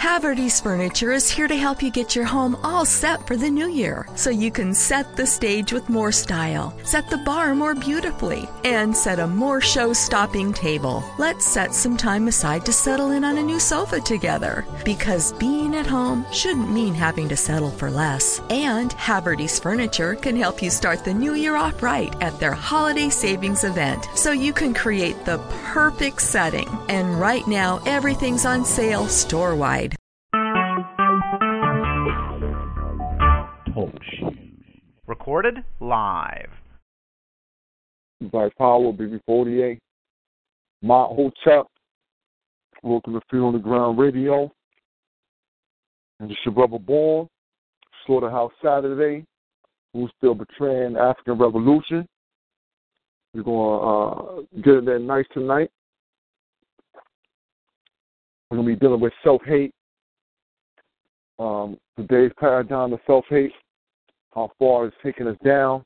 Haverty's Furniture is here to help you get your home all set for the new year, so you can set the stage with more style, set the bar more beautifully, and set a more show-stopping table. Let's set some time aside to settle in on a new sofa together, because being at home shouldn't mean having to settle for less. And Haverty's Furniture can help you start the new year off right at their holiday savings event, so you can create the perfect setting. And right now, everything's on sale store-wide. Talk Shoes. Recorded live. By Power, BB48. My Hotel. Welcome to Feet on the Ground Radio. And it's your brother Born. Slaughterhouse Saturday. Who's still betraying the African Revolution. We're going to get in there nice tonight. We're going to be dealing with self-hate. Today's paradigm of self-hate, how far it's taking us down,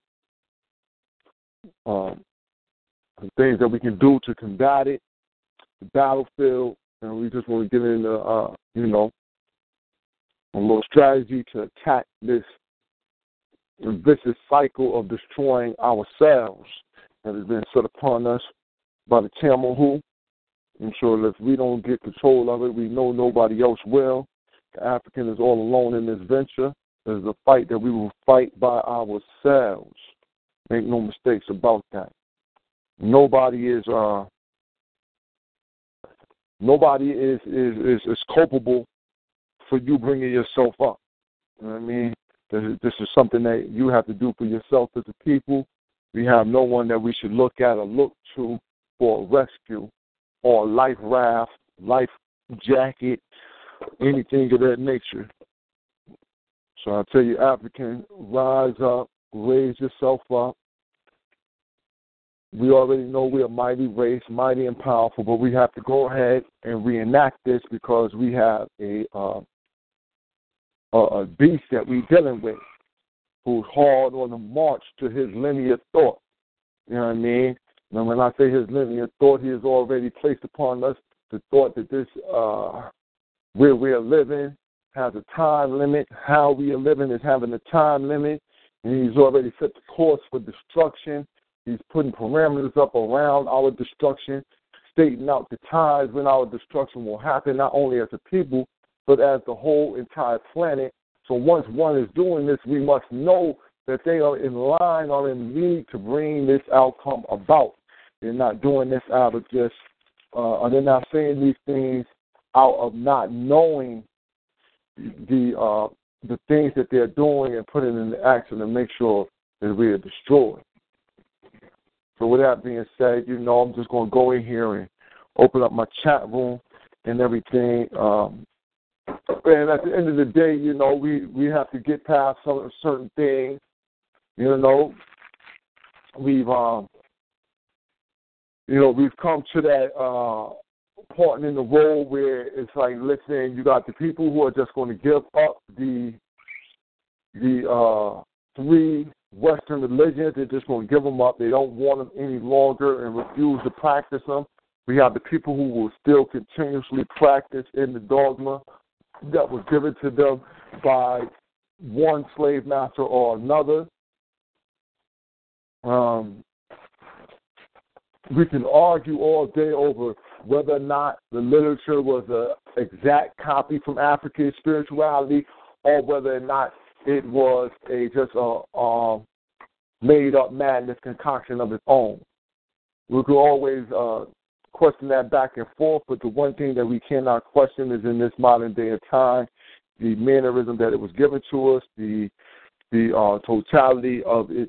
the things that we can do to combat it, the battlefield, and we just want to get into, a little strategy to attack this vicious cycle of destroying ourselves that has been set upon us by the Tamahu. I'm sure if we don't get control of it, we know nobody else will. The African is all alone in this venture. There's a fight that we will fight by ourselves. Make no mistakes about that. Nobody is culpable for you bringing yourself up. You know what I mean? This is something that you have to do for yourself as a people. We have no one that we should look at or look to for a rescue or a life raft, life jacket, anything of that nature. So I tell you, African, rise up, raise yourself up. We already know we're a mighty race, mighty and powerful, but we have to go ahead and reenact this because we have a beast that we're dealing with who's hard on the march to his linear thought. You know what I mean? And when I say his linear thought, he has already placed upon us the thought that this where we are living has a time limit. How we are living is having a time limit. And he's already set the course for destruction. He's putting parameters up around our destruction, stating out the times when our destruction will happen, not only as a people, but as the whole entire planet. So once one is doing this, we must know that they are in line or in league to bring this outcome about. They're not doing this out of just, or they're not saying these things out of not knowing the things that they're doing and putting into action to make sure that we are destroyed. So with that being said, I'm just going to go in here and open up my chat room and everything. And at the end of the day, we have to get past some certain things. We've come to that part in the road where it's like, listen, you got the people who are just going to give up the three Western religions. They're just going to give them up. They don't want them any longer and refuse to practice them. We have the people who will still continuously practice in the dogma that was given to them by one slave master or another. We can argue all day over whether or not the literature was an exact copy from African spirituality or whether or not it was just a made-up madness concoction of its own. We could always question that back and forth, but the one thing that we cannot question is in this modern day of time, the mannerism that it was given to us, the totality of its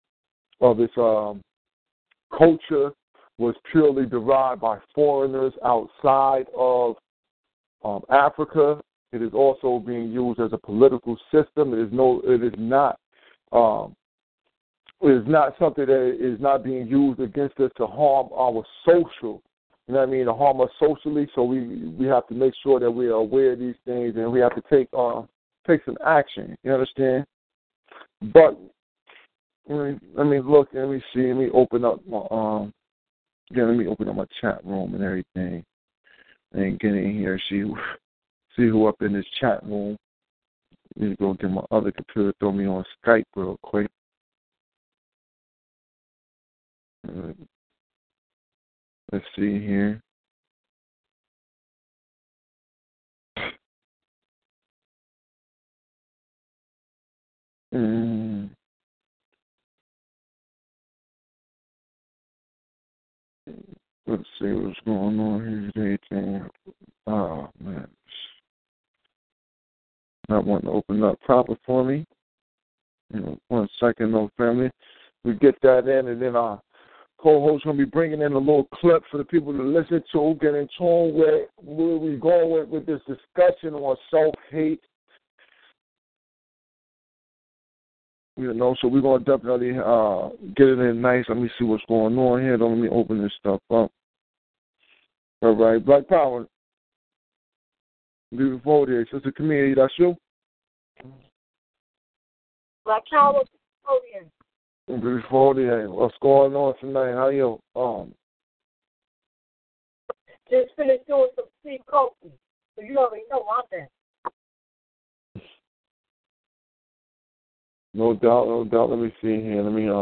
culture was purely derived by foreigners outside of Africa. It is also being used as a political system. It is not something that is not being used against us to harm our social. You know what I mean? To harm us socially. So we have to make sure that we are aware of these things and we have to take some action. You understand? But let me look. Let me see. Let me open up my let me open up my chat room and everything, and get in here. See see who up in this chat room. Need to go get my other computer, throw me on Skype real quick. Let's see here. Let's see what's going on here today. Oh, man. Not wanting to open up proper for me. 1 second, no family. We get that in, and then our co-host going to be bringing in a little clip for the people to listen to, get in tune with where we're going with this discussion on self-hate. So we're going to definitely get it in nice. Let me see what's going on here. Let me open this stuff up. All right, Black Power. Before there, Sister Camille, that's you? Black Power, before there, what's going on tonight? How you? Just finished doing some Steve Coffee, so you already know I'm there. No doubt, no doubt. Let me see here. Let me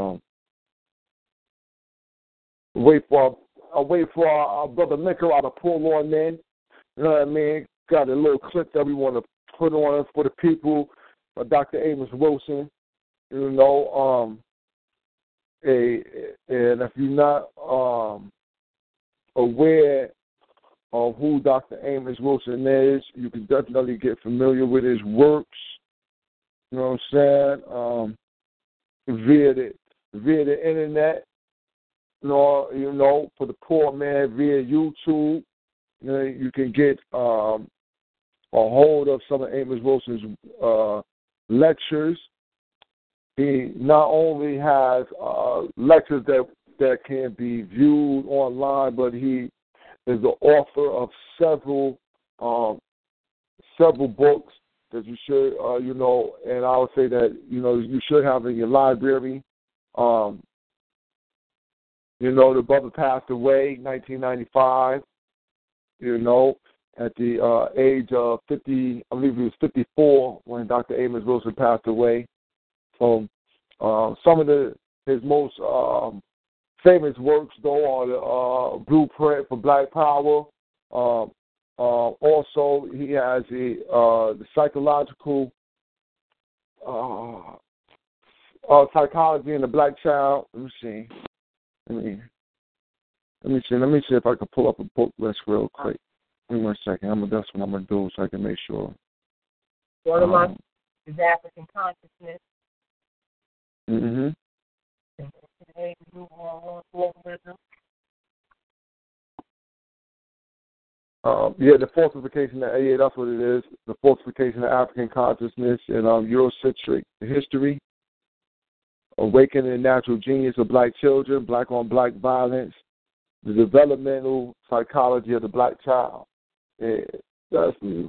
wait for our brother Nicola to pull on in. You know what I mean? Got a little clip that we want to put on for the people. Dr. Amos Wilson. And if you're not aware of who Dr. Amos Wilson is, you can definitely get familiar with his works. You know what I'm saying? Via the internet, for the poor man via YouTube, you can get a hold of some of Amos Wilson's lectures. He not only has lectures that can be viewed online, but he is the author of several books that you should, and I would say that, you should have in your library. The brother passed away in 1995, at the age of 50, I believe he was 54 when Dr. Amos Wilson passed away. So some of his most famous works, though, are the Blueprint for Black Power. Also, he has the psychological psychology in the Black Child. Let me see if I can pull up a book list real quick. Give me 1 second. That's what I'm gonna do so I can make sure. One of mine is African consciousness. Mm-hmm. The falsification. That's what it is. The falsification of African consciousness and Eurocentric history. Awakening the natural genius of black children, black-on-black violence, the developmental psychology of the black child. That's me.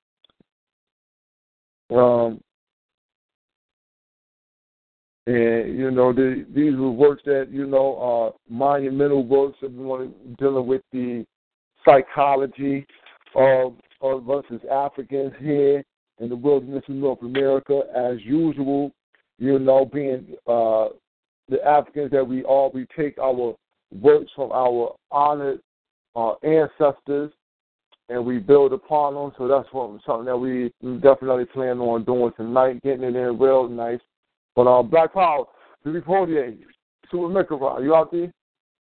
These were works that, are monumental works that we want to dealing with the psychology of us as Africans here in the wilderness of North America. As usual, being the Africans that we are, we take our works from our honored ancestors and we build upon them. So that's something that we definitely plan on doing tonight, getting it in real nice. But Black Power, before the age, Super Microphone, you out there?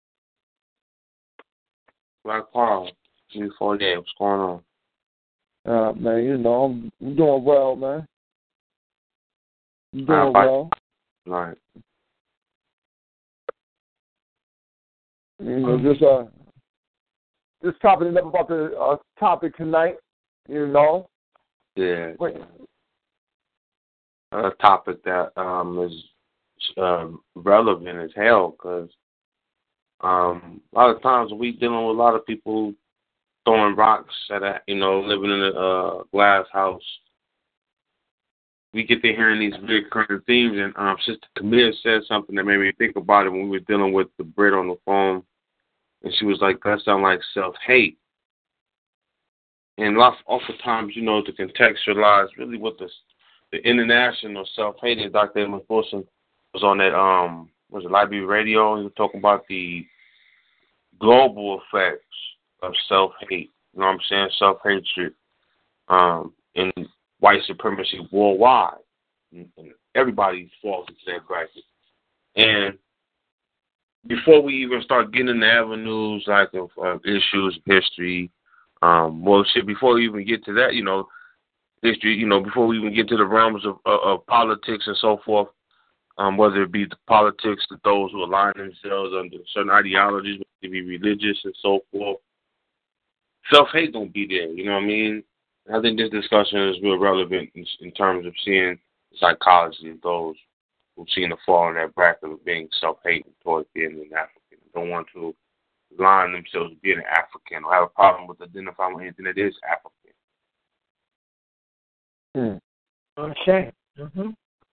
Black Power, before the age, what's going on? Man, I'm doing well, man. You doing well? Right. Just topping it up about the topic tonight, Yeah. A topic that is relevant as hell because a lot of times we dealing with a lot of people throwing rocks at living in a glass house. We get to hearing these recurring themes, and Sister Camille said something that made me think about it when we were dealing with the Brit on the phone, and she was like, "That sounds like self-hate." And oftentimes, to contextualize really what the international self-hate. Dr. Amos Wilson was on that, was it Library Radio? He was talking about the global effects of self-hate. You know what I'm saying? Self-hatred, and white supremacy worldwide. And everybody falls into that bracket. And before we even start getting into avenues like of issues, history, before we even get to that, history, before we even get to the realms of politics and so forth, whether it be the politics of those who align themselves under certain ideologies, whether it be religious and so forth, self-hate don't be there, you know what I mean? I think this discussion is real relevant in terms of seeing the psychology of those who seem to fall in that bracket of being self-hating towards being an African. Don't want to align themselves with being an African or have a problem with identifying with anything that is African. Okay. Mm-hmm.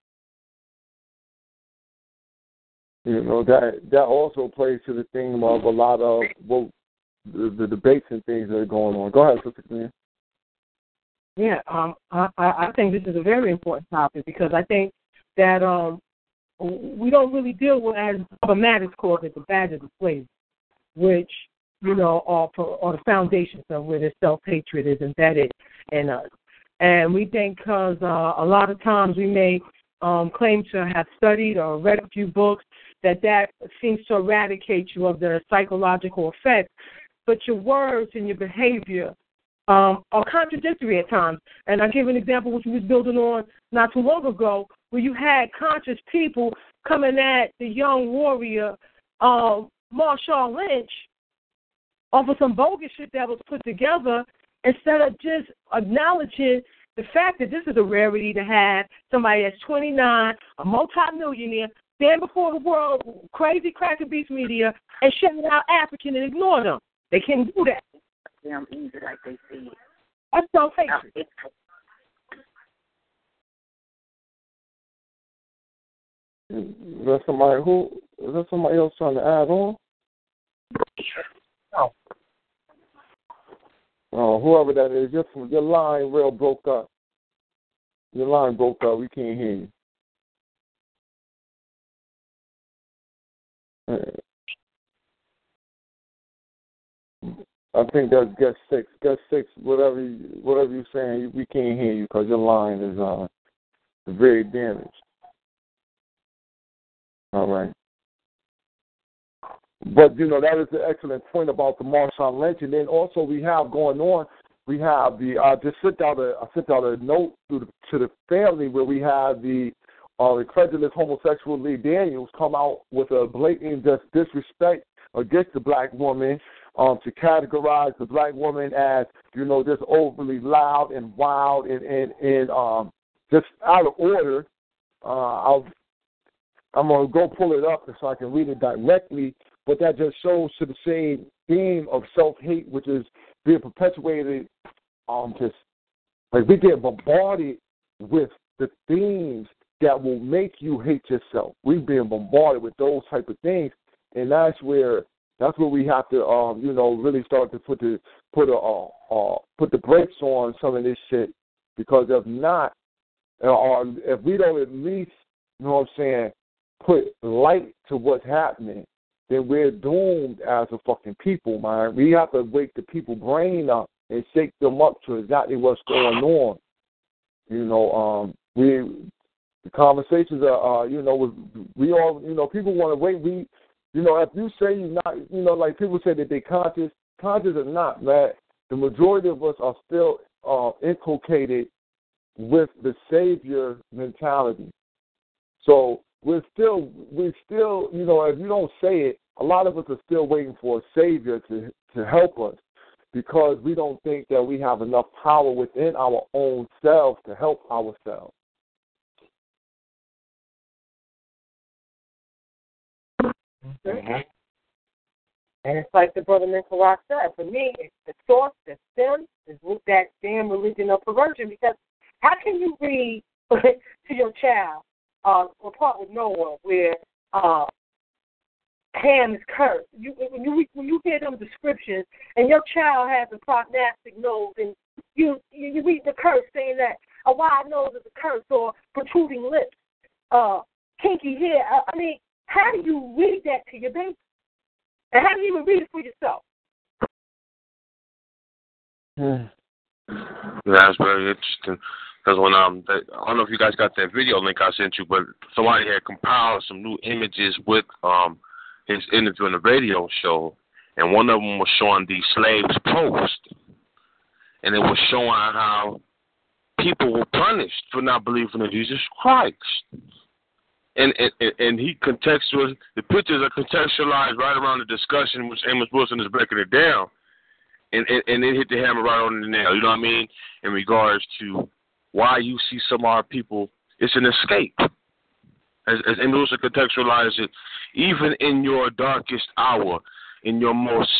That also plays to the theme of a lot of the debates and things that are going on. Go ahead, Sister Clean. Yeah, I think this is a very important topic because I think that we don't really deal with, as Baba Matters calls it, the badges of slavery, which, are the foundations of where the self-hatred is embedded in us. And we think because a lot of times we may claim to have studied or read a few books that seems to eradicate you of the psychological effects, but your words and your behavior are contradictory at times. And I'll give an example which we was building on not too long ago, where you had conscious people coming at the young warrior, Marshawn Lynch, off of some bogus shit that was put together, instead of just acknowledging the fact that this is a rarity to have somebody that's 29, a multimillionaire, stand before the world, crazy cracker beast media, and shout out African and ignore them. They can't do that. Damn easy like they see it. That's self-hatred. Is that somebody else trying to add on? No. Oh, whoever that is, your line real broke up. Your line broke up. We can't hear you. I think that's guest six. Guest six, whatever you're saying, we can't hear you because your line is very damaged. All right. But, that is an excellent point about the Marshawn Lynch. And then also we have going on, we have I sent out a note to the family where we have the incredulous homosexual Lee Daniels come out with a blatant disrespect against the black woman, to categorize the black woman as, just overly loud and wild and just out of order. I'm going to go pull it up so I can read it directly, but that just shows to the same theme of self-hate, which is being perpetuated, just like we get bombarded with the themes that will make you hate yourself. We've been bombarded with those type of things, and that's where we have to, really start to put the brakes on some of this shit, because if not, or if we don't at least, put light to what's happening, then we're doomed as a fucking people, man. We have to wake the people brain up and shake them up to exactly what's going on. The conversations are, we all, people want to wait. If you say you're not, like people say that they're conscious or not, man, the majority of us are still inculcated with the savior mentality. So we're still, if you don't say it, a lot of us are still waiting for a savior to help us, because we don't think that we have enough power within our own selves to help ourselves. Mm-hmm. And it's like the brother Nicolai said, for me, it's the source, the stem, is with that damn religion of perversion, because how can you read to your child a part with Noah where Ham is cursed? When you hear them descriptions and your child has a prognostic nose and you read the curse saying that a wide nose is a curse or protruding lips, kinky hair. I mean, how do you read that to your baby? And how do you even read it for yourself? That's very interesting. Because when I don't know if you guys got that video link I sent you, but somebody had compiled some new images with his interview on the radio show, and one of them was showing the slaves post, and it was showing how people were punished for not believing in Jesus Christ. And he contextualized, the pictures are contextualized right around the discussion, which Amos Wilson is breaking it down, and it hit the hammer right on the nail, you know what I mean, in regards to why you see some of our people, it's an escape. As Amos Wilson contextualized it, even in your darkest hour, in your most,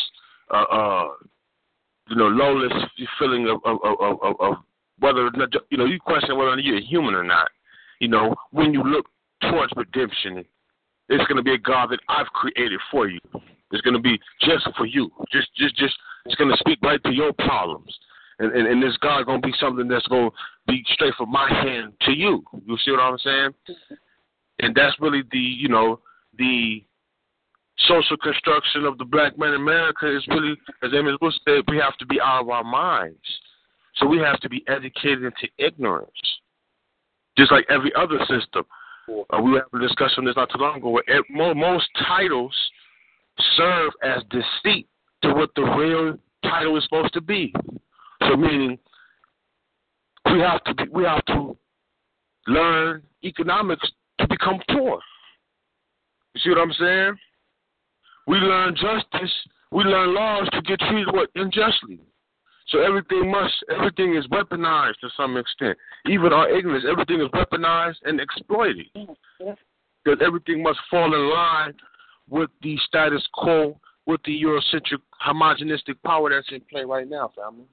lowest feeling of whether, you question whether you're human or not. When you look towards redemption, it's going to be a God that I've created for you. It's going to be just for you. Just it's going to speak right to your problems. And this God going to be something that's going to be straight from my hand to you. You see what I'm saying? And that's really the social construction of the black man in America is really, as Amos Wilson said, we have to be out of our minds. So we have to be educated into ignorance, just like every other system. We had a discussion on this not too long ago, where most titles serve as deceit to what the real title is supposed to be. So meaning we have to learn economics to become poor. You see what I'm saying? We learn justice, we learn laws to get treated unjustly. So everything is weaponized to some extent. Even our ignorance, everything is weaponized and exploited. Because everything must fall in line with the status quo, with the Eurocentric homogenistic power that's in play right now, family.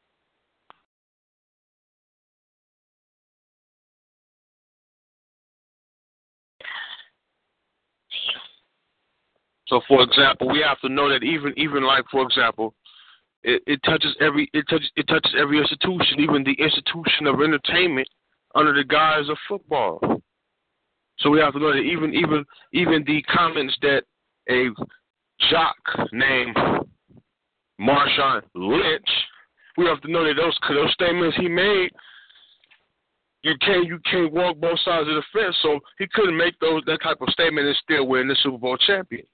So, for example, we have to know that even like, for example, it touches every institution, even the institution of entertainment under the guise of football. So we have to know that even the comments that a jock named Marshawn Lynch, we have to know that those statements he made, you can't walk both sides of the fence. So he couldn't make that type of statement and still win the Super Bowl championship.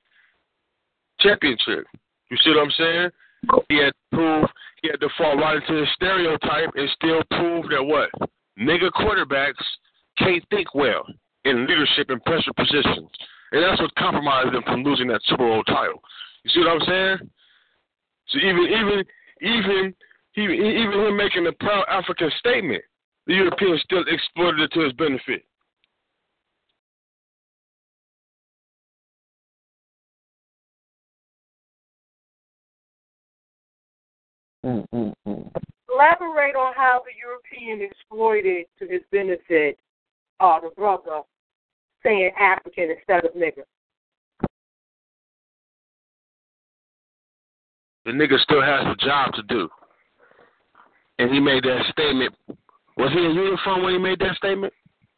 You see what I'm saying? He had to fall right into the stereotype and still prove that what? Nigga quarterbacks can't think well in leadership and pressure positions. And that's what compromised them from losing that Super Bowl title. You see what I'm saying? So even him making a proud African statement, the Europeans still exploited it to his benefit. Elaborate on how the European exploited to his benefit the brother saying African instead of nigger. The nigga still has a job to do. And he made that statement. Was he in uniform when he made that statement?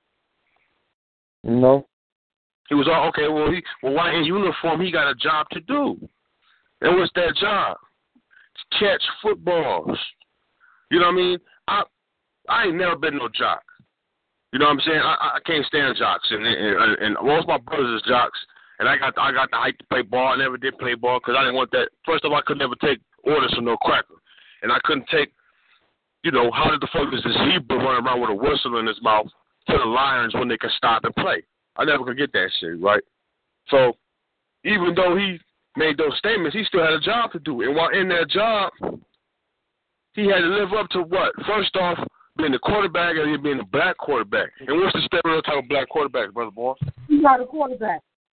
No. He was all okay. Well, why in uniform? He got a job to do. And what's that job? To catch footballs. You know what I mean? I ain't never been no jock. You know what I'm saying? I can't stand jocks, and most of my brothers is jocks. And I got the height to play ball. I never did play ball because I didn't want that. First of all, I could never take orders from no cracker, and I couldn't take. How did the fuck is this Hebrew running around with a whistle in his mouth to the Lions when they can stop and play? I never could get that shit, right? So even though he made those statements, he still had a job to do. And while in that job, he had to live up to what? First off, being the quarterback and being the black quarterback. And what's the stereotype of black quarterbacks, Brother Boss? He's not a quarterback.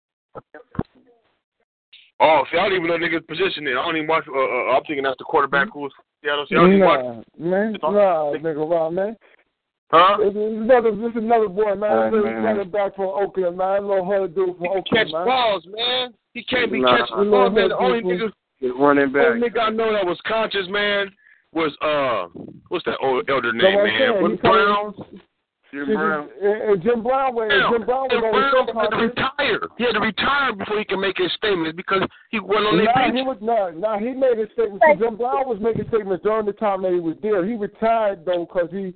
Oh, see, I don't even know niggas' position there. I don't even watch. I'm thinking that's the quarterback who was Seattle. See, I don't even watch. Nigga, Rob, man. Huh? This is another boy, man. This is another back from Oakland, man. A little hard to do from Oakland, catch man. balls, man. He can't be catching balls, man. The only nigga running back. I know that was conscious, man, what's that old elder name, man? What's Brown? Jim Brown. Jim Brown was had to retire. He had to retire before he could make his statements because he went on their bench. He made his statements. Jim Brown was making statements during the time that he was there. He retired though because Jim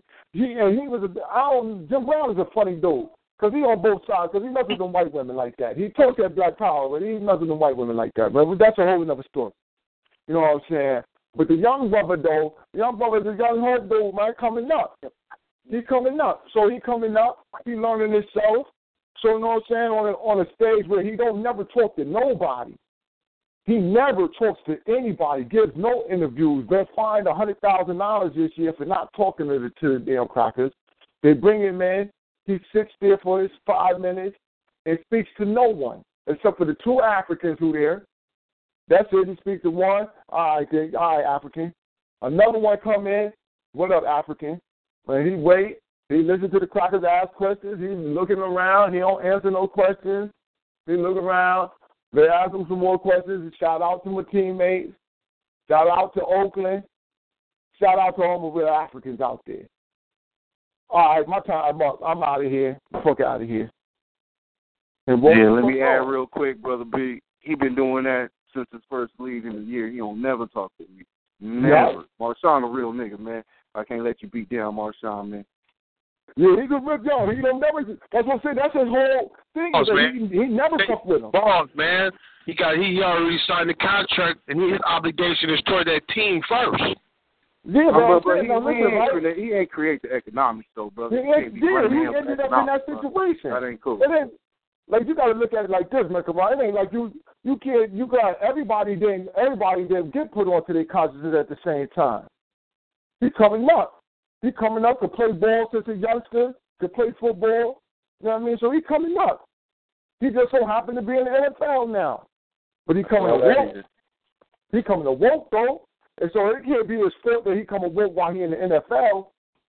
Brown is a funny dude because he on both sides because he messes with white women like that. He talks that black power, but he messes with white women like that. But that's a whole other story. You know what I'm saying? But the young brother though, the young head dude, man, coming up. He's coming up. So he coming up. He learning himself. So you know what I'm saying? On a stage where he don't never talk to nobody. He never talks to anybody. Gives no interviews. They're fined $100,000 this year for not talking to the damn crackers. They bring him in. He sits there for his 5 minutes and speaks to no one except for the 2 Africans who there. That's it. He speaks to one. All right, African. Another one come in. What up, African? When he wait, he listens to the crackers ask questions. He's looking around. He don't answer no questions. He look around. They ask him some more questions. Shout out to my teammates. Shout out to Oakland. Shout out to all the real Africans out there. All right, my time up. I'm out of here. Fuck out of here. Let me add real quick, Brother B. He been doing that since his first league in the year. He don't never talk to me. Never. Yep. Marshawn a real nigga, man. I can't let you beat down Marshawn, man. Yeah, he's a rip young. He don't never. That's what I'm saying. That's his whole thing. He never fuck with him. Boss, man. He already signed the contract, and his obligation is toward that team first. Yeah, but he ain't create the economics, though, brother. He ended up in that situation. That ain't cool. Like you got to look at it like this, man. It ain't like you can't. You got everybody didn't get put onto their consciences at the same time. He's coming up. He coming up to play ball since a youngster, to play football. You know what I mean? So he's coming up. He just so happened to be in the NFL now. But he coming to woke. He coming to woke, though. And so it can't be his fault that he coming woke while he in the NFL.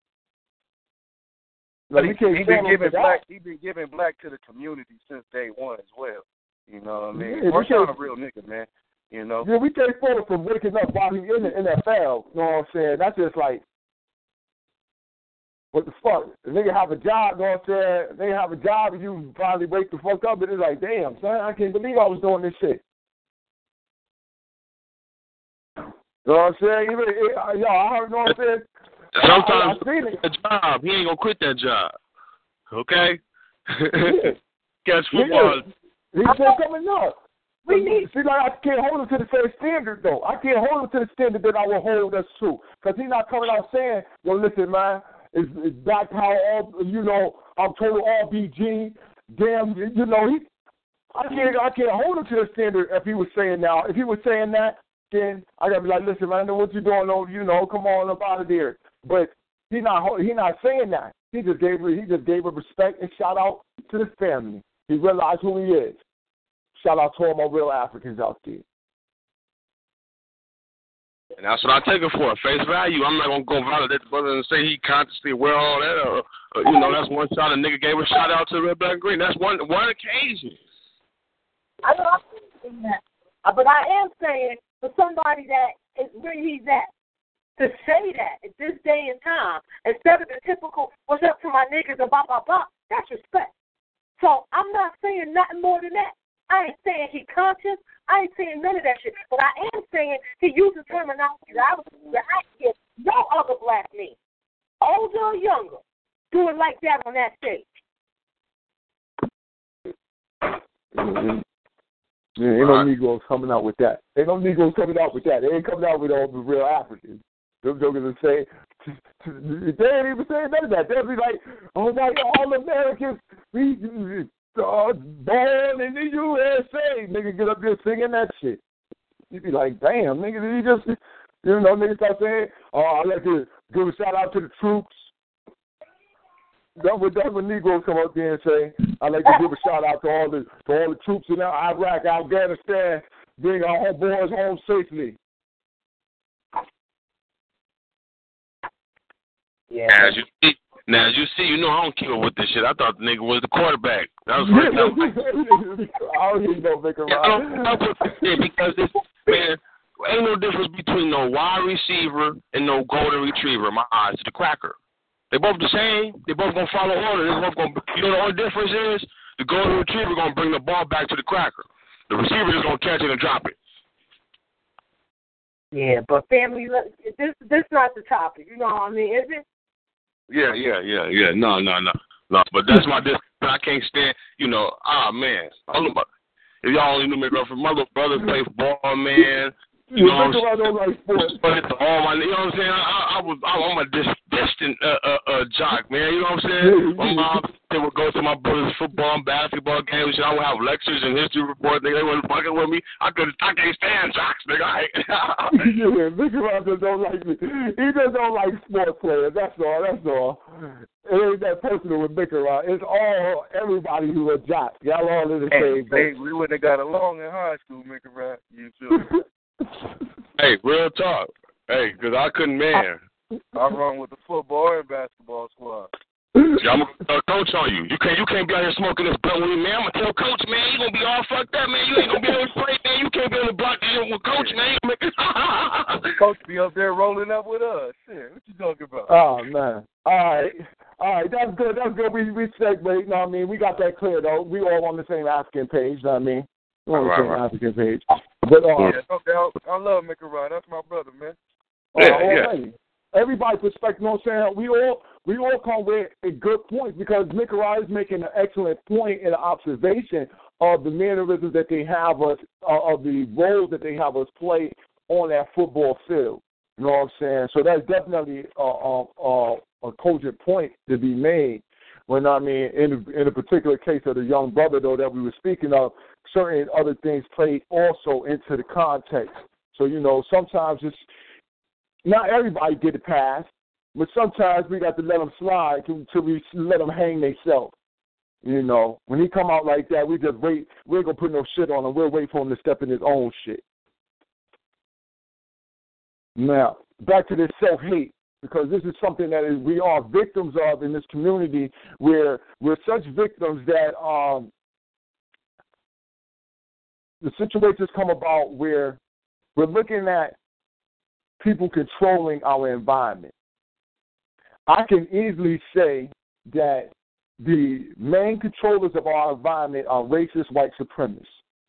Like, he been giving black to the community since day one as well. You know what I mean? Marshawn a real nigga, man. You know? Yeah, we take photos from waking up while he's in the NFL. You know what I'm saying? That's just like, what the fuck? The nigga have a job, you know what I'm saying? They have a job and you finally wake the fuck up and it's like, damn, son, I can't believe I was doing this shit. You know what I'm saying? I heard, you know what I'm saying? Sometimes a job, he ain't gonna quit that job. Okay? Yeah. Catch football. He's still coming up. See, like, I can't hold him to the same standard, though. I can't hold him to the standard that I will hold us to. Because he's not coming out saying, yo, listen, man, it's black power, I'm total RBG. Damn, I can't hold him to the standard if he was saying now. If he was saying that, then I got to be like, listen, man, I know what you're doing, come on up out of there. But he's not saying that. He just gave her respect and shout out to the family. He realized who he is. Shout out to all my real Africans out there. And that's what I take it for, face value. I'm not going to go validate the brother and say he consciously wear all that. That's one shot a nigga gave a shout out to Red, Black, and Green. That's one occasion. I know I'm saying that. But I am saying for somebody that is where he's at, to say that at this day and time, instead of the typical, what's up to my niggas and blah, blah, blah, that's respect. So I'm not saying nothing more than that. I ain't saying he conscious. I ain't saying none of that shit. But I am saying he uses terminology that I get no other black men, older or younger, do it like that on that stage. Mm-hmm. Yeah, ain't no Negroes coming out with that. They ain't coming out with all the real Africans. Them jokers are saying, they ain't even saying none of that. They'll be like, oh my God, all Americans, we born in the USA. Nigga get up there singing that shit. You be like, damn, nigga, he just, niggas start saying, I'd like to give a shout out to the troops. That's what Negroes come up there and say. I'd like to give a shout out to all the troops in Iraq, Afghanistan, bring our boys home safely. Yeah. Now, as you see, I don't keep up with this shit. I thought the nigga was the quarterback. That was first time. I don't even know, Vicar. Because this man, ain't no difference between no wide receiver and no golden retriever in my eyes to the cracker. They both the same. They both gonna follow order. They both gonna. You know the only difference is the golden retriever gonna bring the ball back to the cracker. The receiver is gonna catch it and drop it. Yeah, but family, this not the topic. You know what I mean? Is it? Yeah. No. But that's my discipline. I can't stand. You know. Man. If y'all only knew me, girlfriend, my little brother played ball, man. You know what I'm saying? You know what I'm saying? I'm a distant jock, man. You know what I'm saying? My mom, they would go to my brother's football and basketball games. I would have lectures and history reports. They wasn't fucking with me. I can't stand jocks, nigga. Yeah, Mickey Rock just don't like me. He just don't like sports players. That's all. It ain't that personal with Mickey Rock. It's all everybody who are jocks. Y'all all in the same boat. We wouldn't have got along in high school, Mickey Rock. You too. Hey, real talk. Hey, because I couldn't, man. I run with the football and basketball squad. Yeah, I'm gonna coach on you. You can't be out here smoking this blunt with me, man. I'm gonna tell coach, man, you gonna be all fucked up, man. You ain't gonna be able to play, man. You can't be on the block with coach, man. Coach be up there rolling up with us. Shit, what you talking about? Oh man. All right, that's good. We segue, you know what I mean? We got that clear though. We all on the same African page, you know what I mean? We're on the same African page. But I love Mickey Rock. That's my brother, man. Yeah. Everybody's perspective, you know what I'm saying? We all come with a good point because Mickey Rock is making an excellent point in the observation of the mannerisms that they have us, of the roles that they have us play on that football field. You know what I'm saying? So that's definitely a cogent point to be made. When I mean, in a particular case of the young brother, though, that we were speaking of, certain other things played also into the context. So, you know, sometimes it's not everybody get a pass, but sometimes we got to let them slide till we let them hang themselves. You know, when he come out like that, we just wait. We ain't going to put no shit on him. We'll wait for him to step in his own shit. Now, back to this self-hate, because this is something that we are victims of in this community where we're such victims that the situations come about where we're looking at people controlling our environment. I can easily say that the main controllers of our environment are racist white supremacists.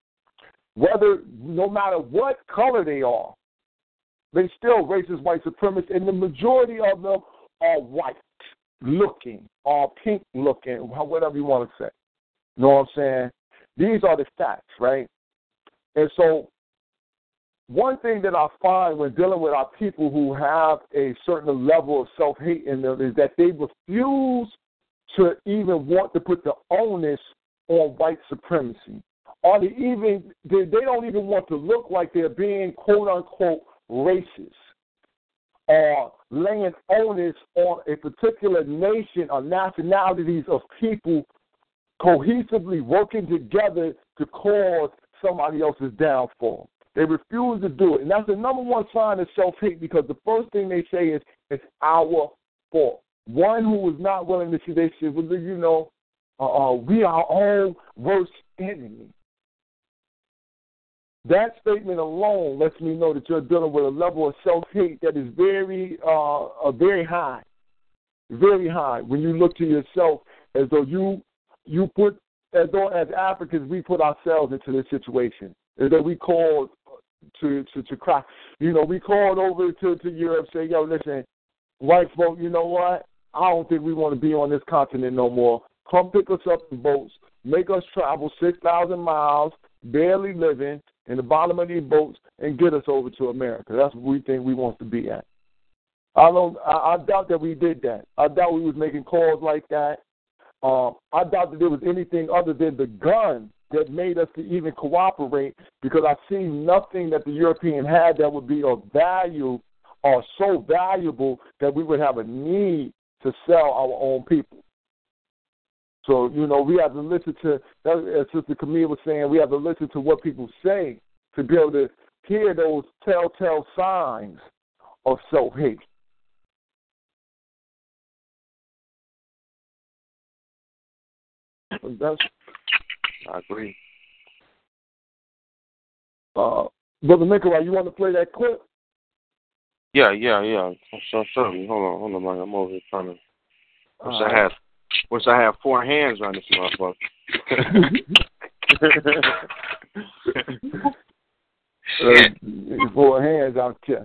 No matter what color they are, they still racist white supremacists, and the majority of them are white looking or pink looking, whatever you want to say. You know what I'm saying? These are the facts, right? And so one thing that I find when dealing with our people who have a certain level of self-hate in them is that they refuse to even want to put the onus on white supremacy. Or they don't even want to look like they're being, quote-unquote, racist or laying onus on a particular nation or nationalities of people cohesively working together to cause somebody else's downfall. They refuse to do it. And that's the number one sign of self-hate because the first thing they say is, it's our fault. One who is not willing to see, they say, well, you know, we are our own worst enemy. That statement alone lets me know that you're dealing with a level of self-hate that is very high. Very high. When you look to yourself as though as though as Africans we put ourselves into this situation. As though we called to cry. You know, we called over to Europe, say, yo, listen, white folk, you know what? I don't think we want to be on this continent no more. Come pick us up in boats, make us travel 6,000 miles, barely living in the bottom of these boats, and get us over to America. That's what we think we want to be at. I doubt that we did that. I doubt we was making calls like that. I doubt that there was anything other than the gun that made us to even cooperate, because I see nothing that the European had that would be of value or so valuable that we would have a need to sell our own people. So, you know, we have to listen to, as Sister Camille was saying, we have to listen to what people say to be able to hear those telltale signs of self-hate. I agree. Brother Nikolai, you want to play that clip? Yeah. So certainly. Hold on, man. I'm over here trying to. Wish I had four hands on this motherfucker. Four hands out there.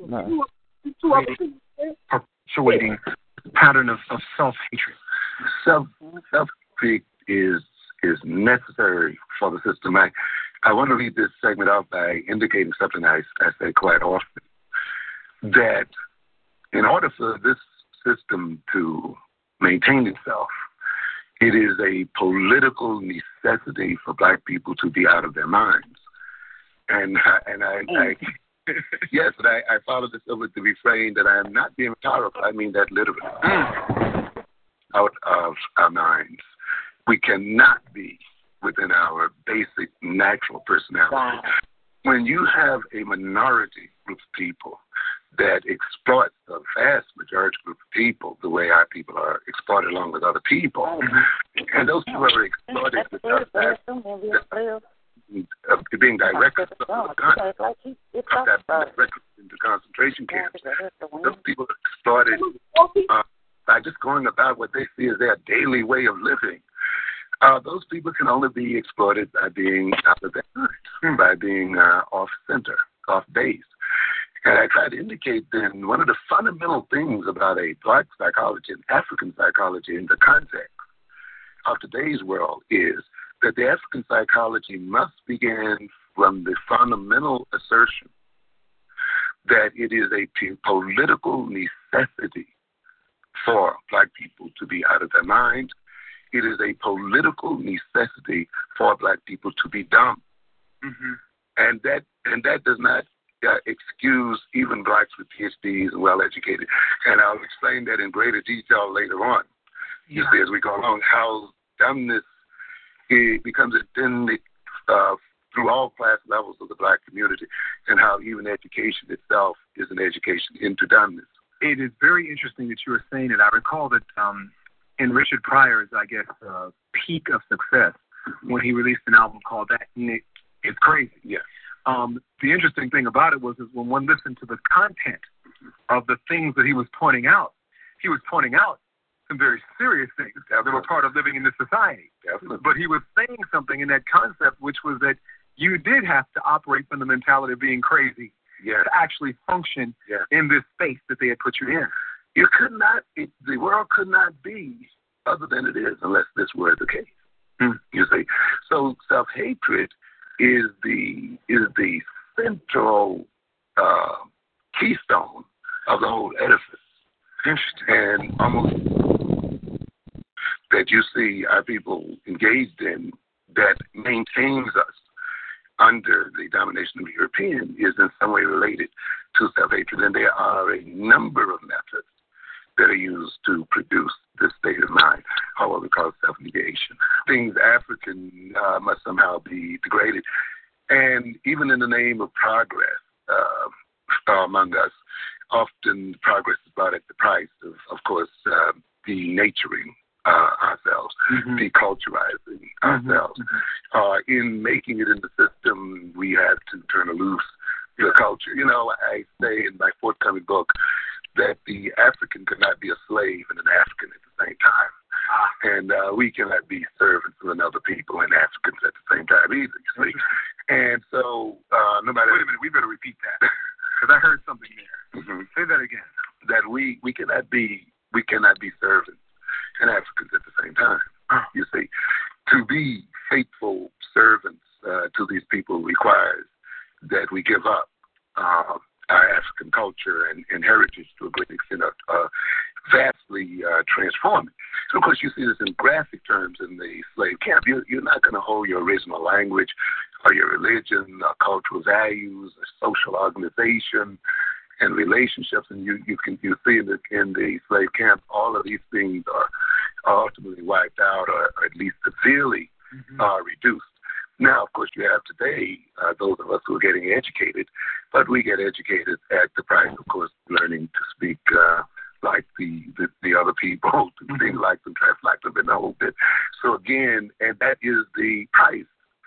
Perpetuating pattern of self-hatred. Self-hatred is necessary for the system. I want to lead this segment out by indicating something I say quite often, that in order for this system to maintain itself, it is a political necessity for black people to be out of their minds. And I yes, but I follow this up with the refrain that I am not being rhetorical. I mean that literally. Out of our minds. We cannot be within our basic natural personality. Wow. When you have a minority group of people that exploits the vast majority group of people the way our people are exploited along with other people, and those people are exploited because being directed to the gun, directed into concentration camps. Those people are exploited by just going about what they see as their daily way of living. Those people can only be exploited by being out of their mind, by being off-center, off-base. And I try to indicate then one of the fundamental things about a black psychology and African psychology in the context of today's world is that the African psychology must begin from the fundamental assertion that it is a political necessity for black people to be out of their mind. It is a political necessity for black people to be dumb. Mm-hmm. And that does not excuse even blacks with PhDs and well-educated. And I'll explain that in greater detail later on. You see, as we go along, how dumbness becomes endemic through all class levels of the black community, and how even education itself is an education into dumbness. It is very interesting that you were saying it. I recall that in Richard Pryor's, I guess, peak of success, when he released an album called That It's Crazy. Yeah. The interesting thing about it was when one listened to the content of the things that he was pointing out some very serious things that were part of living in this society. Definitely. But he was saying something in that concept, which was that you did have to operate from the mentality of being crazy to actually function in this space that they had put you in. You could not, the world could not be other than it is unless this were the case. You see, so self-hatred is the central keystone of the whole edifice. Interesting. And almost that you see our people engaged in that maintains us under the domination of the European is in some way related to self-hatred. And there are a number of methods that are used to produce this state of mind, or what we call self-negation. Things African must somehow be degraded. And even in the name of progress among us, often progress is brought at the price of course, denaturing ourselves, deculturizing ourselves. In making it in the system, we have to turn loose the culture. You know, I say in my forthcoming book that the African could not be a slave and an African at the same time. And we cannot be servants of another people and Africans at the same time either, you see. And so, no matter... Wait a minute, we better repeat that, because I heard something there. Say that again. That we cannot be servants and Africans at the same time, you see. To be faithful servants to these people requires that we give up our African culture and heritage to a great extent, vastly transforming. So, of course, you see this in graphic terms in the slave camp. You're not going to hold your original language or your religion, or cultural values, or social organization, and relationships. And you see in the slave camp, all of these things are ultimately wiped out, or at least severely reduced. Now, of course, you have today those of us who are getting educated, but we get educated at the price, of course, learning to speak like the other people, to think like them, dress like them, and the whole bit. So again, and that is the price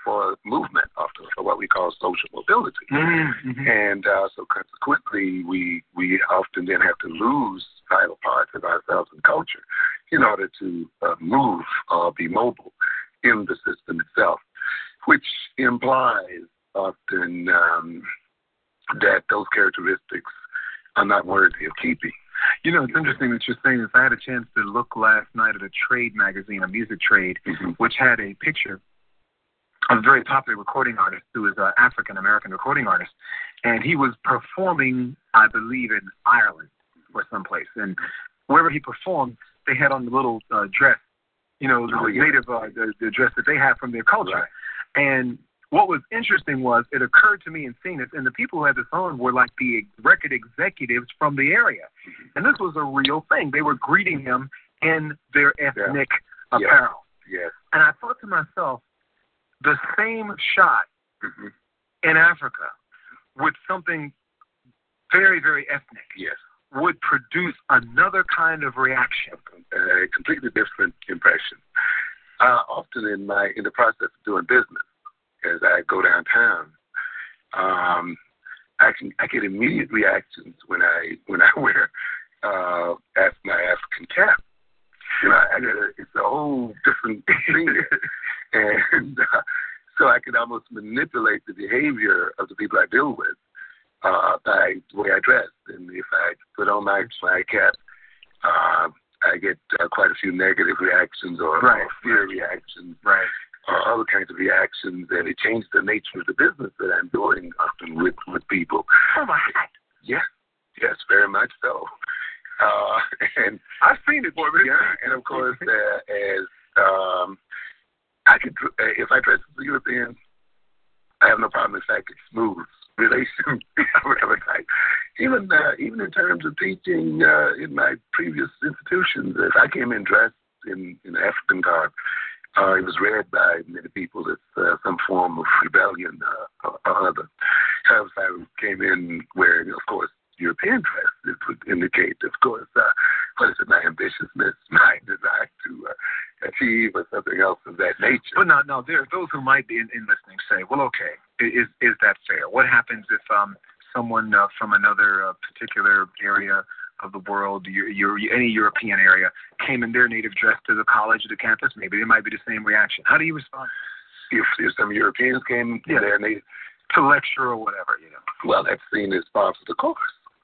for movement, for what we call social mobility. Mm-hmm. And so consequently, we often then have to lose vital parts of ourselves and culture in order to move or be mobile in the system itself, which implies often that those characteristics are not worthy of keeping. You know, it's interesting that you're saying this. I had a chance to look last night at a trade magazine, a music trade, mm-hmm. which had a picture of a very popular recording artist who is an African-American recording artist. And he was performing, I believe, in Ireland or someplace. And wherever he performed, they had on the little dress, you know, the native the dress that they have from their culture. Right. And what was interesting was it occurred to me in seeing this, and the people who had this on were like the record executives from the area. Mm-hmm. And this was a real thing. They were greeting him in their ethnic apparel. Yes. And I thought to myself, the same shot mm-hmm. in Africa with something very, very ethnic would produce another kind of reaction. A completely different impression. Often in the process of doing business, as I go downtown, I get immediate reactions when I wear my African cap. You know, it's a whole different thing, and so I can almost manipulate the behavior of the people I deal with by the way I dress. And if I put on my cap, I get quite a few negative reactions or fear reactions. Right. Other kinds of reactions, and it changed the nature of the business that I'm doing often with people. Oh, my God. Yes, very much so. And I've seen it, boy. And of course, as I could, if I dress as a European, I have no problem. In fact, it smooths relations of whatever type. Even in terms of teaching in my previous institutions, if I came in dressed in African garb, it was read by many people as some form of rebellion or other. However, if I came in wearing, of course, European dress, it would indicate, of course, what is it, my ambitiousness, my desire to achieve, or something else of that nature. But now there are those who might be in listening say, well, okay, is that fair? What happens if someone from another particular area of the world, any European area, came in their native dress to the college or the campus? Maybe there might be the same reaction. How do you respond? If some Europeans came in their native to lecture or whatever, you know. Well, that's seen as part of the course,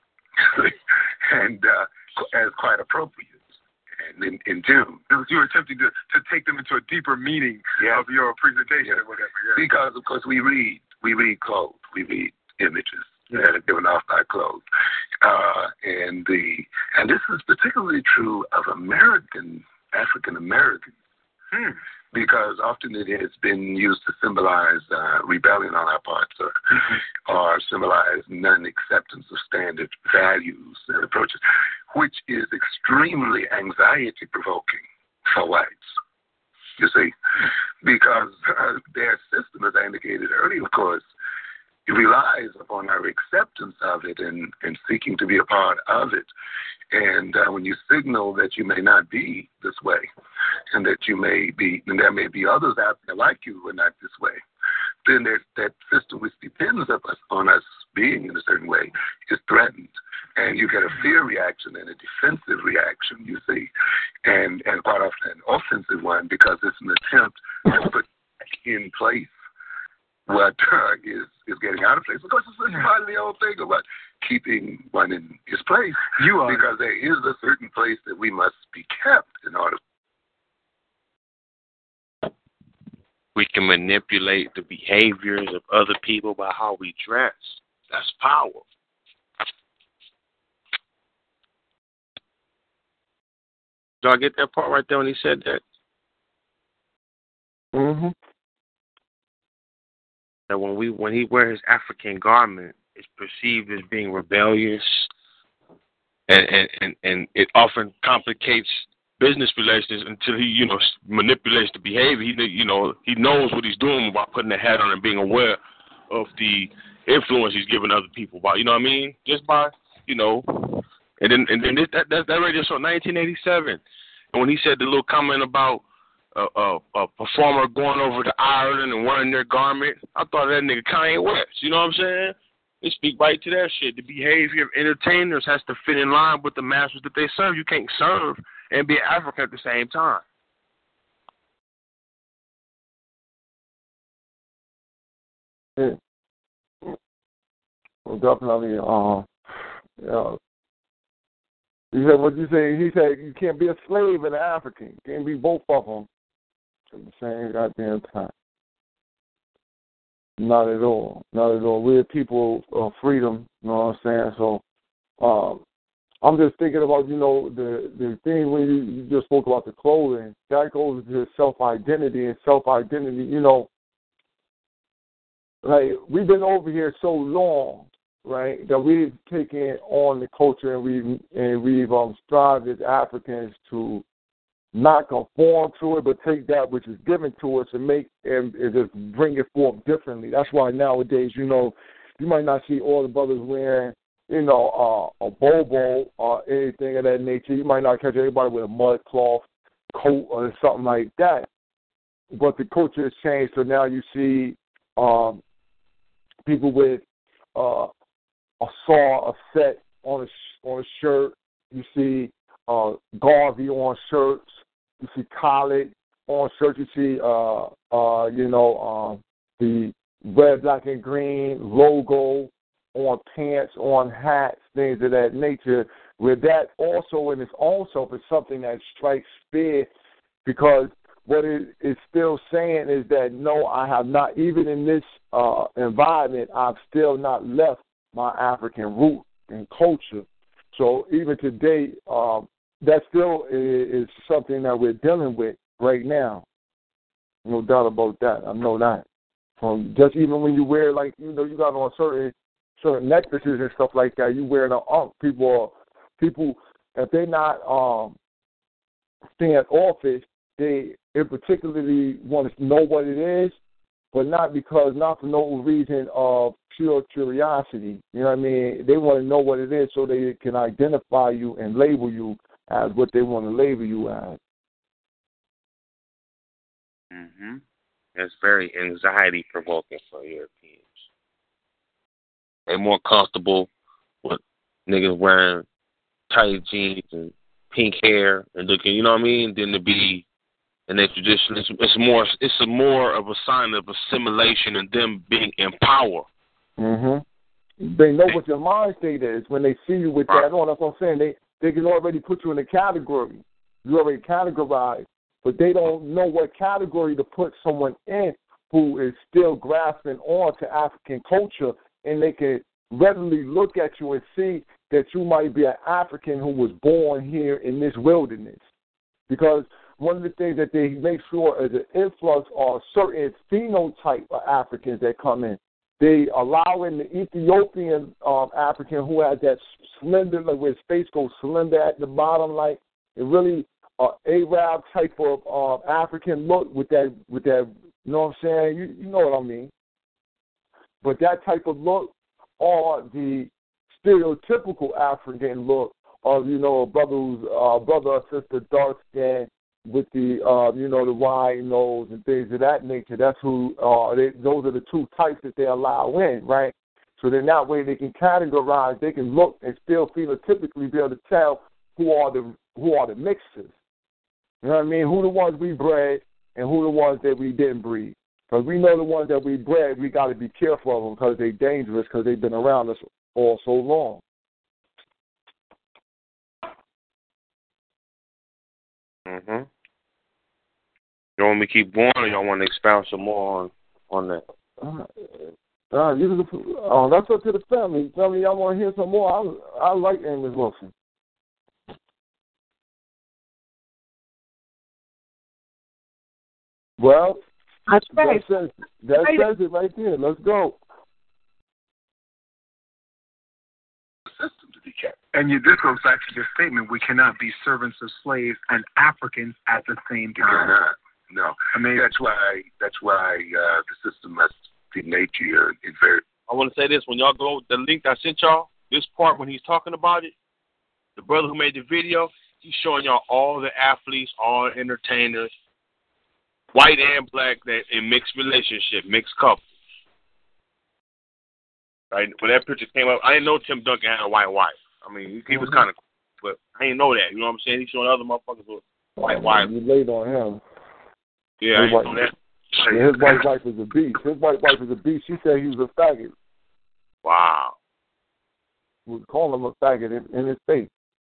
and as quite appropriate. And in June, you were attempting to take them into a deeper meaning of your presentation or whatever. Yeah. Because of course we read clothes, we read images that are given off by clothes, and this is particularly true of African Americans. Because often it has been used to symbolize rebellion on our parts or symbolize non-acceptance of standard values and approaches, which is extremely anxiety-provoking for whites, you see, because their system, as I indicated earlier, of course, it relies upon our acceptance of it and seeking to be a part of it. And when you signal that you may not be this way, and that you may be, and there may be others out there like you who are not this way, then that system which depends on us being in a certain way is threatened. And you get a fear reaction and a defensive reaction, you see, and quite often an offensive one, because it's an attempt to put in place what is getting out of place. Of course, it's part of the old thing about keeping one in his place. Because there is a certain place that we must be kept in order. We can manipulate the behaviors of other people by how we dress. That's power. Did I get that part right there when he said that? Mm-hmm. That when he wears his African garment, it's perceived as being rebellious, and it often complicates business relations until he manipulates the behavior. He knows what he's doing by putting the hat on and being aware of the influence he's giving other people by, you know what I mean? Just by, and then that radio show 1987, and when he said the little comment about a performer going over to Ireland and wearing their garment. I thought that nigga Kanye West. You know what I'm saying? They speak right to that shit. The behavior of entertainers has to fit in line with the masters that they serve. You can't serve and be African at the same time. Yeah. Well, definitely. He said, what you say? He said you can't be a slave and an African. You can't be both of them at the same goddamn time. Not at all. Not at all. We're people of freedom, you know what I'm saying? So I'm just thinking about, the thing when you just spoke about the clothing. That goes to self-identity, and self-identity, like we've been over here so long, right, that we've taken on the culture and we've strived as Africans to not conform to it, but take that which is given to us and just bring it forth differently. That's why nowadays, you might not see all the brothers wearing, a bobo or anything of that nature. You might not catch everybody with a mud cloth coat or something like that. But the culture has changed, so now you see people with a saw, a set on a shirt. You see Garvey on shirts. You see Khaled on shirts. You see the red, black, and green logo on pants, on hats, things of that nature. Where that also in its own self is something that strikes fear, because what it is still saying is that, no, I have not, even in this environment, I've still not left my African root and culture. So even today, that still is something that we're dealing with right now. No doubt about that. I know that. Just even when you wear, like, you got on certain necklaces and stuff like that, you wear the people, if they're not staying at office, they particularly want to know what it is, but not for no reason of pure curiosity. You know what I mean? They want to know what it is so they can identify you and label you as what they want to label you as. Mm-hmm. That's very anxiety provoking for Europeans. They're more comfortable with niggas wearing tight jeans and pink hair and looking, you know what I mean, than to be in their tradition. It's more of a sign of assimilation and them being in power. Mm-hmm. They know what your mind state is when they see you with that on. That's what I'm saying. They can already put you in a category. You already categorized, but they don't know what category to put someone in who is still grasping on to African culture, and they can readily look at you and see that you might be an African who was born here in this wilderness. Because one of the things that they make sure is an influx of certain phenotype of Africans that come in. They allow in the Ethiopian African who has that slender, like where his face goes slender at the bottom, like it really Arab type of African look with that, you know what I'm saying? You know what I mean. But that type of look, or the stereotypical African look of, a brother or sister dark skin with the the wide nose and things of that nature. That's who those are the two types that they allow in, right? So then that way they can categorize, they can look and still phenotypically be able to tell who are the mixers. You know what I mean? Who the ones we bred and who the ones that we didn't breed. Because we know the ones that we bred, we got to be careful of them because they're dangerous because they've been around us all so long. Mm-hmm. You want me to keep going, or y'all want to expound some more on that? That's up to the family. Tell me y'all want to hear some more. I like Amos Wilson. Well, that says it right there. Let's go. System to be kept. And this goes back to your statement: we cannot be servants of slaves and Africans at the same time. No, I mean that's why the system must be made to you. I want to say this: when y'all go the link I sent y'all, this part when he's talking about it, the brother who made the video, he's showing y'all all the athletes, all the entertainers, white and black that in mixed relationship, mixed couple. Right? When that picture came up, I didn't know Tim Duncan had a white wife. I mean, he was kind of, but I didn't know that. You know what I'm saying? He showing other motherfuckers with white wives. You laid on him. Yeah, I didn't know that. Yeah, his white wife is a beast. His white wife is a beast. She said he was a faggot. Wow. Would call him a faggot in his face.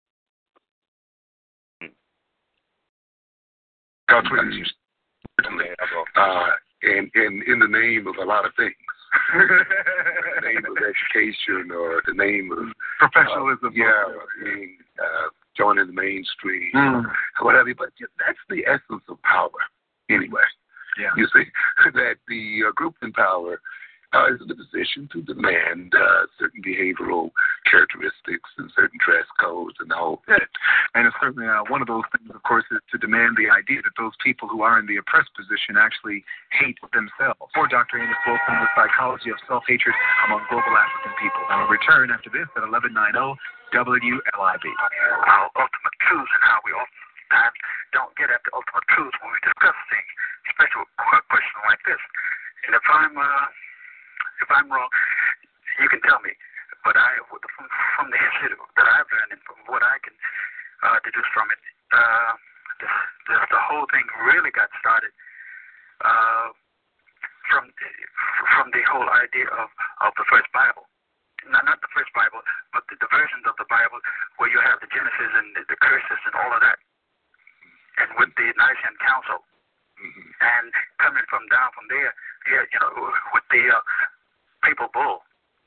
That's what you certainly. And in the name of a lot of things. The name of education or the name of professionalism. Joining the mainstream, whatever. But that's the essence of power, anyway. Yeah. You see, that the group in power is in a position to demand certain behavioral characteristics and certain dress codes and the whole bit. And it's certainly one of those things, of course, is to demand the idea that those people who are in the oppressed position actually hate themselves. For Dr. Amos Wilson, The Psychology of Self-Hatred Among Global African People. And we'll return after this at 1190 WLIB. Our ultimate truths and how we oftentimes don't get at the ultimate truths when we discuss things, especially with a question like this. And if I'm wrong, you can tell me. But from the history that I've learned and from what I can deduce from it, the whole thing really got started from the whole idea of the first Bible. Not the first Bible, but the versions of the Bible where you have the Genesis and the curses and all of that, and with the Nicene Council, and coming from there, with the papal bull.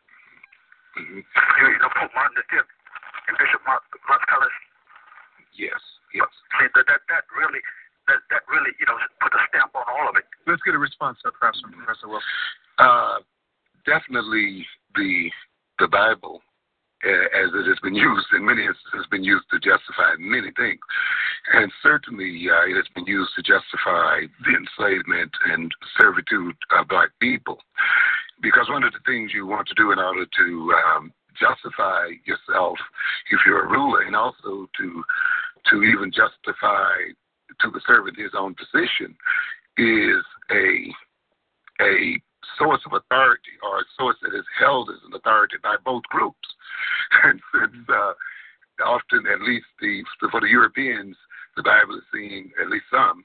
Pope Martin V and Bishop Musculus. Yes. See, that really put a stamp on all of it. Let's get a response, perhaps, from Professor Wilson. Definitely the Bible, as it has been used in many instances, has been used to justify many things. And certainly it has been used to justify the enslavement and servitude of black people. Because one of the things you want to do in order to justify yourself if you're a ruler, and also to even justify to the servant his own position, is a source of authority, or a source that is held as an authority by both groups. And since often, at least for the Europeans, the Bible is seen, at least some,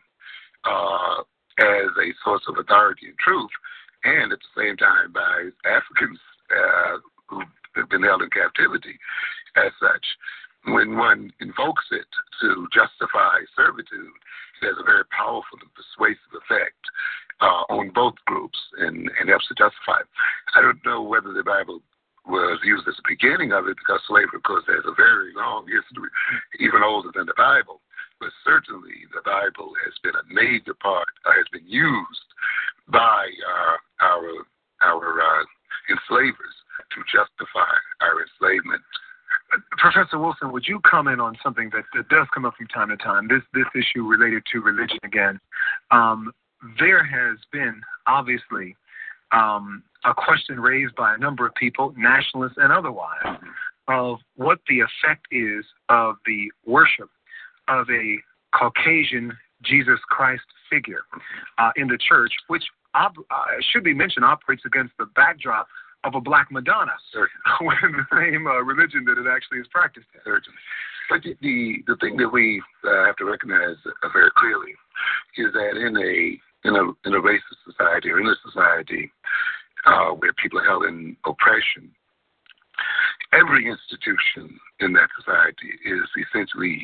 as a source of authority and truth, and at the same time by Africans who have been held in captivity as such. When one invokes it to justify servitude, it has a very powerful and persuasive effect on both groups and helps to justify it. I don't know whether the Bible was used as the beginning of it, because slavery, of course, has a very long history, even older than the Bible. But certainly the Bible has been a major part, has been used by our enslavers to justify our enslavement. Professor Wilson, would you comment on something that does come up from time to time, this issue related to religion again? There has been, obviously, a question raised by a number of people, nationalists and otherwise, of what the effect is of the worship of a Caucasian Jesus Christ figure in the church, which should be mentioned operates against the backdrop of a black Madonna within the same religion that it actually is practiced in. Certainly. But the thing that we have to recognize very clearly is that in a racist society, or in a society where people are held in oppression, every institution in that society is essentially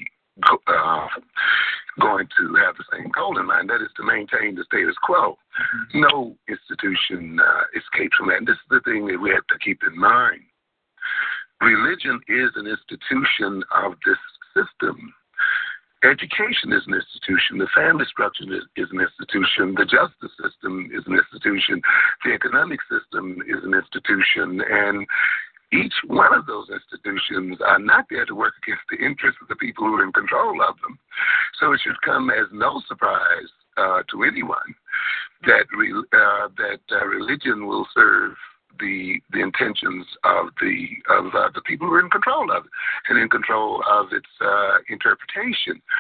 going to have the same goal in mind, that is to maintain the status quo. No institution escapes from that. And this is the thing that we have to keep in mind. Religion is an institution of this system. Education is an institution. The family structure is an institution. The justice system is an institution. The economic system is an institution. And each one of those institutions are not there to work against the interests of the people who are in control of them. So it should come as no surprise to anyone that religion will serve the intentions of the people who are in control of it and in control of its interpretation.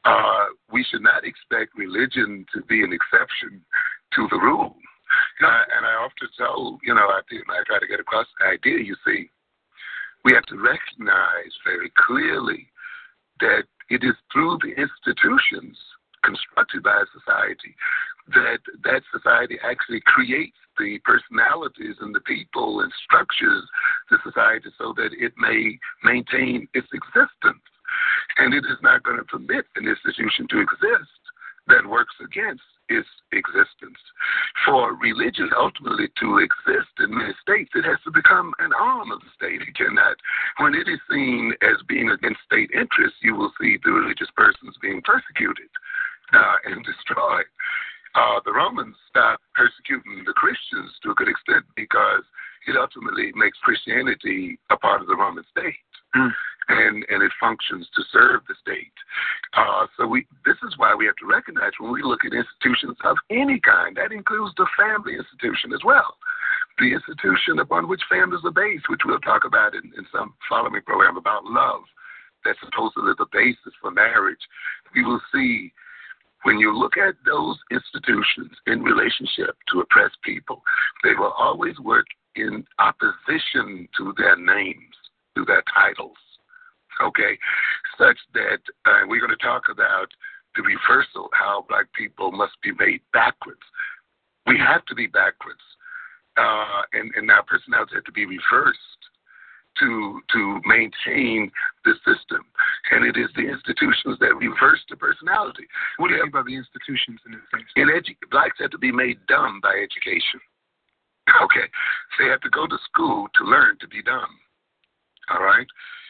we should not expect religion to be an exception to the rule. And I often tell, I try to get across the idea, you see, we have to recognize very clearly that it is through the institutions constructed by a society that society actually creates the personalities and the people and structures the society so that it may maintain its existence. And it is not going to permit an institution to exist that works against its existence. For religion ultimately to exist in many states, it has to become an arm of the state. It cannot, when it is seen as being against state interests, you will see the religious persons being persecuted and destroyed. The Romans stopped persecuting the Christians to a good extent because it ultimately makes Christianity a part of the Roman state. And it functions to serve the state. This is why we have to recognize when we look at institutions of any kind, that includes the family institution as well. The institution upon which families are based, which we'll talk about in some following program about love, that's supposedly the basis for marriage. We will see when you look at those institutions in relationship to oppressed people, they will always work in opposition to their names, to their titles, okay, such that we're going to talk about the reversal, how black people must be made backwards. We have to be backwards, and our personalities have to be reversed to maintain the system. And it is the institutions that reverse the personality. What do you mean by the institutions in this case? Blacks have to be made dumb by education. Okay, they have to go to school to learn to be dumb. All right,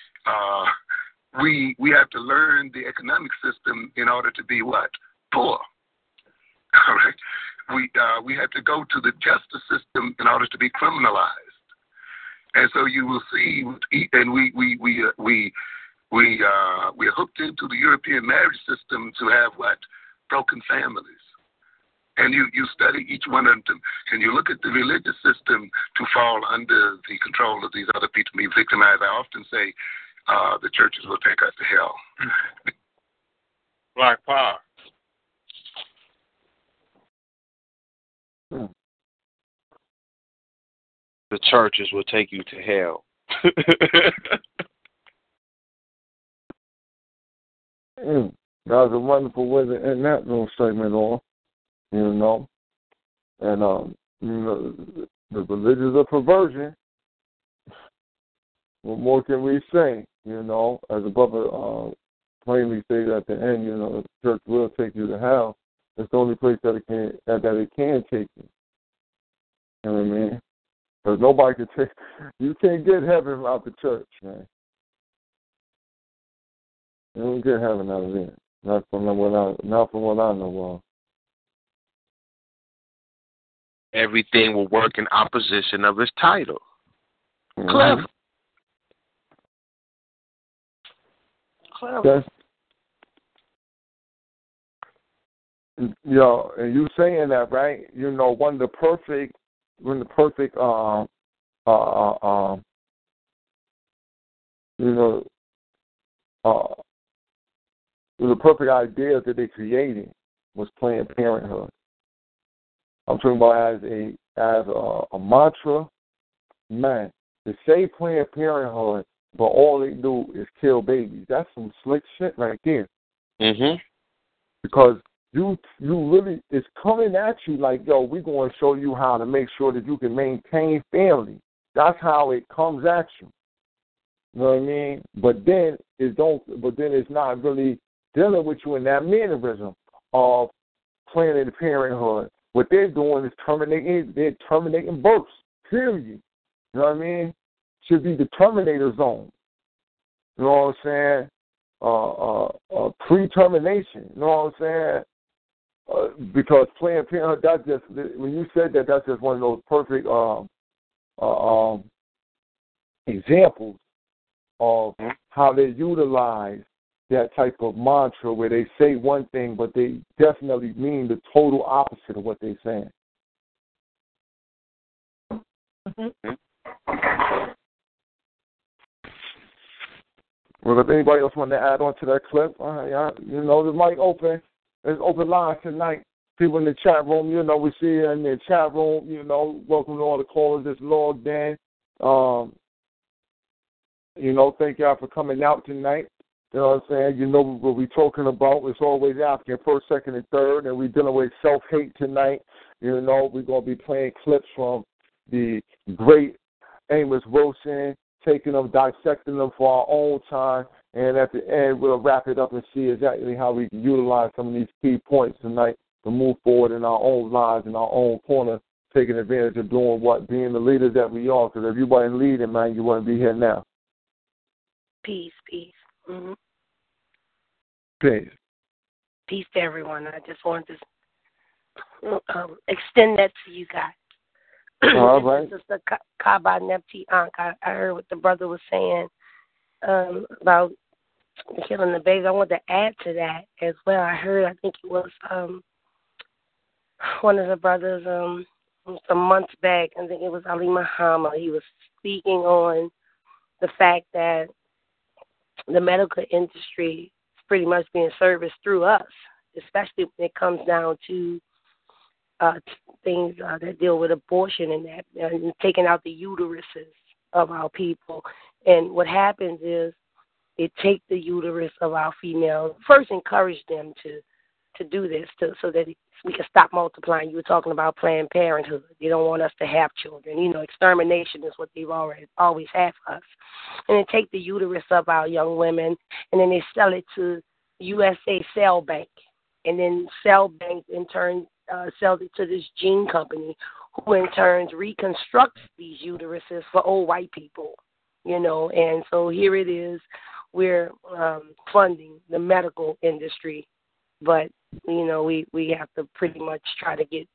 we have to learn the economic system in order to be what? Poor. All right, we have to go to the justice system in order to be criminalized. And so you will see, and we're hooked into the European marriage system to have what? Broken families. And you study each one of them, and you look at the religious system to fall under the control of these other people, be victimized. I often say the churches will take us to hell. Black power. The churches will take you to hell. That was a wonderful way to end that little segment on. And the religions of perversion. What more can we say? As the brother plainly stated at the end, the church will take you to hell. It's the only place that it can take you. You know what I mean? Because nobody can take. You can't get heaven out the church, man. You don't get heaven out of there. Not from what I know of. Everything will work in opposition of its title. Mm-hmm. Clever. And you saying that, right? When the perfect the perfect idea that they created was Planned Parenthood. I'm talking about as a mantra, man. They say Planned Parenthood, but all they do is kill babies. That's some slick shit right there. Mhm. Because you really, it's coming at you like, yo, we're going to show you how to make sure that you can maintain family. That's how it comes at you. You know what I mean? But then it's not really dealing with you in that mannerism of Planned Parenthood. What they're doing is terminating births, period. You know what I mean? Should be the Terminator zone. You know what I'm saying? Pre-termination. You know what I'm saying? Because Planned Parenthood, that's just, when you said that, that's just one of those perfect examples of how they utilize that type of mantra where they say one thing, but they definitely mean the total opposite of what they're saying. Well, if anybody else want to add on to that clip, you know, the mic open. There's open lines tonight. People in the chat room, you know, we see you in the chat room, you know, welcome to all the callers that's logged in. You know, thank y'all for coming out tonight. You know what I'm saying? You know what we're talking about. It's always African first, second, and third, and we're dealing with self-hate tonight. You know, we're going to be playing clips from the great Amos Wilson, taking them, dissecting them for our own time, and at the end we'll wrap it up and see exactly how we can utilize some of these key points tonight to move forward in our own lives, in our own corner, taking advantage of doing what, being the leaders that we are, because if you wasn't leading, man, you wouldn't be here now. Peace. Mm-hmm. Peace. Peace to everyone. I just wanted to extend that to you guys. All right. This is the Kaba Nepti Ankh. I heard what the brother was saying about killing the babies. I want to add to that as well. I think it was one of the brothers some months back. I think it was Ali Muhammad. He was speaking on the fact that the medical industry is pretty much being serviced through us, especially when it comes down to things that deal with abortion and that, and taking out the uteruses of our people. And what happens is it takes the uterus of our females, first encourage them to do this so that we can stop multiplying. You were talking about Planned Parenthood. They don't want us to have children. You know, extermination is what they've always had for us. And they take the uterus of our young women, and then they sell it to USA Cell Bank. And then Cell Bank, in turn, sells it to this gene company, who in turn reconstructs these uteruses for old white people. You know, and so here it is. We're funding the medical industry, but you know, we have to pretty much try to get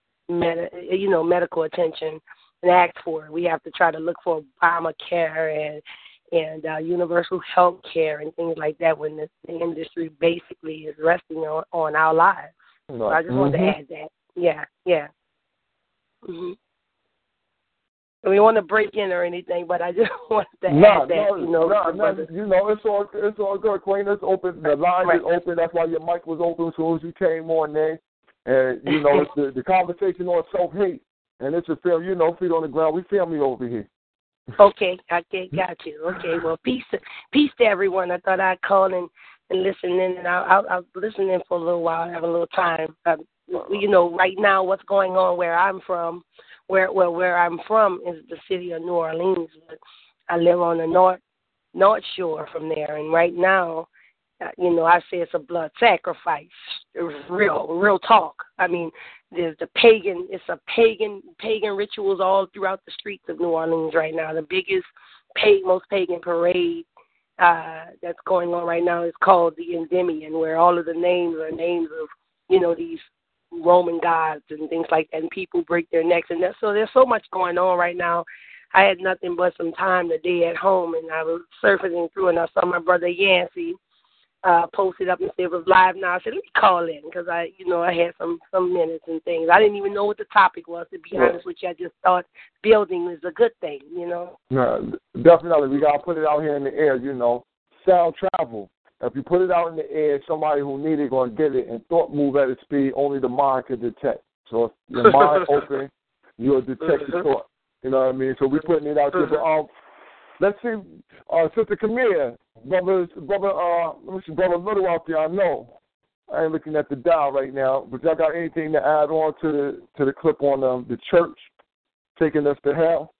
medical attention and ask for it. We have to try to look for Obamacare and universal health care and things like that when the industry basically is resting on our lives. Right. So I just wanted to add that. Yeah. Mm-hmm. We want to break in or anything, but I just wanted to add that. You know, it's all good, Queen. It's open. The line is open. That's why your mic was open as soon as you came on there. And you know, it's the conversation on self-hate, and it's a film. You know, feet on the ground. We family over here. Okay, got you. Okay, well, peace to everyone. I thought I'd call and listen in, and I'll listen in for a little while. I have a little time. You know, right now, what's going on where I'm from. Where I'm from is the city of New Orleans. But I live on the north shore from there, and right now, you know, I say it's a blood sacrifice. It's real talk. I mean, there's pagan rituals all throughout the streets of New Orleans right now. The biggest, most pagan parade that's going on right now is called the Endymion, where all of the names are names of, you know, these Roman gods and things like that, and people break their necks, and so there's so much going on right now. I had nothing but some time today at home, and I was surfacing through, and I saw my brother Yancey posted up and said it was live now. I said, let me call in, because I had some minutes and things. I didn't even know what the topic was, to be honest with you. I just thought building was a good thing, you know. No, definitely. We got to put it out here in the air, you know. Sound travel. If you put it out in the air, somebody who needs it going to get it, and thought move at a speed only the mind can detect. So if your mind open, you'll detect the thought. You know what I mean? So we're putting it out there. But, let's see, Sister Camille, brother Little out there, I know. I ain't looking at the dial right now, but y'all got anything to add on to the clip on the church taking us to hell?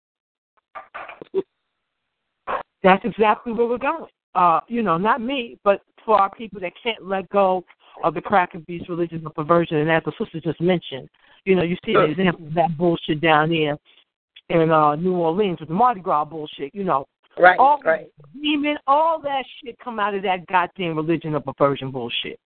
That's exactly where we're going. You know, not me, but for our people that can't let go of the crack and beast religion of perversion. And as the sister just mentioned, you know, you see an example of that bullshit down here in New Orleans with the Mardi Gras bullshit, you know. Right. Demon, all that shit come out of that goddamn religion of perversion bullshit.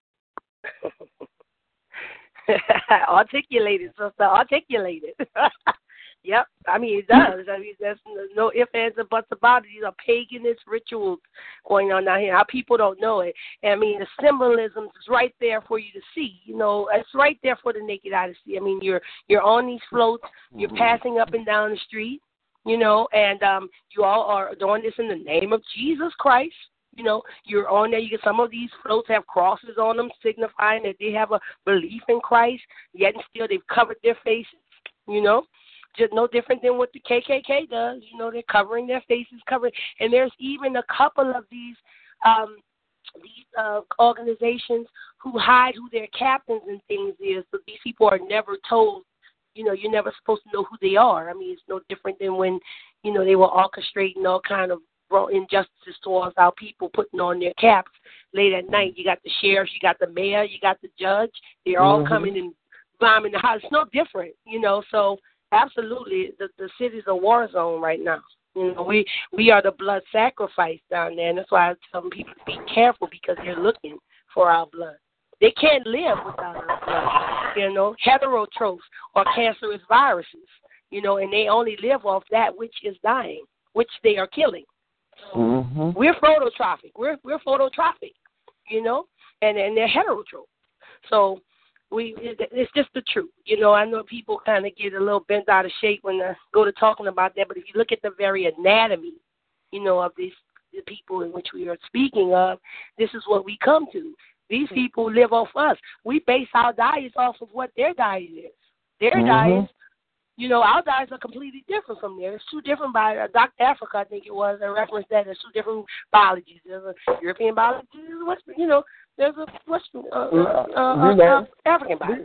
Articulated, sister, articulated. Yep, I mean, it does. I mean, there's no ifs, ands, or buts about it. These are paganist rituals going on down here. Our people don't know it. And, I mean, the symbolism is right there for you to see. You know, it's right there for the naked eye to see. I mean, you're on these floats. You're passing up and down the street, you know, and you all are doing this in the name of Jesus Christ. You're on there. You get some of these floats have crosses on them, signifying that they have a belief in Christ. Yet and still, they've covered their faces. Just no different than what the KKK does. They're covering their faces, And there's even a couple of these organizations who hide who their captains and things is. So these people are never told. You're never supposed to know who they are. I mean, it's no different than when they were orchestrating all kind of injustices towards our people, putting on their caps late at night. You got the sheriffs, you got the mayor, you got the judge. They're all coming and bombing the house. It's no different, So absolutely, the city's a war zone right now. We are the blood sacrifice down there, and that's why I tell people to be careful because they're looking for our blood. They can't live without our blood, heterotrophs or cancerous viruses, and they only live off that which is dying, which they are killing. We're phototrophic. We're phototrophic, and they're heterotroph. So it's just the truth. I know people kind of get a little bent out of shape when they go to talking about that, but if you look at the very anatomy, of the people in which we are speaking of, this is what we come to. These people live off us. We base our diets off of what their diet is. Their diets, our diets are completely different from theirs. It's two different biologies. Dr. Africa, I think it was, a reference that there's two different biologies. There's a European biology, there's a Western, African biology.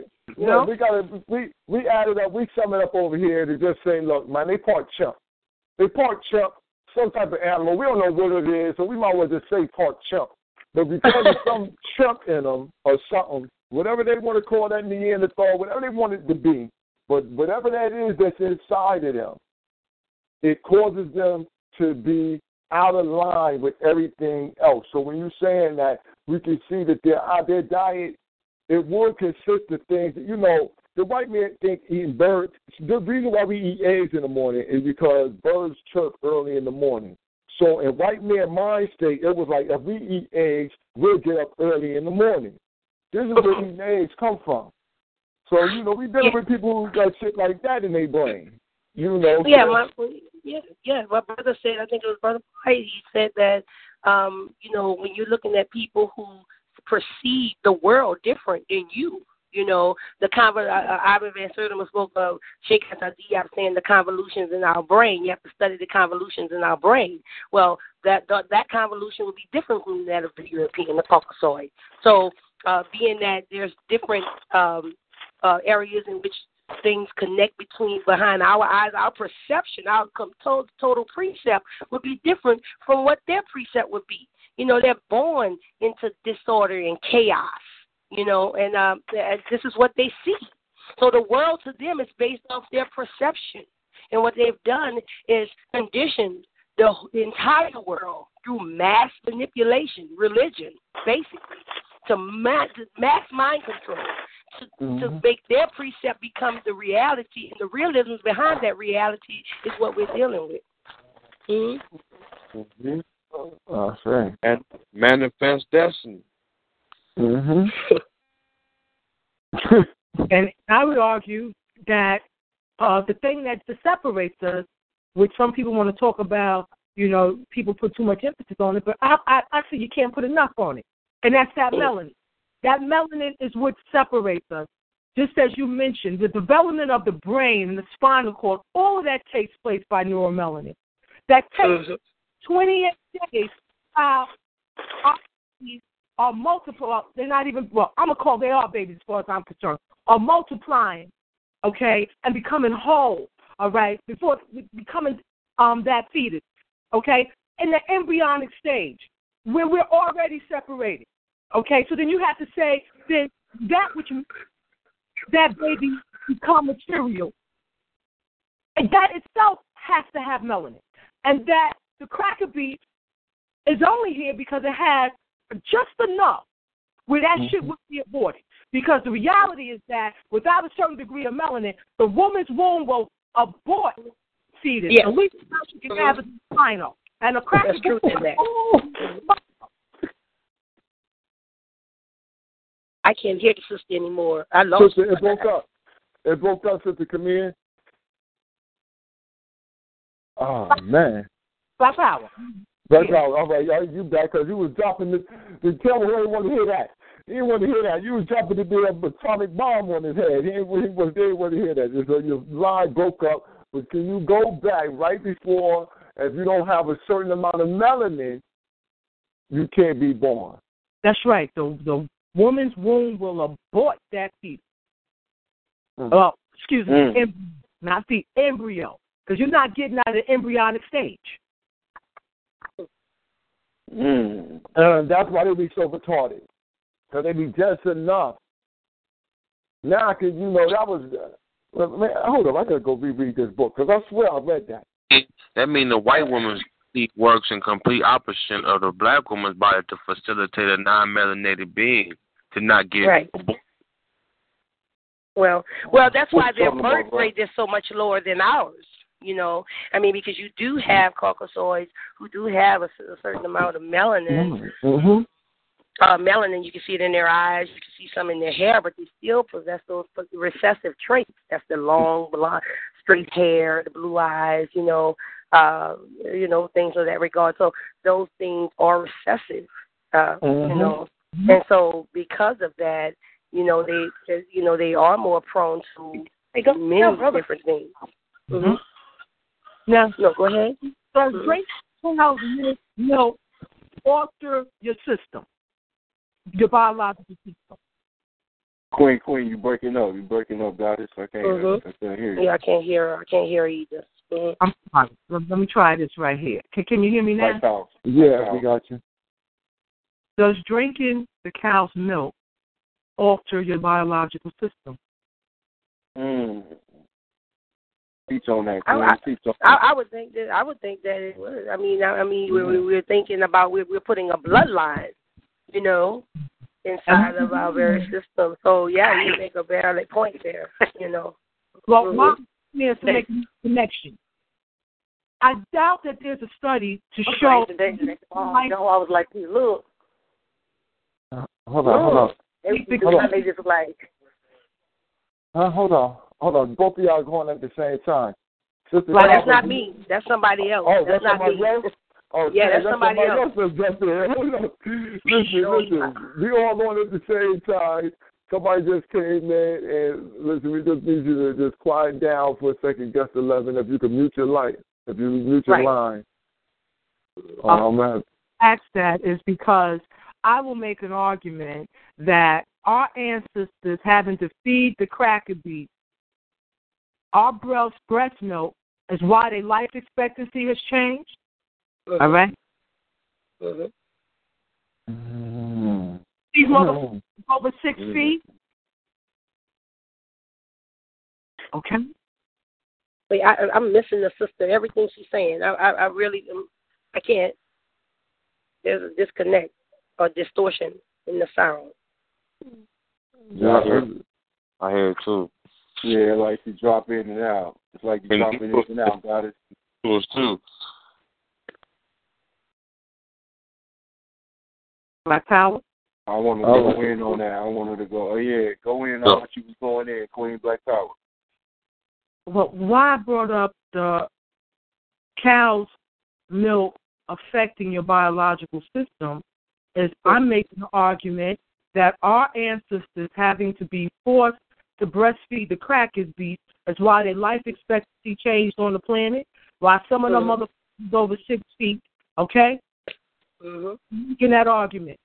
We added up, we sum it up over here to just say, look, man, they part chimp. They part chimp, some type of animal. We don't know what it is, so we might as well just say part chimp. But because there's some chimp in them or something, whatever they want to call that Neanderthal, whatever they want it to be, but whatever that is that's inside of them, it causes them to be out of line with everything else. So when you're saying that, we can see that their diet, it would consist of things that, the white man think eating birds. The reason why we eat eggs in the morning is because birds chirp early in the morning. So in white man mind state, it was like if we eat eggs, we'll get up early in the morning. This is where eating eggs come from. So, we dealing with people who got shit like that in their brain. Yeah, my brother said, I think it was Brother White, he said that, when you're looking at people who perceive the world different than you, Ivan Van Sertima spoke of Sheikh Diab saying the convolutions in our brain. You have to study the convolutions in our brain. Well, that convolution would be different from that of the European, the Caucasoid. So, being that there's different areas in which things connect behind our eyes, our perception, our total precept would be different from what their precept would be. They're born into disorder and chaos, and this is what they see. So the world to them is based off their perception. And what they've done is conditioned the entire world through mass manipulation, religion, basically, to mass mind control. To make their precept become the reality, and the realisms behind that reality is what we're dealing with. And manifest destiny. And I would argue that the thing that separates us, which some people want to talk about, people put too much emphasis on it, but I see you can't put enough on it, and that's that melanin. That melanin is what separates us. Just as you mentioned, the development of the brain and the spinal cord, all of that takes place by neuromelanin. That takes 28 days. Our babies are multiple. They're not even, they are babies as far as I'm concerned, are multiplying, okay, and becoming whole, all right, before becoming that fetus, okay, in the embryonic stage, where we're already separated. Okay, so then you have to say that that baby become material, and that itself has to have melanin, and that the cracker beet is only here because it has just enough where that shit would be aborted. Because the reality is that without a certain degree of melanin, the woman's womb will abort fetus. Yes. At least she can have a spinal, and a cracker beet. I can't hear the sister anymore. I lost Sister, it broke up. It broke up, Sister Camille. Oh, man. Black power. That's all right. You back because you was dropping the tell me who didn't want to hear that. He didn't want to hear that. You was dropping the damn atomic bomb on his head. He didn't want to hear that. So your line broke up. But can you go back right before, if you don't have a certain amount of melanin, you can't be born. That's right. The woman's womb will abort that fetus. Excuse me, not the embryo, because you're not getting out of the embryonic stage. That's why they be so retarded, because they be just enough. Now, that was. Man, hold on, I gotta go reread this book because I swear I read that. That means the white woman's body works in complete opposite of the black woman's body to facilitate a non-melanated being to not get born. Well, that's why their birth rate is so much lower than ours. Because you do have Caucasoids who do have a certain amount of melanin. Melanin, you can see it in their eyes, you can see some in their hair, but they still possess those recessive traits. That's the long, blonde, straight hair, the blue eyes, things of that regard. So those things are recessive, and so because of that, they are more prone to many different things. Now, no, go ahead. So drink milk alter your system, your biological system. Queen, you breaking up. You breaking up, Goddess. I can't hear you. Yeah, I can't hear either. I'm sorry. Let me try this right here. Can you hear me now? Yeah, we got you. Does drinking the cow's milk alter your biological system? Teach on that. I would think that it would. We're thinking about we're putting a bloodline, inside of our very system. So yeah, you make a valid point there. Well, my is to make a connection. I doubt that there's a study to show. I was like, look. Hold on. They just like. Hold on. Both of y'all going at the same time. That's not me. That's somebody else. Oh, that's not me. Else? Oh, yeah, that's somebody else. Listen, we all going at the same time. Somebody just came in, and listen, we just need you to just quiet down for a second, guest 11, if you can mute your light, if you mute your line. Man. Ask that is because I will make an argument that our ancestors having to feed the cracker beet, our breast milk, is why their life expectancy has changed. All right? These motherfuckers over 6 feet. Okay. Wait, I'm missing the sister. Everything she's saying, I really, I can't. There's a disconnect or distortion in the sound. Yeah, I hear it too. Yeah, like you drop in and out. It's like you drop in and out. Got it. Yours too. Black Power? I want to go in on that. I wanted to go. Oh, yeah, go in on what you was going in, Queen Black Power. Well, why I brought up the cow's milk affecting your biological system is I'm making the argument that our ancestors having to be forced to breastfeed the crackers beef is why their life expectancy changed on the planet, why some of them motherfuckers over 6 feet, okay? Making that argument.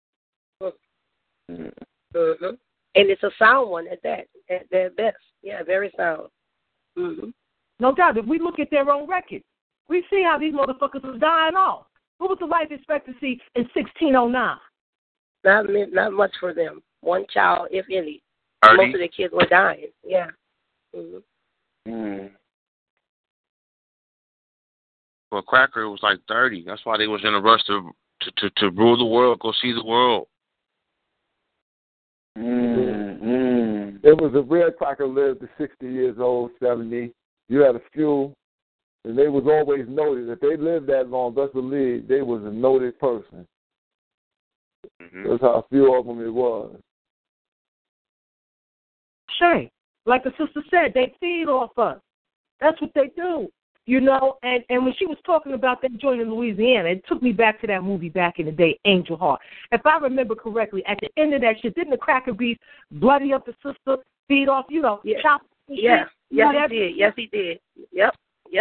And it's a sound one at that, at their best. Yeah, very sound. No doubt. If we look at their own record, we see how these motherfuckers was dying off. What was the life expectancy in 1609? Not much for them. One child, if any. 30. Most of the kids were dying. Yeah. For Cracker, it was like 30. That's why they was in a rush to rule the world, go see the world. It was a rare Cracker lived to 60 years old, 70. You had a few, and they was always noted. If they lived that long, best believe they was a noted person. That's how a few of them it was. Sure. Like the sister said, they feed off us. That's what they do. you know. And when she was talking about that joint in Louisiana, it took me back to that movie back in the day, Angel Heart. If I remember correctly, at the end of that shit, didn't the cracker beef bloody up the sister, feed off, you know, chop? Yeah, yes, he did. Yes, he did. Yep.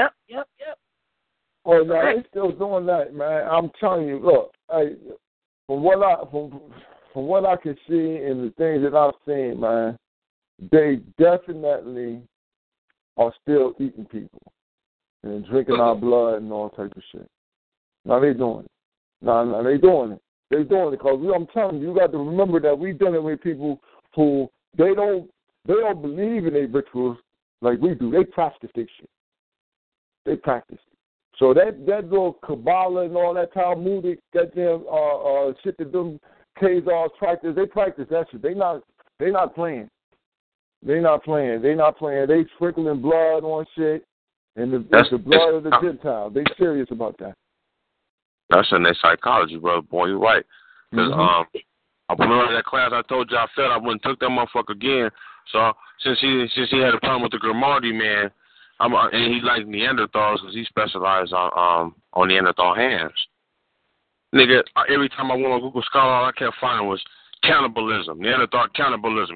Oh, no, they still doing that, man. I'm telling you, look, from what I can see and the things that I've seen, man, they definitely are still eating people and drinking our blood and all type of shit. Now they doing it. No, they doing it. They doing it because I'm telling you, you got to remember that we dealing with people who they don't believe in their rituals like we do. They practice this shit. They practice it. So that little Kabbalah and all that Talmudic, that damn shit that them Khazars practice, they practice that shit. They not playing. They not playing. They sprinkling blood on shit and the blood of the Gentiles. They serious about that. That's in their psychology, brother. Boy, you're right. Because I remember that class I told you I felt I wouldn't took that motherfucker again. So since he had a problem with the Grimaldi man, and he liked Neanderthals because he specialized on Neanderthal hands. Nigga, every time I went on Google Scholar, all I kept finding was cannibalism. Neanderthal cannibalism.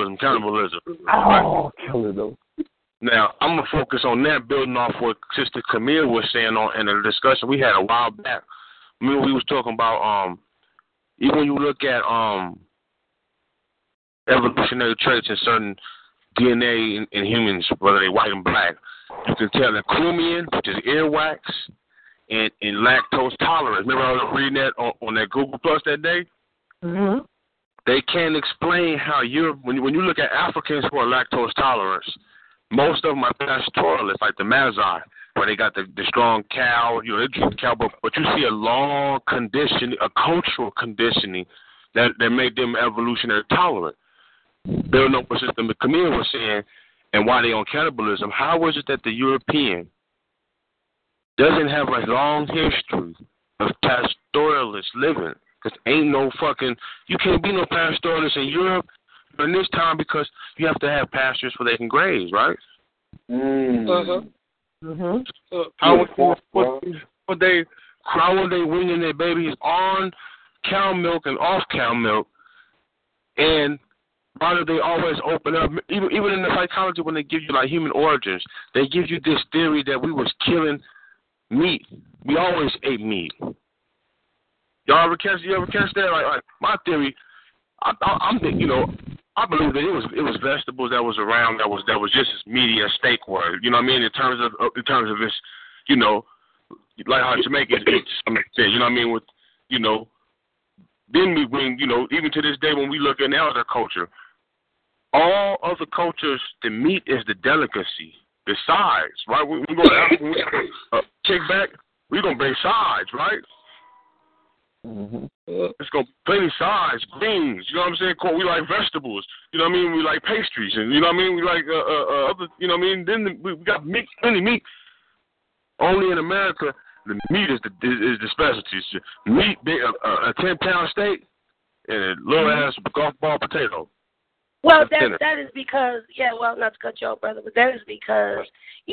Oh, killing them. Now, I'm going to focus on that, building off what Sister Camille was saying in the discussion we had a while back. I mean, we was talking about, even when you look at evolutionary traits in certain DNA in humans, whether they're white and black, you can tell that Chromium, which is earwax, and lactose tolerance. Remember I was reading that on that Google Plus that day? Mm-hmm. They can't explain how when you look at Africans who are lactose tolerant, most of them are pastoralists, like the Mazai, where they got the strong cow, they drink cow, but you see a long condition, a cultural conditioning that made them evolutionary tolerant. Building up what Sister Camille was saying, and why they on cannibalism, how is it that the European doesn't have a long history of pastoralist living? Because ain't no fucking, you can't be no pastoralist in Europe in this time because you have to have pastures where they can graze, right? How would they weaning their babies on cow milk and off cow milk? And why do they always open up? Even in the psychology, when they give you like human origins, they give you this theory that we was killing meat. We always ate meat. You ever catch that? Like my theory, I'm thinking, I believe that it was vegetables that was around that was just as meaty as steak were. You know what I mean? In terms of its, like how Jamaicans eat some extent. You know what I mean? With then we bring, even to this day when we look at our culture, all other cultures, the meat is the delicacy, the sides, right? We go to Africa, kick back, we're going to bring sides, right? Mm-hmm. It's going to be plenty sides, greens, you know what I'm saying? We like vegetables, you know what I mean? We like pastries, and you know what I mean? We like other, you know what I mean? Then we got meat, plenty meat. Only in America, the meat is the specialty. Meat, a 10-pound steak, and a little ass golf ball potato. Well, that is because, not to cut you off, brother, but that is because,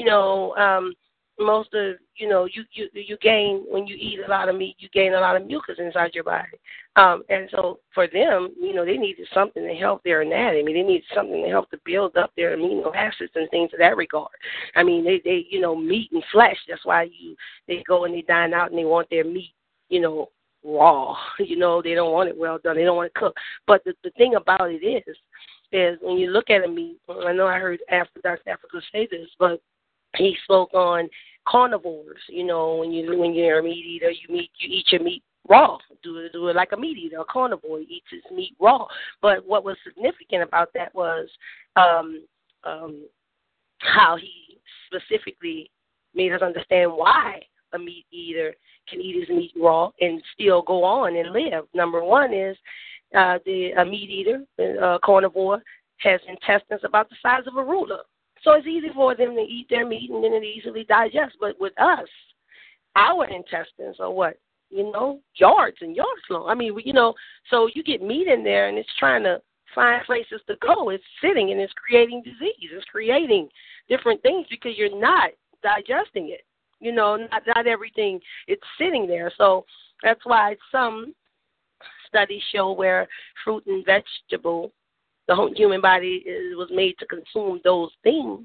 most of, you gain, when you eat a lot of meat, you gain a lot of mucus inside your body. And so for them, they needed something to help their anatomy. They needed something to help to build up their amino acids and things of that regard. I mean, they meat and flesh. That's why they go and they dine out and they want their meat, raw. They don't want it well done. They don't want it cooked. But the thing about it is when you look at a meat, I know I heard Dr. Africa say this, but he spoke on carnivores. When you're a meat eater, you eat your meat raw. Do it like a meat eater. A carnivore eats his meat raw. But what was significant about that was how he specifically made us understand why a meat eater can eat his meat raw and still go on and live. Number one is a meat eater, a carnivore, has intestines about the size of a ruler. So it's easy for them to eat their meat and then it easily digests. But with us, our intestines are what? Yards and yards long. I mean, so you get meat in there and it's trying to find places to go. It's sitting and it's creating disease. It's creating different things because you're not digesting it. Not everything it's sitting there. So that's why some studies show where fruit and vegetable, the whole human body was made to consume those things,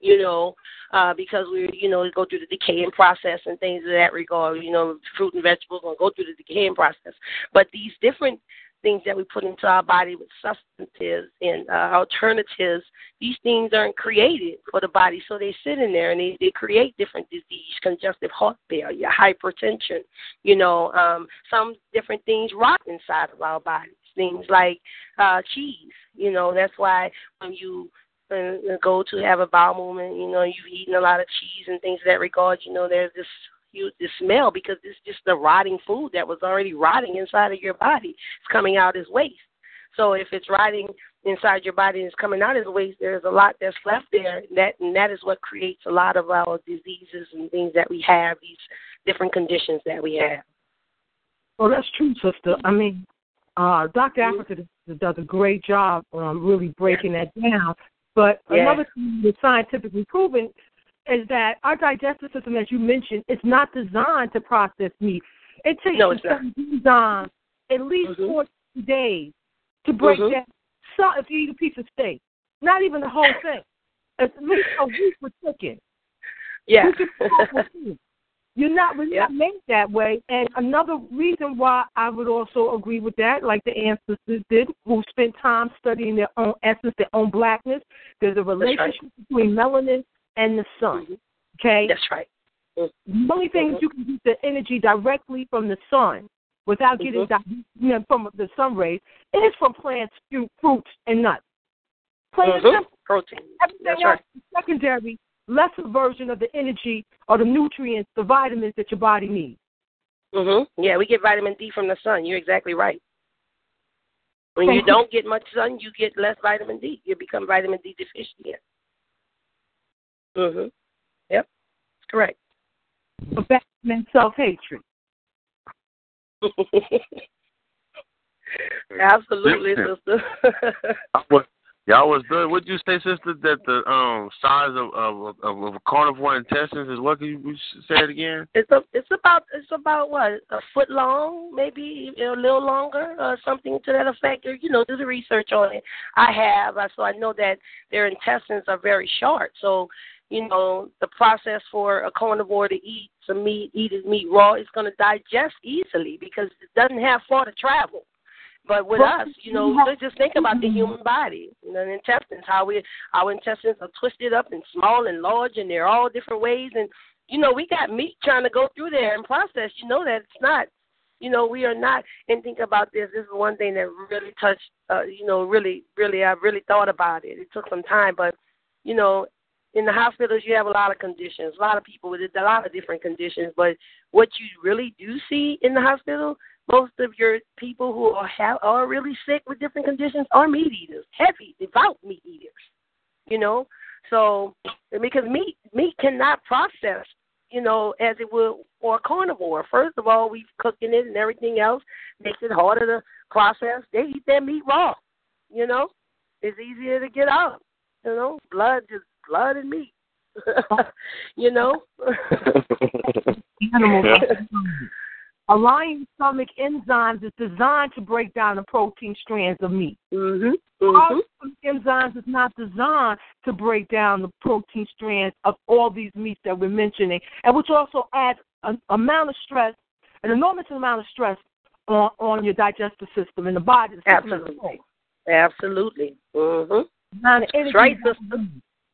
because we go through the decaying process and things of that regard. Fruit and vegetables going to go through the decaying process. But these different things that we put into our body with substances and alternatives, these things aren't created for the body, so they sit in there and they create different disease, congestive heart failure, hypertension, some different things rot inside of our bodies, things like cheese, that's why when you go to have a bowel movement, you've eaten a lot of cheese and things of that regard, there's this smell because it's just the rotting food that was already rotting inside of your body. It's coming out as waste. So if it's rotting inside your body and it's coming out as waste, there's a lot that's left there. And that is what creates a lot of our diseases and things that we have, these different conditions that we have. Well, that's true, sister. I mean, Dr. Africa does a great job really breaking that down. But another thing that's scientifically proven is that our digestive system, as you mentioned, is not designed to process meat. It takes enzymes at least 14 days to break down. So if you eat a piece of steak, not even the whole thing, it's at least a week with chicken. Yeah. We're not made that way. And another reason why I would also agree with that, like the ancestors did, who spent time studying their own essence, their own blackness, there's a relationship between melanin and the sun. Okay? That's right. The only thing you can get the energy directly from the sun without getting from the sun rays is from plants, fruits, and nuts. Protein. Everything else is secondary, lesser version of the energy or the nutrients, the vitamins that your body needs. Yeah, we get vitamin D from the sun. You're exactly right. When you don't get much sun, you get less vitamin D. You become vitamin D deficient. Yep, correct. But back to self-hatred. Absolutely, sister. Y'all was good. Would you say, sister, that the size of a carnivore intestines is what? Can you say it again? It's about what, a foot long, maybe a little longer, or something to that effect. Or do the research on it. I have, so I know that their intestines are very short. So the process for a carnivore to eat some meat, eat his meat raw, is going to digest easily because it doesn't have far to travel. But with us, let's just think about the human body, the intestines, how our intestines are twisted up and small and large, and they're all different ways. And, we got meat trying to go through there and process. That it's not, we are not. And think about this. This is one thing that really touched, really, I really thought about it. It took some time, but, in the hospitals, you have a lot of conditions, a lot of people with a lot of different conditions. But what you really do see in the hospital, most of your people who are really sick with different conditions are meat eaters, heavy, devout meat eaters, So because meat cannot process, as it would for a carnivore. First of all, we've cooking it and everything else makes it harder to process. They eat their meat raw, It's easier to get out, blood and meat, Animals. A lion's stomach enzymes is designed to break down the protein strands of meat. Our enzymes is not designed to break down the protein strands of all these meats that we're mentioning, and which also adds an enormous amount of stress on your digestive system and the body. Absolutely. That's right, sister.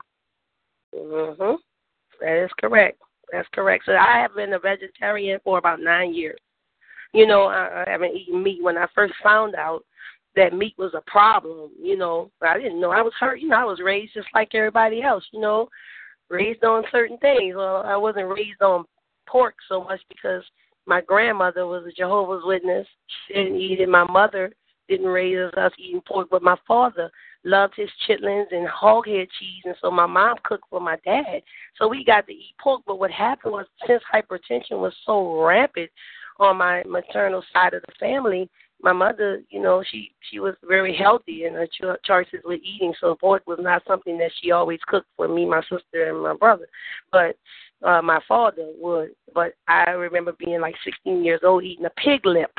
That is correct. That's correct. So I have been a vegetarian for about 9 years. I haven't eaten meat. When I first found out that meat was a problem, I didn't know. I was hurt. I was raised just like everybody else, raised on certain things. Well, I wasn't raised on pork so much because my grandmother was a Jehovah's Witness. She didn't eat it. My mother didn't raise us eating pork, but my father loved his chitlins and hoghead cheese, and so my mom cooked for my dad. So we got to eat pork, but what happened was since hypertension was so rampant on my maternal side of the family, my mother, she was very healthy in her choices with eating, so pork was not something that she always cooked for me, my sister, and my brother. But My father would, but I remember being like 16 years old eating a pig lip,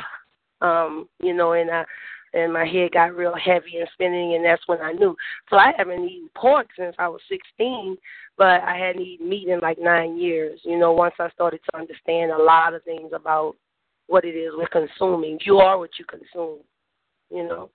and my head got real heavy and spinning, and that's when I knew. So I haven't eaten pork since I was 16, but I hadn't eaten meat in like 9 years. Once I started to understand a lot of things about what it is we're consuming. You are what you consume, you know.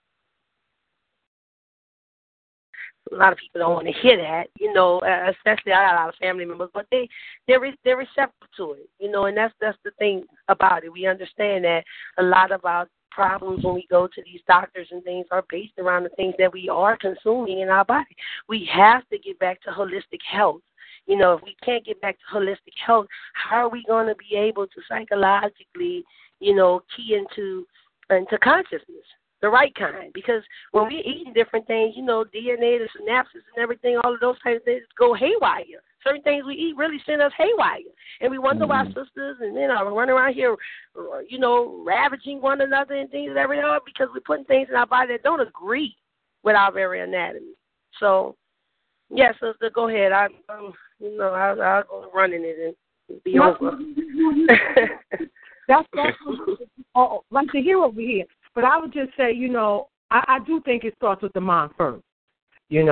A lot of people don't want to hear that, especially I got a lot of family members, but they're receptive to it, and that's the thing about it. We understand that a lot of our problems when we go to these doctors and things are based around the things that we are consuming in our body. We have to get back to holistic health. If we can't get back to holistic health, how are we going to be able to psychologically, key into consciousness? The right kind, because when we're eating different things, DNA, the synapses and everything, all of those types of things go haywire. Certain things we eat really send us haywire. And we wonder why sisters and are running around here, ravaging one another and things and everything, because we're putting things in our body that don't agree with our very anatomy. So, yeah, sister, go ahead. I'll go running it and be over. That's like to hear over here. But I would just say, I do think it starts with the mind first. You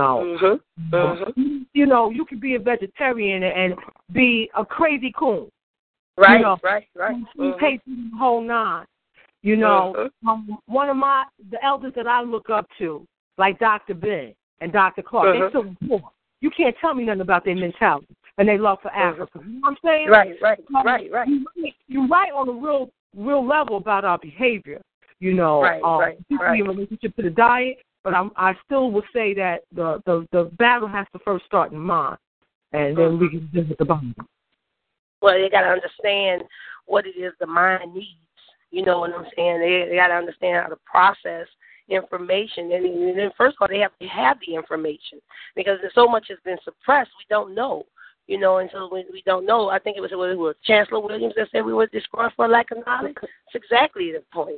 could be a vegetarian and be a crazy coon. Right, right. You pay the whole nine. One of the elders that I look up to, like Dr. Ben and Dr. Clark, they're so poor. You can't tell me nothing about their mentality and their love for Africa. You know what I'm saying? Right. You're right on the real level about our behavior. Right. In relationship to the diet, but I still would say that the battle has to first start in mind, and then we can visit the body. Well, they got to understand what it is the mind needs. You know what I'm saying? They got to understand how to process information, and then first of all, they have to have the information, because so much has been suppressed. We don't know. And so we don't know. I think it was Chancellor Williams that said we were destroyed for lack of knowledge. It's exactly the point.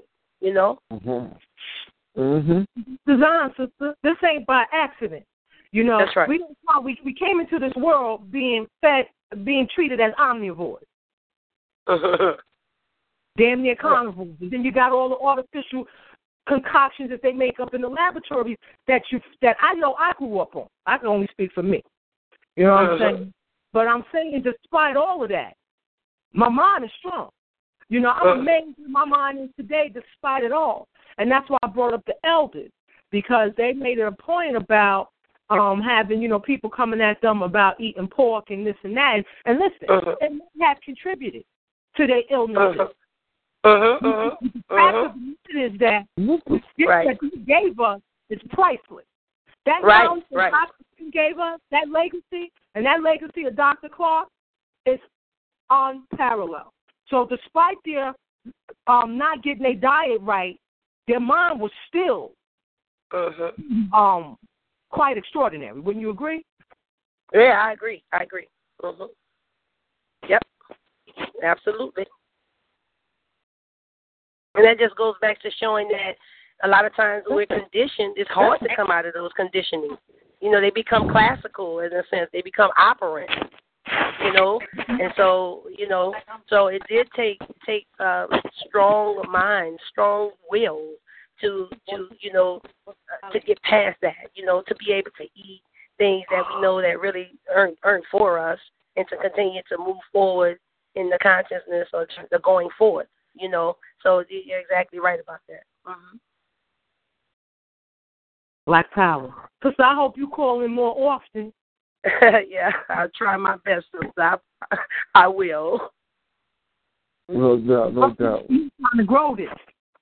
Design, sister. This ain't by accident. That's right. We came into this world being fed, being treated as omnivores. Damn near carnivores. And then you got all the artificial concoctions that they make up in the laboratories that I know I grew up on. I can only speak for me. You know what I'm saying? But I'm saying, despite all of that, my mind is strong. I'm amazed where my mind is today despite it all. And that's why I brought up the elders, because they made it a point about having, people coming at them about eating pork and this and that. And listen, and they have contributed to their illnesses. The fact of it is that the gift that he gave us is priceless. That knowledge that Dr. gave us, that legacy, and that legacy of Dr. Clark is unparalleled. So despite their not getting their diet right, their mind was still quite extraordinary. Wouldn't you agree? Yeah, I agree. Yep, absolutely. And that just goes back to showing that a lot of times when we're conditioned, it's hard to come out of those conditioning. They become classical in a sense. They become operant. And so, so it did take strong mind, strong will to get past that, to be able to eat things that we know that really earn for us, and to continue to move forward in the consciousness or the going forward, So you're exactly right about that. Black Power. Because I hope you call in more often. Yeah, I'll try my best. I will. No doubt. You're trying to grow this.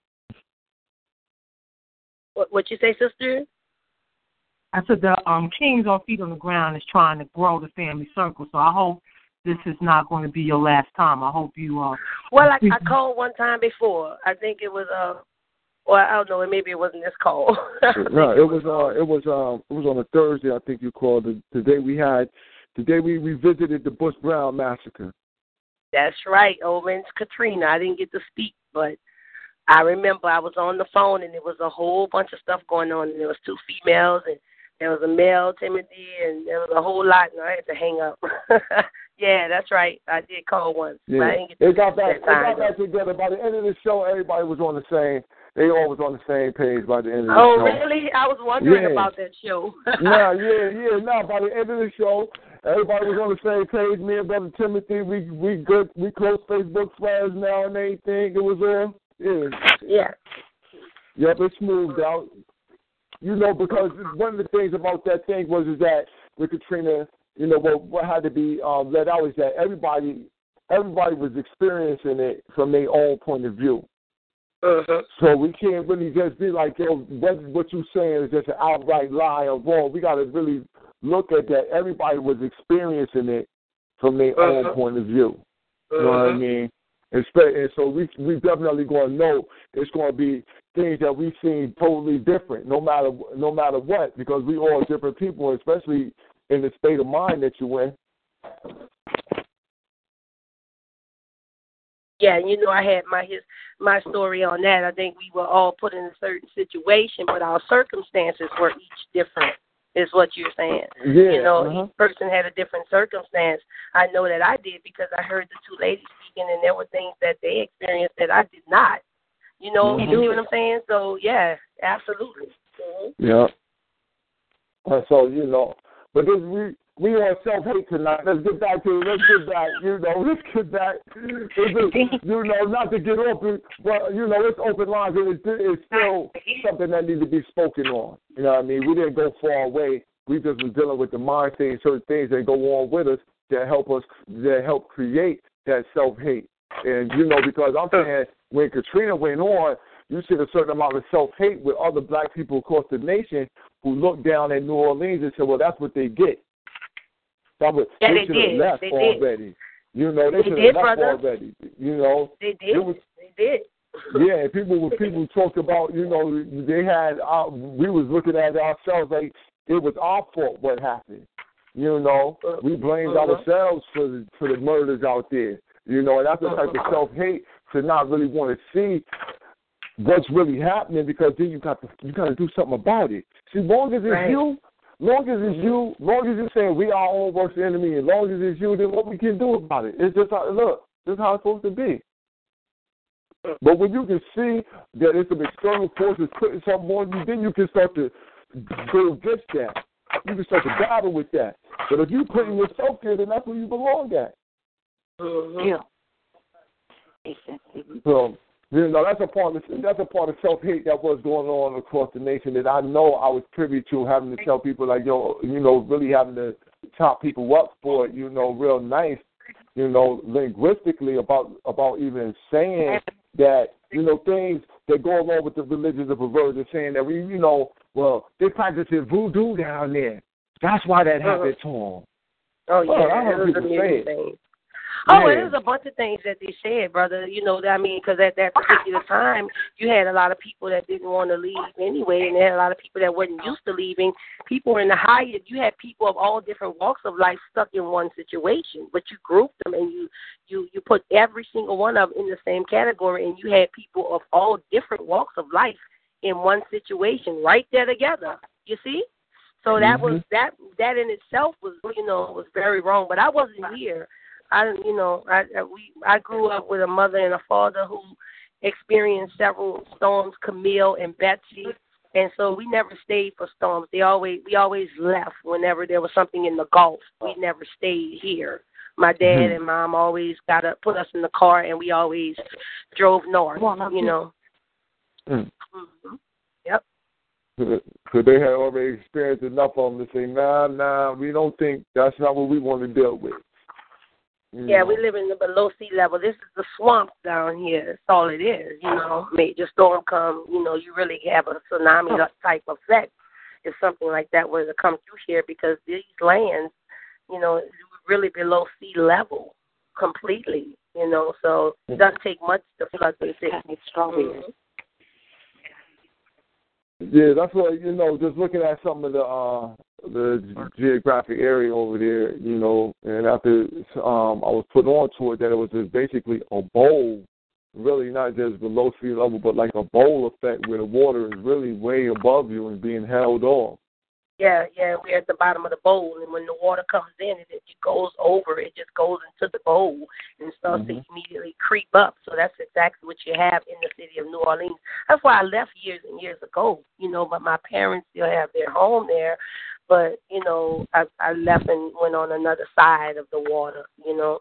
What you say, sister? I said the Kings on Feet on the Ground is trying to grow the family circle. So I hope this is not going to be your last time. I hope you are. Well, I called one time before. I think it was or I don't know, maybe it wasn't this call. No, it was on a Thursday. I think you called. Today we revisited the Bush Brown massacre. That's right. Owens Katrina. I didn't get to speak, but I remember I was on the phone and there was a whole bunch of stuff going on, and there was 2 females and there was a male, Timothy, and there was a whole lot, and I had to hang up. Yeah, that's right. I did call once. Yeah. But I didn't get They got back. that time, Together. By the end of the show, everybody was on the same. They all was on the same page by the end of the show. show. Oh, really? I was wondering about that show. No, No, by the end of the show, everybody was on the same page. Me and Brother Timothy, we good. We close Facebook friends now and everything. It was all. Yeah. Yep, it smoothed out. Because one of the things about that thing was that with Katrina, what had to be let out is that everybody was experiencing it from their own point of view. So we can't really just be like, what you're saying is just an outright lie or wrong. We got to really look at that. Everybody was experiencing it from their own point of view. You know what I mean? And so we definitely going to know it's going to be things that we've seen totally different, no matter what, because we all different people, especially in the state of mind that you're in. Yeah, I had my story on that. I think we were all put in a certain situation, but our circumstances were each different, is what you're saying. Yeah, Each person had a different circumstance. I know that I did because I heard the two ladies speaking, and there were things that they experienced that I did not. You see what I'm saying? So, yeah, absolutely. Yeah. So, but we on self-hate tonight. Let's get back. Not to get open, but, it's open lines, and it's still something that needs to be spoken on. You know what I mean? We didn't go far away. We just was dealing with the mindset and certain things that go on with us that help create that self-hate. And, because I'm saying when Katrina went on, you see a certain amount of self-hate with other black people across the nation who look down at New Orleans and say, well, that's what they get. They should have left already. They should have left already. They did. They did. Yeah, people talked about, they had, we was looking at ourselves like it was our fault what happened. We blamed ourselves for the murders out there. And that's the type of self-hate to not really want to see what's really happening, because then you got to do something about it. See, long as it's you're saying we are our own worst enemy, as long as it's you, then what we can do about it? It's just how this is how it's supposed to be. But when you can see that it's some external forces putting something on you, then you can start to go against that. You can start to battle with that. But if you're putting yourself there, then that's where you belong at. Yeah. Exactly. So, that's a part of self-hate that was going on across the nation that I know I was privy to, having to tell people like, really having to top people up for it, real nice, linguistically about even saying that, things that go along with the religions of perversion, saying that they practicing voodoo down there. That's why that happened to them. Oh, yeah. I heard people say it. Oh, and there's a bunch of things that they said, brother. Because at that particular time, you had a lot of people that didn't want to leave anyway, and there had a lot of people that weren't used to leaving. People in the Hyatt, you had people of all different walks of life stuck in one situation, but you grouped them and you put every single one of them in the same category, and you had people of all different walks of life in one situation right there together. You see? So that was that in itself was was very wrong. But I wasn't here. I grew up with a mother and a father who experienced several storms, Camille and Betsy, and so we never stayed for storms. We always left whenever there was something in the Gulf. We never stayed here. My dad and mom always put us in the car, and we always drove north. Yep. So they had already experienced enough of them to say, nah, we don't think that's not what we want to deal with. Yeah, we live in the below sea level. This is the swamp down here. That's all it is, Major storm come, you really have a tsunami type effect if something like that were to come through here, because these lands, really below sea level completely, so it doesn't take much to flood the city. It's strong. Yeah, that's what, just looking at some of the geographic area over there, and after I was put on to it that it was just basically a bowl, really not just below sea level, but like a bowl effect where the water is really way above you and being held off. Yeah, yeah, we're at the bottom of the bowl, and when the water comes in, it goes over. It just goes into the bowl and starts to immediately creep up. So that's exactly what you have in the city of New Orleans. That's why I left years and years ago, but my parents still have their home there. But, I left and went on another side of the water.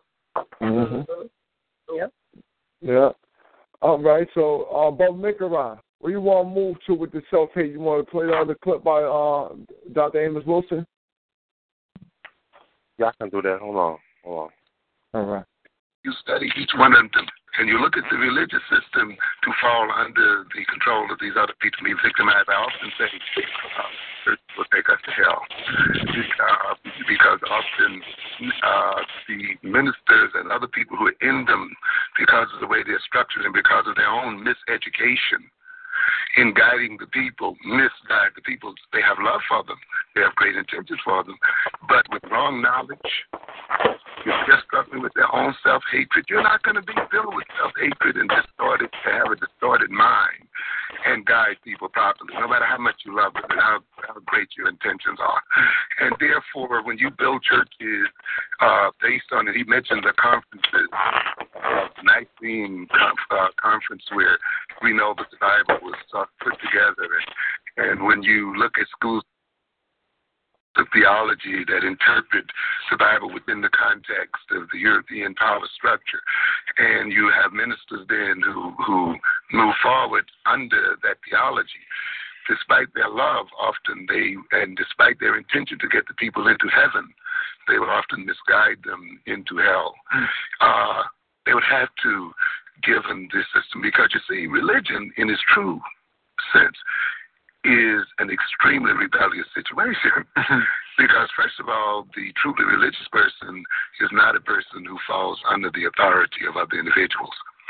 Yep. Yeah. All right, so, Bob Mikaran, where you want to move to with the self-hate? You want to play the clip by Dr. Amos Wilson? Yeah, I can do that. Hold on. All right. You study each one of them, and you look at the religious system to fall under the control of these other people, be victimized. I often say church will take us to hell because often the ministers and other people who are in them, because of the way they're structured and because of their own miseducation in guiding the people, misguide the people. They have love for them. They have great intentions for them. But with wrong knowledge, you're just struggling with their own self-hatred. You're not going to be filled with self-hatred and have a distorted mind and guide people properly, no matter how much you love them and how great your intentions are. And therefore, when you build churches based on it, he mentioned the conferences, Nicene conference where we know that the Bible was put together. And when you look at schools, the theology that interpret the Bible within the context of the European power structure. And you have ministers then who move forward under that theology. Despite their love, and despite their intention to get the people into heaven, they will often misguide them into hell. They would have to give them this system because, you see, religion in its true sense is an extremely rebellious situation because, first of all, the truly religious person is not a person who falls under the authority of other individuals.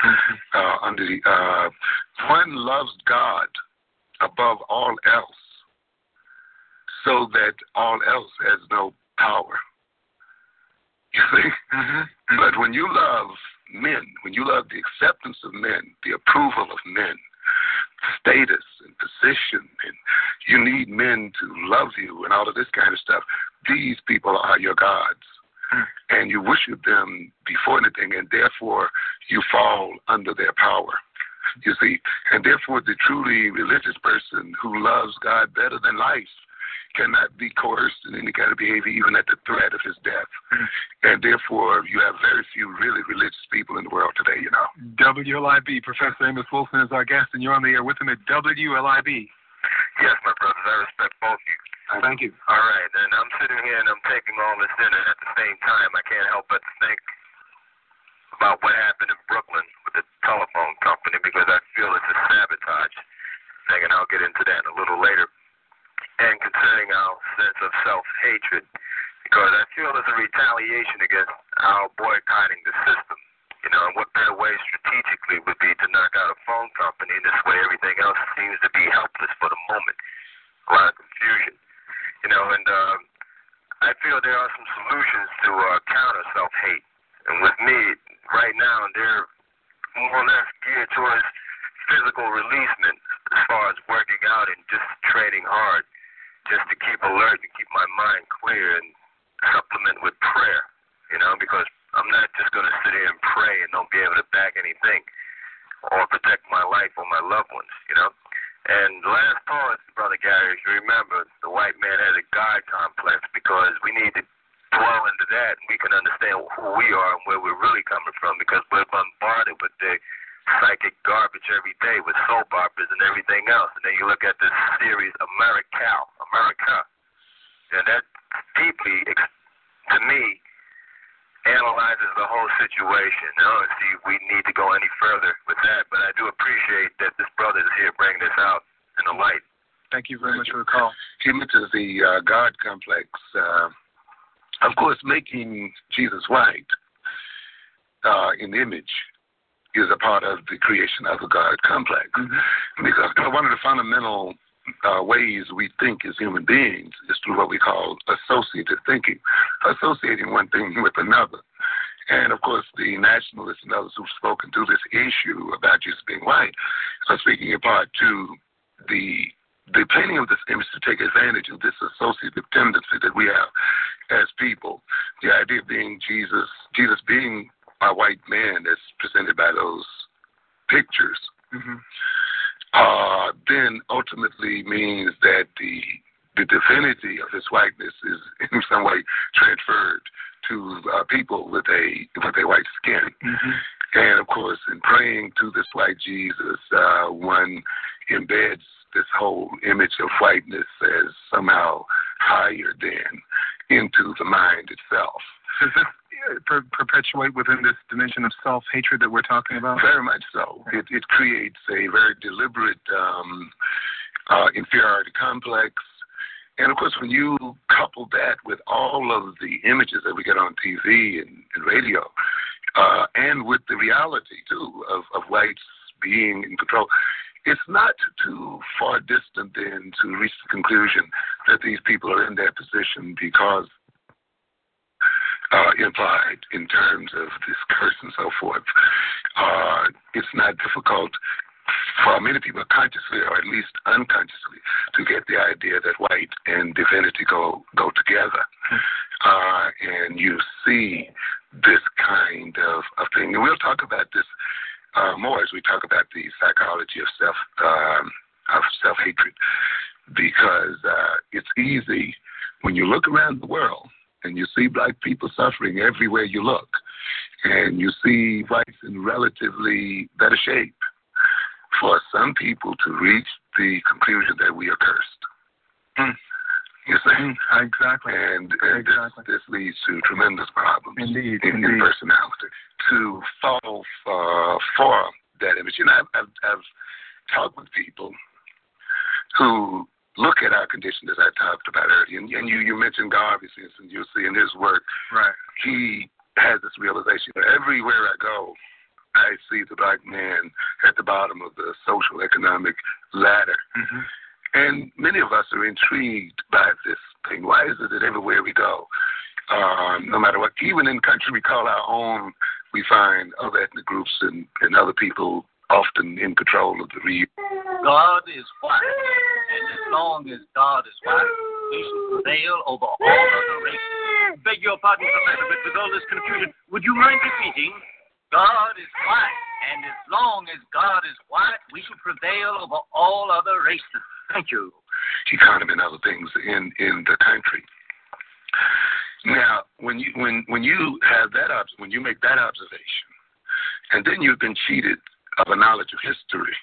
One loves God above all else so that all else has no power. You see? But when you love men, when you love the acceptance of men, the approval of men, status and position, and you need men to love you and all of this kind of stuff, these people are your gods. And you worship them before anything, and therefore you fall under their power. You see, and therefore the truly religious person who loves God better than life cannot be coerced in any kind of behavior, even at the threat of his death. And therefore, you have very few really religious people in the world today, WLIB, Professor Amos Wilson is our guest, and you're on the air with him at WLIB. Yes, my brothers, I respect both of you. Thank you. All right, and I'm sitting here and I'm taking all this in, and at the same time, I can't help but think about what happened in Brooklyn with the telephone company because I feel it's a sabotage thing, and I'll get into that a little later. And concerning our sense of self-hatred, because I feel it's a retaliation against our boycotting the system. And what better way strategically would be to knock out a phone company, and this way everything else seems to be helpless for the moment. A lot of confusion. And I feel there are some solutions to counter self-hate. And with me, right now, they're more or less geared towards physical releasement as far as working out and just training hard, just to keep alert and keep my mind clear and supplement with prayer, because I'm not just going to sit here and pray and don't be able to back anything or protect my life or my loved ones, And the last part, Brother Gary, if you remember, the white man has a God complex because we need to dwell into that and we can understand who we are and where we're really coming from because we're bombarded with the psychic garbage every day with soap operas and everything else. And then you look at this series, America, and that deeply, to me, analyzes the whole situation. I don't see we need to go any further with that, but I do appreciate that this brother is here bringing this out in the light. Thank you very much for the call. He mentions the God complex. Of course, making Jesus white in image is a part of the creation of the God complex. Because one of the fundamental ways we think as human beings is through what we call associative thinking, associating one thing with another. And, of course, the nationalists and others who've spoken to this issue about Jesus being white are speaking in part to the the painting of this image to take advantage of this associative tendency that we have as people. The idea being Jesus being a white man as presented by those pictures, then ultimately means that the divinity of his whiteness is in some way transferred to people with a white skin. And of course, in praying to this white Jesus, one embeds this whole image of whiteness as somehow higher than into the mind itself. Does it perpetuate within this dimension of self-hatred that we're talking about? Very much so. It creates a very deliberate inferiority complex. And of course, when you couple that with all of the images that we get on TV and radio, and with the reality, too, of whites being in control, it's not too far distant then to reach the conclusion that these people are in that position because implied in terms of this curse and so forth. It's not difficult for many people consciously or at least unconsciously to get the idea that white and divinity go together. And you see this kind of thing. And we'll talk about this more as we talk about the psychology of self-hatred, because it's easy when you look around the world and you see black people suffering everywhere you look, and you see whites in relatively better shape, for some people to reach the conclusion that we are cursed. You see? Exactly. And this leads to tremendous problems in personality. To fall for that image. You know, I've talked with people who look at our condition as I talked about earlier. And you mentioned Garvey, and you'll see in his work, right, he has this realization that everywhere I go, I see the black man at the bottom of the social economic ladder. And many of us are intrigued by this thing. Why is it that everywhere we go, no matter what, even in country we call our own, we find other ethnic groups and other people often in control of the region? God is white, and as long as God is white, he shall prevail over all other races. Beg your pardon, Professor, but with all this confusion, would you mind repeating? God is white, and as long as God is white, we shall prevail over all other races. Thank you. Economy and other things in the country. Now, when you have that when you make that observation, and then you've been cheated of a knowledge of history,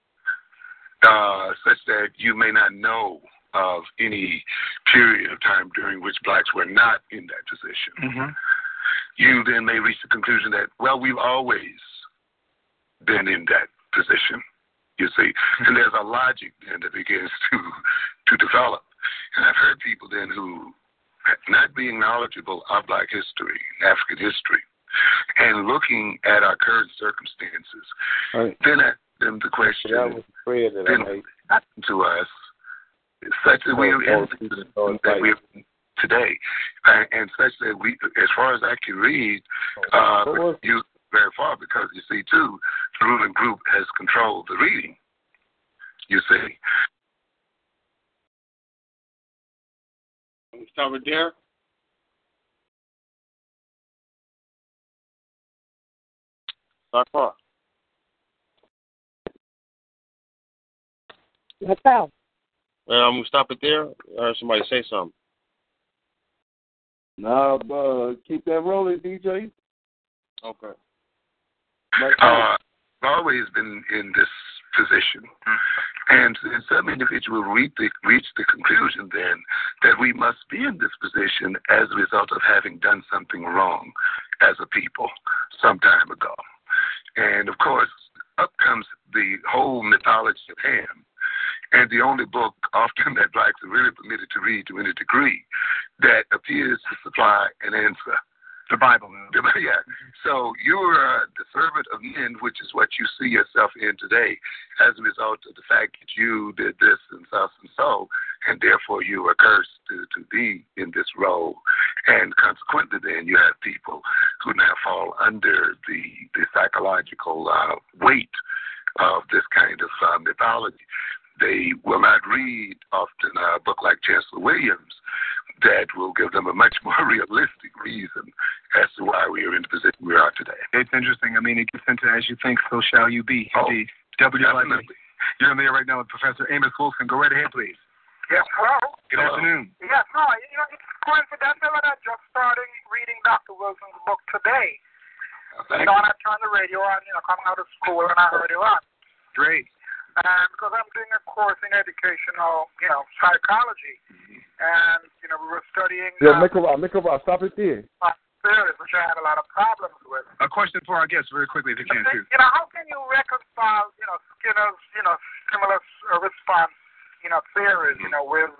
such that you may not know of any period of time during which blacks were not in that position. You then may reach the conclusion that, well, we've always been in that position, you see. And there's a logic then that begins to develop. And I've heard people then who, not being knowledgeable of black history, African history, and looking at our current circumstances, then ask them the question, then to us, such that we are in that we're today, and such that we, as far as I can read, you very far, because you see too, the ruling group has controlled the reading. You see. Stop it there. Stop far. What's that? I'm gonna stop it there. I heard somebody say something. Nah, keep that rolling, DJ. Okay. I've always been in this position, and some individuals reach the conclusion then that we must be in this position as a result of having done something wrong as a people some time ago. And of course, up comes the whole mythology of Ham. And the only book often that blacks are really permitted to read to any degree that appears to supply an answer. The Bible. Yeah. So you're the servant of men, which is what you see yourself in today as a result of the fact that you did this and so, and therefore you are cursed to be in this role. And consequently then you have people who now fall under the psychological weight of this kind of mythology. they will not read often a book like Chancellor Williams that will give them a much more realistic reason as to why we are in the position we are today. It's interesting. I mean, it gets into as you think, so shall you be. Indeed. Definitely. You're in there right now with Professor Amos Wilson. Go right ahead, please. Yes, hello. Good afternoon. Yes, hi. It's coincidental that I just started reading Dr. Wilson's book today. I turned the radio on, coming out of school, and I heard it on. Great. Because I'm doing a course in educational, psychology. Mm-hmm. And, we were studying... Yeah, make a stop it there. Theories, which I had a lot of problems with. A question for our guests very quickly, if you can, too. How can you reconcile, Skinner's, stimulus response, theories, with,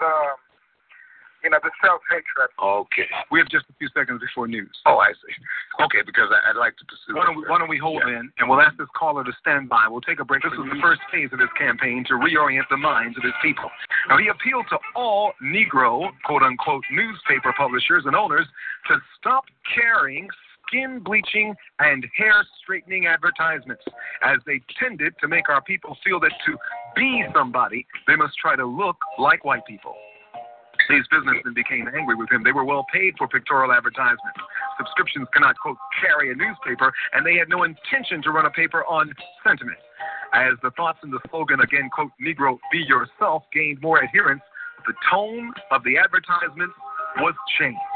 the self-hatred? Okay. We have just a few seconds before news. Oh, I see. Okay, because I'd like to pursue Why don't we hold in, and we'll ask this caller to stand by. We'll take a break. This was the first phase of his campaign to reorient the minds of his people. Now, he appealed to all Negro, quote-unquote, newspaper publishers and owners to stop carrying skin bleaching and hair straightening advertisements, as they tended to make our people feel that to be somebody, they must try to look like white people. These businessmen became angry with him. They were well paid for pictorial advertisements. Subscriptions cannot, quote, carry a newspaper, and they had no intention to run a paper on sentiment. As the thoughts in the slogan, again, quote, Negro, be yourself, gained more adherents, the tone of the advertisements was changed.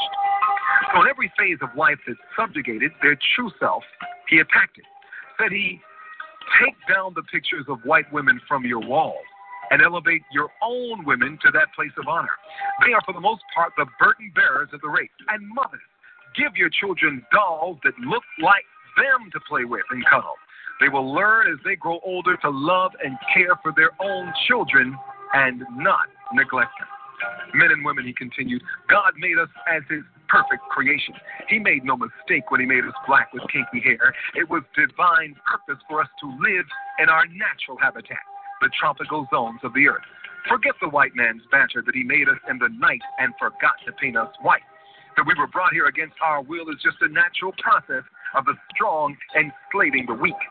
So in every phase of life that subjugated their true self, he attacked it. Said he, take down the pictures of white women from your walls and elevate your own women to that place of honor. They are, for the most part, the burden bearers of the race. And mothers, give your children dolls that look like them to play with and cuddle. They will learn as they grow older to love and care for their own children and not neglect them. Men and women, he continued, God made us as his perfect creation. He made no mistake when he made us black with kinky hair. It was divine purpose for us to live in our natural habitat, the tropical zones of the earth. Forget the white man's banter that he made us in the night and forgot to paint us white. That we were brought here against our will is just a natural process of the strong enslaving the weak.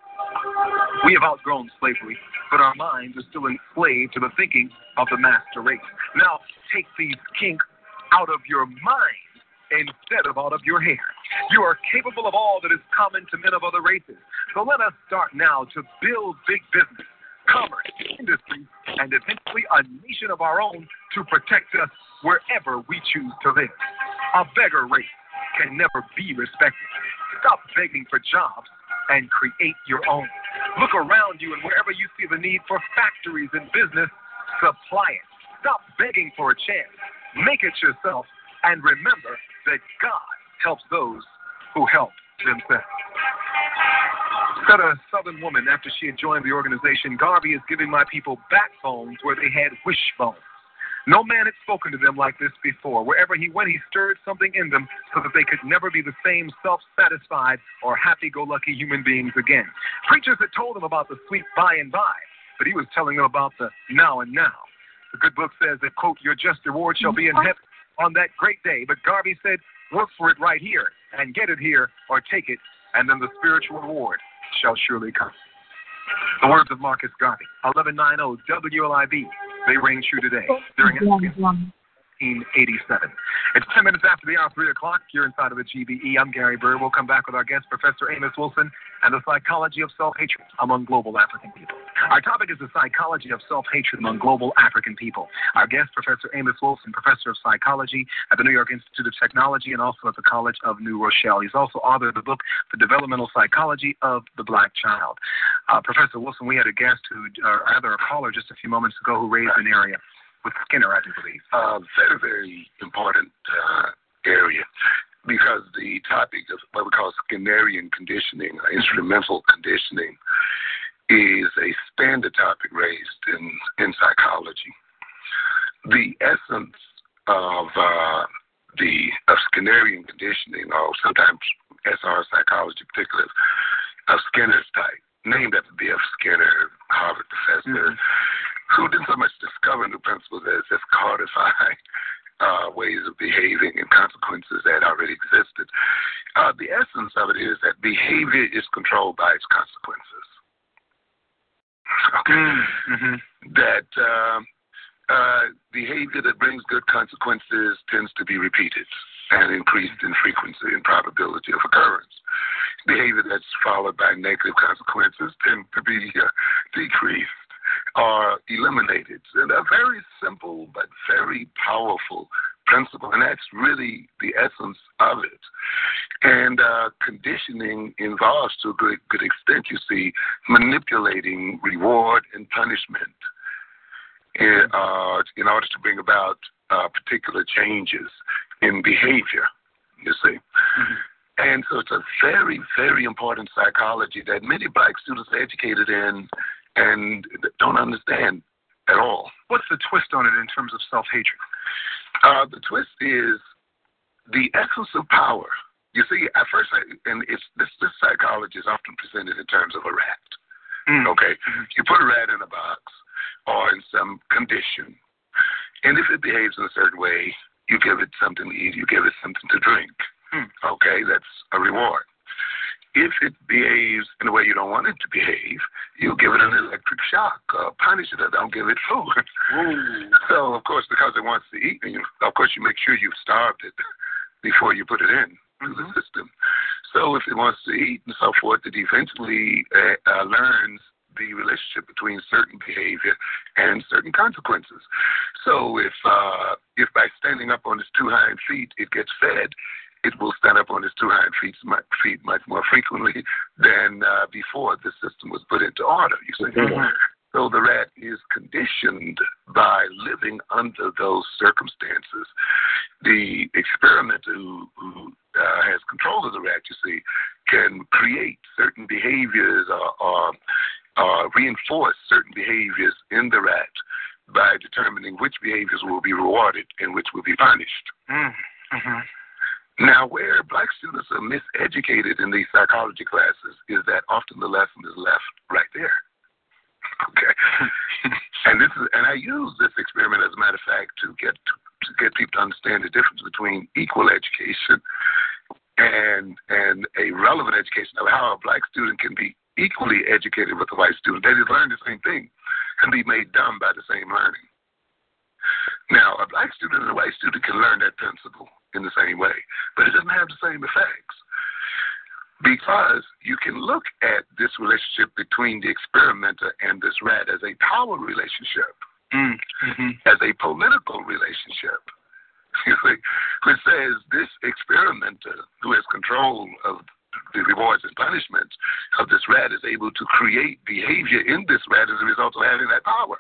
We have outgrown slavery, but our minds are still enslaved to the thinking of the master race. Now, take these kinks out of your mind instead of out of your hair. You are capable of all that is common to men of other races. So let us start now to build big business, commerce, industry, and eventually a nation of our own to protect us wherever we choose to live. A beggar race can never be respected. Stop begging for jobs and create your own. Look around you, and wherever you see the need for factories and business, supply it. Stop begging for a chance. Make it yourself, and remember that God helps those who help themselves. Said a Southern woman after she had joined the organization, Garvey is giving my people backbones where they had wishbones. No man had spoken to them like this before. Wherever he went, he stirred something in them so that they could never be the same self-satisfied or happy-go-lucky human beings again. Preachers had told them about the sweet by and by, but he was telling them about the now and now. The good book says that, quote, your just reward shall be in heaven on that great day. But Garvey said, work for it right here and get it here or take it, and then the spiritual reward shall surely come. The words of Marcus Garvey, 1190 WLIB. They ring true today during 1987. It's 10 minutes after the hour, 3 o'clock. You're inside of the GBE. I'm Gary Bird. We'll come back with our guest, Professor Amos Wilson, and the psychology of self-hatred among global African people. Our topic is the psychology of self-hatred among global African people. Our guest, Professor Amos Wilson, professor of psychology at the New York Institute of Technology and also at the College of New Rochelle. He's also author of the book, The Developmental Psychology of the Black Child. Professor Wilson, we had a guest rather a caller just a few moments ago who raised an area with Skinner, I do believe. Very, very important area, because the topic of what we call Skinnerian conditioning, instrumental conditioning, is a standard topic raised in psychology. The essence of Skinnerian conditioning, or sometimes SR psychology, particularly of Skinner's type, named after B.F. Skinner, Harvard professor, who didn't so much discover new principles as just codify ways of behaving and consequences that already existed. The essence of it is that behavior is controlled by its consequences. Okay. Mm-hmm. That behavior that brings good consequences tends to be repeated and increased in frequency and probability of occurrence. Behavior that's followed by negative consequences tend to be decreased or eliminated. And a very simple but very powerful principle, and that's really the essence of it. And conditioning involves, to a good extent, you see, manipulating reward and punishment in order to bring about particular changes in behavior, you see. Mm-hmm. And so it's a very, very important psychology that many black students are educated in and don't understand at all. What's the twist on it in terms of self-hatred? The twist is the essence of power. You see, at first, this psychology is often presented in terms of a rat. Mm. Okay? Mm-hmm. You put a rat in a box or in some condition, and if it behaves in a certain way, you give it something to eat, you give it something to drink. Mm. Okay? That's a reward. If it behaves in a way you don't want it to behave, you give it an electric shock, punish it, or don't give it food. So, of course, because it wants to eat, of course, you make sure you've starved it before you put it in to the system. So if it wants to eat and so forth, it eventually learns the relationship between certain behavior and certain consequences. So if by standing up on its two hind feet it gets fed, it will stand up on its two hind feet much more frequently than before the system was put into order, you see. Mm-hmm. So the rat is conditioned by living under those circumstances. The experimenter who has control of the rat, you see, can create certain behaviors or reinforce certain behaviors in the rat by determining which behaviors will be rewarded and which will be punished. Mm-hmm. Now, where black students are miseducated in these psychology classes is that often the lesson is left right there. Okay, and I use this experiment, as a matter of fact, to get people to understand the difference between equal education and a relevant education, of how a black student can be equally educated with a white student. They just learn the same thing and be made dumb by the same learning. Now, a black student and a white student can learn that principle in the same way, but it doesn't have the same effects, because you can look at this relationship between the experimenter and this rat as a power relationship, as a political relationship, you see, which says this experimenter who has control of the rewards and punishments of this rat is able to create behavior in this rat as a result of having that power.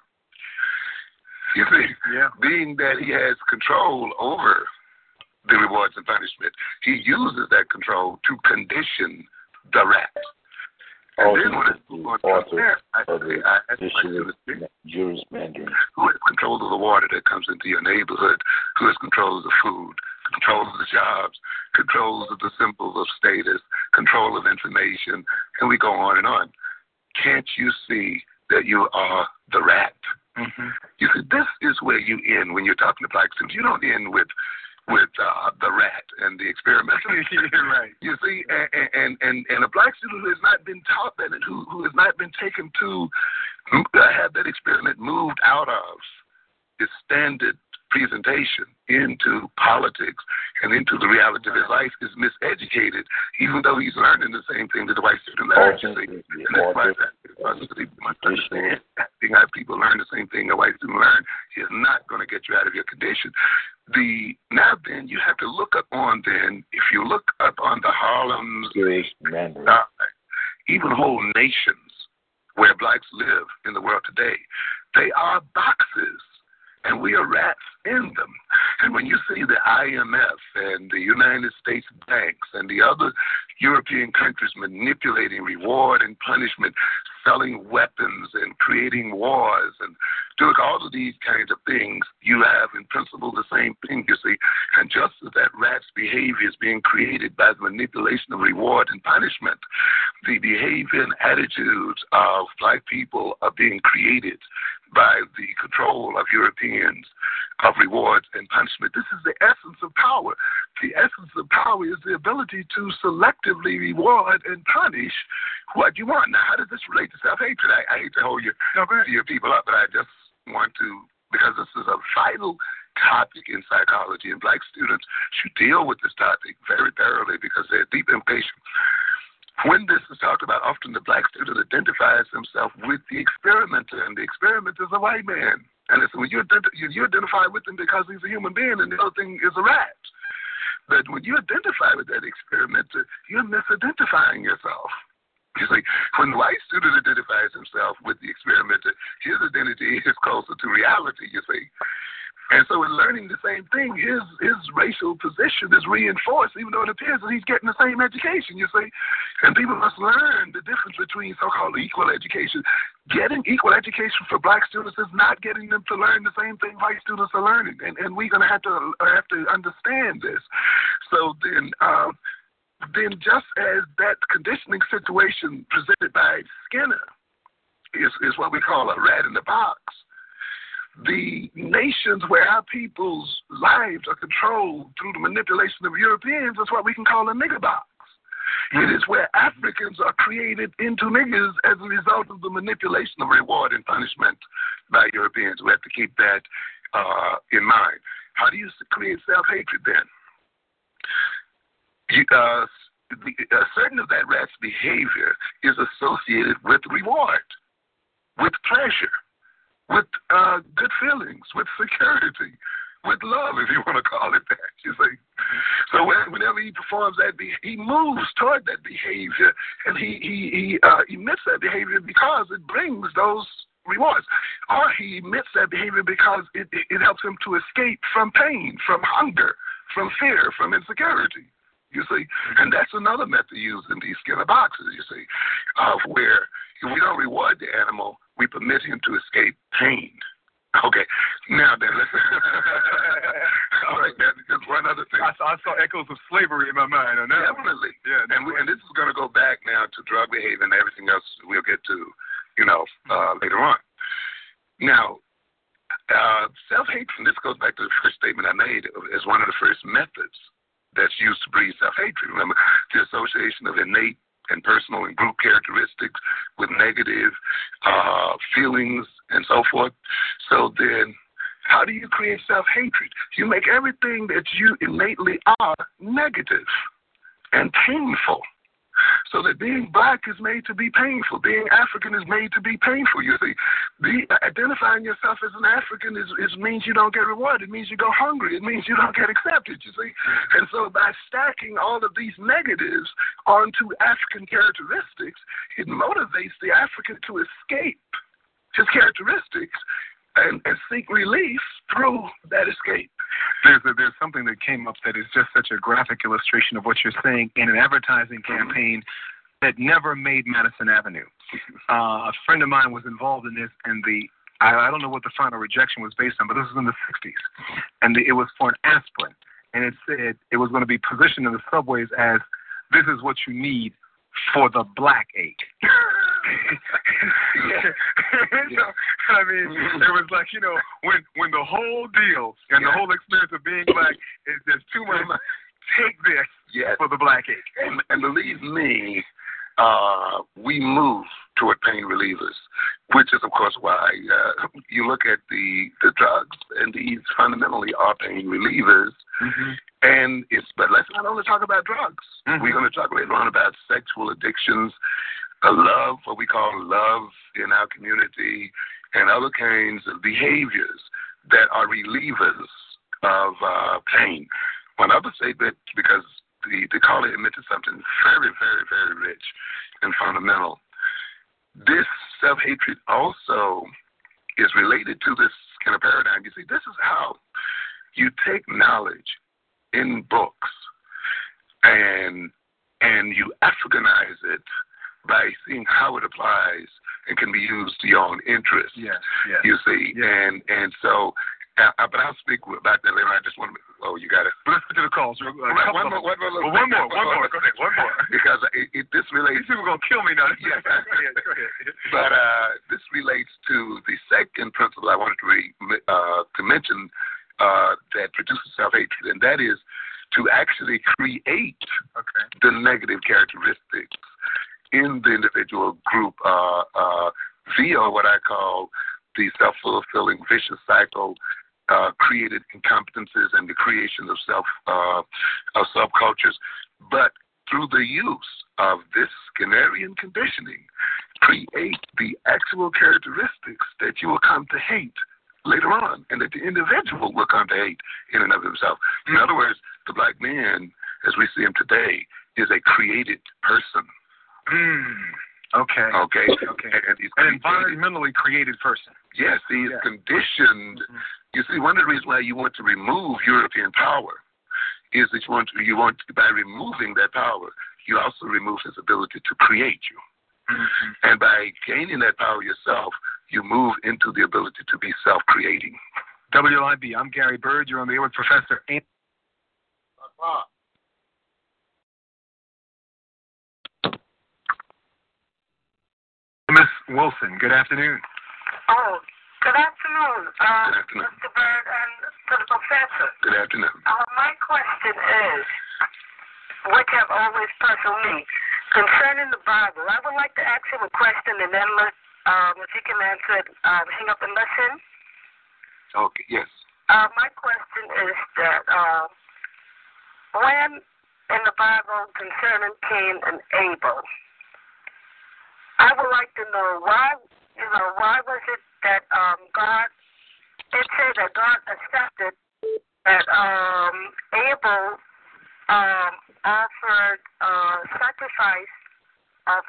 You see, being that he has control over the rewards and punishment, he uses that control to condition the rat. And then when it's there, Juris Mandarin, who has control of the water that comes into your neighborhood, who has control of the food, control of the jobs, control of the symbols of status, control of information, and we go on and on. Can't you see that you are the rat? Mm-hmm. You see, this is where you end when you're talking to black students. You don't end with the rat and the experiment. Right. You see, and a black student who has not been taught that, and who has not been taken to have that experiment moved out of his standard presentation into politics and into the reality of his life, is miseducated, even though he's learning the same thing that the white student learns. And that's why you must understand, how people learn the same thing a white student learns is not going to get you out of your condition. Now then, you have to look up on if you look up on the Harlems, even whole nations where blacks live in the world today, they are boxes, and we are rats in them. And when you see the IMF and the United States banks and the other European countries manipulating reward and punishment, selling weapons and creating wars and doing all of these kinds of things, you have in principle the same thing, you see. And just as that rat's behavior is being created by the manipulation of reward and punishment, the behavior and attitudes of black people are being created by the control of Europeans of rewards and punishment. This is the essence of power. The essence of power is the ability to selectively reward and punish what you want. Now, how does this relate to self-hatred? I hate to hold your people up, but I just want to, because this is a vital topic in psychology, and black students should deal with this topic very thoroughly because there are deep implications. When this is talked about, often the black student identifies himself with the experimenter, and the experimenter is a white man. And so when you identify with him because he's a human being, and the other thing is a rat. But when you identify with that experimenter, you're misidentifying yourself. You see, when the white student identifies himself with the experimenter, his identity is closer to reality, you see. And so in learning the same thing, his racial position is reinforced, even though it appears that he's getting the same education, you see. And people must learn the difference between so-called equal education. Getting equal education for black students is not getting them to learn the same thing white students are learning. And we're going to have to understand this. So then just as that conditioning situation presented by Skinner is what we call a rat in the box, the nations where our people's lives are controlled through the manipulation of Europeans is what we can call a nigger box. It is where Africans are created into niggers as a result of the manipulation of reward and punishment by Europeans. We have to keep that in mind. How do you create self-hatred then? Certain of that rat's behavior is associated with reward, with pleasure, with good feelings, with security, with love, if you want to call it that, you see. So whenever he performs that, he moves toward that behavior, and he emits that behavior because it brings those rewards. Or he emits that behavior because it helps him to escape from pain, from hunger, from fear, from insecurity. You see, and that's another method used in these Skinner boxes, you see, where if we don't reward the animal, we permit him to escape pain. Okay, now then, listen. All right, man, just one other thing. I saw echoes of slavery in my mind on that. Definitely. Yeah, and this is going to go back now to drug behavior and everything else we'll get to, later on. Now, self-hatred, and this goes back to the first statement I made, as one of the first methods that's used to breed self-hatred. Remember, the association of innate and personal and group characteristics with negative feelings and so forth. So then, how do you create self-hatred? You make everything that you innately are negative and painful. So that being black is made to be painful. Being African is made to be painful. You see, identifying yourself as an African means you don't get rewarded. It means you go hungry. It means you don't get accepted, you see. And so by stacking all of these negatives onto African characteristics, it motivates the African to escape his characteristics and seek relief through that escape. There's something that came up that is just such a graphic illustration of what you're saying in an advertising campaign that never made Madison Avenue. A friend of mine was involved in this, and I don't know what the final rejection was based on, but this was in the 60s, and it was for an aspirin, and it said it was going to be positioned in the subways as, this is what you need for the black ache. So, I mean, it was like, when the whole deal and the whole experience of being black is just too much, take this for the black ache. And believe me, we move toward pain relievers, which is, of course, why you look at the drugs, and these fundamentally are pain relievers. Mm-hmm. But let's not only talk about drugs. Mm-hmm. We're going to talk later on about sexual addictions, love, what we call love in our community, and other kinds of behaviors that are relievers of pain. One other statement, because the caller admitted something very, very, very rich and fundamental. This self-hatred also is related to this kind of paradigm. You see, this is how you take knowledge in books and you Africanize it by seeing how it applies and can be used to your own interests. Yes. You see, and so But I'll speak about that later. I just want to. Oh, you got it. Let's get to the calls. One more. Go ahead. Because this relates. These people are gonna kill me now. Yeah. Go ahead. But this relates to the second principle I wanted to mention that produces self-hatred, and that is to actually create the negative characteristics in the individual group via what I call the self-fulfilling vicious cycle, created incompetences and the creation of subcultures, but through the use of this Skinnerian conditioning, create the actual characteristics that you will come to hate later on, and that the individual will come to hate in and of himself. In other words, the black man, as we see him today, is a created person. Okay. And he's an environmentally created person. Yes, he is conditioned. You see, one of the reasons why you want to remove European power is that you want by removing that power, you also remove his ability to create you. And by gaining that power yourself, you move into the ability to be self-creating. WLIB, I'm Gary Bird. You're on the air with Professor Anthony. Miss Wilson, good afternoon. Oh, good afternoon, Good afternoon. Mr. Bird and to the professor. Good afternoon. My question is, which have always puzzled me, concerning the Bible. I would like to ask him a question, and then if he can answer it, hang up and listen. Okay, yes. My question is that when in the Bible concerning Cain and Abel, I would like to know why was it that God, it said that God accepted that Abel offered sacrifice of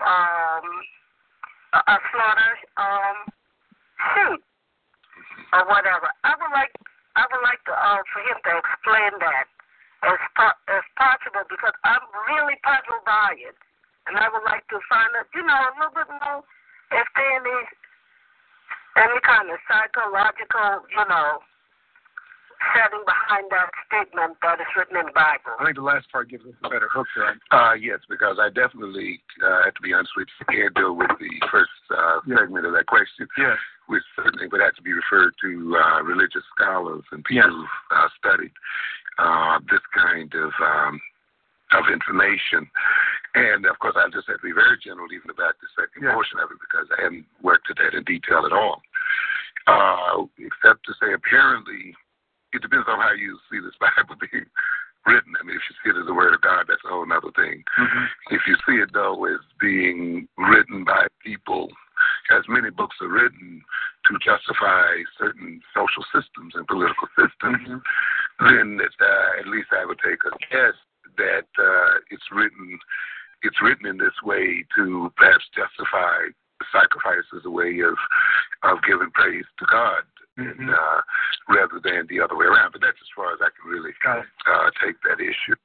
a slaughter sheep or whatever. I would like to for him to explain that as possible, because I'm really puzzled by it. And I would like to find out, a little bit more if there is any kind of psychological, setting behind that statement that is written in the Bible. I think the last part gives us a better hook there. Yes, because I definitely have to be honest with you, can't deal with the first segment of that question. Yes. Which certainly would have to be referred to religious scholars and people who've studied this kind of information. And, of course, I just have to be very general even about the second portion of it, because I haven't worked at that in detail at all. Except to say, apparently, it depends on how you see this Bible being written. I mean, if you see it as the Word of God, that's a whole other thing. If you see it, though, as being written by people, as many books are written to justify certain social systems and political systems, then at least I would take a guess that it's written in this way to perhaps justify sacrifice as a way of giving praise to God, and, rather than the other way around. But that's as far as I can really take that issue.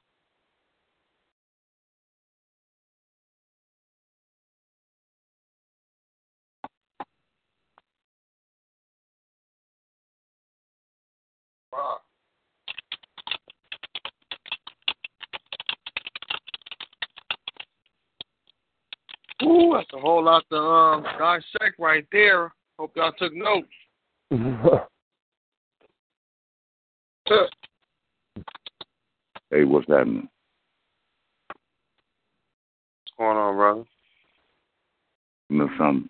Wow. Ooh, that's a whole lot to dissect right there. Hope y'all took notes. Hey, what's happening? What's going on, brother? You know something?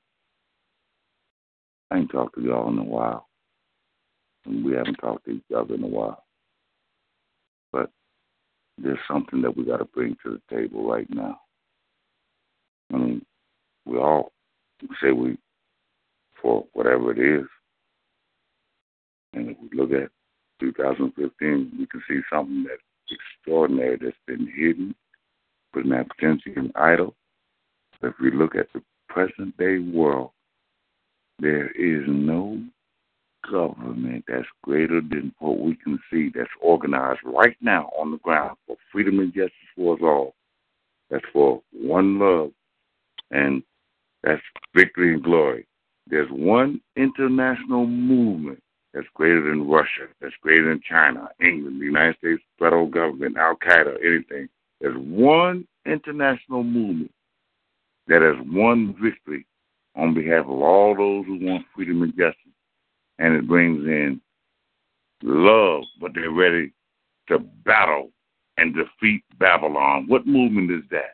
I ain't talked to y'all in a while. And we haven't talked to each other in a while. But there's something that we got to bring to the table right now. I mean, we all say we for whatever it is. And if we look at 2015, we can see something that's extraordinary that's been hidden, put in apprehension and idle. But if we look at the present day world, there is no government that's greater than what we can see, that's organized right now on the ground for freedom and justice for us all. That's for one love, and that's victory and glory. There's one international movement that's greater than Russia, that's greater than China, England, the United States federal government, Al Qaeda, anything. There's one international movement that has won victory on behalf of all those who want freedom and justice. And it brings in love, but they're ready to battle and defeat Babylon. What movement is that?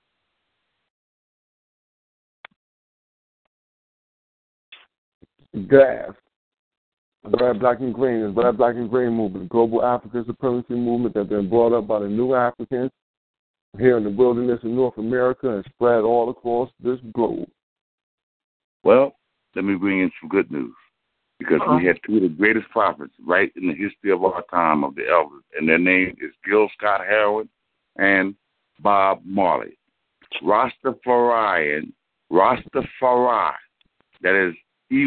GAS, Glad Black and Green, the Glad Black and Green movement, global African supremacy movement that's been brought up by the new Africans here in the wilderness of North America and spread all across this globe. Well, let me bring in some good news, because we had two of the greatest prophets right in the history of our time of the elders, and their name is Gil Scott-Heron and Bob Marley. Rastafari, that is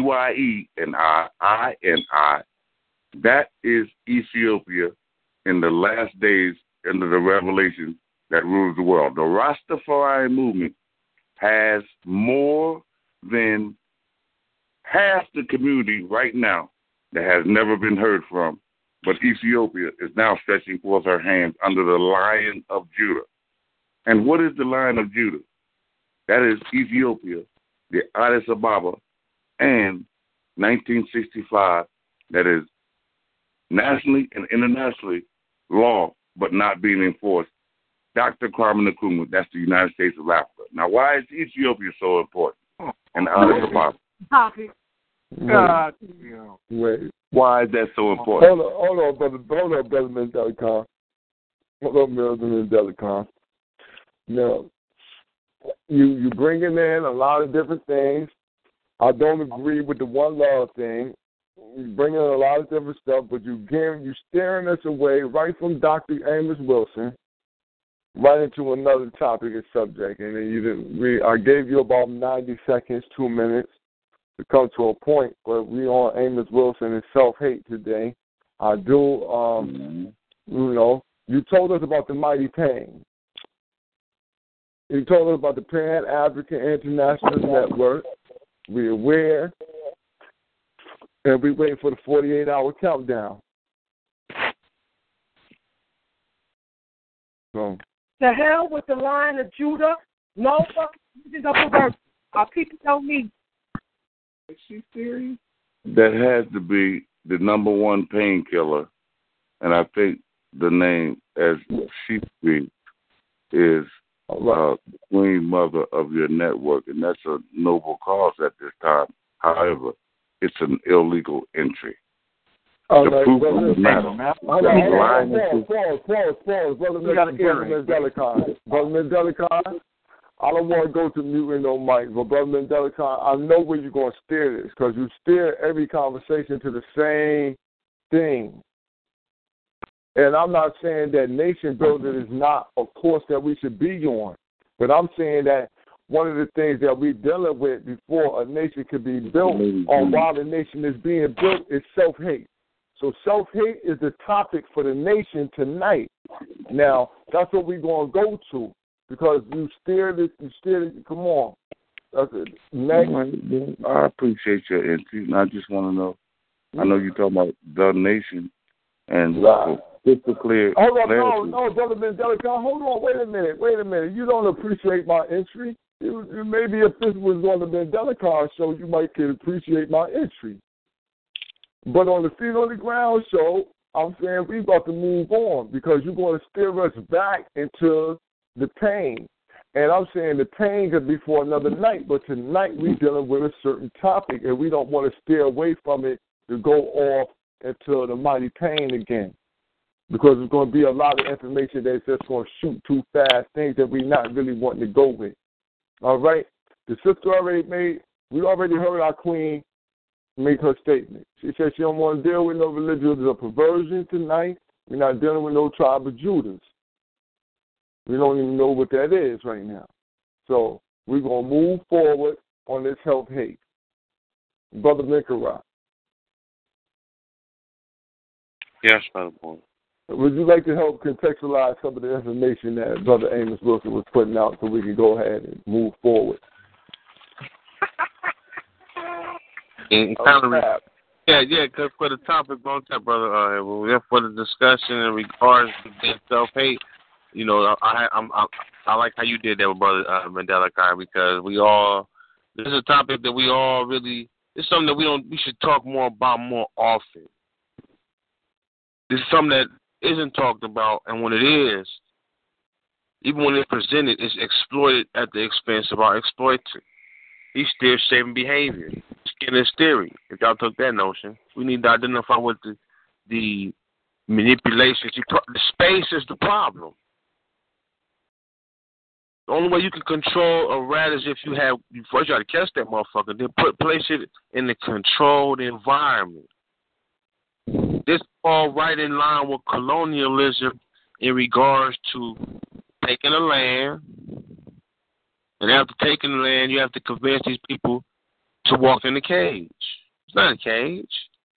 EYENI, that is Ethiopia in the last days under the revelation that rules the world. The Rastafari movement has more than half the community right now that has never been heard from, but Ethiopia is now stretching forth her hands under the Lion of Judah. And what is the Lion of Judah? That is Ethiopia, the Addis Ababa, and 1965, that is nationally and internationally law, but not being enforced. Dr. Kwame Nkrumah, that's the United States of Africa. Now, why is Ethiopia so important? And Addis Ababa. God, Wait. Why is that so important? Hold on, brother Mendelicon. Hold on, brother Mendelicon. Now, you bringing in a lot of different things. I don't agree with the one love thing. You bring in a lot of different stuff, but you steering us away right from Dr. Amos Wilson, right into another topic and subject. And then I gave you about 90 seconds, 2 minutes to come to a point where we on Amos Wilson and self-hate today. I do, you told us about the Mighty Pain. You told us about the Pan-African International Network. We're aware, and we waiting for the 48-hour countdown. So, the hell with the Lion of Judah. No fucking reason of perversion. Our people don't need. Is she serious? That has to be the number one painkiller, and I think the name, as she speaks, is Queen Mother of your network, and that's a noble cause at this time. However, it's an illegal entry. The proof of the matter. Pause. Brother Mendelicon, I don't want to go to mute no mic, but Brother Mendelicon, I know where you're going to steer this, because you steer every conversation to the same thing. And I'm not saying that nation building is not a course that we should be on, but I'm saying that one of the things that we're dealing with before a nation can be built on while the nation is being built is self-hate. So self-hate is the topic for the nation tonight. Now, that's what we're going to go to, because you steered it, come on. That's it. Next. I appreciate your entry, and I just want to know, I know you're talking about the nation, and just to clear. Hold on, no, Brother Mendelicon, hold on, wait a minute. You don't appreciate my entry. Maybe if this was on the Mendelicon show, you might could appreciate my entry. But on the Feet on the Ground show, I'm saying we about to move on, because you're going to steer us back into the pain. And I'm saying the pain could be for another night, but tonight we're dealing with a certain topic, and we don't want to steer away from it to go off into the mighty pain again, because there's going to be a lot of information that's just going to shoot too fast, things that we're not really wanting to go with. All right? The sister we already heard our queen make her statement. She said she don't want to deal with no religion or perversion tonight. We're not dealing with no tribe of Judas. We don't even know what that is right now. So we're going to move forward on this self-hate. Brother Nicaragua. Yes, Brother Boy. Would you like to help contextualize some of the information that Brother Amos Wilson was putting out so we can go ahead and move forward? And kind of Yeah, because for the topic on that, brother, for the discussion in regards to self-hate, I like how you did that with brother Mandela Kai, because this is a topic that we all really, it's something that we should talk more about more often. This is something that isn't talked about, and when it is, even when it's presented, it's exploited at the expense of our exploiter. He's still shaping behavior. Skinner's theory. If y'all took that notion, we need to identify what the manipulations. The space is the problem. The only way you can control a rat is if you first you got to catch that motherfucker, then place it in a controlled environment. This all right in line with colonialism in regards to taking the land. And after taking the land, you have to convince these people to walk in the cage. It's not a cage.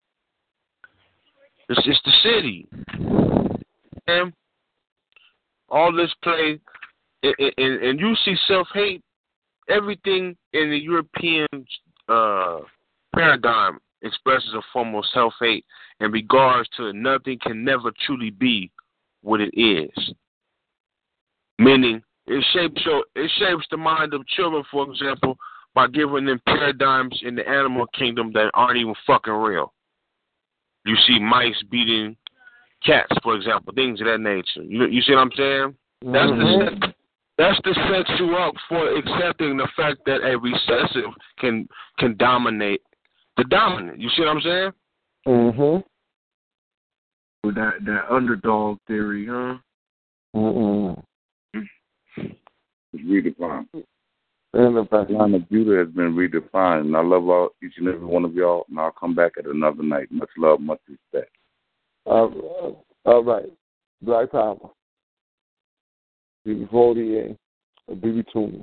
It's just the city. And all this play, and you see self-hate, everything in the European paradigm expresses a form of self-hate in regards to nothing can never truly be what it is. Meaning, it shapes the mind of children, for example, by giving them paradigms in the animal kingdom that aren't even fucking real. You see mice beating cats, for example, things of that nature. You see what I'm saying? Mm-hmm. That's to set you up for accepting the fact that a recessive can dominate the dominant. You see what I'm saying? Mm-hmm. With that underdog theory, huh? Mm-hmm. It's redefined. And the fact line of Judah has been redefined. And I love each and every one of y'all, and I'll come back at another night. Much love, much respect. All right. Black Power. BB48. BB Toon.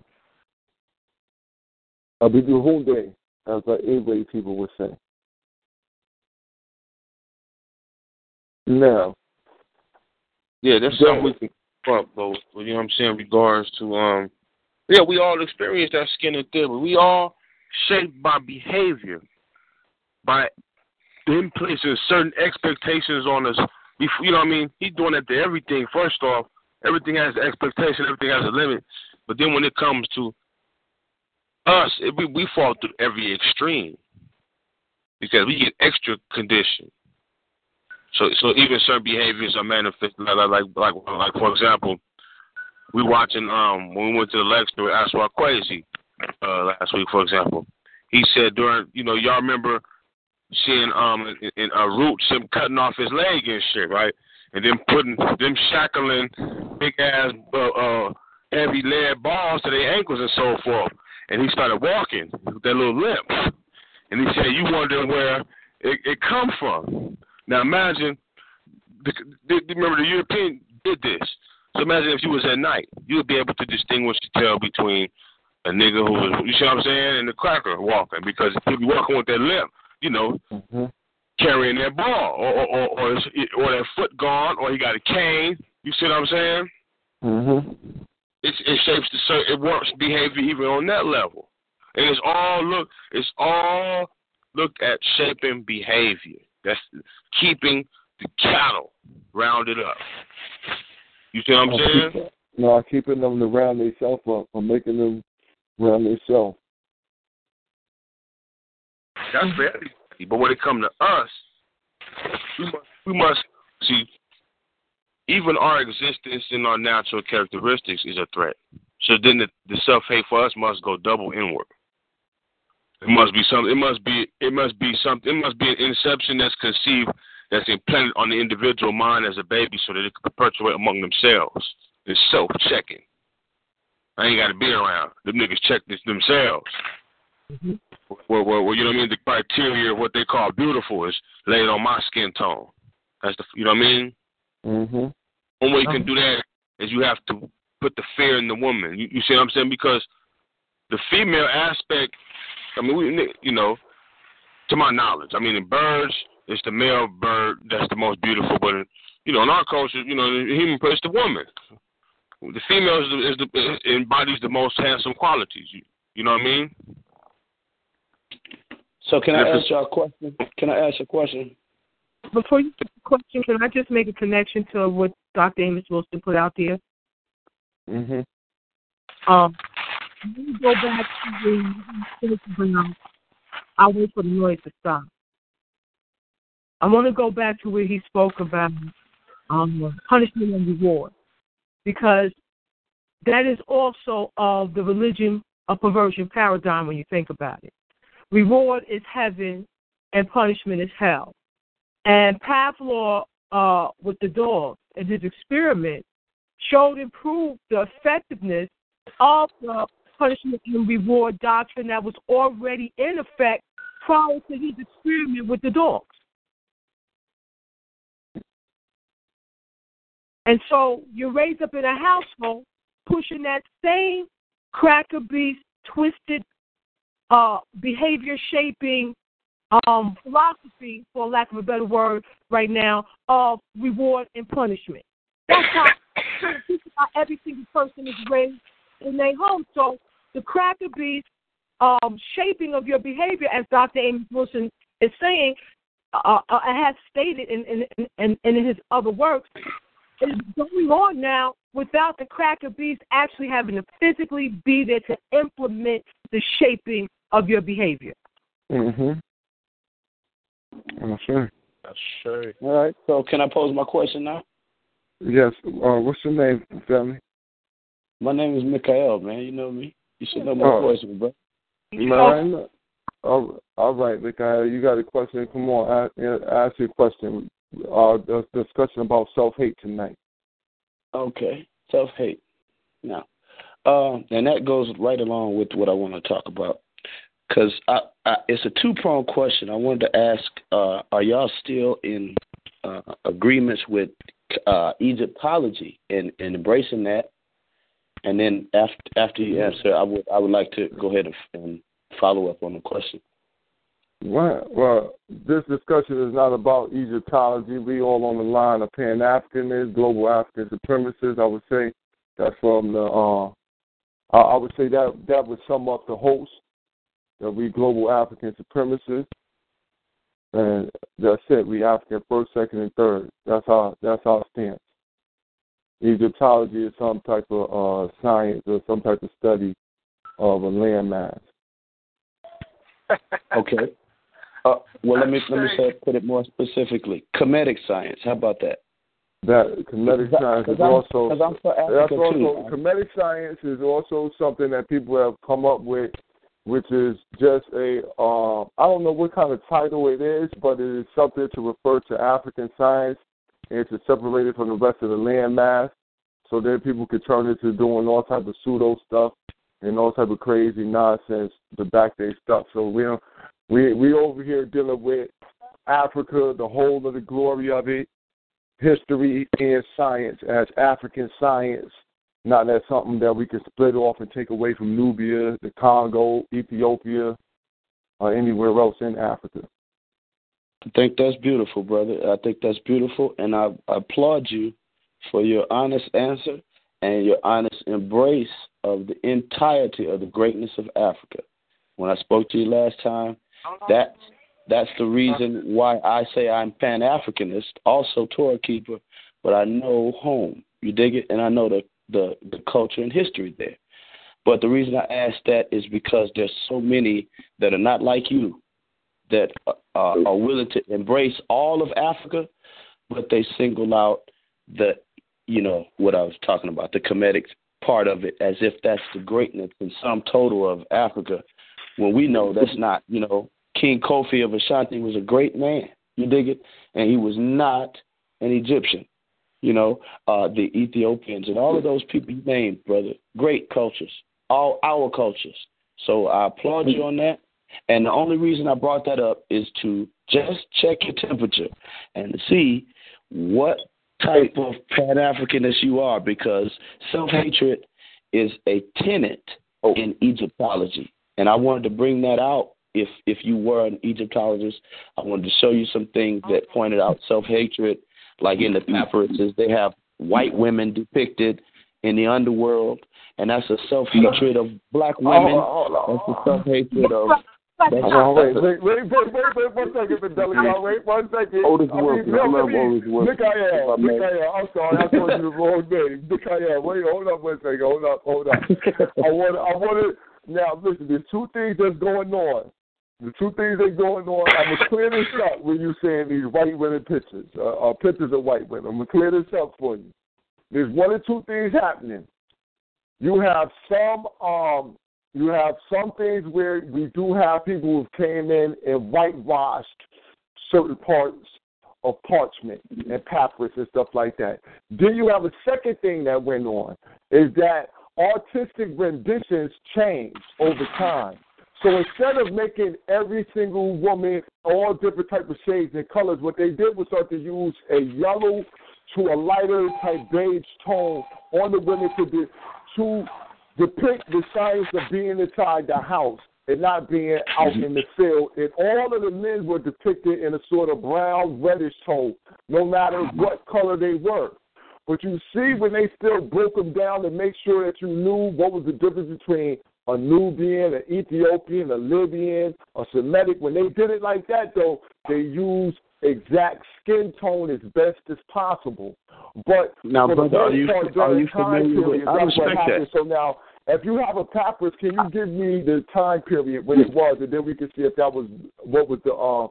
BB Hunde, as the A-way people would say. Now. Yeah, that's something we can up, though. You know what I'm saying? In regards to, we all experience that Skinner theory. We all shaped by behavior, by them placing certain expectations on us. You know what I mean? He's doing that to everything. First off, everything has an expectation, everything has a limit. But then when it comes to us, we fall through every extreme because we get extra conditioned. So even certain behaviors are manifested, like for example, we watching when we went to the lecture with Aswar Kwesi last week, for example. He said during, y'all remember seeing in Roots him cutting off his leg and shit, right? And then shackling big ass heavy lead balls to their ankles and so forth. And he started walking with that little limp. And he said, you wonder where it come from. Now imagine, remember the European did this. So imagine if you was at night, you would be able to distinguish the tell between a nigga who was, you see what I'm saying, and the cracker walking, because he'd be walking with that limp, carrying that ball, or that foot gone, or he got a cane. You see what I'm saying? Mm-hmm. It shapes it works behavior even on that level, and it's all looked at shaping behavior. That's keeping the cattle rounded up. You see what I'm saying? Keeping them to round themselves up, or making them round themselves. That's for everybody. But when it comes to us, we must see, even our existence and our natural characteristics is a threat. So then the self-hate for us must go double inward. It must be something. It must be an inception that's conceived, that's implanted on the individual mind as a baby, so that it can perpetuate among themselves. It's self-checking. I ain't got to be around. Them niggas check this themselves. Mm-hmm. Well, you know what I mean? The criteria of what they call beautiful is laid on my skin tone. That's you know what I mean? Mm-hmm. One way you can do that is you have to put the fear in the woman. You see what I'm saying? Because the female aspect, I mean, to my knowledge, I mean, in birds, it's the male bird that's the most beautiful, but in our culture, the human is the woman. The female embodies the most handsome qualities. You know what I mean? So can I ask you a question? Can I ask you a question? Before you ask the question, can I just make a connection to what Dr. Amos Wilson put out there? Mm-hmm. Let me go back to the I'll wait for the noise to stop. I want to go back to where he spoke about punishment and reward, because that is also of the religion of perversion paradigm when you think about it. Reward is heaven and punishment is hell. And Pavlov, with the dogs in his experiment, showed and proved the effectiveness of the punishment and reward doctrine that was already in effect prior to his experiment with the dogs. And so you're raised up in a household pushing that same cracker beast, twisted, behavior-shaping philosophy, for lack of a better word right now, of reward and punishment. That's how every single person is raised in their home. So the cracker beast shaping of your behavior, as Dr. Amos Wilson is saying, has stated in his other works, is going on now without the cracker beast actually having to physically be there to implement the shaping of your behavior. Mm-hmm. I'm sure. That's sure. All right. So can I pose my question now? Yes. What's your name, family? My name is Mikael, man. You know me. You should know my question, bro. Man. All right, Mikael. You got a question? Come on. Ask your question. The discussion about self-hate tonight. Okay. Self-hate. Now, and that goes right along with what I want to talk about. Because it's a two-pronged question. I wanted to ask, are y'all still in agreements with Egyptology and embracing that? And then after you answer, I would like to go ahead and follow up on the question. Well, this discussion is not about Egyptology. We all on the line of Pan-Africanists, global African supremacists. I would say that's from the. I would say that would sum up the host. That we global African supremacists, and that's it. We African first, second, and third. That's our stance. Egyptology is some type of science or some type of study of a landmass. Okay. Well, let me put it more specifically. Kemetic science. How about that? That Kemetic science is also. Because I'm for Africa too. Kemetic science is also something that people have come up with, which is just I don't know what kind of title it is, but it is something to refer to African science and to separate it from the rest of the landmass, so then people could turn into doing all type of pseudo stuff and all type of crazy nonsense to back their stuff. So we over here dealing with Africa, the whole of the glory of it, history and science as African science, not as something that we can split off and take away from Nubia, the Congo, Ethiopia, or anywhere else in Africa. I think that's beautiful, brother. I think that's beautiful, and I applaud you for your honest answer and your honest embrace of the entirety of the greatness of Africa. When I spoke to you last time, that's the reason why I say I'm Pan-Africanist, also Torah keeper, but I know home. You dig it? And I know the culture and history there. But the reason I ask that is because there's so many that are not like you that are willing to embrace all of Africa, but they single out what I was talking about, the Kemetic part of it, as if that's the greatness and sum total of Africa, when we know that's not. King Kofi of Ashanti was a great man. You dig it? And he was not an Egyptian. The Ethiopians and all of those people you named, brother, great cultures, all our cultures. So I applaud you on that. And the only reason I brought that up is to just check your temperature and to see what type of Pan-Africanist you are, because self-hatred is a tenet in Egyptology. And I wanted to bring that out. If you were an Egyptologist, I wanted to show you some things that pointed out self-hatred. Like in the papyruses, they have white women depicted in the underworld, and that's a self-hatred of black women. That's a self-hatred of Wait 1 second, Fidelica. Wait 1 second. Otis Wilson. I love Otis Wilson. Mikael. I'm sorry, I told you the wrong name. Mikael. Wait, hold up 1 second. Hold up. I want to. Now, listen. There's two things that's going on. The two things that's going on. I'm gonna clear this up when you saying these white women pictures, pictures of white women. I'm gonna clear this up for you. There's one or two things happening. You have some things where we do have people who came in and whitewashed certain parts of parchment and papyrus and stuff like that. Then you have a second thing that went on, is that artistic renditions change over time. So instead of making every single woman all different type of shades and colors, what they did was start to use a yellow to a lighter type beige tone on the women to depict the science of being inside the house and not being out in the field. And all of the men were depicted in a sort of brown, reddish tone, no matter what color they were. But you see when they still broke them down to make sure that you knew what was the difference between a Nubian, an Ethiopian, a Libyan, a Semitic. When they did it like that, though, they used exact skin tone as best as possible. But now, brother, are you familiar with? I respect that. So now, if you have a papyrus, can you give me the time period when it was, and then we can see if that was what was the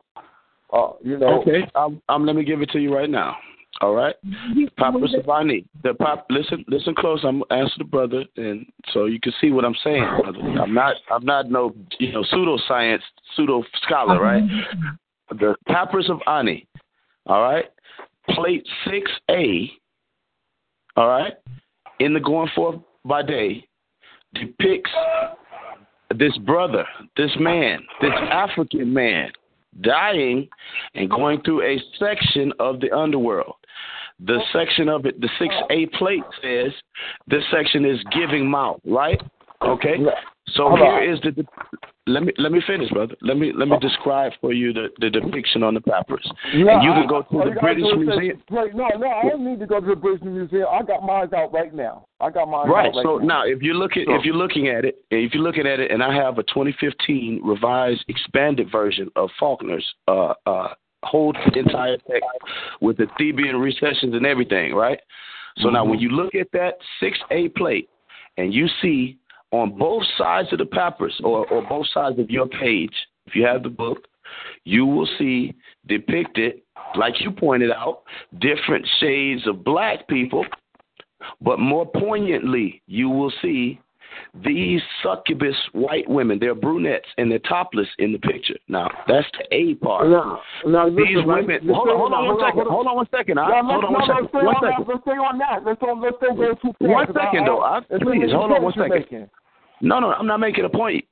Okay, let me give it to you right now. All right, Papyrus of Ani. Listen close. I'm gonna answer the brother, and so you can see what I'm saying, brother. I'm not no pseudoscience, pseudo scholar, right? The Papyrus of Ani. All right, plate 6A. All right, in the Going Forth by Day, depicts this brother, this man, this African man, dying and going through a section of the underworld. The section of it, the 6A plate says this section is giving mouth, right? Okay. So here is let me finish, brother. Let me describe for you the depiction on the papyrus. Yeah, and you can go to the British Museum. No, I don't need to go to the British Museum. I got mine out right now. Right. So now, if you're looking at it, and I have a 2015 revised, expanded version of Faulkner's whole entire text with the Theban recessions and everything, right? So now, when you look at that 6A plate, and you see on both sides of the papyrus or both sides of your page, if you have the book, you will see depicted, like you pointed out, different shades of black people. But more poignantly, you will see these succubus white women. They're brunettes and they're topless in the picture. Now, that's the A part. These women. Hold on one second. Let's stay on that. Let's don't go too fast. 1 second, though. Please, hold on 1 second. No, I'm not making a point.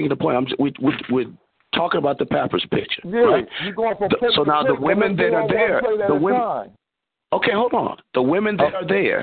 We're talking about the papyrus picture. Yeah, right? You're going from so now the women that are there, okay, hold on. The women that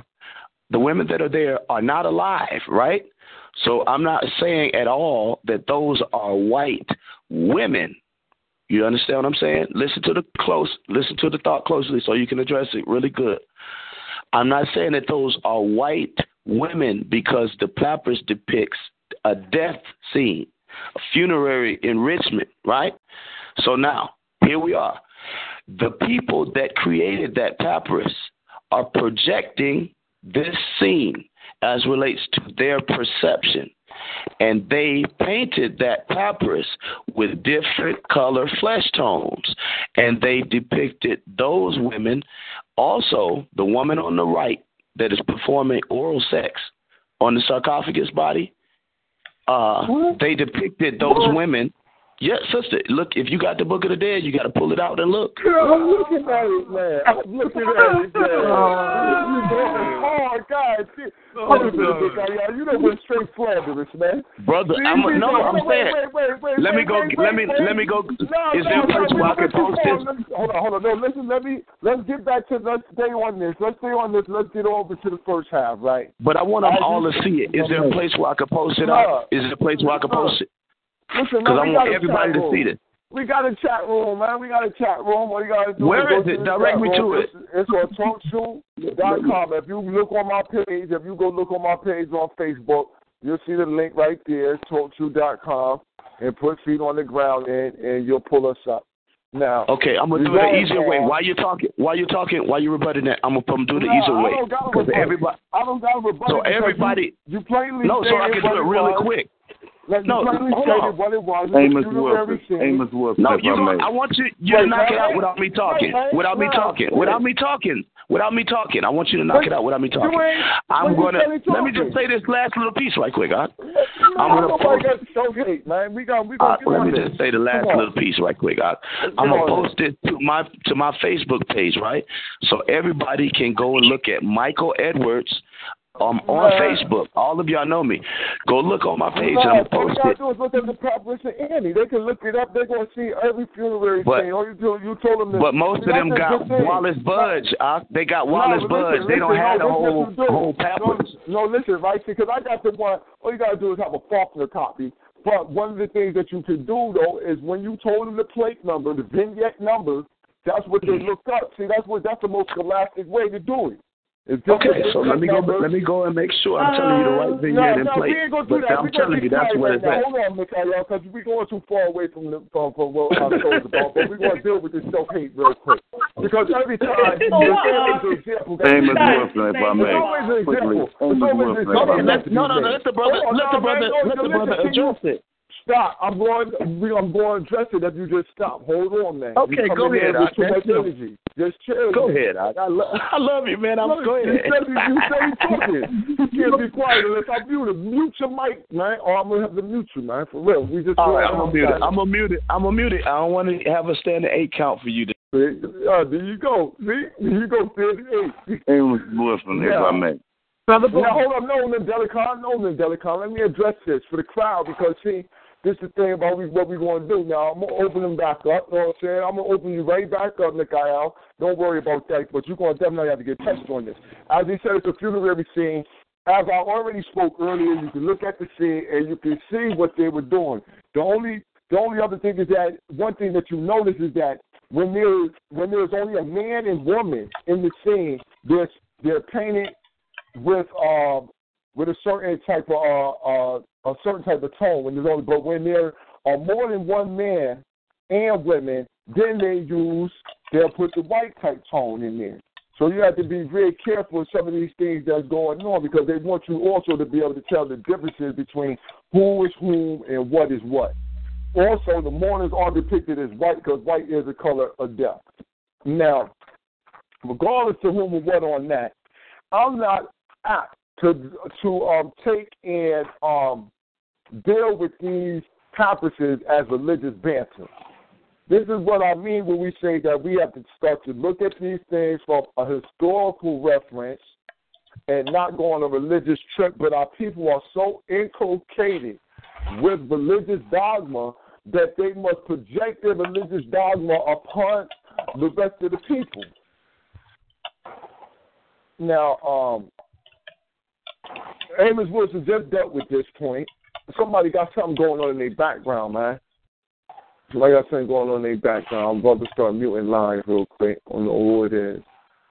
are there are not alive, right? So I'm not saying at all that those are white women. You understand what I'm saying? Listen to the thought closely so you can address it really good. I'm not saying that those are white women because the papyrus depicts a death scene, a funerary enrichment, right? So now, here we are. The people that created that papyrus are projecting this scene as relates to their perception. And they painted that papyrus with different color flesh tones. And they depicted those women, also the woman on the right that is performing oral sex on the sarcophagus body. They depicted those women. Yeah, sister, look, if you got the Book of the Dead, you got to pull it out and look. I'm looking at it, man. You're going hard, guys. You done went straight slanderous, man. Brother, I'm saying. Let me go. Is there a place where I can post this? Hold on. No, listen, let's get back to, let's stay on this. Let's get over to the first half, right? But I want them all to see it. Is there a place where I can post it up? Is there a place where I can post it? Listen, because I want everybody to see this. We got a chat room, man. What you got to do? Where is it? Direct me to it. It's on TalkShoe.com. If you look on my page, on Facebook, you'll see the link right there, TalkShoe.com. and put feet on the ground, and you'll pull us up. Now, okay, I'm gonna do it the easier way. While you're talking, while you're rebutting that, I'm gonna do it the easier way. I don't got to rebut. So everybody, you plainly no, so I can do it really quick. No, hold on. What it was. Amos Wilson. No, I want you to knock it out without me talking. Without me talking. I want you to knock it out without me talking. Let me just say this last little piece right quick, huh? I'm gonna post. Let me just say the last little piece right quick. I'm gonna post it to my Facebook page, right? So everybody can go and look at Michael Edwards. On Facebook. All of y'all know me. Go look on my page and I'm going to post it. All look at the Proposition Annie. They can look it up. They're going to see every funerary thing. All you told them but most of them got Wallace Budge. They got Wallace Budge. They don't have the whole pamphlet. No, listen, right? Because I got the one. All you got to do is have a Faulkner copy. But one of the things that you can do, though, is when you told them the plate number, the vignette number, that's what they looked up. See, that's the most scholastic way to do it. Okay, so let me go and make sure I'm telling you the right vignette and plate. But I'm telling you that's where it's at. Hold on, Mikhail, because we're going too far away from what I'm talking about. But we're going to deal with this self-hate real quick. Because every time there's always an example. Amos Wilson, if I may. No, let the brother address it. Stop. I'm going to address it if you just stop. Hold on, man. Okay, go ahead. Too much energy. Just chill. Go ahead. I love you, man. Go ahead. You say talking. You can't be quiet unless I mute it. Mute your mic, man, or I'm going to have to mute you, man. For real. All right, I'm going to mute it. I don't want to have a standing 8 count for you. There you go. See? There you go, 38. Amos Wilson, if I may. Now, hold on. No, Delicon. Let me address this for the crowd because, see, this is the thing about what we're going to do. Now, I'm going to open them back up. You know what I'm saying? I'm going to open you right back up, Mikhail. Don't worry about that, but you're going to definitely have to get touched on this. As he said, it's a funerary scene. As I already spoke earlier, you can look at the scene and you can see what they were doing. The only other thing is that one thing that you notice is that when there's only a man and woman in the scene, they're painted with a certain type of tone. But when there are more than one man and women, then they'll put the white type tone in there. So you have to be very careful with some of these things that's going on because they want you also to be able to tell the differences between who is whom and what is what. Also, the mourners are depicted as white because white is the color of death. Now, regardless of whom or what on that, I'm not apt to take and deal with these conferences as religious banter. This is what I mean when we say that we have to start to look at these things from a historical reference and not go on a religious trip, but our people are so inculcated with religious dogma that they must project their religious dogma upon the rest of the people. Now, Amos Wilson just dealt with this point. Somebody got something going on in their background, man. Somebody got something going on in their background. I'm about to start muting lines real quick. I don't know who it is.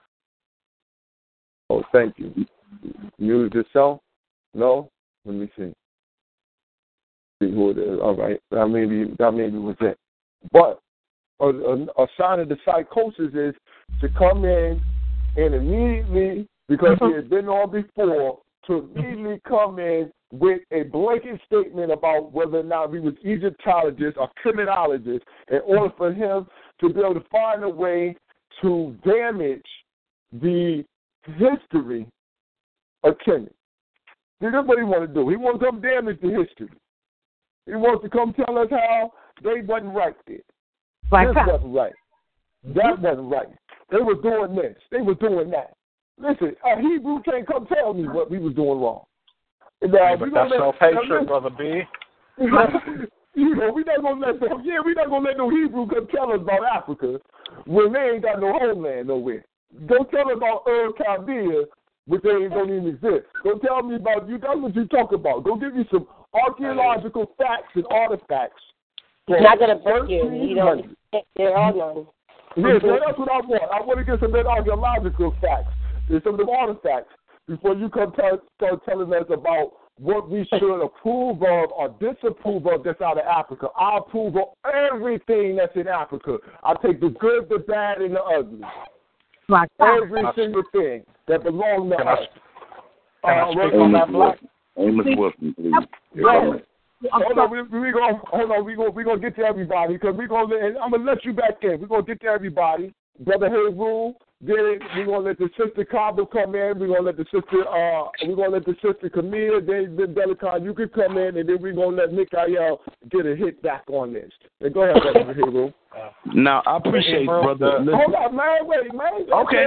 Oh, thank you. Muted yourself? No? Let me see. See who it is. All right. That maybe was it. But a sign of the psychosis is to come in and immediately, because he had been on before, to immediately come in with a blanket statement about whether or not he was Egyptologist or criminologist in order for him to be able to find a way to damage the history of Kemet. See, that's what he wants to do. He wants to come damage the history. He wants to come tell us how they wasn't right there. This wasn't right. That wasn't right. They were doing this. They were doing that. Listen, a Hebrew can't come tell me what we was doing wrong. Now, but that's self-hatred, Brother B. We're not gonna let no Hebrew come tell us about Africa when they ain't got no homeland nowhere. Don't tell us about Chaldea, which they don't even exist. Don't tell me about you. That's what you talk about. Go give me some archaeological facts and artifacts. It's not gonna break you. You don't. There are none. Yeah, so that's what I want. I want to get some of that archaeological facts and some of the artifacts before you come start telling us about what we should approve of or disapprove of that's out of Africa. I approve of everything that's in Africa. I take the good, the bad, and the ugly. Every single thing that belongs to us. Can I speak on that, Black? Amos Wilson, please. Hold on, we're gonna get to everybody because I'm gonna let you back in. We're gonna get to everybody. Brother Harold, then we're gonna let the sister Cabo come in. We're gonna let the sister Camille, then Delicon, you can come in, and then we're gonna let Mikael get a hit back on this. And go ahead, Brother Harold. Now I appreciate, brother. Hold on, man. Wait, man. Okay.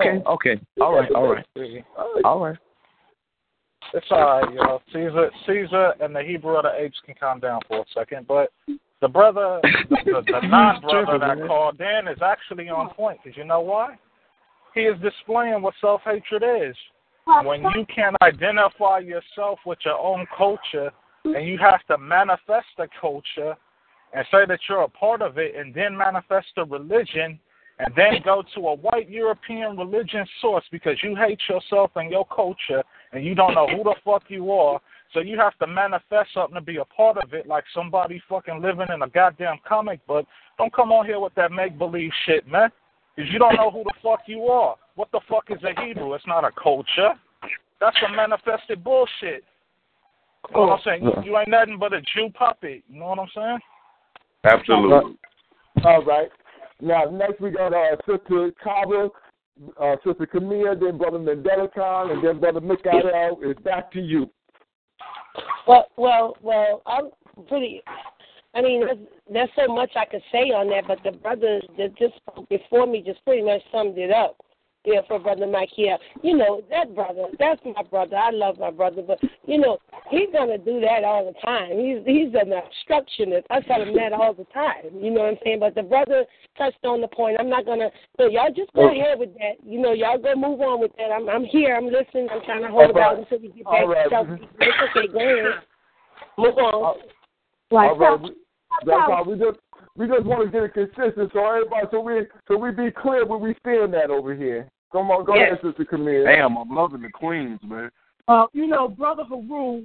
All right. It's all right, yo. Caesar and the Hebrew of the apes can calm down for a second, but the brother, the non-brother that called in is actually on point, because you know why? He is displaying what self-hatred is. When you can identify yourself with your own culture, and you have to manifest the culture and say that you're a part of it, and then manifest the religion, and then go to a white European religion source because you hate yourself and your culture, and you don't know who the fuck you are, so you have to manifest something to be a part of it like somebody fucking living in a goddamn comic book. Don't come on here with that make-believe shit, man, because you don't know who the fuck you are. What the fuck is a Hebrew? It's not a culture. That's some manifested bullshit. You know what I'm saying? You ain't nothing but a Jew puppet. You know what I'm saying? Absolutely. All right. Now, next we got Sister Cabo, Sister Camille, then Brother Mendelicon, and then Brother Mikael. It's back to you. Well, I'm pretty. I mean, there's so much I could say on that, but the brothers that just spoke before me just pretty much summed it up. Yeah, for Brother Michael. You know, that brother, that's my brother. I love my brother, but, you know, he's going to do that all the time. He's an obstructionist. I tell him that all the time. You know what I'm saying? But the brother touched on the point. I'm not going to, so y'all just go ahead with that. You know, y'all go move on with that. I'm here. I'm listening. I'm trying to hold it out until we get back to self-teaching. It's okay. Go ahead. Move on. All right. That's all. We just want to get it consistent so everybody, so we be clear where we stand at over here. Come on, go ahead, Sister Camille. Damn, I'm loving the Queens, man. You know, Brother Haroon,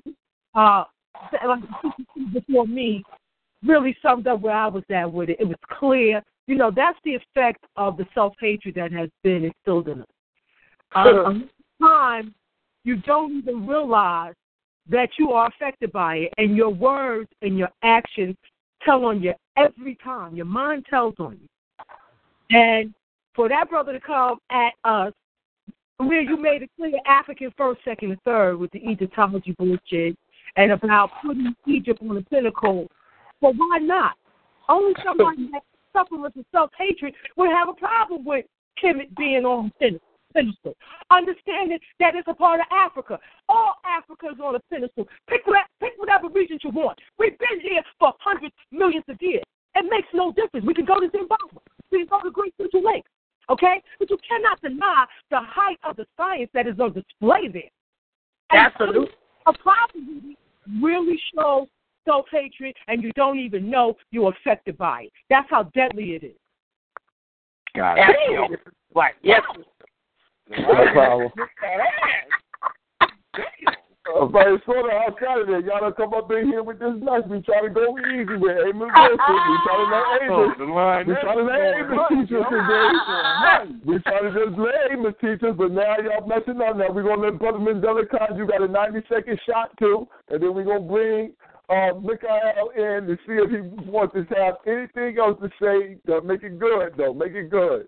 before me, really summed up where I was at with it. It was clear. You know, that's the effect of the self-hatred that has been instilled in us. Sometimes you don't even realize that you are affected by it, and your words and your actions tell on you every time. Your mind tells on you. And for that brother to come at us, where you made it clear African first, second, and third with the Egyptology bullshit and about putting Egypt on the pinnacle, well, why not? Only somebody that suffers with self-hatred would have a problem with Kemet being on the pinnacle. Understanding that it's a part of Africa. All Africa is on the pinnacle. Pick whatever region you want. We've been here for hundreds, millions of years. It makes no difference. We can go to Zimbabwe. We can go to Great Central Lake. Okay? But you cannot deny the height of the science that is on display there. Absolutely. A problem really shows self-hatred, and you don't even know you're affected by it. That's how deadly it is. Got it. Right. Yes. No problem. But it's sort of outside of that. Y'all done come up in here with this mess. We try to go easy with Amos Wilson. We try to let Amos teach us today. We try to just let Amos teach us, but now y'all messing up. Now we're going to let Brother Mandela Khan, you got a 90-second shot too, and then we're going to bring Mikael in to see if he wants to have anything else to say. Make it good, though. Make it good.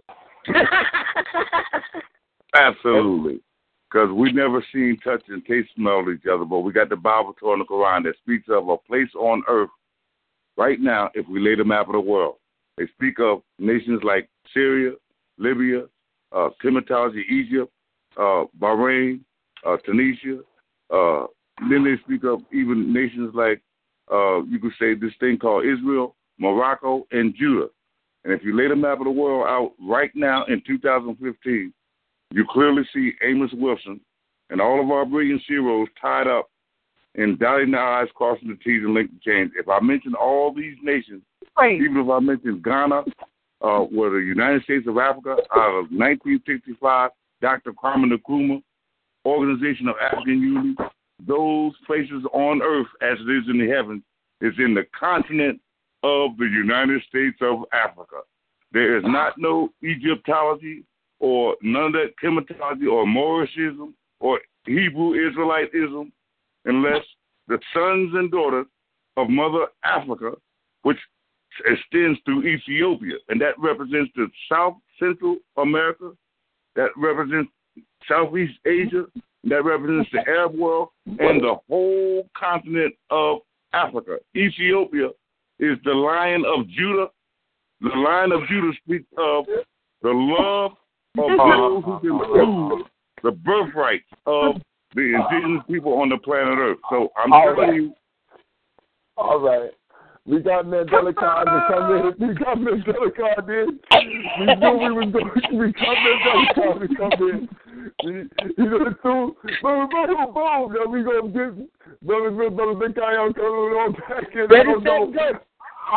Absolutely. Because we never seen, touch, and taste, smell each other, but we got the Bible, Torah, and the Quran that speaks of a place on earth right now if we lay the map of the world. They speak of nations like Syria, Libya, Kemetology, Egypt, Bahrain, Tunisia. Then they speak of even nations like, you could say, this thing called Israel, Morocco, and Judah. And if you lay the map of the world out right now in 2015, you clearly see Amos Wilson and all of our brilliant heroes tied up in dotting the I's, crossing the T's, and linking the chains. If I mention all these nations, even if I mention Ghana, or the United States of Africa, out of 1965, Dr. Kwame Nkrumah, Organization of African Unity, those places on earth as it is in the heavens is in the continent of the United States of Africa. There is not no Egyptology or none of that Kemetology or Morishism or Hebrew Israelitism unless the sons and daughters of Mother Africa, which extends through Ethiopia, and that represents the South Central America, that represents Southeast Asia, that represents the Arab world, and the whole continent of Africa. Ethiopia is the Lion of Judah. The Lion of Judah speaks of the love of those who can prove the birthright of the indigenous people on the planet Earth. So I'm telling you. All right. We got Mandela Khan to come in. We got Mandela Khan in. We knew we was going to. We got Mandela Khan to come in. He's going to do. Boom. Then we going to get Brother Big Guy coming on back in. I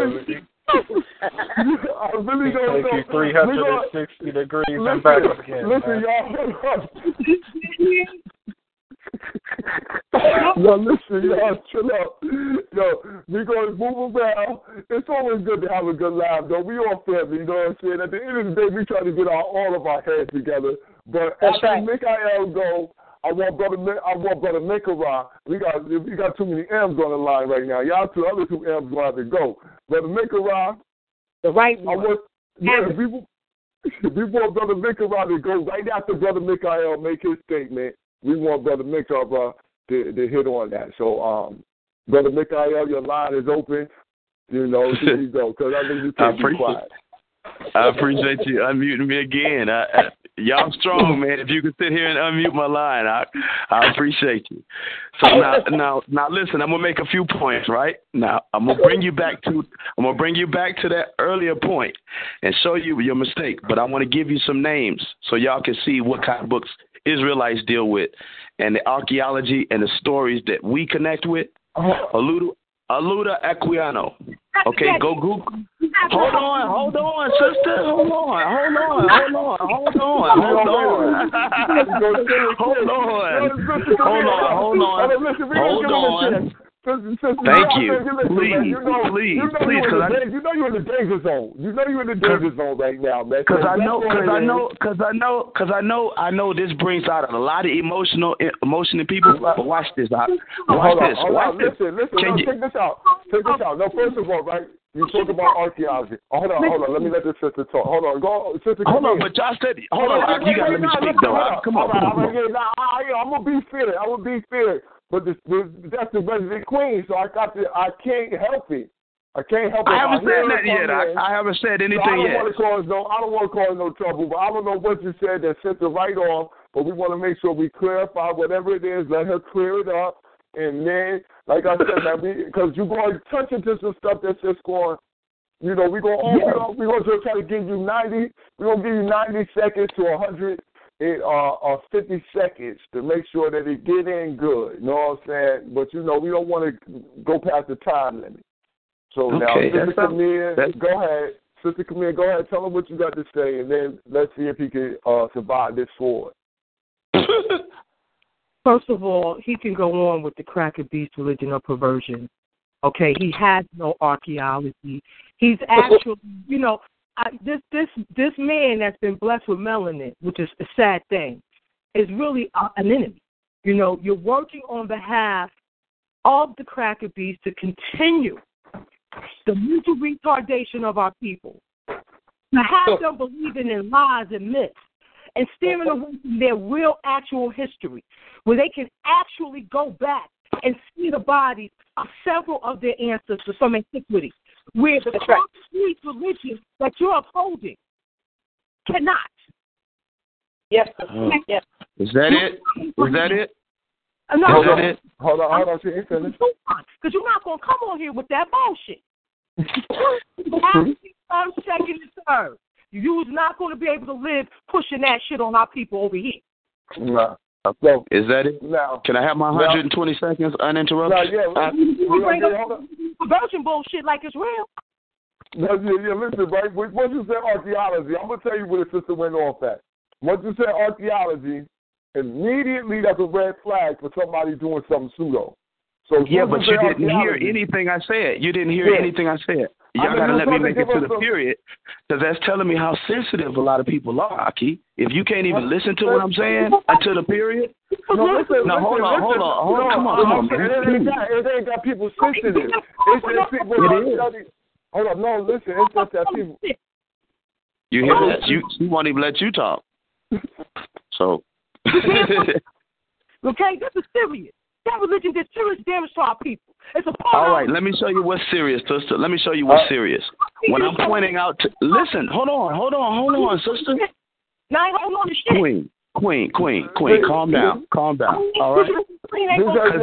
really don't know. 360 degrees and back again. Listen, y'all. Yo, listen, y'all, chill out. Yo, we gonna move around. It's always good to have a good laugh, though. We all family, you know what I'm saying? At the end of the day, we try to get all of our heads together. But after Mikael go, I want Brother Mekara. We got too many M's on the line right now. Y'all other two M's gonna have to go. Brother Mekara, the right one. We want Brother Mekara to go right after Brother Mikael make his statement. We want Brother Mekara to hit on that. So, Brother Mikael, your line is open. You know, here you go, because I think you can't be quiet. I appreciate you unmuting me again. Y'all strong, man. If you could sit here and unmute my line, I appreciate you. So now, listen. I'm gonna make a few points, right? Now, I'm gonna bring you back to that earlier point and show you your mistake. But I want to give you some names so y'all can see what kind of books Israelites deal with, and the archaeology and the stories that we connect with. Aluda Equiano. Okay, go Google. Hold on, sister. Hold on. Thank you. Please, because you know you're in the danger zone. You know you're in the danger zone right now, man. Because I know this brings out a lot of emotion in people. But watch this. Watch this. Listen. Check this out. No, first of all, right? You talk about archaeology. Hold on. Let me let this sister talk. Hold on. Go, sister. Hold on, but y'all said. Hold on. You gotta let me speak, though. Come on. I'm gonna be fair. But that's the resident queen, so I can't help it. I haven't said that yet. I haven't said anything yet. I don't want to cause no trouble, but I don't know what you said that sent the right off, but we want to make sure we clarify whatever it is, let her clear it up, and then, like I said, because you're going to touch into some stuff that's just going, we're going to try to give you 90 seconds to 100 50 seconds to make sure that it get in good. You know what I'm saying? But, we don't want to go past the time limit. So now, Sister Camille, go ahead. Sister Camille, go ahead. Tell him what you got to say, and then let's see if he can survive this forward. First of all, he can go on with the cracker beast religion of perversion. Okay, he has no archaeology. He's actually, this man that's been blessed with melanin, which is a sad thing, is really an enemy. You're working on behalf of the cracker beast to continue the mental retardation of our people, to have them believing in lies and myths and steering away from their real, actual history, where they can actually go back and see the bodies of several of their ancestors from antiquity, where the complete religion that you're upholding cannot. Yes. Yes. Is that it? No. Hold on. Because you're not going to come on here with that bullshit. You have to be first, second, and third. You're not going to be able to live pushing that shit on our people over here. No. So, is that it? No. Can I have my 120 seconds uninterrupted? You bring up conversion bullshit like it's real. Listen, right? Once you said archaeology, I'm going to tell you where the sister went off at. Once you said archaeology, immediately that's a red flag for somebody doing something pseudo. So yeah, but you didn't hear anything I said. You didn't hear anything I said. Y'all got to let me make it to the period, because that's telling me how sensitive a lot of people are, Aki. If you can't even listen to what I'm saying until the period. No, listen, hold on. Come on, man. It ain't got people sensitive. It's just people studying. Hold on, no, listen, it's just that people. You hear that? She won't even let you talk. So. Okay, this is serious. That religion did serious damage to our people. It's a part. All right, let me show you what's serious, sister. Let me show you what's serious. When I'm pointing out to... Listen, hold on, sister. Now I ain't holding on to shit. Queen, calm down. All right? Because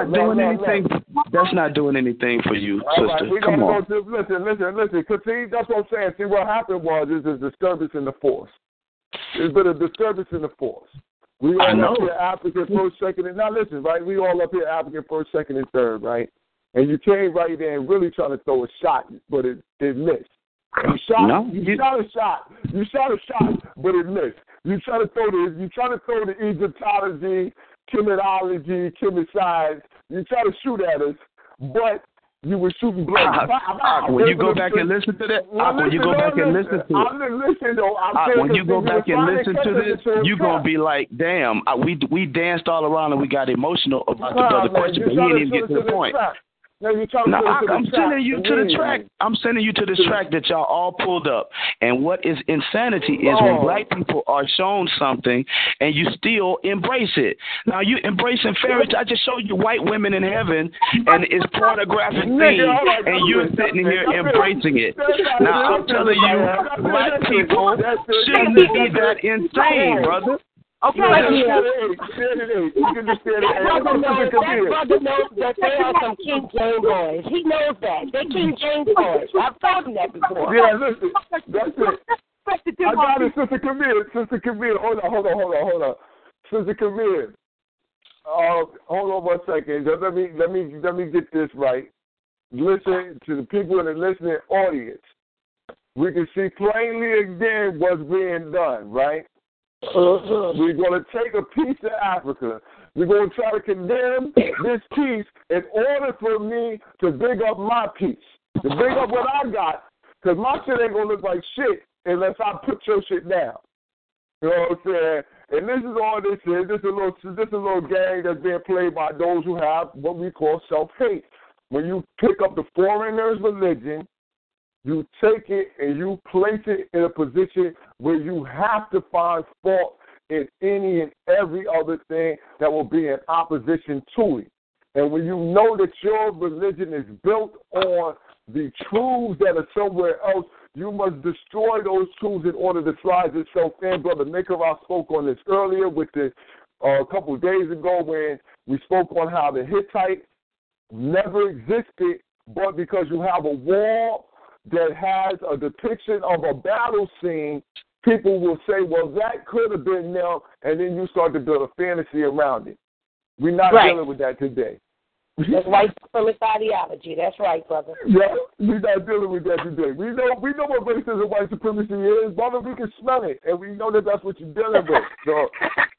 that's not doing anything for you, sister. Right, come on. Listen. Because see, that's what I'm saying. See, what happened was there's a disturbance in the force. There's been a disturbance in the force. We all up here African first, second, and now listen, right? We all up here African first, second, and third, right? And you came right there and really trying to throw a shot, but it missed. You shot a shot, but it missed. You try to throw the Egyptology, chemology, chemicides. You try to shoot at us, but you were shooting blanks. When you go back and listen to that, when you go back and listen to it, when you go back and listen to this, you're going to be like, damn, we danced all around and we got emotional about the brother question, but he didn't even get to the point. I'm sending you to the track. I'm sending you to this track that y'all all pulled up. And what is insanity is when black people are shown something and you still embrace it. Now you embracing fairy tale. I just showed you white women in heaven and it's pornographic thing, and you're sitting here embracing it. Now I'm telling you, black people shouldn't be that insane, brother. Okay. You can just say that brother knows that they are some King James boys. He knows that. They're King James boys. I've told him that before. Yeah, listen. That's it. I got it, Sister Camille. Hold on. Sister Camille. Hold on 1 second. Just let me get this right. Listen to the people in the listening audience. We can see plainly again what's being done, right? We're going to take a piece of Africa. We're going to try to condemn this piece in order for me to big up my piece, to big up what I got, because my shit ain't going to look like shit unless I put your shit down. You know what I'm saying? And this is all this is. This is a little game that's being played by those who have what we call self-hate. When you pick up the foreigner's religion, you take it and you place it in a position where you have to find fault in any and every other thing that will be in opposition to it. And when you know that your religion is built on the truths that are somewhere else, you must destroy those truths in order to slide yourself in. Brother Nicaragua spoke on this earlier with the a couple of days ago when we spoke on how the Hittites never existed, but because you have a wall that has a depiction of a battle scene, people will say, well, that could have been them, and then you start to build a fantasy around it. We're not dealing with that today. That's white supremacist ideology. That's right, brother. Yeah, we're not dealing with that today. We know what racism and white supremacy is, brother. We can smell it, and we know that that's what you're dealing with. So,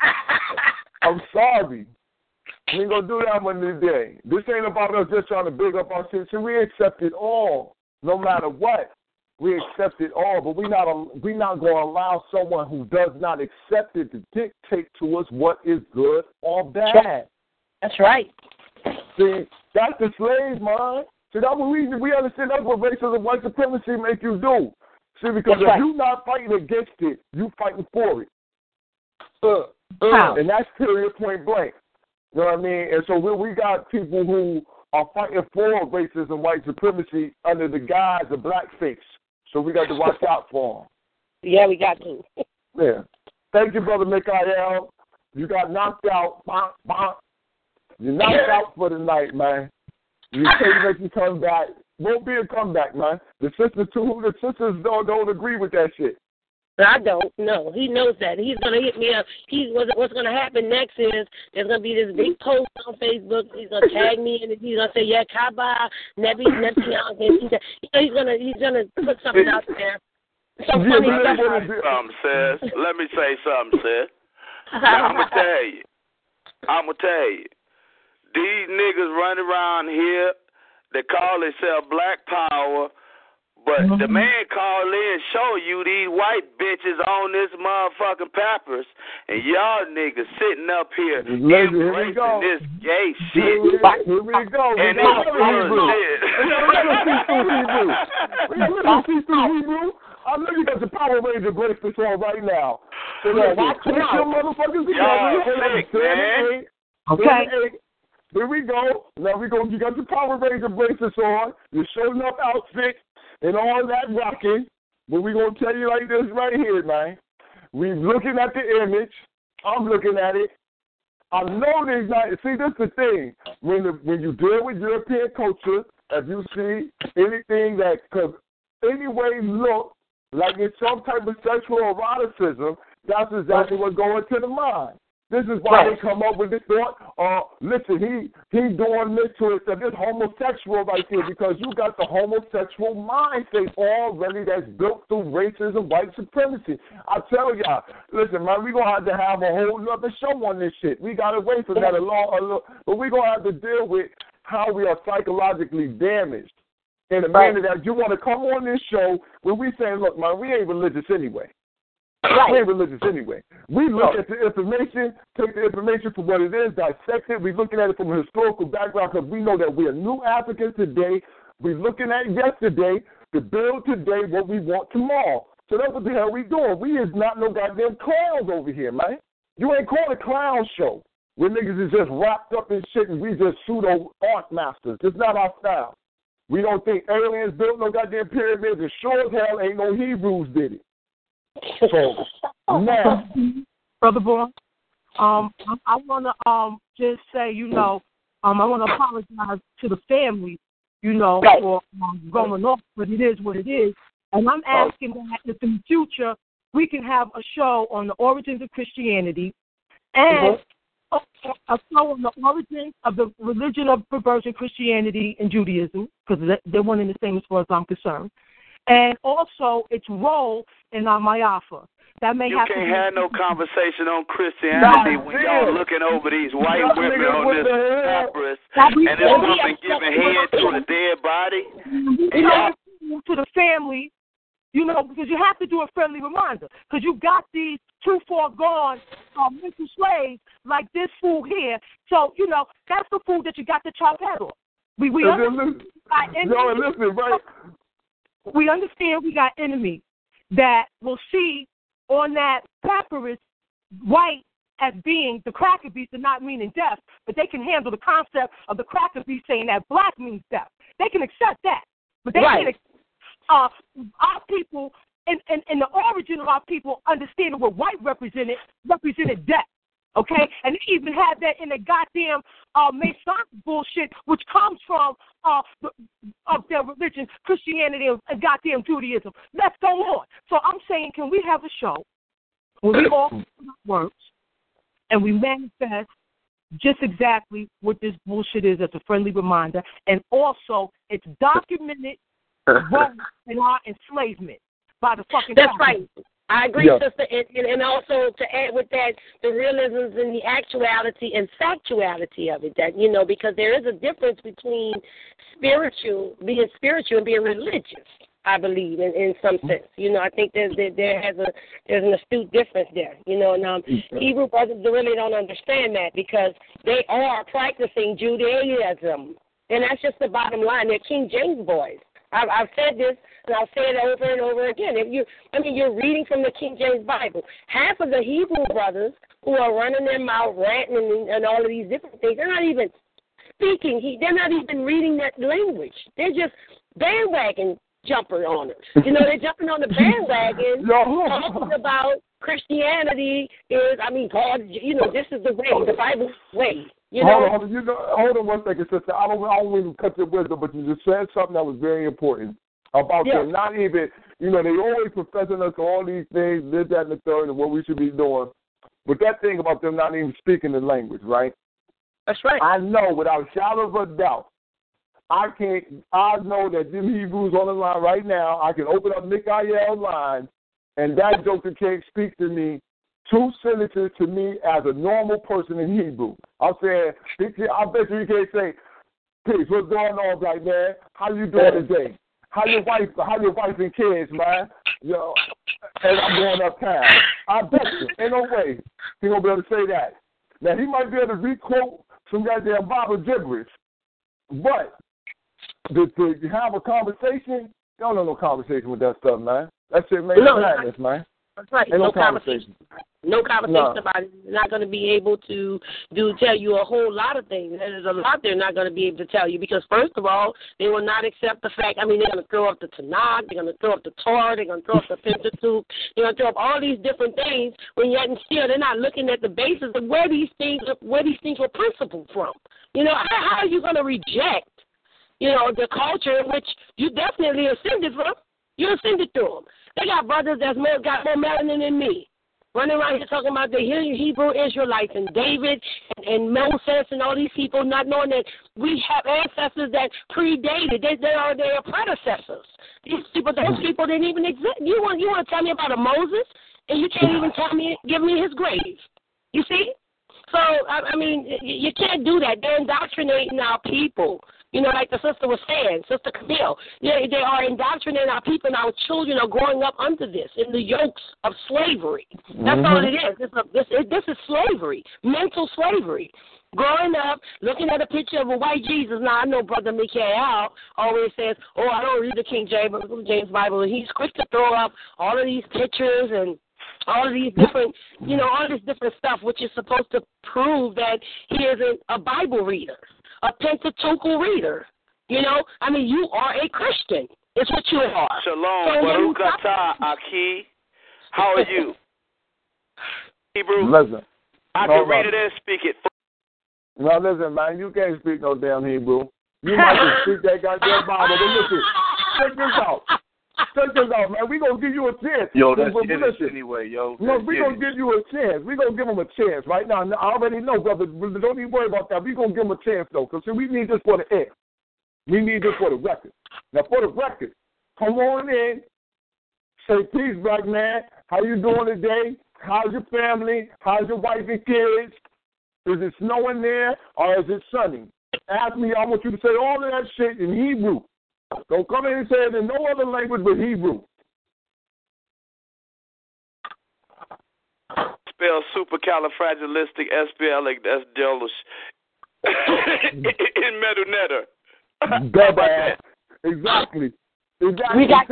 I'm sorry. We ain't going to do that one today. This ain't about us just trying to big up our city. We accept it all. No matter what, we accept it all, but we're not going to allow someone who does not accept it to dictate to us what is good or bad. That's right. See, that's the slave mind. See, that's what we understand. That's what racism, white supremacy make you do. See, because if you're not fighting against it, you fighting for it. And that's period, point blank. You know what I mean? And so we got people who are fighting for racism, white supremacy under the guise of blackface. So we got to watch out for them. Yeah, we got to. Yeah. Thank you, Brother Mikael. You got knocked out. Bonk, bonk. You're knocked out for the night, man. You can't make you come back. Won't be a comeback, man. The sisters don't agree with that shit. I don't. No, he knows that. He's going to hit me up. What's going to happen next is there's going to be this big post on Facebook. He's going to tag me and he's going to say, yeah, Kaba, Nebi, he's going to put something out there. Let me say something, sis. Now, I'm going to tell you. These niggas running around here, they call themselves Black Power, but the man called in show you these white bitches on this motherfucking papyrus, and y'all niggas sitting up here embracing this gay shit. Here we go. And it's Hebrew. I know you got the Power Ranger bracelets on right now. So watch your motherfuckers together. Okay. Here we go. Now you got the Power Ranger bracelets on. You're showing up outfit and all that rocking. But we're going to tell you like this right here, man. We're looking at the image. I'm looking at it. I know there's not. See, this is the thing. When you deal with European culture, if you see anything that could anyway look like it's some type of sexual eroticism, that's exactly what's going to the mind. This is why they come up with this thought. Listen, he's doing this to us. This homosexual right here because you got the homosexual mind state already that's built through racism, white supremacy. I tell y'all, listen, man, we're going to have a whole other show on this shit. We got to wait for that a long, but we're going to have to deal with how we are psychologically damaged. In a manner that you want to come on this show when we saying, look, man, we ain't religious anyway. We ain't religious anyway. We look at the information, take the information for what it is, dissect it. We're looking at it from a historical background because we know that we are new Africans today. We're looking at yesterday to build today what we want tomorrow. So that's what the hell we doing. We is not no goddamn clowns over here, man. You ain't called a clown show where niggas is just wrapped up in shit and we just pseudo art masters. It's not our style. We don't think aliens built no goddamn pyramids, and sure as hell ain't no Hebrews did it. So now, Brother Boy, I want to just say, I want to apologize to the family, for going off, but it is what it is. And I'm asking that if in the future we can have a show on the origins of Christianity and a show on the origins of the religion of perversion, Christianity and Judaism, because they're one and the same as far as I'm concerned, and also its role in our Mayafa. That may you have can't to have no conversation on Christianity when y'all looking over these white women on this papyrus and this woman giving head to a dead body. To the family, because you have to do a friendly reminder, because you got these too far gone mental slaves like this fool here. So, that's the fool that you got to chop head off. We understand we got enemies that will see on that papyrus white as being the cracker beast and not meaning death, but they can handle the concept of the cracker beast saying that black means death. They can accept that, but they can't accept our people and the origin of our people understanding what white represented death. Okay? And they even had that in the goddamn Masonic bullshit, which comes from of their religion, Christianity and goddamn Judaism. Let's go on. So I'm saying, can we have a show where we all works and we manifest just exactly what this bullshit is as a friendly reminder, and also it's documented role in our enslavement by the fucking That's right. I agree, sister, and also to add with that, the realisms and the actuality and factuality of it, that, because there is a difference between being spiritual and being religious, I believe, in some sense. I think there's an astute difference there, and Hebrew brothers really don't understand that because they are practicing Judaism, and that's just the bottom line. They're King James boys. I've said this, and I'll say it over and over again. You're reading from the King James Bible. Half of the Hebrew brothers who are running their mouth, ranting, and all of these different things, they're not even speaking. They're not even reading that language. They're just bandwagon jumper owners. They're jumping on the bandwagon, talking about Christianity is, God, this is the way, the Bible's way. Hold on one second, sister. I don't want to cut your wisdom, but you just said something that was very important about them not even, they always professing us all these things, this, that, and the third, and what we should be doing. But that thing about them not even speaking the language, right? That's right. I know without a shadow of a doubt, I know that them Hebrews on the line right now, I can open up Mikael's line, and that joker can't speak to me two sentences to me as a normal person in Hebrew. I'm saying, I bet you can't say, peace, what's going on, black man? How you doing today? How your wife and kids, man? Yo, and I'm going uptown. I bet you, ain't no way he gonna be able to say that. Now he might be able to requote some goddamn Bible gibberish, but to have a conversation, y'all don't know no conversation with that stuff, man. That shit makes madness, man. That's right. Ain't no conversation. No conversation about it. They're not going to be able to tell you a whole lot of things. And there's a lot they're not going to be able to tell you because, first of all, they will not accept the fact. I mean, they're going to throw up the Tanakh. They're going to throw up the Torah. They're going to throw up the Pentateuch. They're going to throw up all these different things when yet and still they're not looking at the basis of where these things were principled from. You know, how are you going to reject, you know, the culture in which you definitely ascended from? You ascended through them. They got brothers that's got more melanin than me. Running around here talking about the Hebrew Israelites and David and Moses and all these people, not knowing that we have ancestors that predated. They are their predecessors. Those people didn't even exist. You want to tell me about a Moses, and you can't even give me his grave. You see? So, I mean, you can't do that. They're indoctrinating our people. You know, like the sister was saying, Sister Camille, they are indoctrinating our people, and our children are growing up under this, in the yokes of slavery. That's all it is. This is slavery, mental slavery. Growing up, looking at a picture of a white Jesus. Now, I know Brother Mikael always says, I don't read the King James Bible, and he's quick to throw up all of these pictures and all of these different, all this different stuff, which is supposed to prove that he isn't a Bible reader, a Pentateuchal reader. You know, I mean, you are a Christian. It's what you are. Shalom, Baruch atah, Aki. How are you? Hebrew? Listen. I can read it and speak it. No, listen, man, you can't speak no damn Hebrew. You might just speak that goddamn Bible. But listen, check this out. Check this out, man. We gonna give you a chance. Yo, that's it anyway, yo. No, we gonna give you a chance. We gonna give him a chance right now. I already know, brother. Don't even worry about that. We gonna give him a chance though, because we need this for the air. We need this for the record. Now, for the record, come on in. Say peace, black man. How you doing today? How's your family? How's your wife and kids? Is it snowing there or is it sunny? Ask me. I want you to say all of that shit in Hebrew. Don't come in and say it in no other language but Hebrew. Spell supercalifragilisticexpialidocious in Medunetter. Exactly. We got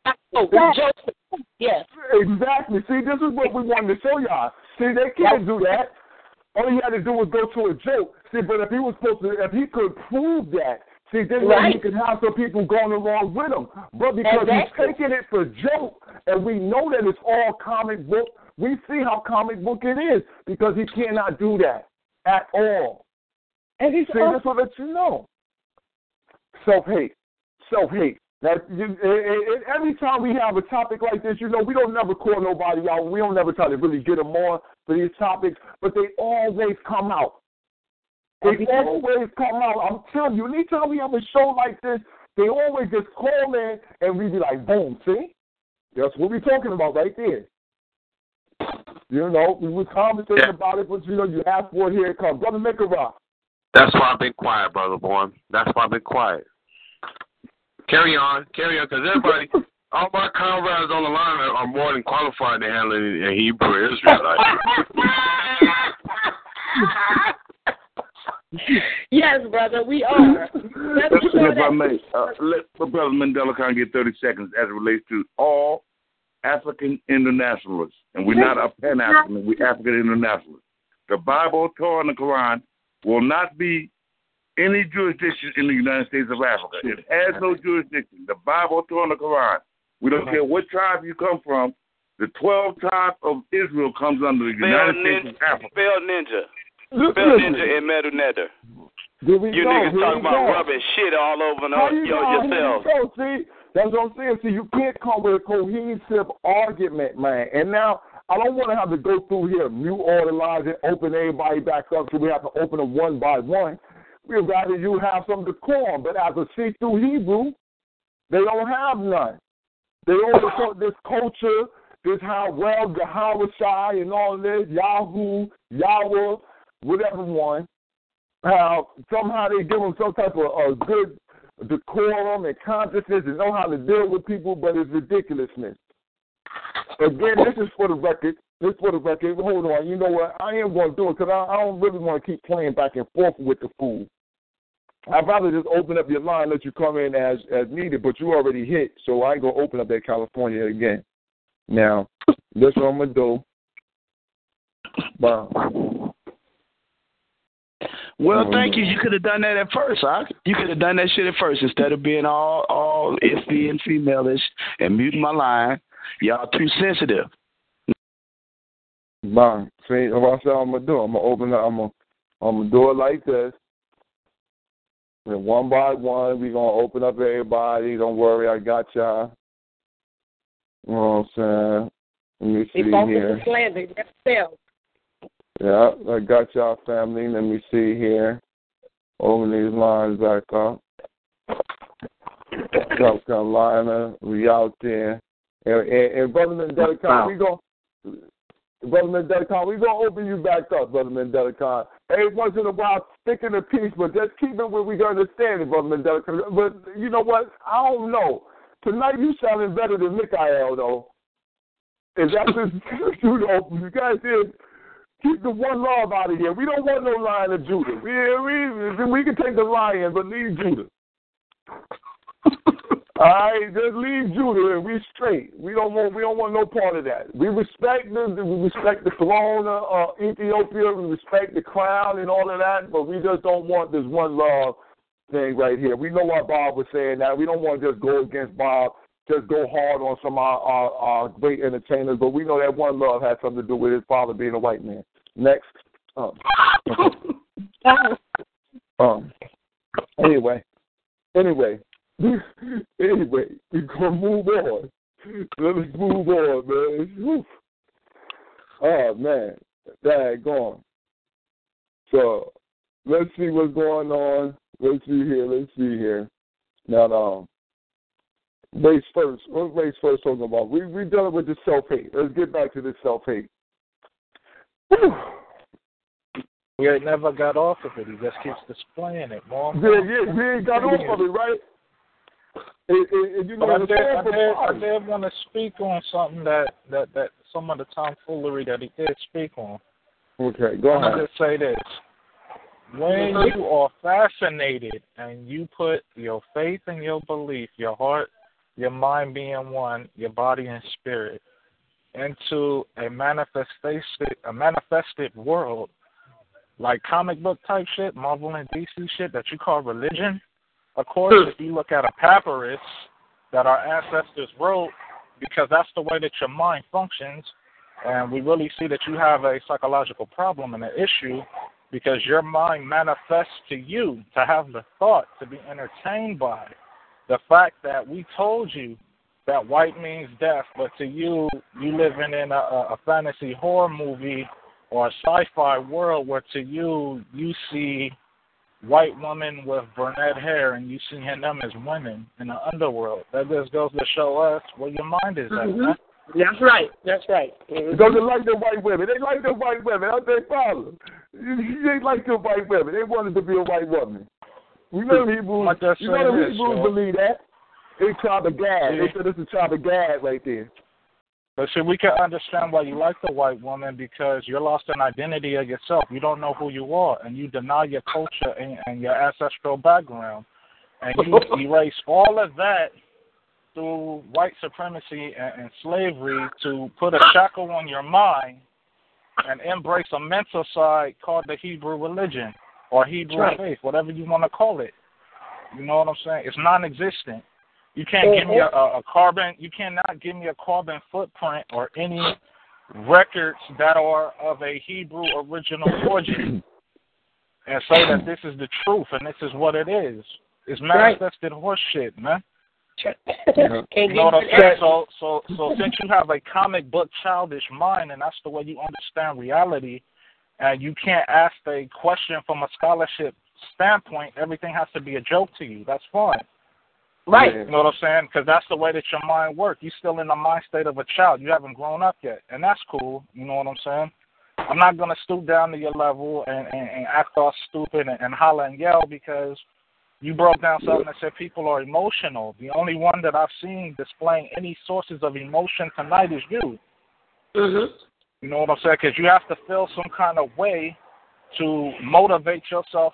yes. Exactly. See, this is what we wanted to show y'all. See, they can't do that. All he had to do was go to a joke. See, but if he could prove that, see, then he could have some people going along with him. But because he's taking it for joke, and we know that it's all comic book, we see how comic book it is because he cannot do that at all. And he said, this will let you know. Self-hate. Now, every time we have a topic like this, we don't never call nobody out. We don't never try to really get them on for these topics, but they always come out. They always come out. I'm telling you, anytime we have a show like this, they always just call in and we be like, boom, see? That's what we're talking about right there. We were conversating about it, but you asked for it, here it comes. Brother Mikara. That's why I've been quiet, Brother Born. That's why I've been quiet. Carry on, because everybody, all my comrades on the line are more than qualified to handle it in Hebrew Israelite. Yes, brother, we are. If I may, let Brother Mandela kind of get 30 seconds as it relates to all African internationalists. And we're not a Pan-African, we're African internationalists. The Bible, Torah, and the Quran will not be any jurisdiction in the United States of Africa. It has no jurisdiction. The Bible, Torah, and the Quran. We don't care what tribe you come from. The 12 tribes of Israel comes under the United States of Africa. Spell ninja in Medunetter. You niggas talking about rubbing shit all over yourself. See, that's what I'm saying. See, you can't come with a cohesive argument, man. And now, I don't want to have to go through here, mute all the lines and open everybody back up so we have to open them one by one. We'd rather you have some decorum, but as a see-through Hebrew, they don't have none. They only talk this culture this how well Yahweh Shai and all this, Yahoo, Yahweh, whatever one, how somehow they give them some type of good decorum and consciousness and know how to deal with people, but it's ridiculousness. Again, this is for the record. This is for the record. Hold on. You know what? I am going to do it because I don't really want to keep playing back and forth with the fool. I'd rather just open up your line, let you come in as needed, but you already hit, so I ain't going to open up that California again. Now, that's what I'm going to do. Wow. Well, thank you. You could have done that at first, huh? You could have done that shit at first instead of being all iffy and female-ish and muting my line. Y'all too sensitive. Bang. See, that's what I'm going to do. I'm going to open up. I'm going to do it like this. And one by one, we're going to open up everybody. Don't worry, I got y'all. You know what I'm saying? Let me see here. Slander, themselves. Yeah, I got y'all, family. Let me see here. Open these lines back up. South Carolina, we out there. And Brother Mandela, we going to open you back up, Brother Mandela. Every once in a while, stick in a piece, but just keep it where we can understand it, Brother Mandela. But you know what? I don't know. Tonight you sounding better than Mikael, though. Is that just, you know, you guys here, keep the one love out of here. We don't want no Lion of Judah. We can take the lion, but leave Judah. All right, just leave Judah and we straight. We don't want no part of that. We respect the throne of Ethiopia. We respect the crown and all of that, but we just don't want this one love thing right here. We know what Bob was saying that we don't want to just go against Bob, just go hard on some of our great entertainers, but we know that one love has something to do with his father being a white man. Next. Anyway, we're going to move on. Let us move on, man. Whew. Oh, man. Daggone. So, let's see what's going on. Let's see here. Now, race first. What race first talking about? We're dealing with the self-hate. Let's get back to this self-hate. Whew. We ain't never got off of it. He just keeps displaying it. Yeah, we ain't got off of it, right? You know, I did want to speak on something that some of the tomfoolery that he did speak on. Okay, go ahead. I'm going to say this. When you are fascinated and you put your faith and your belief, your heart, your mind being one, your body and spirit, into a manifested world, like comic book type shit, Marvel and DC shit that you call religion, of course, if you look at a papyrus that our ancestors wrote, because that's the way that your mind functions, and we really see that you have a psychological problem and an issue because your mind manifests to you to have the thought to be entertained by the fact that we told you that white means death, but to you, you living in a fantasy horror movie or a sci-fi world where to you, you see white women with brunette hair and you see them as women in the underworld. That just goes to show us where your mind is at, man. That's right. Because they like the white women. They like the white women. That's their problem. They like the white women. They wanted to be a white woman. You know the Hebrews, believe that. It's tribe of Gad. They said it's a tribe of Gad right there. But see, we can understand why you like the white woman because you're lost in identity of yourself. You don't know who you are, and you deny your culture and your ancestral background. And you erase all of that through white supremacy and slavery to put a shackle on your mind and embrace a mental side called the Hebrew religion or Hebrew faith, whatever you want to call it. You know what I'm saying? It's non-existent. You can't give me a carbon. You cannot give me a carbon footprint or any records that are of a Hebrew original origin, and say that this is the truth and this is what it is. It's manifested horse shit, man. You know what I'm saying? So since you have a comic book childish mind and that's the way you understand reality, and you can't ask a question from a scholarship standpoint, everything has to be a joke to you. That's fine. Right. You know what I'm saying? Because that's the way that your mind works. You're still in the mind state of a child. You haven't grown up yet. And that's cool. You know what I'm saying? I'm not going to stoop down to your level and act all stupid and holler and yell because you broke down something that said people are emotional. The only one that I've seen displaying any sources of emotion tonight is you. Mm-hmm. You know what I'm saying? Because you have to feel some kind of way to motivate yourself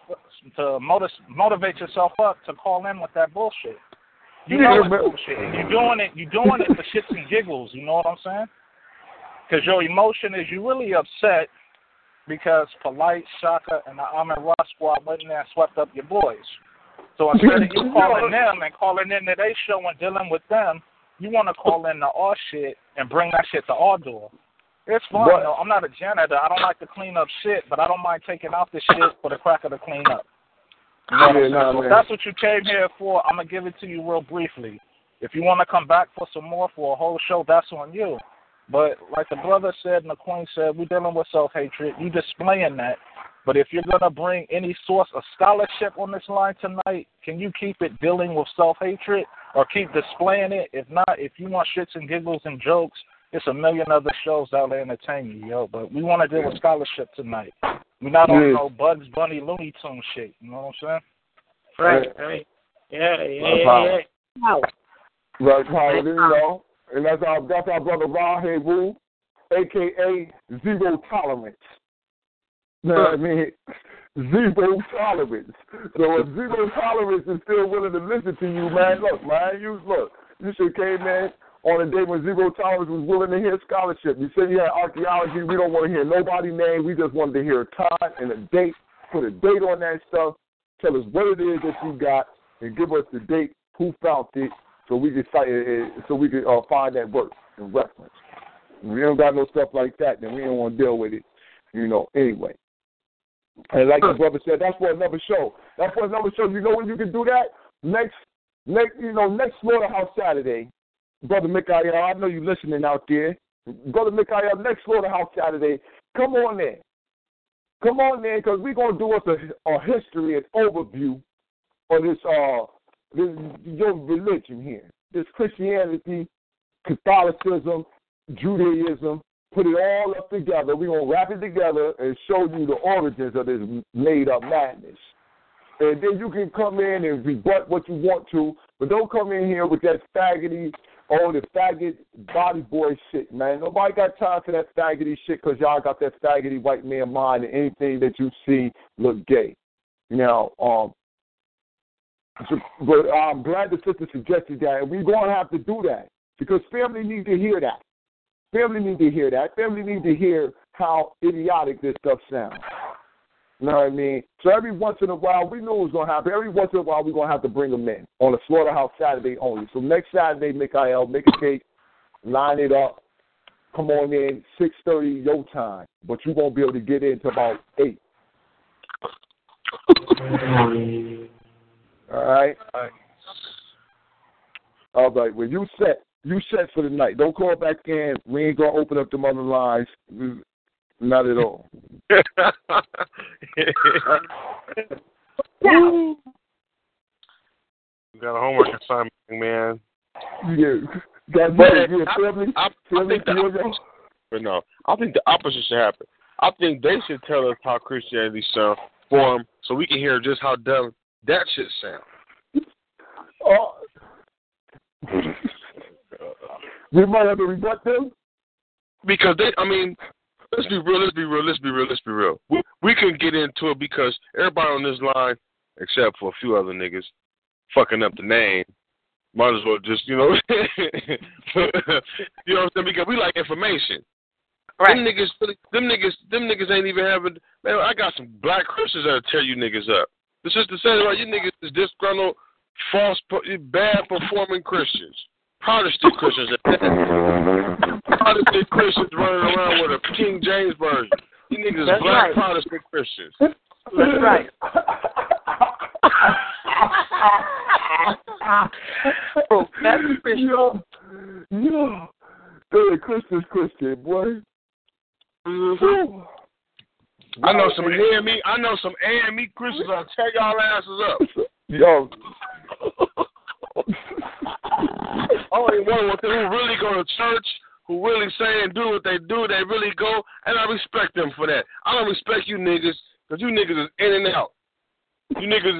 up to call in with that bullshit. You know it's bullshit. You're doing it for shits and giggles. You know what I'm saying? Because your emotion is you really upset because Polite, Shaka, and the Amin Ross squad went in there and swept up your boys. So instead of you calling them and calling in to their show and dealing with them, you want to call in the our shit and bring that shit to our door. It's fun, though. I'm not a janitor. I don't like to clean up shit, but I don't mind taking out the shit for the cracker to clean up. You know so if that's what you came here for, I'm going to give it to you real briefly. If you want to come back for some more for a whole show, that's on you. But like the brother said and the queen said, we're dealing with self-hatred. You displaying that. But if you're going to bring any source of scholarship on this line tonight, can you keep it dealing with self-hatred or keep displaying it? If not, if you want shits and giggles and jokes, it's a million other shows that will entertain you, yo. But we want to deal with scholarship tonight. We're not on no Bugs Bunny Looney Tune shit. You know what I'm saying? Right. Yeah. Right, Paul, you know. And that's our brother Rahim Wu, a.k.a. Zero Tolerance. You know what I mean? Zero tolerance. So if zero tolerance is still willing to listen to you, man, you should came in on a day when Zero Tolerance was willing to hear scholarship. You said you had archaeology. We don't want to hear nobody's name. We just wanted to hear a time and a date. Put a date on that stuff. Tell us what it is that you got and give us the date, who found it, so we could find that work and reference. If we don't got no stuff like that, then we don't want to deal with it, anyway. And like the brother said, that's for another show. You know when you can do that? Next Slaughterhouse Saturday, Brother Mikael, I know you listening out there. Brother Mikael, next Slaughterhouse Saturday, come on in. Come on in, because we're going to do us a history and overview on your religion here. This Christianity, Catholicism, Judaism, put it all up together. We're going to wrap it together and show you the origins of this made-up madness. And then you can come in and rebut what you want to, but don't come in here with that the faggot body boy shit, man. Nobody got time for that faggoty shit because y'all got that faggoty white man mind and anything that you see look gay. Now, but I'm glad the sister suggested that, and we're going to have to do that because family needs to hear that. Family need to hear how idiotic this stuff sounds. You know what I mean? So every once in a while, we knew it was going to happen. Every once in a while, we're going to have to bring them in on a Slaughterhouse Saturday only. So next Saturday, Mikael, make a cake, line it up, come on in, 6:30 your time. But you won't be able to get in until about 8. All right? All right. Well, you set for the night. Don't call back in. We ain't going to open up them other lines. Not at all. You got a homework assignment, man. Yeah. I think the opposite should happen. I think they should tell us how Christianity sounds for them so we can hear just how dumb that shit sounds. We might have to rebut them. Because let's be real. We can get into it because everybody on this line, except for a few other niggas, fucking up the name, might as well just, you know what I'm saying? Because we like information. Right. Them niggas ain't even having, man, I got some black Christians that'll tear you niggas up. The sister said, right, you niggas is disgruntled, bad performing Christians. Protestant Christians. Protestant Christians running around with a King James version. You niggas That's black right. Protestant Christians. That's right. Professor Christian. Yo. They're Christian, boy. Mm-hmm. I know some AME Christians that'll tear y'all asses up. Yo. one with them who really go to church, who really say and do what they do. They really go, and I respect them for that. I don't respect you niggas because you niggas is in and out. You niggas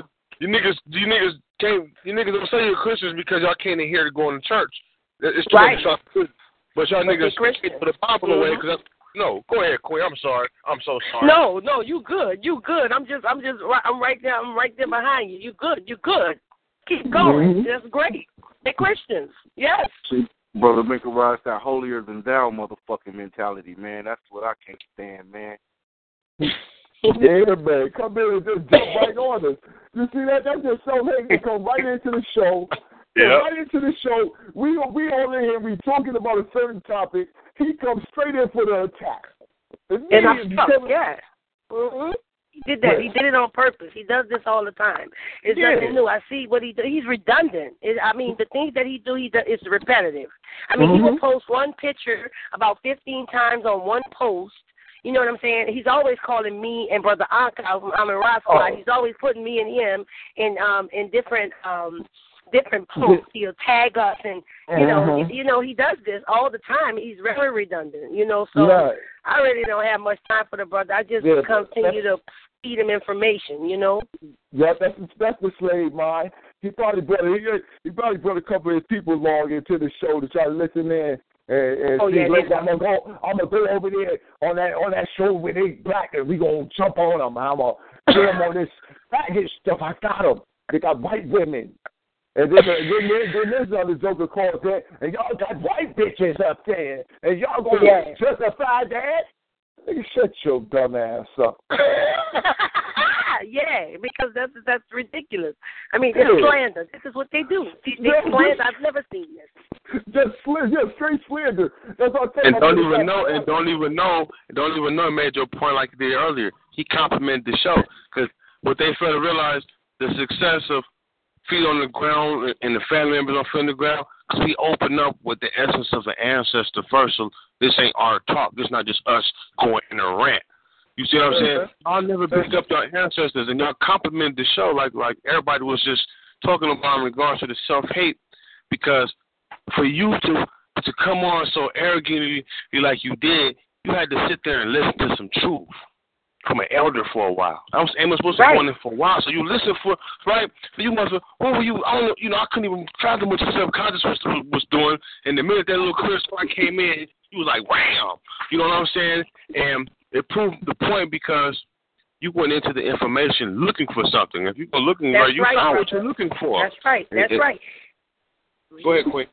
don't say you're Christians because y'all can't adhere to going to church. It's true, right. But y'all niggas put the Bible away because. No, go ahead, Queen. I'm sorry. I'm so sorry. No, you good. I'm right there. I'm right there behind you. You good. Keep going. That's great. They're Christians. Yes. See, Brother Minka, that holier than thou motherfucking mentality, man. That's what I can't stand, man. Yeah, man. Come in and just jump right on us. You see that? That's just so hate. Come right into the show. Yeah. Right into the show. We all in here. We talking about a certain topic. He comes straight in for the attack. And I'm stuck, yeah. Mm-hmm. He did that. He did it on purpose. He does this all the time. It's nothing new. I see what he does. He's redundant. The things that he does is repetitive. He will post one picture about 15 times on one post. You know what I'm saying? He's always calling me and Brother Ankar from Amin Ra Squad. He's always putting me and him in different posts. He'll tag us, and you know he does this all the time. He's very redundant, So I really don't have much time for the brother. I just continue to feed him information, Yeah, that's the slave mind. He probably brought a couple of his people along into the show to try to listen in. And I'm gonna go over there on that show where they black and we gonna jump on them. I'm gonna get them on this faggot stuff. I got them. They got white women. And then this other joker calls that, and y'all got white bitches up there, and y'all gonna justify that? Nigga, shut your dumb ass up. Yeah, because that's ridiculous. It's slander. This is what they do. They slander. I've never seen this. Just straight slander. That's what I'm saying. And don't even know. It made your point like you did earlier. He complimented the show because what they fail to realize, the success of Feet on the Ground and the family members on Feet on the Ground, because we open up with the essence of an ancestor first. So this ain't our talk. This not just us going in a rant. You see what I'm saying? I'll never pick up your ancestors, and y'all compliment the show like everybody was just talking about in regards to the self-hate, because for you to come on so arrogantly like you did, you had to sit there and listen to some truth from an elder for a while. I was supposed to go in there for a while, so you listen for, right? You must have, what were you, I don't know, I couldn't even fathom what your subconscious was doing, and the minute that little clear spark came in, you was like, wham! You know what I'm saying? And it proved the point because you went into the information looking for something. If you were looking right, you found what you're looking for. That's right. Right. Go ahead, Quinn.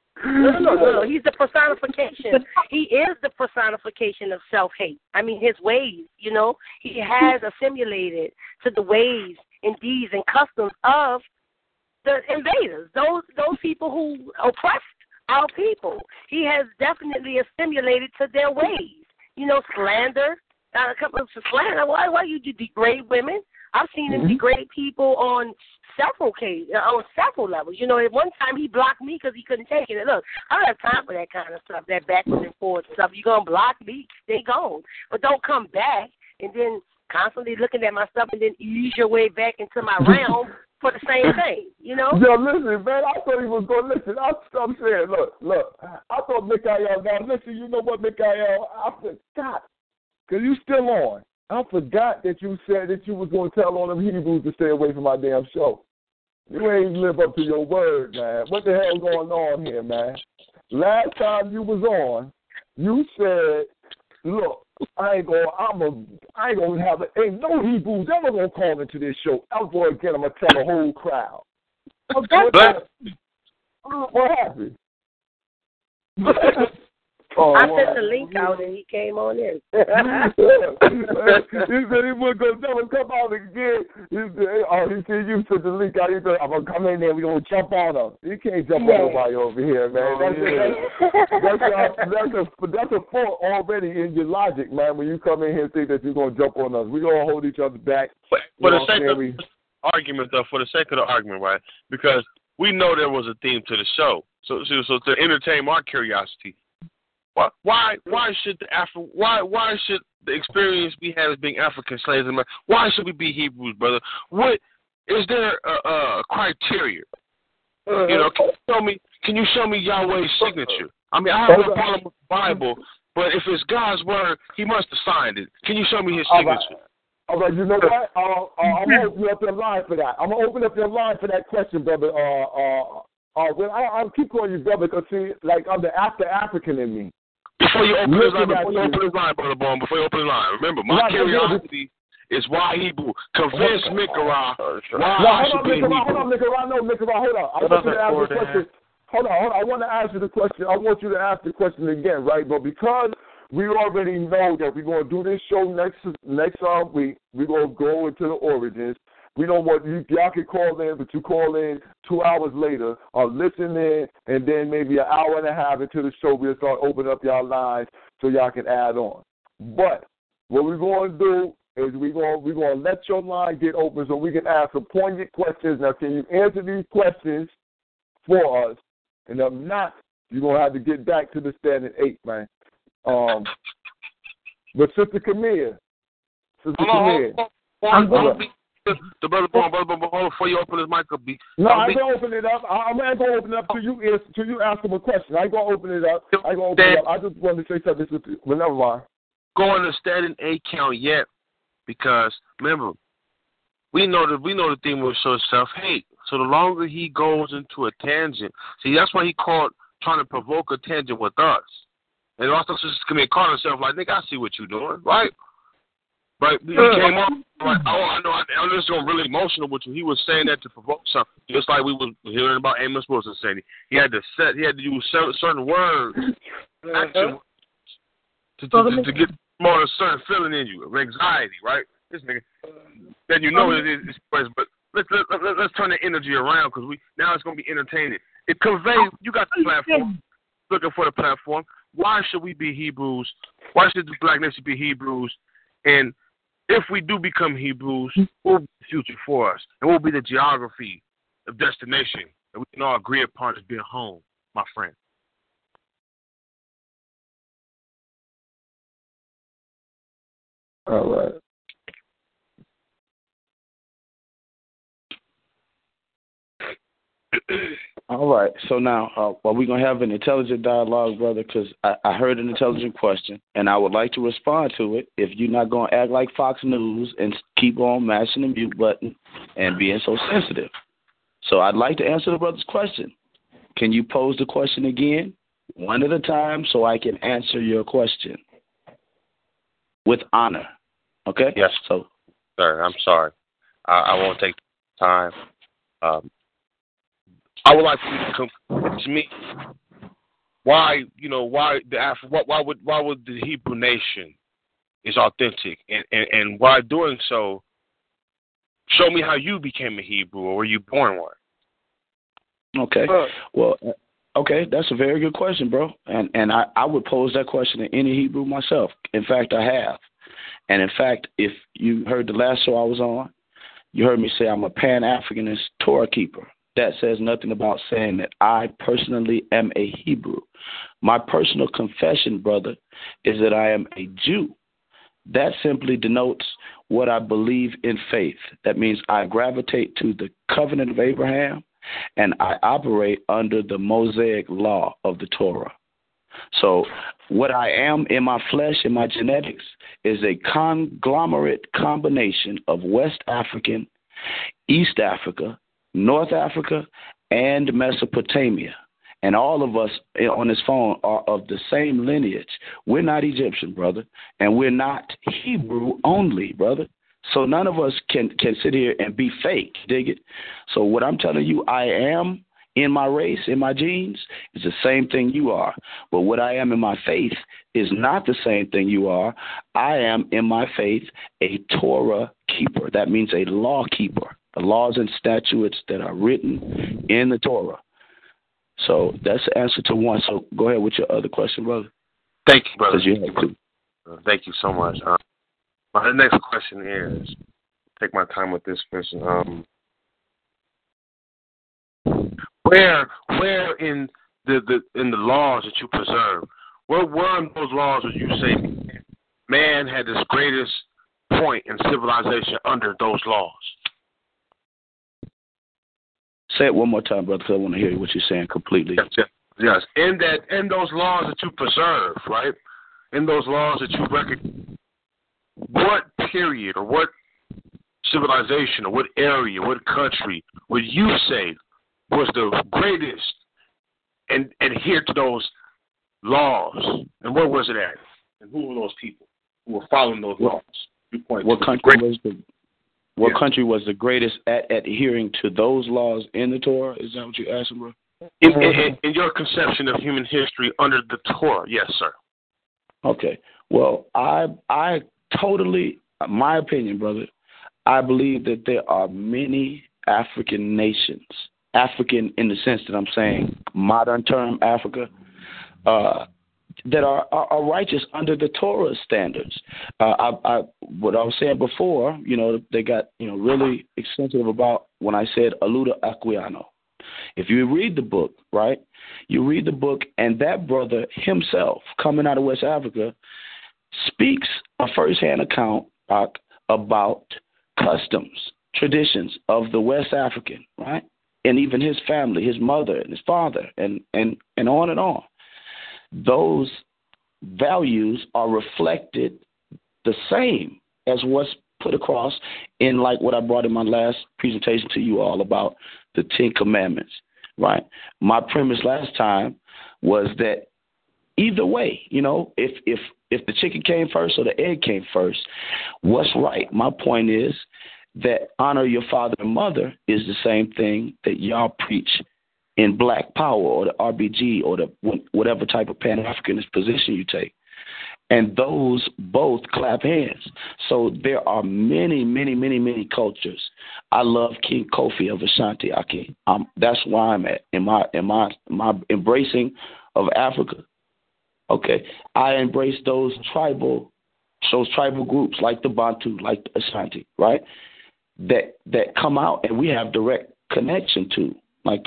No. He's the personification. He is the personification of self-hate. His ways, he has assimilated to the ways and deeds and customs of the invaders, those people who oppressed our people. He has definitely assimilated to their ways. Slander. Slander. Why you degrade women? I've seen him degrade people on several levels. At one time he blocked me because he couldn't take it. And look, I don't have time for that kind of stuff, that backwards and forward stuff. You're going to block me, stay gone. But don't come back and then constantly looking at my stuff and then ease your way back into my realm for the same thing, Yo, listen, man, I thought he was going to listen. I'm saying, look, I thought Mikael, now listen, you know what, Mikael, I forgot, because you still on. I forgot that you said that you was going to tell all them Hebrews to stay away from my damn show. You ain't live up to your word, man. What the hell going on here, man? Last time you was on, you said, look, ain't no Hebrews ever gonna call into this show ever again. I'm gonna tell the whole crowd. What happened? I sent the link out and he came on in. He said he was going to tell him come out again. He said you sent the link out. He said, I'm going to come in there. We're going to jump on him. You can't jump on nobody over here, man. That's a fault already in your logic, man, when you come in here and think that you're going to jump on us. We're going to hold each other back. For the sake of the argument, right, because we know there was a theme to the show. So to entertain our curiosity, why should the experience we have as being African slaves, why should we be Hebrews, brother? What is there a criteria? Can can you show me Yahweh's signature? I mean, I have no problem with the Bible, but if it's God's word, he must have signed it. Can you show me his signature? All right, you know what? I'm going to open up your line for that. I'm going to open up your line for that question, brother. I'll keep calling you brother because, see, like, I'm the African in me. Before you open his line, Brother Bone, before you open the line, remember, my curiosity is why Hebrew. Convince Mikara why I should be Hebrew. Hold on, Mikara. No, Mikara, hold on. I want you to ask the question. Hold on. I want to ask you the question. I want you to ask the question again, right? But because we already know that we're going to do this show next week, we're going to go into the origins. We don't want y'all can call in, but you call in 2 hours later or listen in, and then maybe an hour and a half into the show, we'll start opening up y'all lines so y'all can add on. But what we're going to do is we're going to let your line get open so we can ask some poignant questions. Now, can you answer these questions for us? And if not, you're going to have to get back to the standing 8, man. But Sister Camille. The brother Bone, before you open his mic up, no, I ain't gonna open it up. I'm not gonna open it up till you ask him a question. I ain't gonna open it up. I just wanted to say something with you. But never mind. Go on the standing 8 count yet, because remember, we know the theme will show self-hate. So the longer he goes into a tangent, see, that's why he called trying to provoke a tangent with us. And also, Sister Camille called herself like, nigga, I see what you're doing, right? Right, he came up like, I know. I'm just going really emotional with you. He was saying that to provoke something, just like we were hearing about Amos Wilson saying he had to use certain words, action to get more of a certain feeling in you, of anxiety, right? This nigga, then you know it's but let's turn the energy around because now it's going to be entertaining. It conveys. You got the platform. Looking for the platform. Why should we be Hebrews? Why should the Black Nation be Hebrews? And if we do become Hebrews, what will be the future for us? And what will be the geography of destination that we can all agree upon as being home, my friend? All right. All right. So now, we're going to have an intelligent dialogue, brother, because I heard an intelligent question, and I would like to respond to it if you're not going to act like Fox News and keep on mashing the mute button and being so sensitive. So I'd like to answer the brother's question. Can you pose the question again, one at a time, so I can answer your question with honor? Okay? Yes. So, sir, I'm sorry. I won't take time. I would like for you to come to me. Why would the Hebrew nation is authentic, and why doing so? Show me how you became a Hebrew, or were you born one? Okay. Well, okay, that's a very good question, bro. And I would pose that question to any Hebrew myself. In fact, I have. And in fact, if you heard the last show I was on, you heard me say I'm a Pan-Africanist Torah keeper. That says nothing about saying that I personally am a Hebrew. My personal confession, brother, is that I am a Jew. That simply denotes what I believe in faith. That means I gravitate to the covenant of Abraham, and I operate under the Mosaic law of the Torah. So what I am in my flesh, in my genetics, is a conglomerate combination of West African, East Africa, North Africa, and Mesopotamia. And all of us on this phone are of the same lineage. We're not Egyptian, brother, and we're not Hebrew only, brother. So none of us can sit here and be fake, dig it? So what I'm telling you I am in my race, in my genes, is the same thing you are. But what I am in my faith is not the same thing you are. I am in my faith a Torah keeper. That means a law keeper. The laws and statutes that are written in the Torah. So that's the answer to one. So go ahead with your other question, brother. Thank you, brother. Thank you so much. My next question is, take my time with this question. Where in the laws that you preserve, where in those laws would you say man had his greatest point in civilization under those laws? Say it one more time, brother, because I want to hear what you're saying completely. Yes. In those laws that you preserve, right? In those laws that you recognize, what period or what civilization or what area, what country would you say was the greatest and adhere to those laws? And where was it at? And who were those people who were following those laws? What country was the greatest at adhering to those laws in the Torah? Is that what you're asking, bro? In your conception of human history under the Torah, yes, sir. Okay. Well, I totally, my opinion, brother, I believe that there are many African nations, African in the sense that I'm saying modern term Africa, that are righteous under the Torah standards. What I was saying before, they got, really sensitive about when I said Aluda Aquilano. If you read the book, right, you read the book, and that brother himself, coming out of West Africa, speaks a first-hand account about customs, traditions of the West African, right, and even his family, his mother and his father, and on and on. Those values are reflected the same as what's put across in like what I brought in my last presentation to you all about the Ten Commandments, right? My premise last time was that either way, if the chicken came first or the egg came first, what's right? My point is that honor your father and mother is the same thing that y'all preach in Black Power or the RBG or the whatever type of Pan-Africanist position you take. And those both clap hands. So there are many, many, many, many cultures. I love King Kofi of Ashanti. That's where I'm at in my embracing of Africa. Okay, I embrace those tribal groups like the Bantu, like the Ashanti, right? That come out and we have direct connection to, like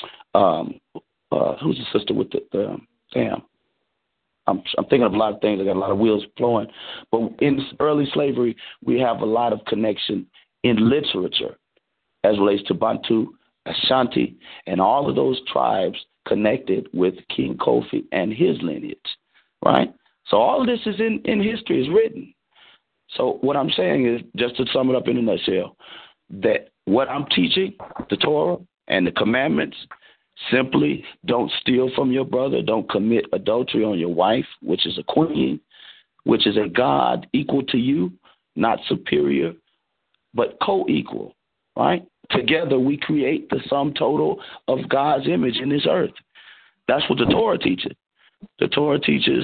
who's the sister with the Sam? I'm thinking of a lot of things. I got a lot of wheels flowing. But in early slavery, we have a lot of connection in literature as relates to Bantu, Ashanti, and all of those tribes connected with King Kofi and his lineage, right? So all of this is in history, is written. So what I'm saying is, just to sum it up in a nutshell, that what I'm teaching, the Torah and the commandments, simply don't steal from your brother. Don't commit adultery on your wife, which is a queen, which is a God equal to you, not superior, but co-equal, right? Together we create the sum total of God's image in this earth. That's what the Torah teaches. The Torah teaches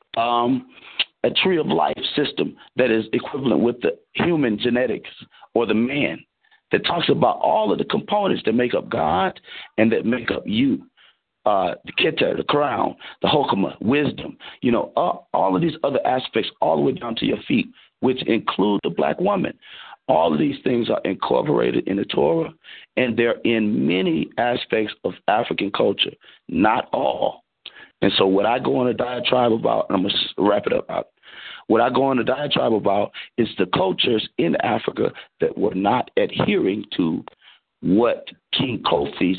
a tree of life system that is equivalent with the human genetics or the man, that talks about all of the components that make up God and that make up you. The Keter, the crown, the Hokmah, wisdom, all of these other aspects all the way down to your feet, which include the black woman. All of these things are incorporated in the Torah, and they're in many aspects of African culture, not all. And so what I go on a diatribe about, and I'm going to wrap it up, what I go on a diatribe about is the cultures in Africa that were not adhering to what King Kofi's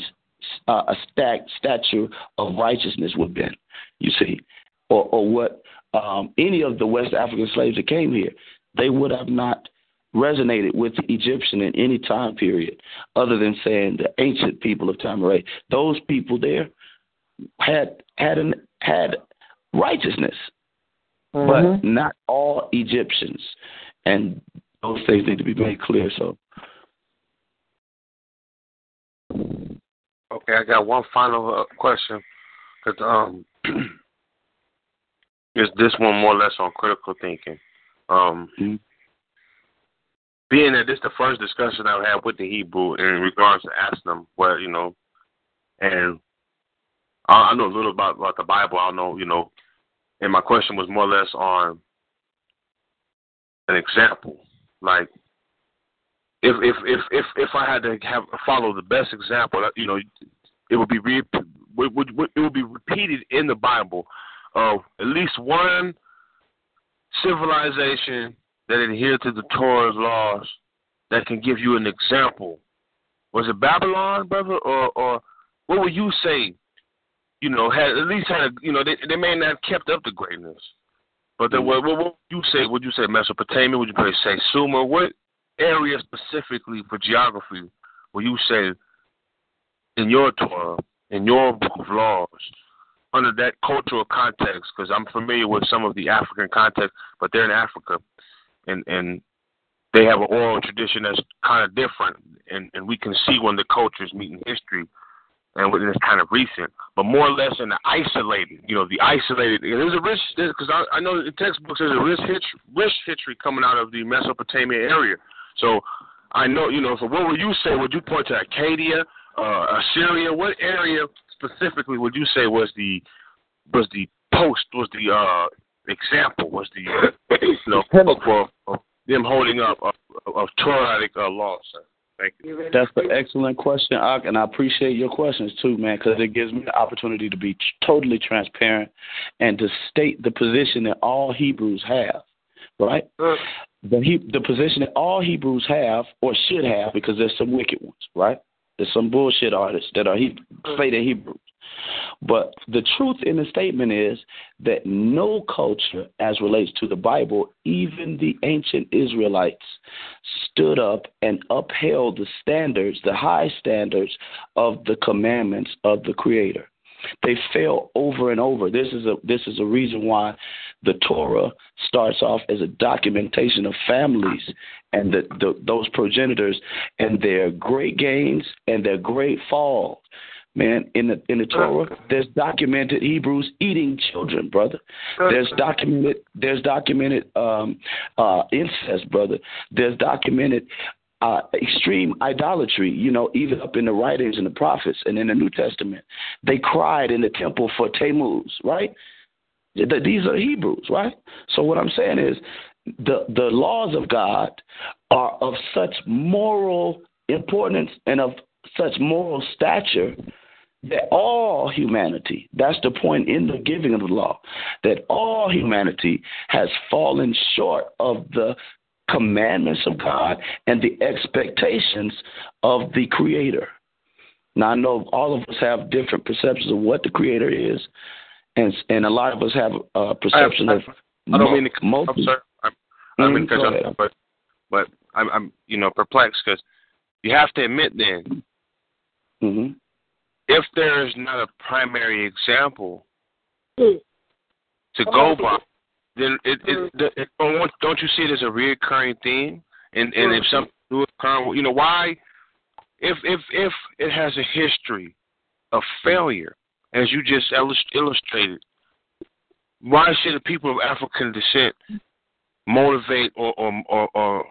statue of righteousness would have been, you see, or what any of the West African slaves that came here, they would have not resonated with the Egyptian in any time period other than saying the ancient people of Tamaray. Those people there had righteousness. But not all Egyptians, and those things need to be made clear. So, okay, I got one final question. Cause is this one more or less on critical thinking? Being that this is the first discussion I've had with the Hebrew in regards to asking them what and I know a little about the Bible. I know and my question was more or less on an example, like if I had to follow the best example, it would be repeated in the Bible of at least one civilization that adhered to the Torah's laws that can give you an example Was it Babylon, brother, or what would you say? Had at least had they may not have kept up the greatness, but what would you say? Would you say Mesopotamia? Would you say Sumer? What area specifically for geography would you say in your Torah, in your book of laws, under that cultural context? Because I'm familiar with some of the African context, but they're in Africa, and they have an oral tradition that's kind of different, and we can see when the cultures meet in history, and it's kind of recent, but more or less in the isolated, the isolated. There's a rich, because I know in textbooks there's a rich history coming out of the Mesopotamia area. So I know, so what would you say? Would you point to Acadia, Assyria? What area specifically would you say was the example, was the pinnacle of them holding up of Torah law, sir? Thank you. That's an excellent question, Ak, and I appreciate your questions too, man, because it gives me the opportunity to be totally transparent and to state the position that all Hebrews have, right? The position that all Hebrews have or should have, because there's some wicked ones, right? There's some bullshit artists that are say they're Hebrews. But the truth in the statement is that no culture, as relates to the Bible, even the ancient Israelites, stood up and upheld the standards, the high standards of the commandments of the Creator. They fail over and over. This is a reason why the Torah starts off as a documentation of families and those progenitors and their great gains and their great falls. Man, in the Torah, there's documented Hebrews eating children, brother. There's documented incest, brother. There's documented extreme idolatry, even up in the writings and the prophets and in the New Testament. They cried in the temple for Tammuz, right? These are Hebrews, right? So what I'm saying is the laws of God are of such moral importance and of such moral stature that all humanity, that's the point in the giving of the law, that all humanity has fallen short of the commandments of God and the expectations of the Creator. Now, I know all of us have different perceptions of what the Creator is, and a lot of us have a perception of. I don't mean to cut you off, sir. I don't mean to cut you off, but I'm perplexed, because you have to admit then, if there is not a primary example to go by, then don't you see it as a reoccurring theme? And if something new occurs, why? If it has a history of failure, as you just illustrated, why should the people of African descent motivate or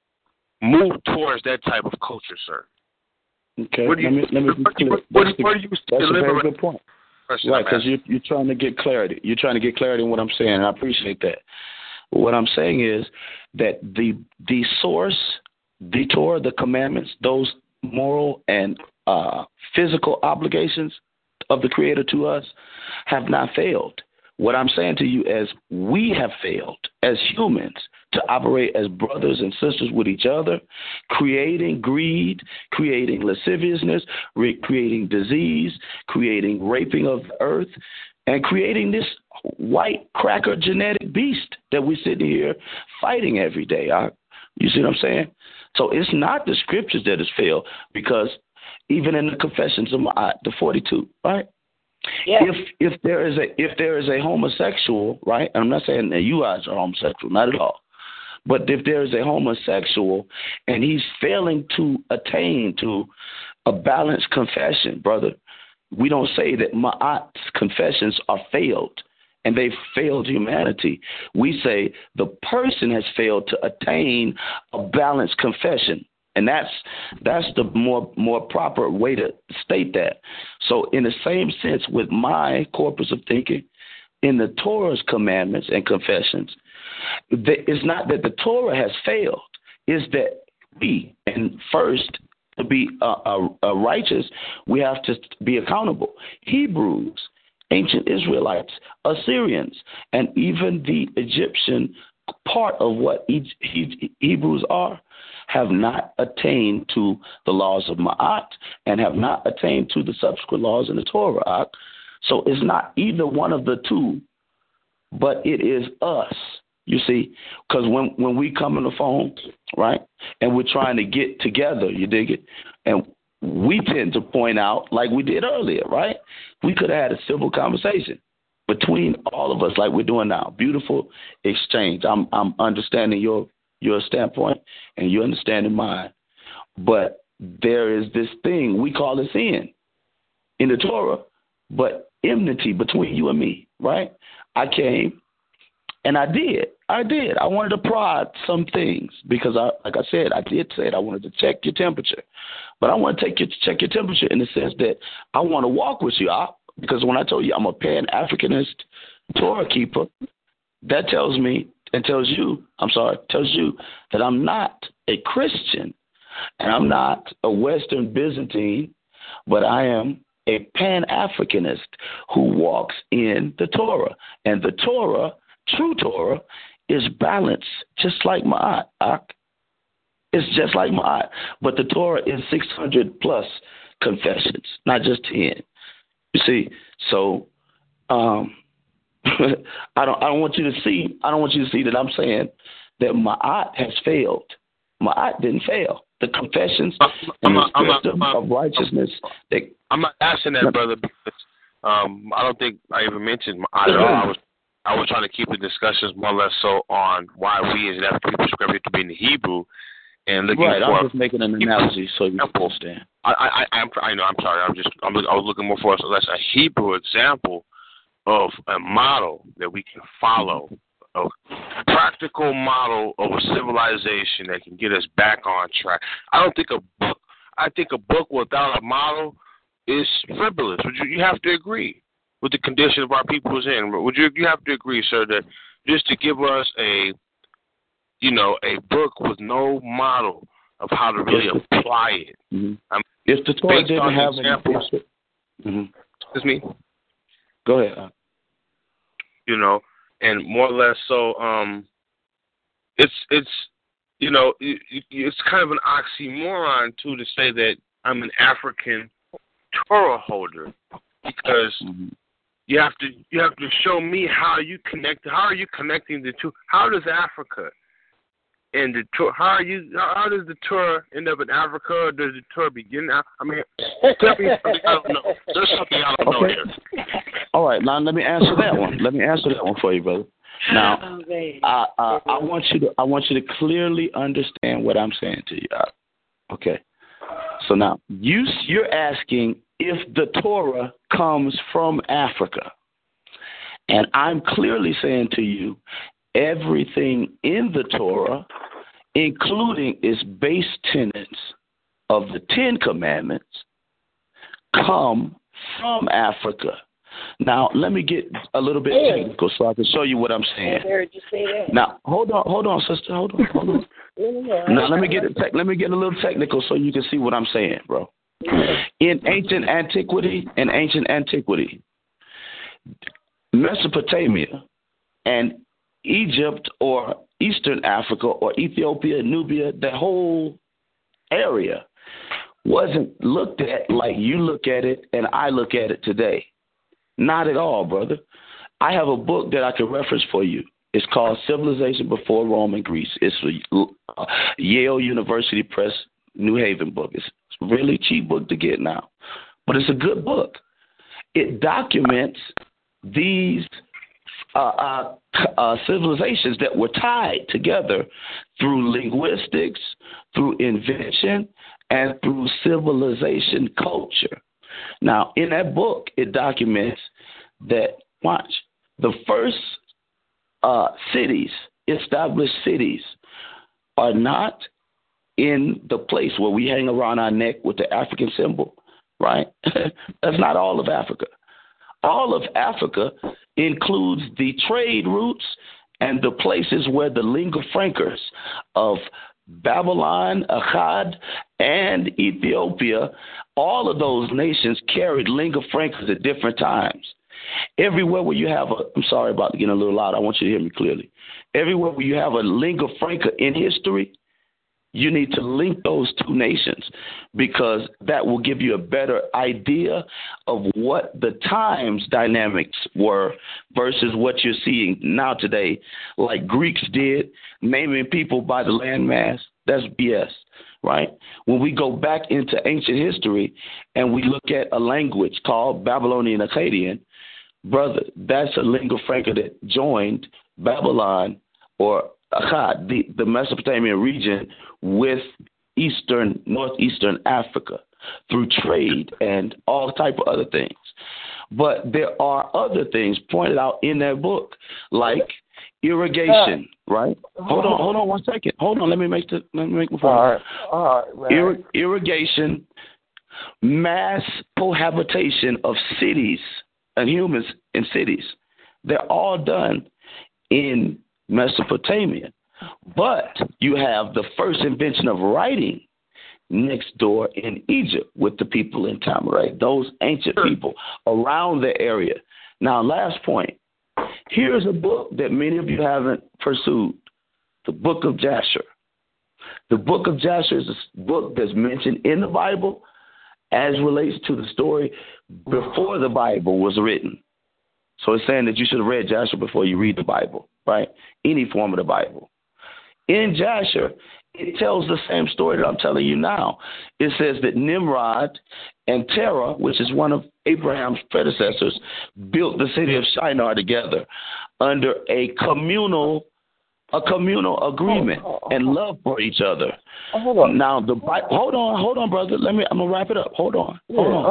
move towards that type of culture, sir? Okay, let me be clear. That's a very good point. Right, because you're trying to get clarity. You're trying to get clarity in what I'm saying, and I appreciate that. What I'm saying is that the source, the Torah, the commandments, those moral and physical obligations of the Creator to us have not failed. What I'm saying to you is we have failed as humans to operate as brothers and sisters with each other, creating greed, creating lasciviousness, creating disease, creating raping of the earth, and creating this white cracker genetic beast that we're sitting here fighting every day. You see what I'm saying? So it's not the scriptures that has failed, because even in the Confessions of the 42, right? Yeah. If there is a homosexual, right? And I'm not saying that you guys are homosexual, not at all. But if there is a homosexual and he's failing to attain to a balanced confession, brother, we don't say that Ma'at's confessions are failed and they've failed humanity. We say the person has failed to attain a balanced confession. And that's the more proper way to state that. So in the same sense, with my corpus of thinking, in the Torah's commandments and confessions, it's not that the Torah has failed. It's that we, and first, to be righteous, we have to be accountable. Hebrews, ancient Israelites, Assyrians, and even the Egyptian part of what Hebrews are, have not attained to the laws of Ma'at and have not attained to the subsequent laws in the Torah. So it's not either one of the two, but it is us. You see, because when we come on the phone, right, and we're trying to get together, you dig it, and we tend to point out, like we did earlier, right, we could have had a civil conversation between all of us like we're doing now. Beautiful exchange. I'm understanding your standpoint, and you're understanding mine. But there is this thing we call a sin in the Torah, but enmity between you and me, right? I came and I did. I wanted to prod some things because, like I said, I did say it. I wanted to check your temperature. But I want to check your temperature in the sense that I want to walk with you. Because when I told you I'm a Pan-Africanist Torah keeper, that tells you that I'm not a Christian and I'm not a Western Byzantine, but I am a Pan-Africanist who walks in the Torah. And the Torah, true Torah, is balanced just like Ma'at. It's just like Ma'at. But the Torah is 600 plus confessions, not just 10. You see, so I don't want you to see that I'm saying that Ma'at has failed. Ma'at didn't fail. The confessions and the system of righteousness. I'm not asking that, brother, because I don't think I even mentioned Ma'at at all. I was trying to keep the discussions more or less so on why we as an African people prescribe it to be in the Hebrew. And looking right, for I'm just making an analogy so you understand. I know. I'm sorry. I was looking more for a Hebrew example of a model that we can follow, a practical model of a civilization that can get us back on track. I think a book without a model is frivolous. You have to agree with the condition of our people is in. You have to agree, sir, that just to give us a book with no model of how to really apply it. Mm-hmm. If the Torah didn't have examples, excuse me. Go ahead. And more or less so, it's kind of an oxymoron too to say that I'm an African Torah holder because you have to show me how you connect. How are you connecting the two? How does Africa and the Torah? How does the Torah end up in Africa? Or does the Torah begin? I mean, tell me something I don't know. There's something I don't know here. All right, now let me answer that one. Let me answer that one for you, brother. Now, I want you to clearly understand what I'm saying to you. Okay. So now you're asking if the Torah comes from Africa, and I'm clearly saying to you, everything in the Torah, including its base tenets of the Ten Commandments, come from Africa. Now, let me get a little bit technical so I can show you what I'm saying. I heard you say that. Now, hold on, sister. Hold on. Now, let me get a little technical so you can see what I'm saying, bro. In ancient antiquity, Mesopotamia and Egypt or Eastern Africa or Ethiopia, Nubia, the whole area wasn't looked at like you look at it and I look at it today. Not at all, brother. I have a book that I can reference for you. It's called Civilization Before Rome and Greece. It's a Yale University Press, New Haven book. It's a really cheap book to get now, but it's a good book. It documents these civilizations that were tied together through linguistics, through invention, and through civilization culture. Now, in that book, it documents that, the first established cities, are not in the place where we hang around our neck with the African symbol, right? That's not all of Africa. All of Africa includes the trade routes and the places where the lingua francas of Babylon, Akkad, and Ethiopia, all of those nations carried lingua francas at different times. Everywhere where you have I'm sorry about getting a little loud. I want you to hear me clearly. Everywhere where you have a lingua franca in history, You need to link those two nations because that will give you a better idea of what the times dynamics were versus what you're seeing now today, like Greeks did, naming people by the landmass. That's BS, right? When we go back into ancient history and we look at a language called Babylonian Akkadian, brother, that's a lingua franca that joined Babylon or Akkad, the Mesopotamian region, with northeastern Africa through trade and all type of other things. But there are other things pointed out in that book, like irrigation, right? Hold on 1 second. Hold on, let me make my point. All right. Irrigation, mass cohabitation of cities and humans in cities. They're all done in Mesopotamia. But you have the first invention of writing next door in Egypt with the people in Tamaray, those ancient people around the area. Now, last point. Here's a book that many of you haven't pursued, the Book of Jasher. The Book of Jasher is a book that's mentioned in the Bible as relates to the story before the Bible was written. So it's saying that you should have read Jasher before you read the Bible, right? Any form of the Bible. In Jasher, it tells the same story that I'm telling you now. It says that Nimrod and Terah, which is one of Abraham's predecessors, built the city of Shinar together under a communal agreement and love for each other. Hold on. Now hold on, brother. I'm gonna wrap it up. Hold on.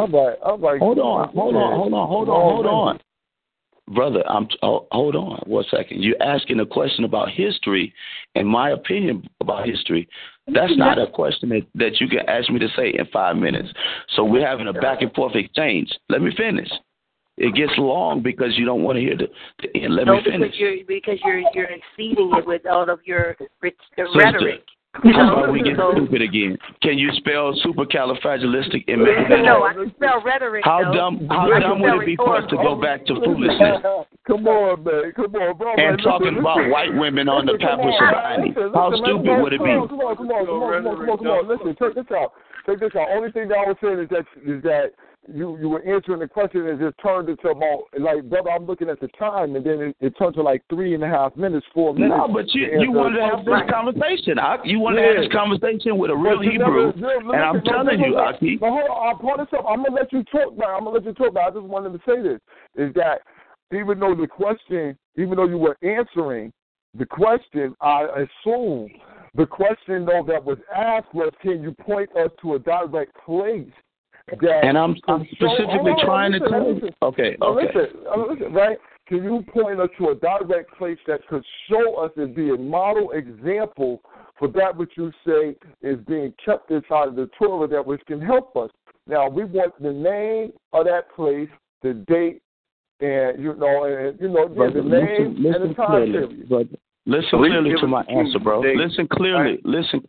Hold on. Brother, hold on 1 second. You're asking a question about history and my opinion about history. That's not a question that you can ask me to say in 5 minutes. So we're having a back and forth exchange. Let me finish. It gets long because you don't want to hear the end. Let me finish. Because you're exceeding it with all of your rhetoric. How about we get stupid again? Can you spell supercalifragilisticexpialidocious? No, I can spell rhetoric. How dumb would it be for us to go back to foolishness? Come on, man. Come on, bro. And talking about white women on the Papua Shabani. How stupid would it be? Come on. Listen, check this out. Only thing that I was saying is that you were answering the question and just turned it to about, like, brother, I'm looking at the time, and then it turned to like 3.5 minutes, 4 minutes. No, but you wanted to have this conversation. You wanted to have this conversation with a real Hebrew, and I'm telling you, Aki. Hold on, I'll pull this up. I'm going to let you talk now. I just wanted to say this, is that even though you were answering the question, I assume the question, though, that was asked was, can you point us to a direct place? And I'm specifically trying to tell you. Okay. Listen, right? Can you point us to a direct place that could show us and be a model example for that which you say is being kept inside of the Torah, that which can help us? Now, we want the name of that place, the date, and the name and the time period. But listen clearly to my answer, bro. Listen clearly.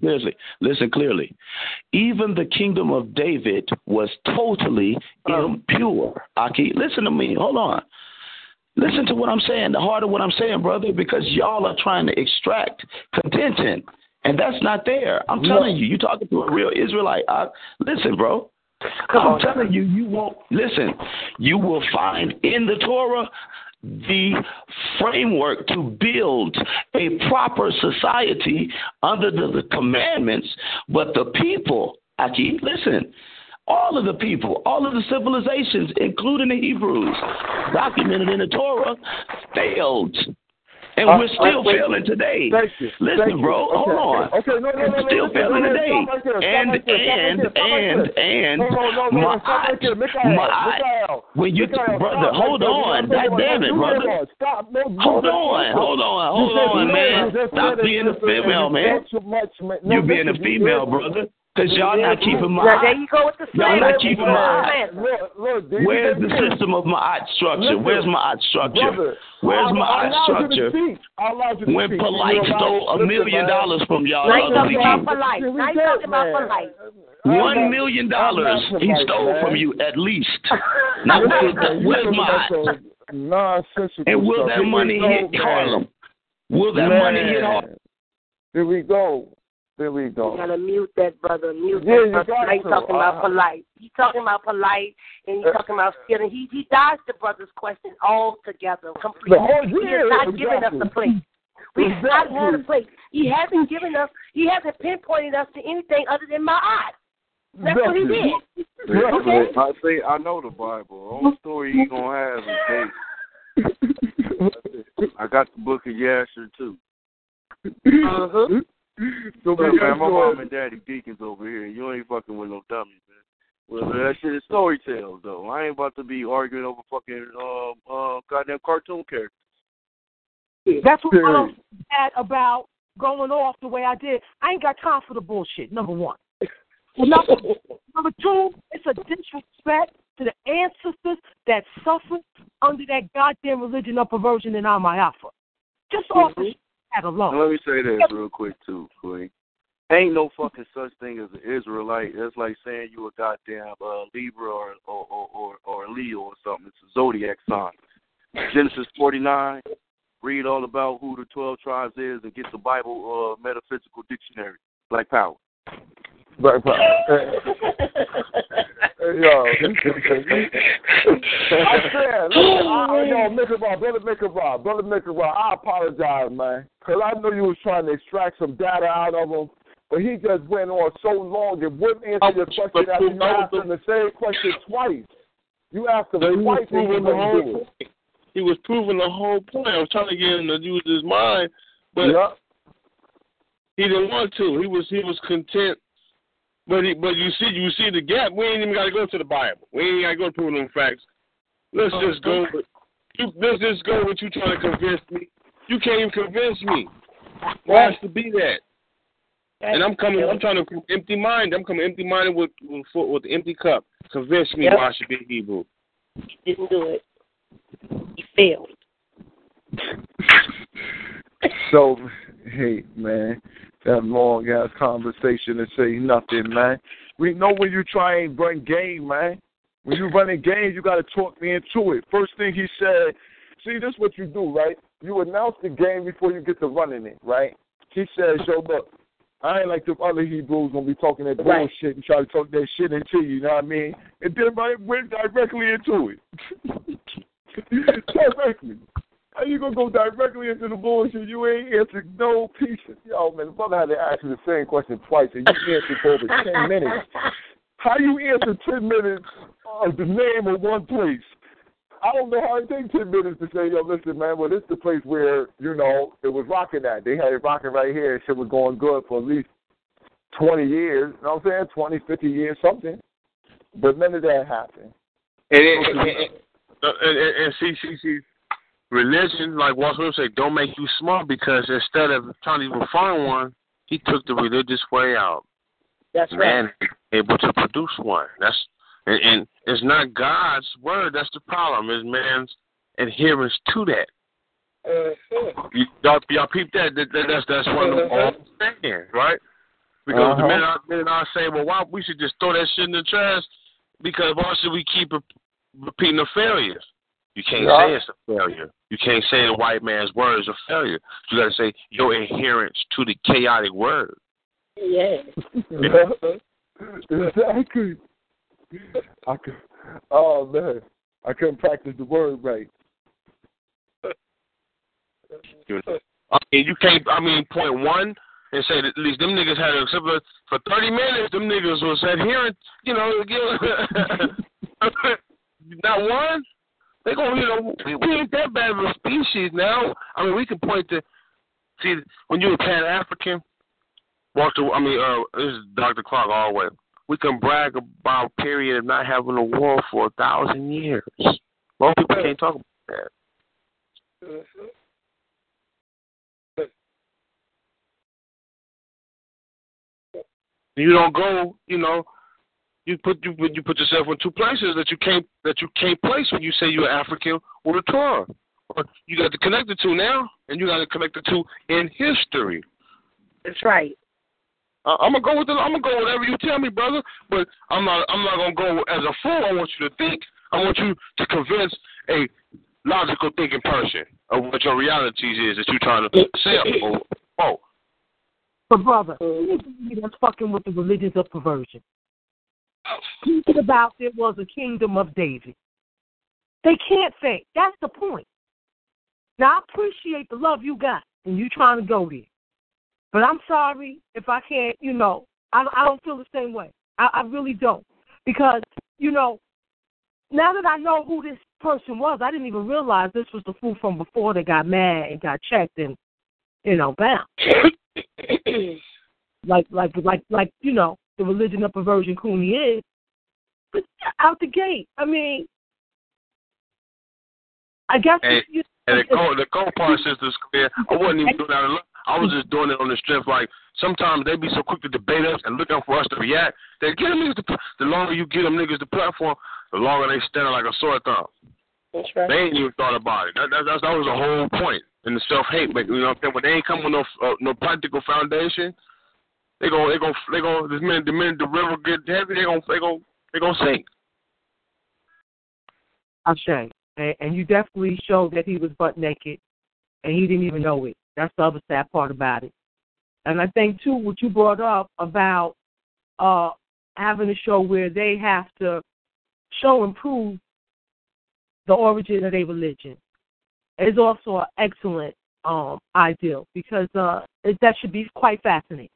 Even the kingdom of David was totally impure. Aki, listen to me. Hold on. Listen to what I'm saying, the heart of what I'm saying, brother, because y'all are trying to extract contention, and that's not there. I'm telling you, you're talking to a real Israelite. Listen, bro. I'm telling you, you won't listen. You will find in the Torah the framework to build a proper society under the commandments, but the people, listen, all of the people, all of the civilizations, including the Hebrews, documented in the Torah, failed. And we're still failing today. Listen, bro, hold on. We're still failing today. And when you, brother, hold on. God damn it, brother. Hold on, man. Stop being a female, man. You being a female, brother. Because y'all not keeping my there you go with the y'all not keeping my Where's the system of my structure? Where's my structure? Where's my structure? When Polite stole $1 million from y'all. Now you talking about Polite. $1 million he stole from you at least. Now where's mine? And will that money hit Harlem? Will that money hit Harlem? Here we go. There we go. You gotta mute that brother. Mute yeah, that brother. He's talking about polite. He's talking about polite, and he's talking about stealing. He dodged the brother's question altogether, completely. He is not giving us the place. We have not had a place. He hasn't given us. He hasn't pinpointed us to anything other than Ma'at. That's what he did. Okay? I know the Bible. The only story he's gonna have is David. I got the book of Yasher too. So man, my mom and daddy deacons over here. You ain't fucking with no dummies, man. Well, that shit is story tales, though. I ain't about to be arguing over fucking goddamn cartoon characters. That's what I'm mad about going off the way I did. I ain't got time for the bullshit, number one. Number two, it's a disrespect to the ancestors that suffered under that goddamn religion of perversion in Alma-Alpha. Just off the that alone. Now, let me say this real quick, too, Queen. Ain't no fucking such thing as an Israelite. It's like saying you a goddamn Libra or a Leo or something. It's a zodiac sign. Genesis 49, read all about who the 12 tribes is and get the Bible metaphysical dictionary. Black Power. Black Power. Yo. I said, Brother Mickabar, I apologize, man. Because I know you was trying to extract some data out of him, but he just went on so long it wouldn't answer your question after you asked him the same question twice. You asked him twice and he was proving the whole point. I was trying to get him to use his mind, but he didn't want to. He was content. But you see the gap. We ain't even got to go to the Bible. We ain't got to go to proving them facts. Let's just go. Let's just go with you trying to convince me. You can't even convince me. Why has to be that? And I'm trying to empty mind. I'm coming empty minded with the empty cup. Convince me why I should be Hebrew. He didn't do it. He failed. So, hey, man. That long-ass conversation and say nothing, man. We know when you try and run game, man. When you run a game, you got to talk me into it. First thing he said, see, this is what you do, right? You announce the game before you get to running it, right? He says, yo, look, I ain't like the other Hebrews going to be talking that bullshit and try to talk that shit into you, you know what I mean? And then I went directly into it. Directly. How you going to go directly into the bullshit? You ain't answered no pieces. Yo, man, the brother had to ask you the same question twice, and you answered for over 10 minutes. How you answer 10 minutes of the name of one place? I don't know how it takes 10 minutes to say, yo, listen, man, well, this is the place where, you know, it was rocking at. They had it rocking right here, and shit was going good for at least 20 years. You know what I'm saying? 20, 50 years, something. But none of that happened. And see, religion, like Walt Smith said, don't make you smart, because instead of trying to even find one, he took the religious way out. That's right. Man able to produce one. And it's not God's word. That's the problem. It's man's adherence to that. Y'all peep that? That's one of the old things, right? Because the minute I say, well, why we should just throw that shit in the trash, because why should we keep repeating the failures? You can't say it's a failure. You can't say the white man's word is a failure. You got to say your adherence to the chaotic word. Yeah. Exactly. Oh, man. I couldn't practice the word right. You can't, point one and say that at least them niggas had a for 30 minutes, them niggas was adherent, not one. They gonna, we ain't that bad of a species now. We can point to, see, when you're a Pan-African, this is Dr. Clark all the way. We can brag about a period of not having a war for 1,000 years. Most people can't talk about that. You don't go, you put yourself in two places that you can't place when you say you're African or the Torah. You got to connect the two now, and you got to connect the two in history. That's right. I'm gonna go with whatever you tell me, brother. But I'm not gonna go as a fool. I want you to think. I want you to convince a logical thinking person of what your reality is that you're trying to sell. But brother, that's fucking with the religions of perversion. Thinking about there was a kingdom of David. They can't think. That's the point. Now, I appreciate the love you got, and you trying to go there. But I'm sorry if I can't, I don't feel the same way. I really don't. Because, now that I know who this person was, I didn't even realize this was the fool from before that got mad and got checked and, bound. like, the religion of perversion Cooney is. But out the gate, I mean, I guess... And the cold part, Sister Square, I wasn't even doing that. I was just doing it on the strength. Like, sometimes they be so quick to debate us and looking for us to react. They get them niggas the longer you get them niggas the platform, the longer they stand like a sore thumb. That's right. They ain't even thought about it. That was the whole point in the self-hate. But, when they ain't come with no practical foundation, the minute the river get heavy, they gonna sink. I'm saying. And you definitely showed that he was butt naked, and he didn't even know it. That's the other sad part about it. And I think, too, what you brought up about having a show where they have to show and prove the origin of their religion is also an excellent ideal, because that should be quite fascinating.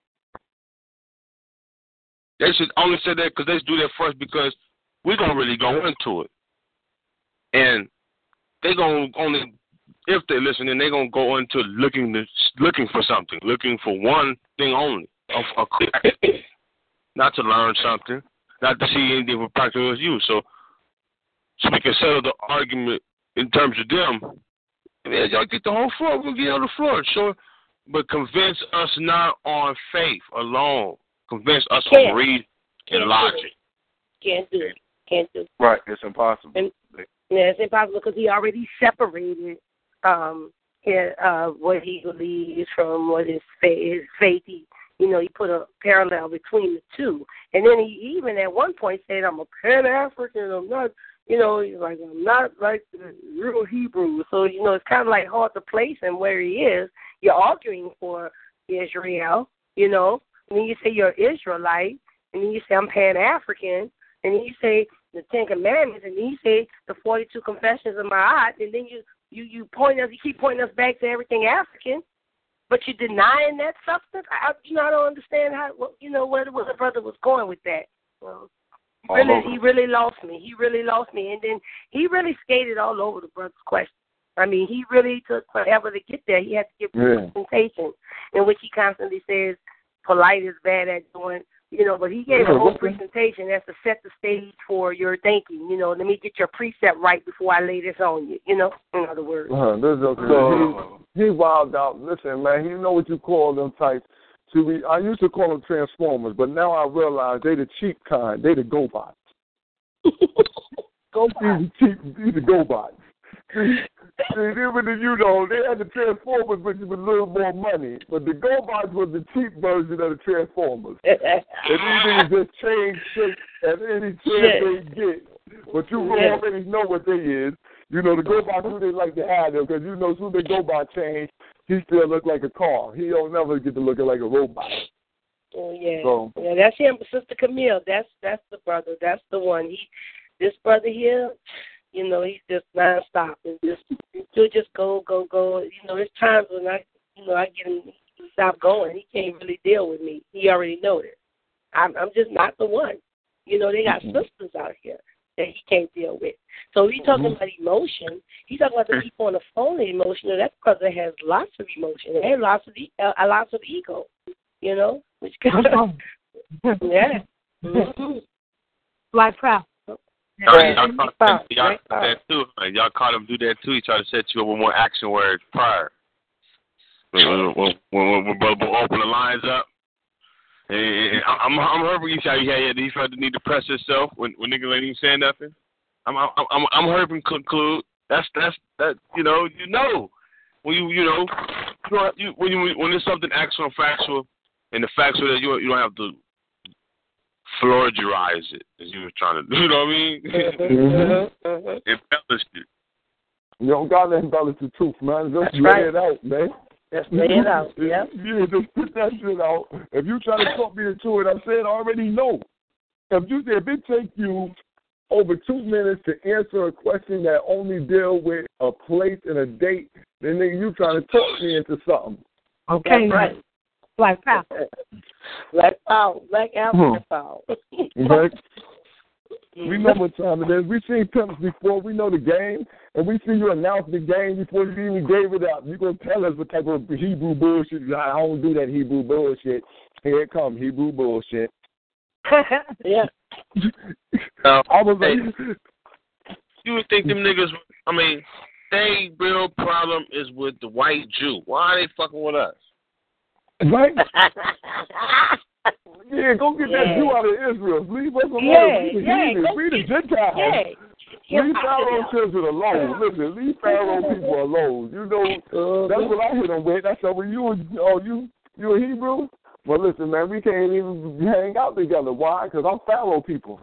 They should only say that because they should do that first, because we're going to really go into it. And they're going to only, if they're listening, they're going to go into looking for something, looking for one thing only, not to learn something, not to see anything for practical use. So we can settle the argument in terms of them. Y'all get the whole floor. We'll get on the floor. Sure. But convince us not on faith alone. Convince us on reason and logic. Can't do it. Right. It's impossible. Yeah, it's impossible because he already separated what he believes from what his faith. He put a parallel between the two. And then he even at one point said, I'm a Pan-African. I'm not, he's like, I'm not like the real Hebrew. So, it's kind of like hard to place him where he is. You're arguing for Israel, and then you say you're Israelite, and then you say I'm Pan-African, and then you say the Ten Commandments, and then you say the 42 Confessions of Ma'at, and then you keep pointing us back to everything African, but you're denying that substance. I don't understand where the brother was going with that. Well, he really lost me. And then he really skated all over the brother's question. I mean, he really took forever to get there. He had to give presentation in which he constantly says polite is bad at doing. But he gave a whole presentation that's to set the stage for your thinking. Let me get your precept right before I lay this on you. In other words. He wilded out. Listen, man, you know what you call them types. See, I used to call them Transformers, but now I realize they the cheap kind. They the GoBots. These the GoBots. They had the Transformers, which was a little more money, but the GoBots was the cheap version of the Transformers. And these niggas just change shape at any chance they get. But you already know what they is. The GoBots, who they like to have them, because as soon as the GoBot change, he still look like a car. He don't never get to looking like a robot. Oh, yeah. Yeah, that's him, Sister Camille. That's the brother. That's the one. This brother here, he's just nonstop. He'll just go. There's times when I get him to stop going. He can't really deal with me. He already knows it. I'm just not the one. They got sisters out here that he can't deal with. So he's talking about emotion. He's talking about the people on the phone emotional. That's because it has lots of emotion. It has lots of ego. Which kind of yeah. Like proud. Y'all caught him do that too. He tried to set you up with more action words prior. When open the lines up. I'm hurting you. He felt the need to press himself when niggas ain't even saying nothing. I'm hurting conclude. That's when there's something actual and factual, and the factual that you don't have to florgerize it as you were trying to do. You know what I mean? Embellish it. You don't gotta embellish the truth, man. Just lay it out, man. Just lay it out. Yeah. Yeah, just put that shit out. If you try to talk me into it, I said I already know. If it takes you over 2 minutes to answer a question that only deal with a place and a date, then you trying to talk me into something. Okay. That's right. Black power. Black power. Black African power. Right? We know what time it is. We've seen pimps before. We know the game. And we see you announce the game before you even gave it up. You're going to tell us what type of Hebrew bullshit. I don't do that Hebrew bullshit. Here it comes, Hebrew bullshit. Yeah. I was like, you would think them niggas, they real problem is with the white Jew. Why are they fucking with us? Right? Yeah, go get that Jew out of Israel. Leave us alone. We the Gentiles. Leave Pharaoh children alone. Listen, leave Pharaoh people alone. You know, that's what I hit them with. That's how you a Hebrew? Well, listen, man, we can't even hang out together. Why? Because I'm Pharaoh people.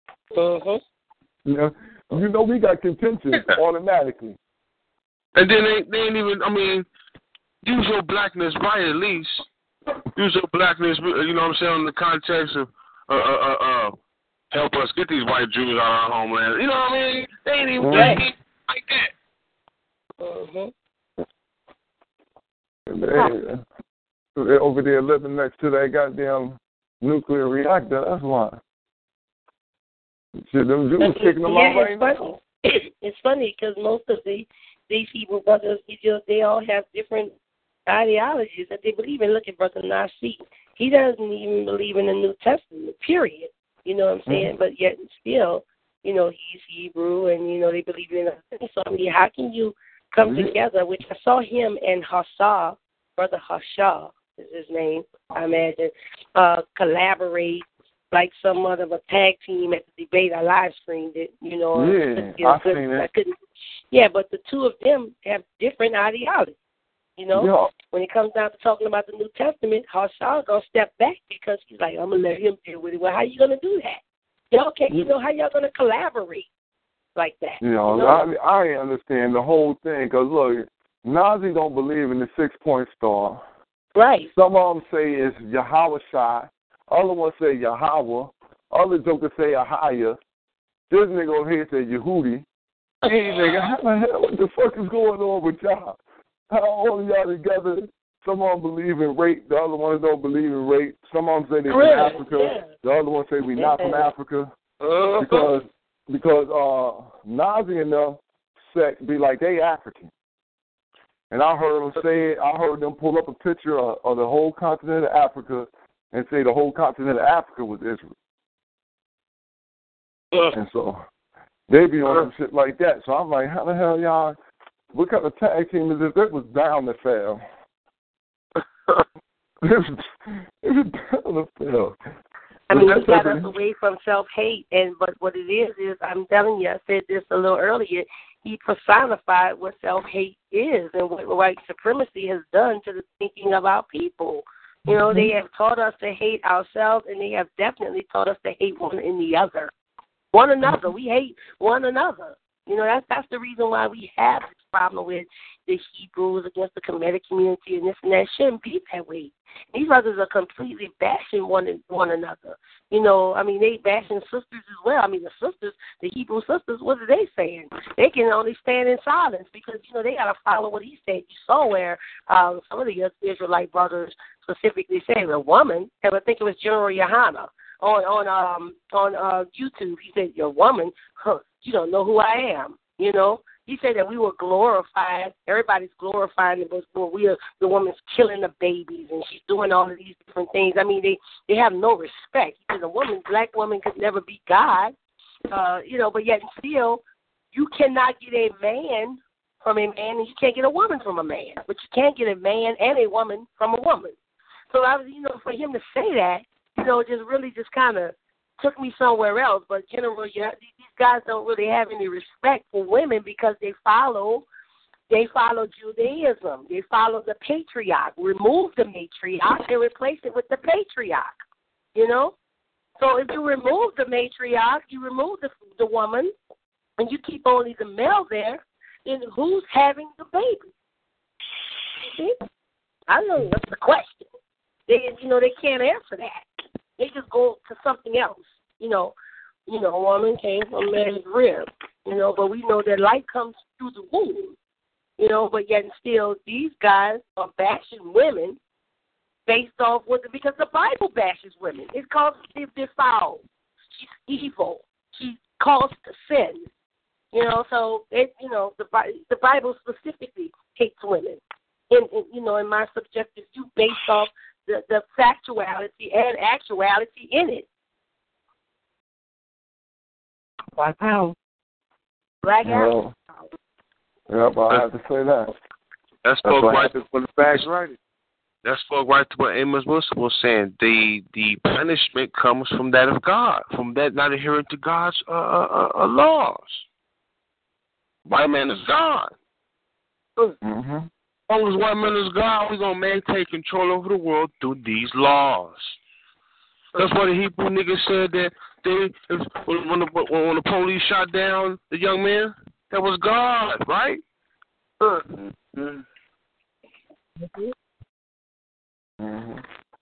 You know, we got contention automatically. And then they ain't even, use your blackness right at least. Use your blackness, you know what I'm saying, in the context of help us get these white Jews out of our homeland. You know what I mean? They ain't even like that. They're over there living next to that goddamn nuclear reactor. That's why. Shit, them Jews kicking them out right now. It's funny because most of these Hebrew brothers, they all have different ideologies that they believe in. Look at Brother Nasi. He doesn't even believe in the New Testament, period. You know what I'm saying? But yet still, you know, he's Hebrew and, you know, they believe in it. So, how can you come together, which I saw him and Hassa, Brother Hassa is his name, I imagine, collaborate like some other of a tag team at the debate. I live streamed it, you know. I've seen it. Yeah, but the two of them have different ideologies. You know, when it comes down to talking about the New Testament, Hassa gonna step back because he's like, I'm gonna let him deal with it. Well, how you gonna do that? Y'all can't. You know how y'all gonna collaborate like that? You know? I understand the whole thing because look, Nazi don't believe in the 6-point star. Right. Some of them say it's Yahweh Shai. Other ones say Yahweh. Other jokers say Ahaya. This nigga over here say Yehudi. Hey, nigga, how the hell? What the fuck is going on with y'all? How all of y'all together? Some of them believe in rape. The other ones don't believe in rape. Some of them say they're from Africa. Yeah. The other ones say we're not from Africa. Because Nazi and them sect be like, they African. And I heard them say it. I heard them pull up a picture of the whole continent of Africa and say the whole continent of Africa was Israel. And so they be on some shit like that. So I'm like, how the hell y'all, what kind of tag team is this? It was bound to fail. It was bound to fail. I mean, he got us away from self-hate, but what it is I'm telling you, I said this a little earlier, he personified what self-hate is and what white supremacy has done to the thinking of our people. You know, they have taught us to hate ourselves, and they have definitely taught us to hate one another. One another. We hate one another. You know, that's the reason why we have this problem with the Hebrews against the Kemetic community and this and that. It shouldn't be that way. These brothers are completely bashing one another. You know, I mean, they bashing sisters as well. I mean, the Hebrew sisters, what are they saying? They can only stand in silence because, you know, they got to follow what he said. You saw where some of the Israelite brothers specifically said a woman, and I think it was General Yohana on YouTube. He said, "Your woman, you don't know who I am." You know, he said that we were glorified. Everybody's glorifying the book, but the woman's killing the babies and she's doing all of these different things. I mean, they have no respect. He said a black woman could never be God. You know, but yet still, you cannot get a man from a man, and you can't get a woman from a man, but you can't get a man and a woman from a woman. So for him to say that, you know, just kind of took me somewhere else. But generally, these guys don't really have any respect for women because they follow Judaism. They follow the patriarch. Remove the matriarch and replace it with the patriarch. You know? So if you remove the matriarch, you remove the woman, and you keep only the male there, then who's having the baby? See? I know that's the question. They can't answer that. They just go to something else. A woman came from man's rib. But we know that light comes through the womb. But yet and still these guys are bashing women based off because the Bible bashes women. It calls they're foul. She's evil. She calls to sin. So the Bible specifically hates women. In my subjective view, based off the factuality and actuality in it. Black power. Black power. Yeah, but I have to say that. That's spoke right to the facts right. That spoke right to what Amos Wilson was saying. The punishment comes from that of God, from that not adhering to God's laws. White man is God. Mm-hmm. As long as white man is God, we're going to maintain control over the world through these laws. That's why the Hebrew niggas said that when the police shot down the young man, that was God, right? Mm-hmm. Mm-hmm.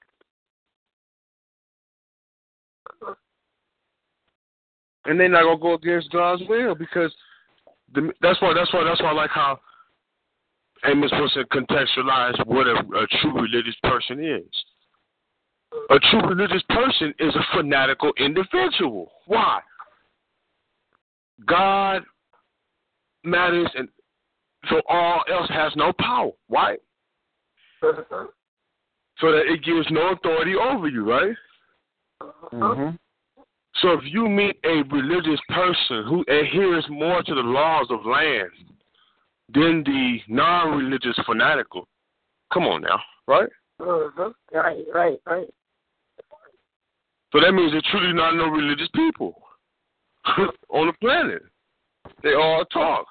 And they're not gonna go against God's will because that's why I like how Amos Wilson contextualized what a true religious person is. A true religious person is a fanatical individual. Why? God matters, and so all else has no power, right? So that it gives no authority over you, right? Mm-hmm. So if you meet a religious person who adheres more to the laws of land than the non-religious fanatical, come on now, right? Right. So that means they're truly not no religious people on the planet. They all talk.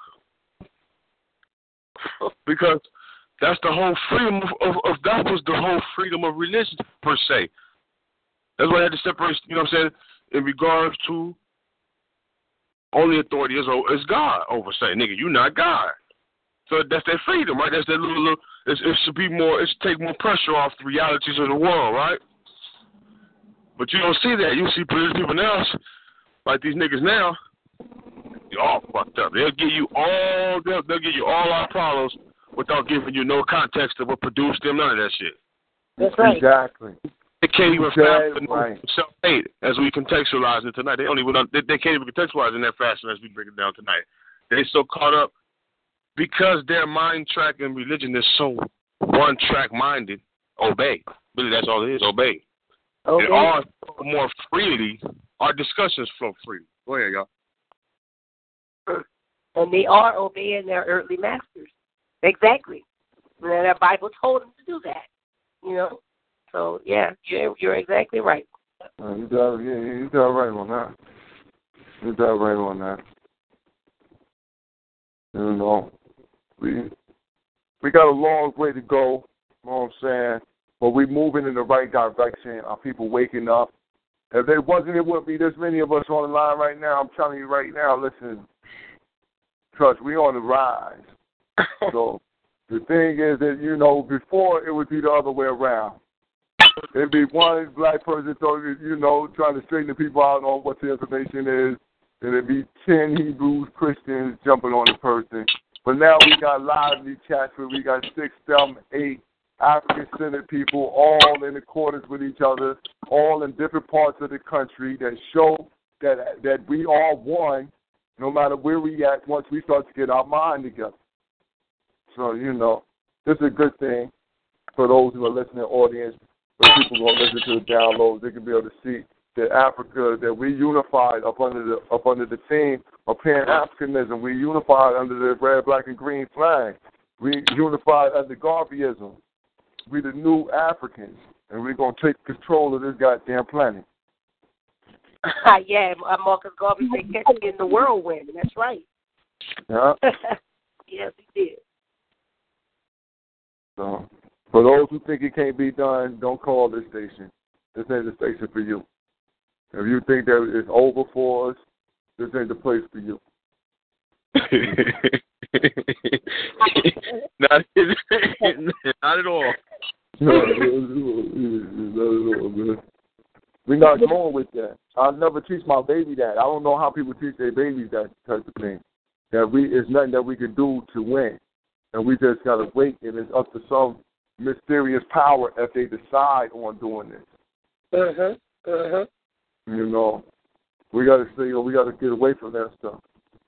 Because that's the whole freedom of that was the whole freedom of religion per se. That's why I had to separate, what I'm saying, in regards to only authority is God over saying, nigga, you not God. So that's their freedom, right? That's that little it should be more, it should take more pressure off the realities of the world, right? But you don't see that. You see people now, like these niggas now, you're all fucked up. They'll give you all our problems without giving you no context of what produced them, none of that shit. That's right. Exactly. They can't even right. self-hate as we contextualize it tonight. They can't even contextualize in that fashion as we break it down tonight. They're so caught up because their mind track and religion is so one-track minded. Obey. Really, that's all it is. Obey. Okay. And all more freely, our discussions flow freely. Go ahead, y'all. And they are obeying their earthly masters. Exactly. And the Bible told them to do that. So, yeah, you're exactly right. You're right on that. You're right on that. We got a long way to go, you know what I'm saying? But we're moving in the right direction. Are people waking up? If there wasn't, it wouldn't be this many of us on the line right now. I'm telling you right now, listen, trust, we on the rise. So the thing is that, before it would be the other way around. It'd be one black person, trying to straighten the people out on what the information is. And it'd be 10 Hebrews, Christians jumping on the person. But now we got lively chats where we got 6, 7, 8 African-centered people all in accordance with each other, all in different parts of the country that show that we are one, no matter where we at once we start to get our mind together. So, this is a good thing for those who are listening, audience, for people who are listening to the downloads. They can be able to see that Africa, that we unified up under the theme of Pan-Africanism. We unified under the red, black, and green flag. We unified under Garveyism. We the new Africans, and we're going to take control of this goddamn planet. Yeah, Marcus Garvey said, catch me in the whirlwind. That's right. Yeah. Yes, he did. So, for those who think it can't be done, don't call this station. This ain't the station for you. If you think that it's over for us, this ain't the place for you. not, not at all. No, not at all, man. We're not going with that. I'll never teach my baby that. I don't know how people teach their babies that type of thing. That it's nothing that we can do to win. And we just got to wait, and it's up to some mysterious power if they decide on doing this. You know, we got to say, we got to get away from that stuff.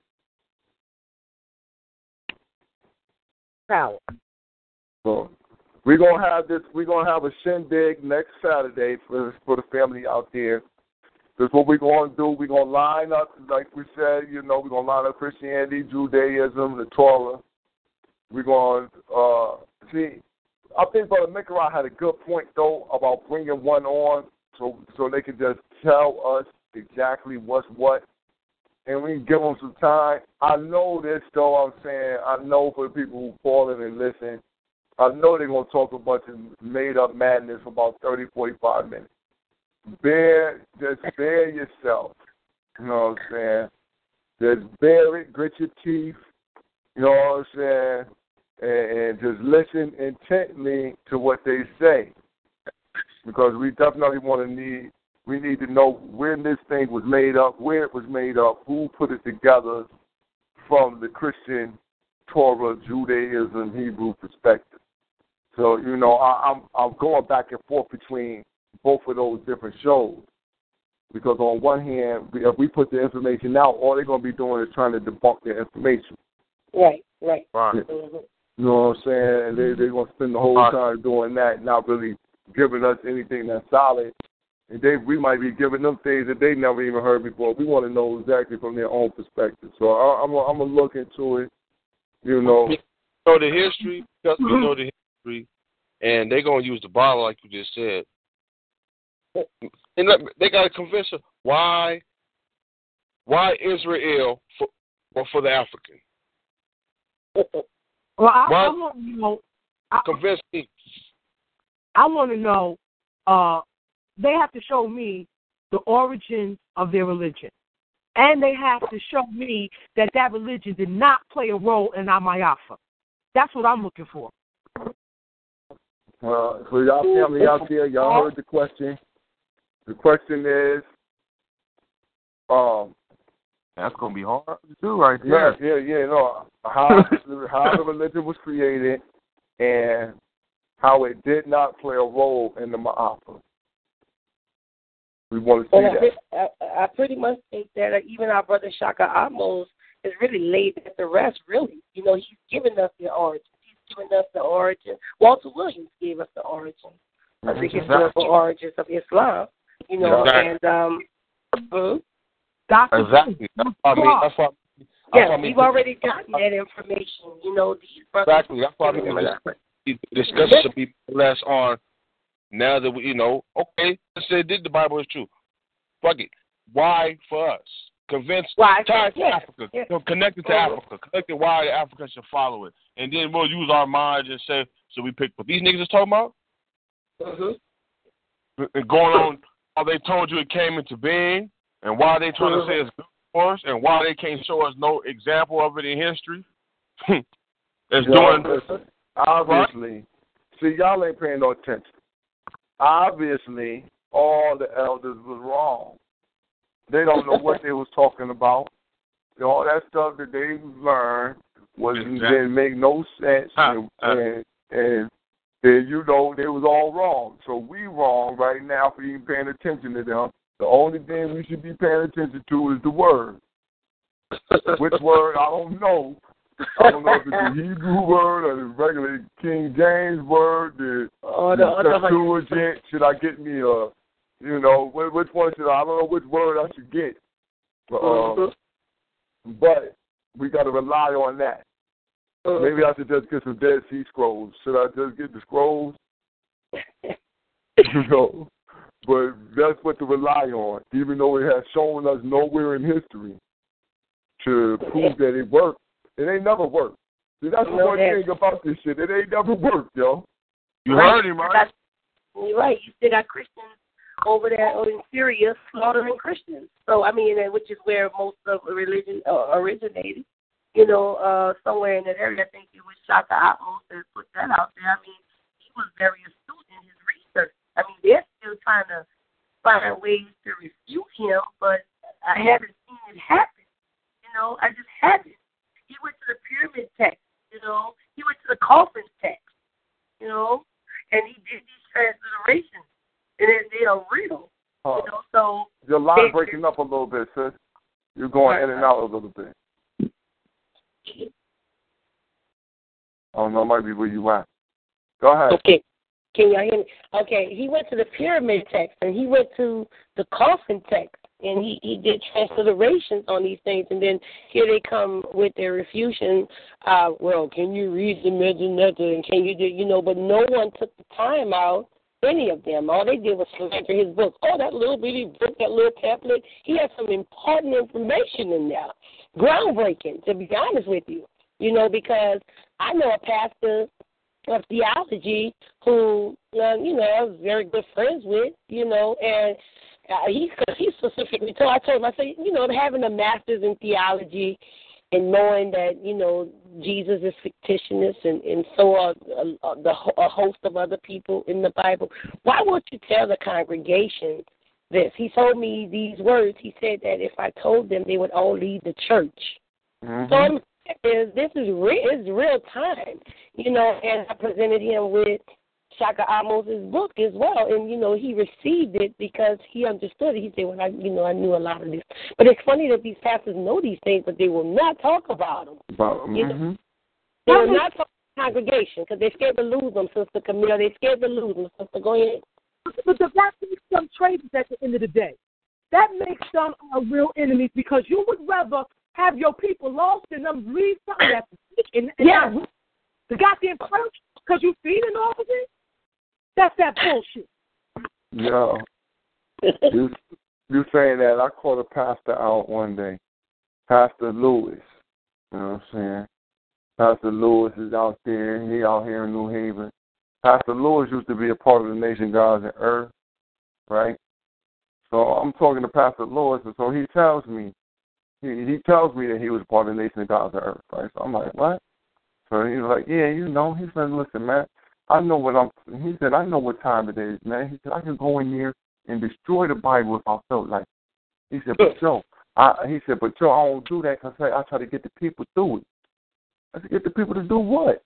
Power. So we're gonna have this. We're gonna have a shindig next Saturday for the family out there. That's what we're gonna do. We're gonna line up, like we said. You know, we're gonna line up Christianity, Judaism, the Torah. We're gonna see. I think Brother Mikarai had a good point though about bringing one on, so they can just tell us exactly what's what, and we can give them some time. I know this though. I'm saying I know for the people who call in and listen, I know they're gonna talk a bunch of made up madness for about 30, 45 minutes. Just bear yourself. You know what I'm saying? Just bear it, grit your teeth. You know what I'm saying? And just listen intently to what they say, because we definitely we need to know when this thing was made up, where it was made up, who put it together from the Christian, Torah, Judaism, Hebrew perspective. So, you know, I'm going back and forth between both of those different shows, because on one hand, if we put the information out, all they're going to be doing is trying to debunk the information. Right. Mm-hmm. You know what I'm saying? They're going to spend the whole time doing that, not really giving us anything that's solid. And we might be giving them things that they never even heard before. We want to know exactly from their own perspective. So I'm going to look into it, you know. So the history, because we know the history, and they're going to use the Bible like you just said. And they got to convince us why Israel for the African. Well, I want to know. Convince me. I want to know. They have to show me the origins of their religion, and they have to show me that religion did not play a role in Amayafa. That's what I'm looking for. Well, for y'all family out there, y'all heard the question. The question is, that's gonna be hard to do, right there. Yeah. No, how the religion was created and how it did not play a role in the Ma'afa. We want to see that. I pretty much think that even our brother Shaka Amos is really laid at the rest. Really, you know, he's given us the origin. He's given us the origin. Walter Williams gave us the origin of the historical origins of Islam. You know, exactly. Exactly. That's why. Yes, we've already gotten that information. You know, these brothers. Exactly. That's why the discussion should be less on now that we, you know, okay, let's say the Bible is true. Fuck it. Why for us? Convince. Why? Tie to Africa. Yeah. Connected to Africa. Connected why the Africans should follow it. And then we'll use our minds and say, so we pick what these niggas is talking about? And going on how they told you it came into being, and why they trying to say it's good for us, and why they can't show us no example of it in history. It's doing. Obviously, see, y'all ain't paying no attention. Obviously, all the elders was wrong. They don't know what they was talking about. All that stuff that they learned didn't make no sense, and you know they was all wrong. So we wrong right now for even paying attention to them. The only thing we should be paying attention to is the word. Which word, I don't know. I don't know if it's the Hebrew word or the regular King James word, the Septuagint. Should I get me a, you know, which one should I don't know which word I should get. But we got to rely on that. Maybe I should just get some Dead Sea Scrolls. Should I just get the scrolls? You know, but that's what to rely on, even though it has shown us nowhere in history to prove that it worked. It ain't never worked. See, that's the one thing about this shit. It ain't never worked, yo. You heard him, right? You're right. You still got Christians over there in Syria slaughtering Christians. So, I mean, which is where most of the religion originated. somewhere in that area. I think it was Shaka Atmos that put that out there. I mean, he was very astute in his research. I mean, they're still trying to find ways to refute him, but I haven't seen it happen. I just haven't. He went to the pyramid text, he went to the coffin text, and he did these transliterations, and they are real, so. Your line breaking up a little bit, sis. You're going in and out a little bit. I don't know, it might be where you at. Go ahead. Okay. Can y'all hear me? Okay, he went to the pyramid text, and he went to the coffin text, and he did transliterations on these things, and then here they come with their refutation. Well, can you read the Medunetter, and can you do, but no one took the time out, any of them. All they did was slander his book. Oh, that little bitty book, that little pamphlet, he had some important information in there. Groundbreaking, to be honest with you, because I know a pastor of theology who, I was very good friends with, and he specifically told, I said, having a master's in theology and knowing that, Jesus is fictitious and so are a host of other people in the Bible, why won't you tell the congregation this? He told me these words. He said that if I told them, they would all leave the church. Mm-hmm. So this is real time, and I presented him with Shaka Amos' book as well, and, he received it because he understood it. He said, well, I knew a lot of this. But it's funny that these pastors know these things, but they will not talk about them. They will not talk to the congregation because they're scared to lose them, Sister Camille. They're scared to lose them, Sister. Go ahead. But that makes them traitors at the end of the day. That makes them our real enemies because you would rather have your people lost than them read something that's the goddamn church because you feeding off of it. That's that bullshit. Yeah. You saying that, I called a pastor out one day, Pastor Lewis. You know what I'm saying? Pastor Lewis is out there. He out here in New Haven. Pastor Lewis used to be a part of the Nation Gods and Earth, right? So I'm talking to Pastor Lewis, and so he tells me that he was part of the Nation of Gods and Earth, right? So I'm like, what? So he's like, yeah, he said, listen, man, he said, I know what time it is, man. He said, I can go in there and destroy the Bible if I felt like it. He said, but Joe, I don't do that because I try to get the people through it. I said, get the people to do what?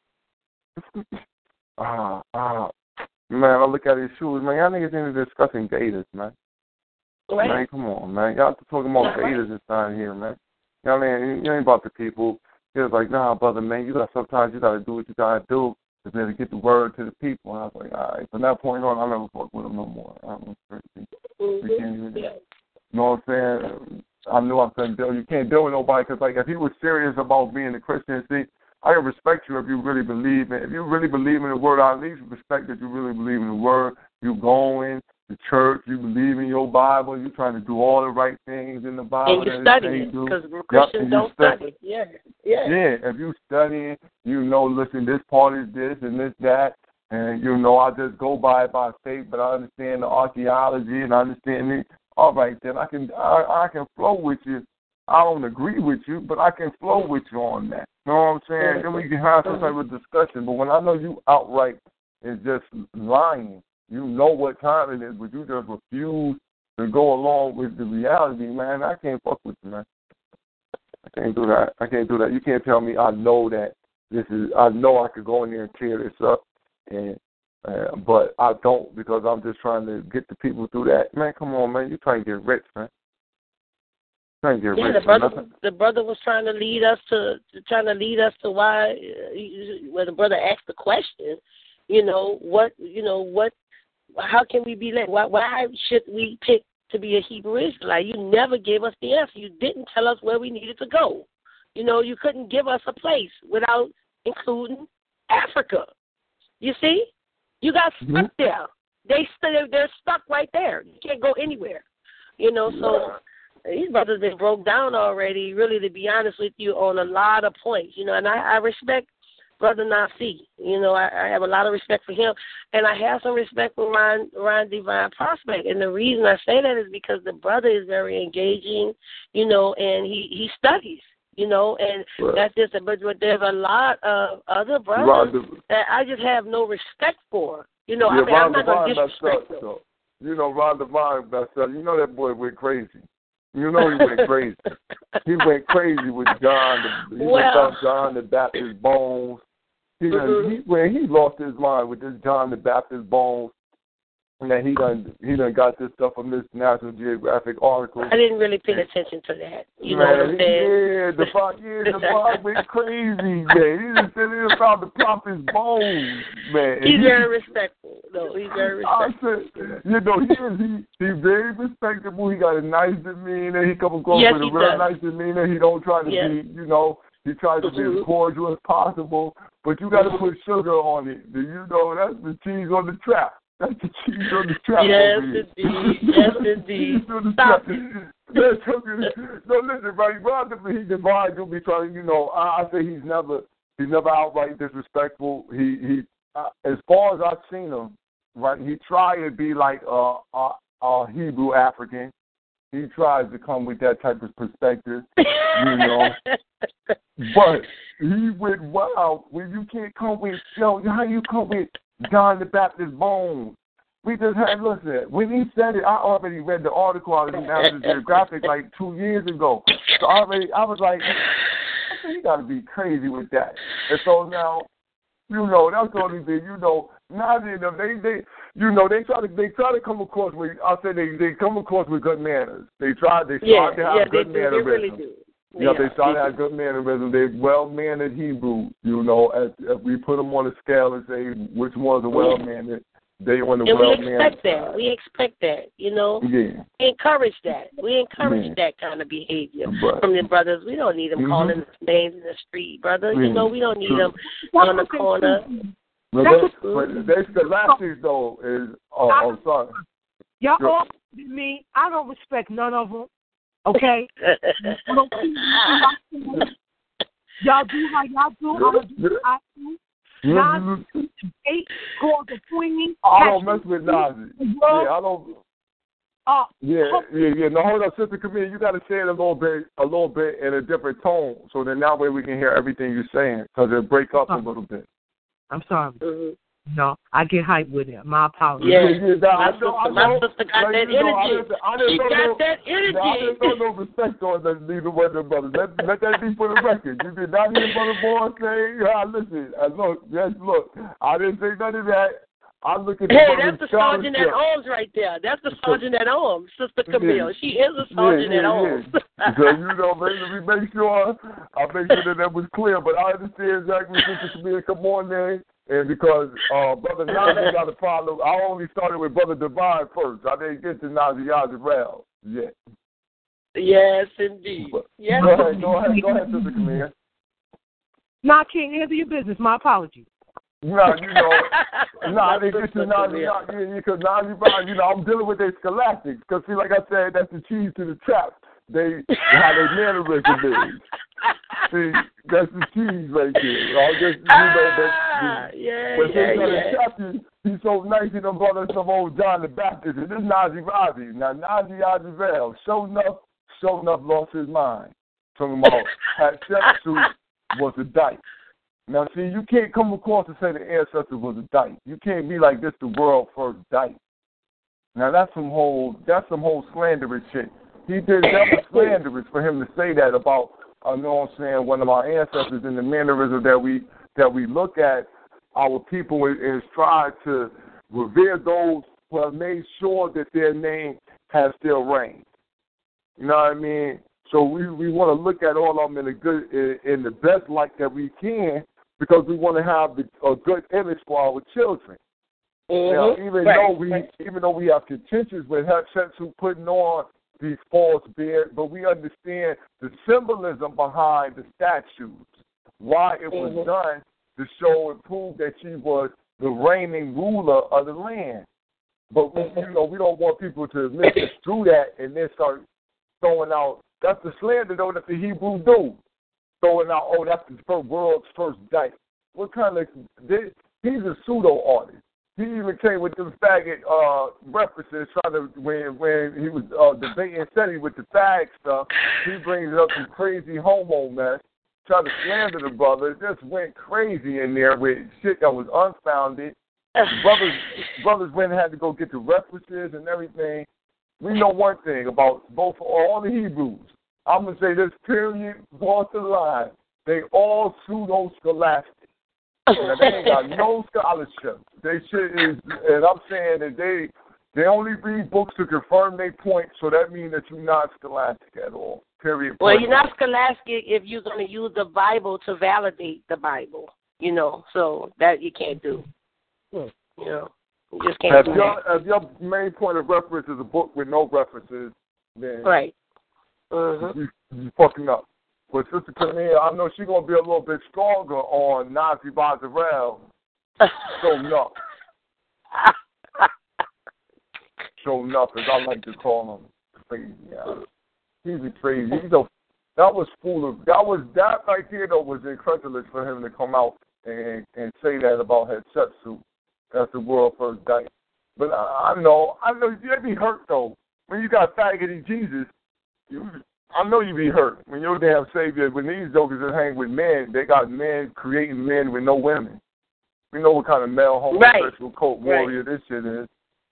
Man, I look at his shoes, man. Y'all niggas ain't discussing gators, man. Right. Man, come on, man. Y'all talking about gators inside here, man. Y'all ain't about the people. He was like, nah, brother, man, sometimes you gotta do what you gotta do to get the word to the people. And I was like, all right. From that point on, I never fuck with him no more. I don't know. You know what I'm saying? I knew I couldn't deal. You can't deal with nobody because, like, if he was serious about being a Christian, see, I can respect you if you really believe in. If you really believe in the word, I at least respect that you really believe in the word. You going to church, you believe in your Bible, you trying to do all the right things in the Bible. And you studying because Christians don't study. Yeah. Yeah, if you studying, listen, this part is this and this that, and I just go by faith, but I understand the archaeology and I understand it. All right, then I can flow with you. I don't agree with you, but I can flow with you on that. You know what I'm saying? Then we can have some type of discussion. But when I know you outright is just lying, you know what time it is, but you just refuse to go along with the reality, man, I can't fuck with you, man. I can't do that. You can't tell me I know that I know I could go in there and tear this up, but I don't because I'm just trying to get the people through that. Man, come on, man. You're trying to get rich, man. The brother was trying to lead us to why when the brother asked the question, how can we be led? Why should we pick to be a Hebrew Israelite? You never gave us the answer. You didn't tell us where we needed to go. You couldn't give us a place without including Africa. You see? You got stuck there. They're stuck right there. You can't go anywhere. So these brothers been broke down already, really, to be honest with you, on a lot of points, and I respect Brother Nasi. I have a lot of respect for him, and I have some respect for Ron Divine Prospect. And the reason I say that is because the brother is very engaging, and he studies. and that's just but there's a lot of other brothers that I just have no respect for. I'm not going to disrespect them. Ron Divine messed up. That boy went crazy. He went crazy. He went crazy with John. He about John the Baptist Bones. He lost his mind with this John the Baptist Bones. And then he done got this stuff from this National Geographic article. I didn't really pay attention to that. You know what I'm saying? The Bob went crazy, man. He just said it about the prophet's bones, man. He's very respectful. No, he's very respectful. He's very respectable. He got a nice demeanor. He comes across with a real nice demeanor. He don't try to be, he tries to be as cordial as possible. But you got to put sugar on it. That's the cheese on the trap. That's the cheese on the trap. Yes, indeed. Yes, indeed. Stop. No, listen, right? He divides. He'll be trying. I say he's never outright disrespectful. He as far as I've seen him, right? He tried to be like a Hebrew African. He tries to come with that type of perspective, But he went wild when you can't come with how you come with John the Baptist Bones. We just had, listen, when he said it, I already read the article out of the National Geographic like 2 years ago. So I was like, you got to be crazy with that. And so now, that's the only thing, Nazi and them, they try to come across with, I said they come across with good manners. They try to have good mannerism. They really do. They try to have good mannerism. They're well-mannered Hebrew, If we put them on a scale and say which ones are well-mannered, they on the well-mannered side. We expect that, Yeah. We encourage that. We encourage that kind of behavior from the brothers. We don't need them calling us names in the street, brother. We don't need them on the corner. But they Scholastics, though, is... Oh, sorry. Y'all all me. I don't respect none of them. Okay? Y'all do how y'all do. I'm going to do what I do. Nazi, 8 calls of swinging. I don't mess with Nazi. I don't. No, hold up, Sister Camille. You got to say it a little bit in a different tone, so then that way we can hear everything you're saying, because it break up a little bit. I'm sorry. No, I get hyped with it. My apologies. My sister got that energy. She got that energy. I didn't know no respect on neither one of them brothers. Let that be for the record. You did not hear Brother Boy say, listen, look, I didn't say none of that. I look at that's the sergeant at arms right there. That's the sergeant at arms, Sister Camille. She is a sergeant at arms. So, we make sure that was clear. But I understand exactly, Sister Camille, come on there. And because Brother Nazi got to follow, I only started with Brother Divine first. I didn't get to Nazi Yazarel yet. Yes, indeed. Yes. Go ahead, Sister Camille. Nah, King, answer your business. My apologies. I didn't get to Nazi, because Nazi, I'm dealing with their scholastics. Because, see, like I said, that's the cheese to the trap. How they mannerism is. See, that's the cheese right there. He's so nice, he done brought us some old John the Baptist, and this Nazi Razi. Now, Nazi Yazarel, sure enough, lost his mind. Talking about Hatshepsut was a dyke. Now, see, you can't come across and say the ancestor was a dyke. You can't be like this, the world first dyke. Now, that's some whole slanderous shit. That was slanderous for him to say that about, one of our ancestors, in the mannerism that we look at our people and strive to revere those who have made sure that their name has still reigned. You know what I mean? So we want to look at all of them in the best light that we can, because we want to have a good image for our children. Now, even though we have contentions with Hatshepsut putting on these false beards, but we understand the symbolism behind the statues, why it was done to show and prove that she was the reigning ruler of the land. But we don't want people to misconstrue that and then start throwing out. That's the slander though that the Hebrews do, throwing out. Oh, that's the world's first dyke. What kind of? He's a pseudo artist. he even came with them faggot references, trying to when he was debating SETI with the fag stuff. He brings up some crazy homo mess, tried to slander the brother. Just went crazy in there with shit that was unfounded. Brothers went and had to go get the references and everything. We know one thing about all the Hebrews. I'm going to say this, period, cross the line. They all pseudo-scholastic. Now, they ain't got no scholarship. They shit is, and I'm saying that they only read books to confirm their point, so that means that you're not scholastic at all, period. Well, you're not scholastic if you're going to use the Bible to validate the Bible, so that you can't do. You just can't do that. If your main point of reference is a book with no references, then right. You fucking up. But Sister Camille, I know she's going to be a little bit stronger on Nazi Bazarel. So enough. So enough, as I like to call him. Crazy. He's crazy. That right there, though, was incredulous for him to come out and say that about Hatshepsut as the world first died. But I know you'd be hurt, though. When you got faggoty Jesus, I know you be hurt when your damn Savior, when these jokers that hang with men, they got men creating men with no women. We know what kind of male homosexual cult warrior this shit is.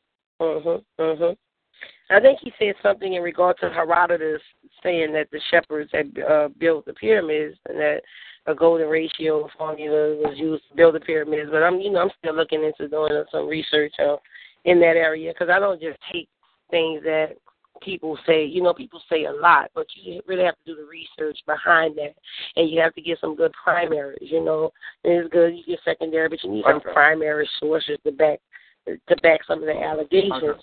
I think he said something in regard to Herodotus saying that the shepherds had built the pyramids and that a golden ratio formula was used to build the pyramids. But I'm still looking into doing some research in that area because I don't just take things that people say. People say a lot, but you really have to do the research behind that, and you have to get some good primaries. It's good you get secondary, but you need some primary sources to back some of the allegations.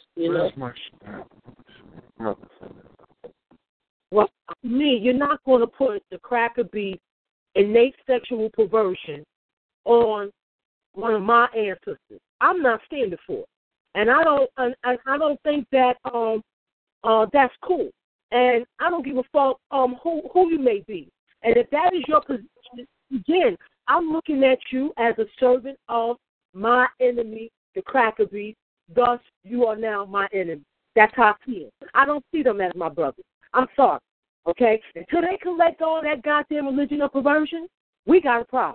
Well, to me, you're not going to put the cracker beef innate sexual perversion on one of my ancestors. I'm not standing for it, and I don't think that that's cool. And I don't give a fuck who you may be. And if that is your position, again, I'm looking at you as a servant of my enemy, the cracker beef. Thus, you are now my enemy. That's how I feel. I don't see them as my brothers. I'm sorry. Okay? Until they collect all that goddamn religion of perversion, we got a problem.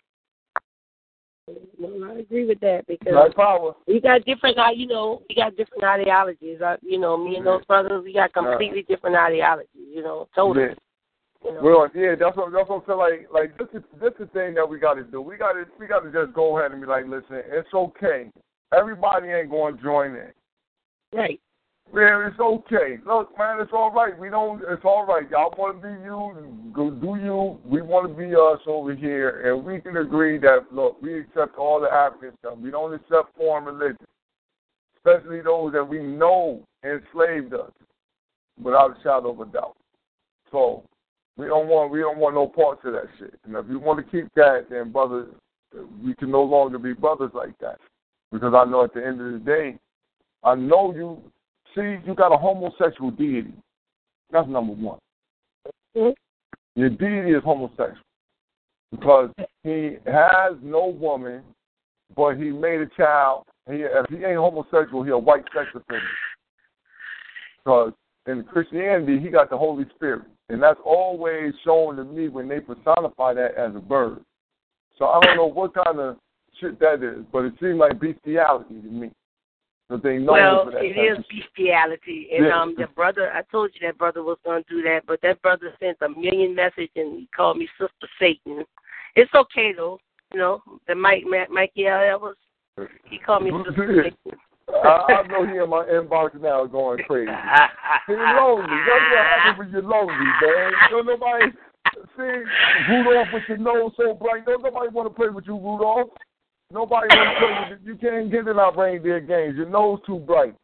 I agree with that because power. we got different, we got different ideologies. Me and those brothers, we got completely different ideologies. Totally. Well, that's what I feel like. This is the thing that we got to do. We got to just go ahead and be like, listen, it's okay. Everybody ain't going to join in. Right. Yeah, it's okay. Look, man, it's all right. It's all right. Y'all want to be you, go do you. We want to be us over here, and we can agree that, look, we accept all the African stuff. We don't accept foreign religion, especially those that we know enslaved us, without a shadow of a doubt. So we don't want no parts of that shit. And if you want to keep that, then brothers, we can no longer be brothers like that, because I know at the end of the day, I know you. See, you got a homosexual deity. That's number one. Mm-hmm. Your deity is homosexual because he has no woman, but he made a child. If he ain't homosexual, he a white sex offender. Because in Christianity, he got the Holy Spirit. And that's always shown to me when they personify that as a bird. So I don't know what kind of shit that is, but it seems like bestiality to me. Well, it is bestiality. And the brother, I told you that brother was going to do that, but that brother sent a million messages and he called me Sister Satan. It's okay, though. The Mikey Elvis, he called me Sister Satan. I know he in my inbox now going crazy. He's lonely. That's what happens when you're lonely, man. Don't nobody see Rudolph with your nose so bright. Don't nobody want to play with you, Rudolph. Nobody want to play with you. You can't get in our reindeer games. Your nose too bright.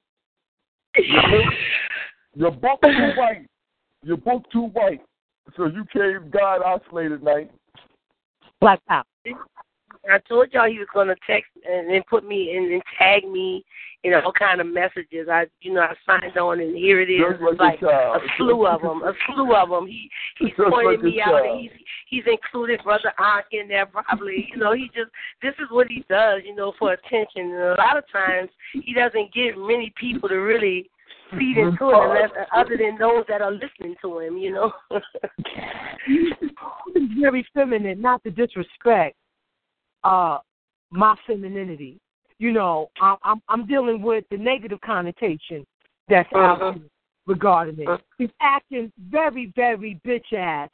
Your book too white. Your book too white. So you came God isolated night. Black power. I told y'all he was gonna text and then put me in and tag me in all kind of messages. I signed on and here it is. It's like a slew of them. He's pointing me out and he's included Brother Ankh in there probably. This is what he does, for attention. And a lot of times he doesn't get many people to really feed into it unless other than those that are listening to him. He's very feminine, not to disrespect my femininity. I'm dealing with the negative connotation that's out regarding it. He's acting very, very bitch ass,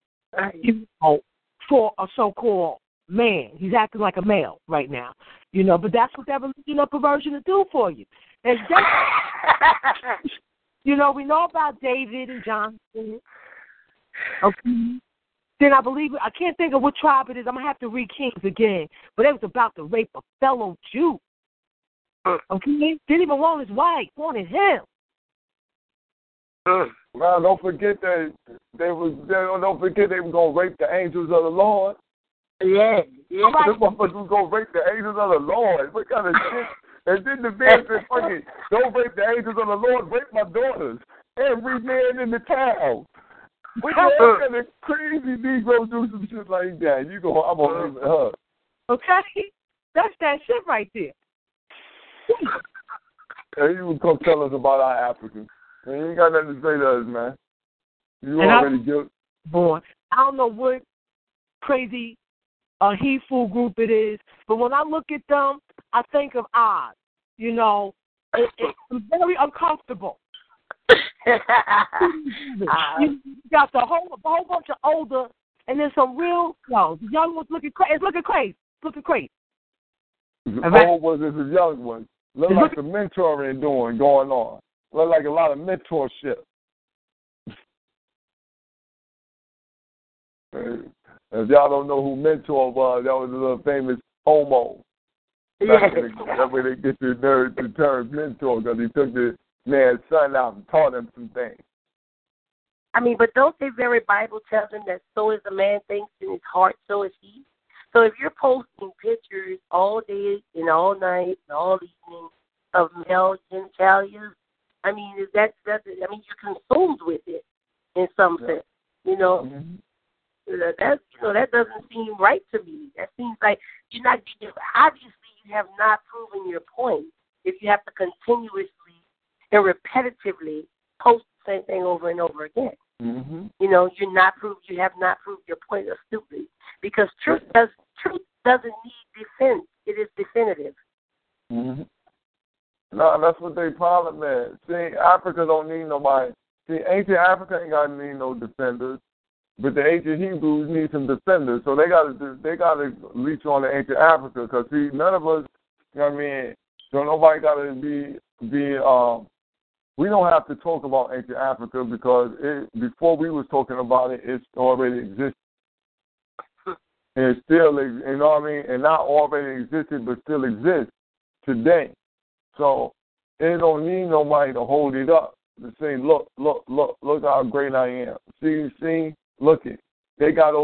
for a so-called man. He's acting like a male right now, But that's what that perversion will do for you. And we know about David and Jonathan. Okay. Then I can't think of what tribe it is. I'm going to have to read Kings again. But they was about to rape a fellow Jew. Okay? Didn't even want his wife, wanted him. Well, don't forget that they were going to rape the angels of the Lord. Yeah. This motherfucker was going to rape the angels of the Lord. What kind of shit? And then the man said, fucking, don't rape the angels of the Lord, rape my daughters. Every man in the town. We all kind of crazy Negro do some shit like that. I'm going to leave it her. Okay? That's that shit right there. And you would come tell us about our Africans. And you ain't got nothing to say to us, man. You already guilty. Boy, I don't know what crazy he-fool group it is, but when I look at them, I think of Oz. It's very uncomfortable. You got the whole bunch of older, and then some real young ones looking crazy. It's looking crazy. The old ones is the young ones. Look like some mentoring going on. Look like a lot of mentorship. If y'all don't know who Mentor was, that was a little famous homo. That way they get the term mentor, because he took the man's son out and taught him some things. I mean, but don't the very Bible tell them that so is a man thinks in his heart, so is he? So if you're posting pictures all day and all night and all evening of male genitalia, I mean, you're consumed with it in some sense, Mm-hmm. That doesn't seem right to me. That seems like obviously you have not proven your point if you have to continuously and repetitively post the same thing over and over again. Mm-hmm. You have not proved your point astutely, because truth doesn't need defense. It is definitive. Mm-hmm. No, that's what they problem is. See, Africa don't need nobody. See, ancient Africa ain't got to need no defenders. But the ancient Hebrews need some defenders, so they got to reach on the ancient Africa, because see, none of us, so nobody got to be. We don't have to talk about ancient Africa, because before we was talking about it, it's already existed, and it's still, and not already existed, but still exists today. So it don't need nobody to hold it up to say, look how great I am. See. Look it. They got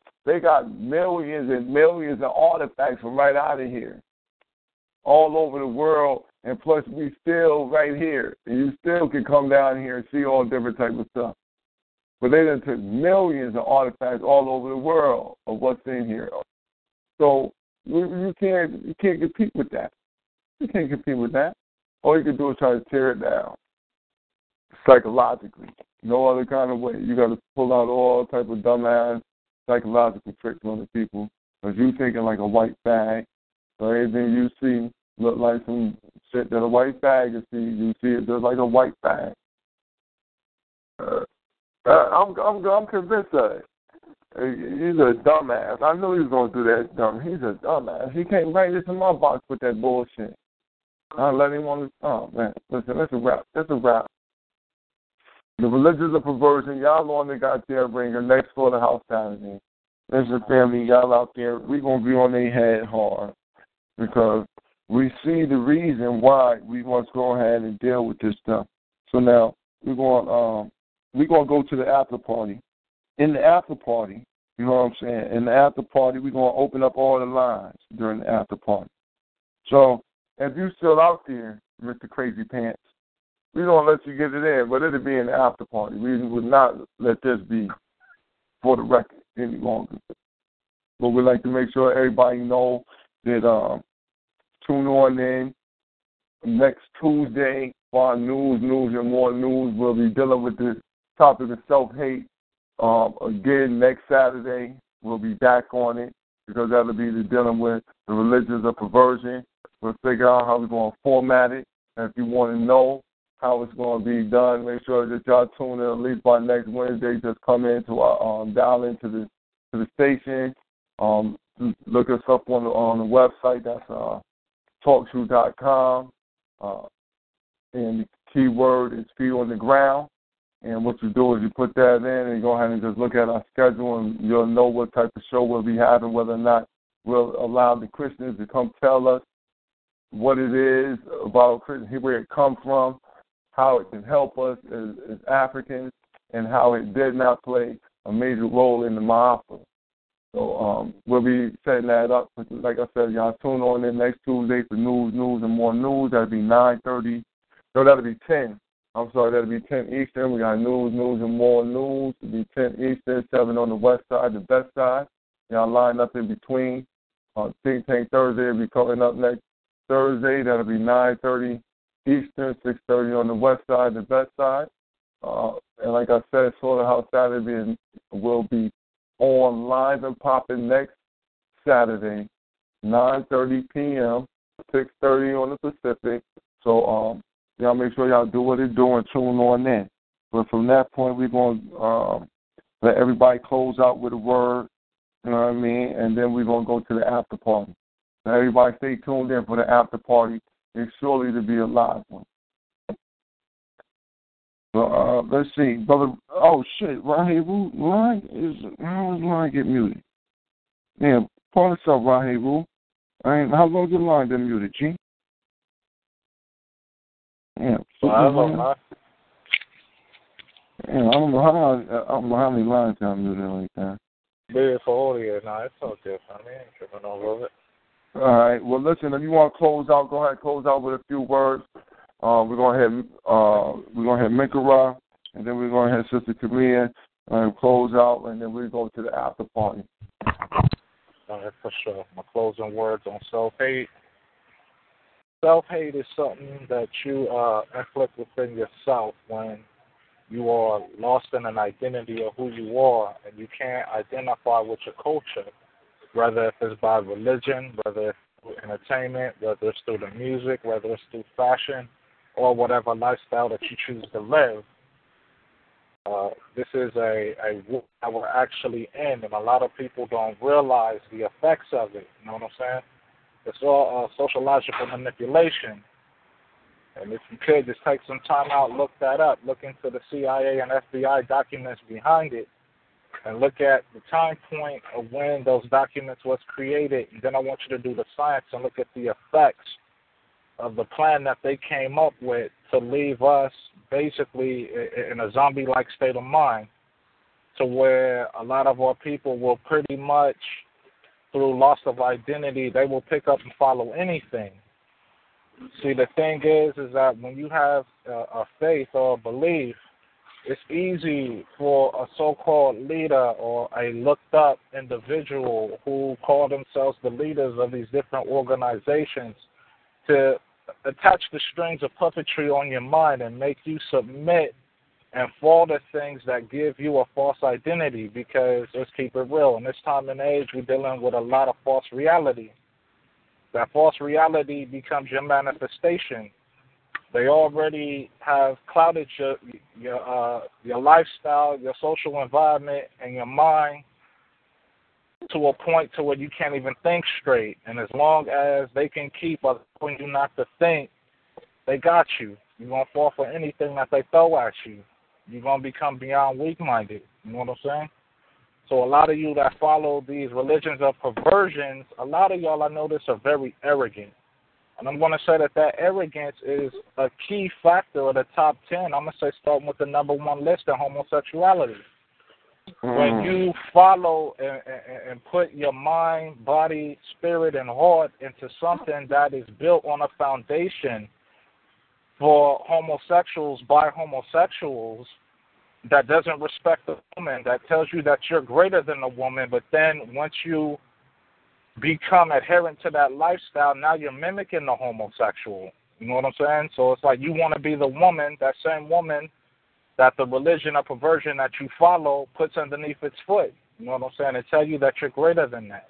millions and millions of artifacts from right out of here, all over the world, and plus we still right here, and you still can come down here and see all different types of stuff. But they done took millions of artifacts all over the world of what's in here. So you can't compete with that. You can't compete with that. All you can do is try to tear it down psychologically. No other kind of way. You got to pull out all type of dumbass psychological tricks on the people, because you thinking like a white fag. So everything you see look like some shit that a white fag is see. You see it just like a white fag. I'm convinced of it. He's a dumbass. I knew he was going to do that dumb. He's a dumbass. He can't write this in my box with that bullshit. I let him on. Oh man, listen, that's a wrap. That's a wrap. The religions of perversion, y'all on the goddamn ringer next for the house Saturday. Listen, family, y'all out there, we going to be on their head hard, because we see the reason why we must go ahead and deal with this stuff. So now we're going to go to the after party. In the after party, You know what I'm saying? In the after party, we're going to open up all the lines during the after party. So if you're still out there, Mr. Crazy Pants, we don't let you get it in, but it'll be in the after party. We would not let this be for the record any longer. But we'd like to make sure everybody know that tune on in next Tuesday for our news, and more news. We'll be dealing with the topic of self-hate. Again, next Saturday, we'll be back on it because that'll be dealing with the religions of perversion. We'll figure out how we're going to format it. And if you want to know how it's going to be done, make sure that y'all tune in at least by next Wednesday. Just come into our, dial into the station. Look us up on the website. That's talkshoe.com. And the keyword is feet on the ground. And what you do is you put that in and you go ahead and just look at our schedule and you'll know what type of show we'll be having, whether or not we'll allow the Christians to come tell us what it is about Christian, where it comes from, how it can help us as Africans, and how it did not play a major role in the Ma'afa. So we'll be setting that up. Like I said, y'all tune on in next Tuesday for news, and more news. That'll be 9:30. No, that'll be 10. I'm sorry, that'll be 10 Eastern. We got news, and more news. It'll be 10 Eastern, 7 on the west side, the best side. Y'all line up in between. Think Tank Thursday will be coming up next Thursday. That'll be 9:30 Eastern, 6:30 on the west side, the best side. And like I said, sort of how Saturday will be on live and popping next Saturday, 9:30 p.m., 6:30 on the Pacific. So y'all make sure y'all do what it's doing, tune on in. But from that point, we're going to let everybody close out with a word, you know what I mean, and then we're going to go to the after party. Now, everybody stay tuned in for the after party. It's surely to be a live one. So, let's see, brother. Oh shit, Raheem, how does line get muted? Yeah, pull this up, Raheem. How long your line been muted, G? Yeah, I don't know how many lines are muted like that. Big for audio, no, it's all different. I ain't tripping over it. All right. Well, listen. If you want to close out, go ahead. Close out with a few words. We're going to have Mikara, and then we're going to have Sister Korea and close out, and then we go to the after party. All right, for sure. My closing words on self-hate. Self-hate is something that you inflict within yourself when you are lost in an identity of who you are and you can't identify with your culture, whether if it's by religion, whether it's through entertainment, whether it's through the music, whether it's through fashion, or whatever lifestyle that you choose to live. This is a war that we're actually in, and a lot of people don't realize the effects of it. You know what I'm saying? It's all sociological manipulation. And if you could, just take some time out, look that up, look into the CIA and FBI documents behind it, and look at the time point of when those documents was created. And then I want you to do the science and look at the effects of the plan that they came up with to leave us basically in a zombie-like state of mind, to where a lot of our people will pretty much, through loss of identity, they will pick up and follow anything. See, the thing is that when you have a faith or a belief, it's easy for a so-called leader or a looked-up individual who call themselves the leaders of these different organizations to attach the strings of puppetry on your mind and make you submit and fall to things that give you a false identity, because let's keep it real. In this time and age, we're dealing with a lot of false reality. That false reality becomes your manifestation. They already have clouded your lifestyle, your social environment, and your mind to a point to where you can't even think straight. And as long as they can keep allowing you not to think, they got you. You're going to fall for anything that they throw at you. You're going to become beyond weak-minded. You know what I'm saying? So a lot of you that follow these religions of perversions, a lot of y'all I notice are very arrogant. And I'm going to say that arrogance is a key factor of the top 10. I'm going to say starting with the number one list in homosexuality. When you follow and put your mind, body, spirit, and heart into something that is built on a foundation for homosexuals by homosexuals, that doesn't respect the woman, that tells you that you're greater than the woman, but then once you become adherent to that lifestyle, now you're mimicking the homosexual. You know what I'm saying? So it's like you want to be the woman, that same woman that the religion or perversion that you follow puts underneath its foot. You know what I'm saying? It tells you that you're greater than that.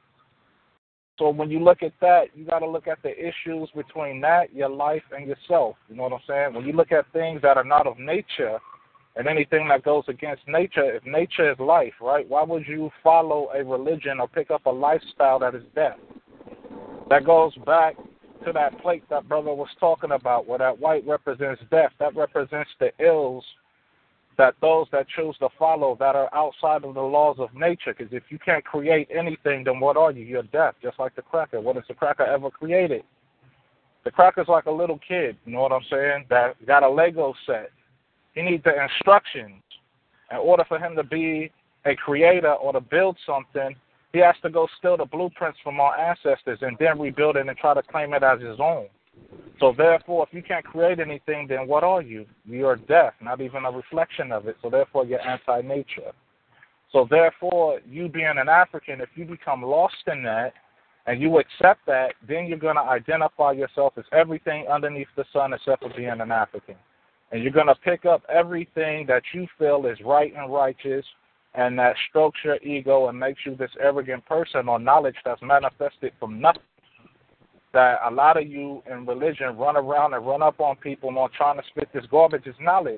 So when you look at that, you got to look at the issues between that, your life, and yourself. You know what I'm saying? When you look at things that are not of nature and anything that goes against nature, if nature is life, right, why would you follow a religion or pick up a lifestyle that is death? That goes back to that plate that brother was talking about, where that white represents death. That represents the ills that those that choose to follow that are outside of the laws of nature. Because if you can't create anything, then what are you? You're death, just like the cracker. What has the cracker ever created? The cracker's like a little kid, you know what I'm saying, that got a Lego set. He needs the instructions. In order for him to be a creator or to build something, he has to go steal the blueprints from our ancestors and then rebuild it and try to claim it as his own. So therefore, if you can't create anything, then what are you? You're death, not even a reflection of it. So therefore, you're anti-nature. So therefore, you being an African, if you become lost in that and you accept that, then you're going to identify yourself as everything underneath the sun except for being an African. And you're going to pick up everything that you feel is right and righteous and that strokes your ego and makes you this arrogant person or knowledge that's manifested from nothing. That a lot of you in religion run around and run up on people on trying to spit this garbage is knowledge.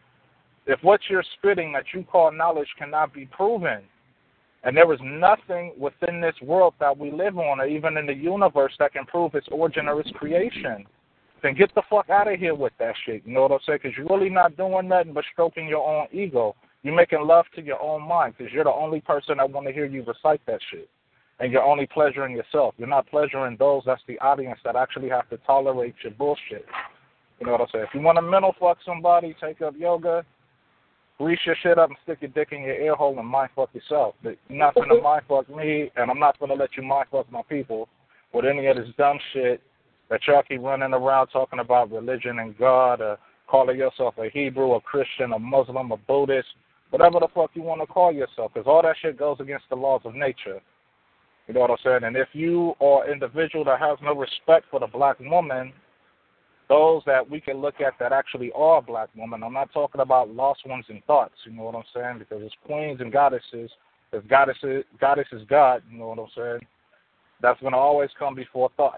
If what you're spitting that you call knowledge cannot be proven, and there is nothing within this world that we live on or even in the universe that can prove its origin or its creation, then get the fuck out of here with that shit. You know what I'm saying? Because you're really not doing nothing but stroking your own ego. You're making love to your own mind because you're the only person that want to hear you recite that shit. And you're only pleasuring yourself. You're not pleasuring those that's the audience that actually have to tolerate your bullshit. You know what I'm saying? If you want to mental fuck somebody, take up yoga, grease your shit up and stick your dick in your ear hole and mind fuck yourself. But you're not going to mind fuck me, and I'm not going to let you mind fuck my people with any of this dumb shit that y'all keep running around talking about religion and God, or calling yourself a Hebrew, a Christian, a Muslim, a Buddhist, whatever the fuck you want to call yourself, because all that shit goes against the laws of nature. You know what I'm saying? And if you are an individual that has no respect for the black woman, those that we can look at that actually are black women, I'm not talking about lost ones in thoughts, you know what I'm saying? Because it's queens and goddesses. If goddess is God, you know what I'm saying? That's going to always come before thoughts.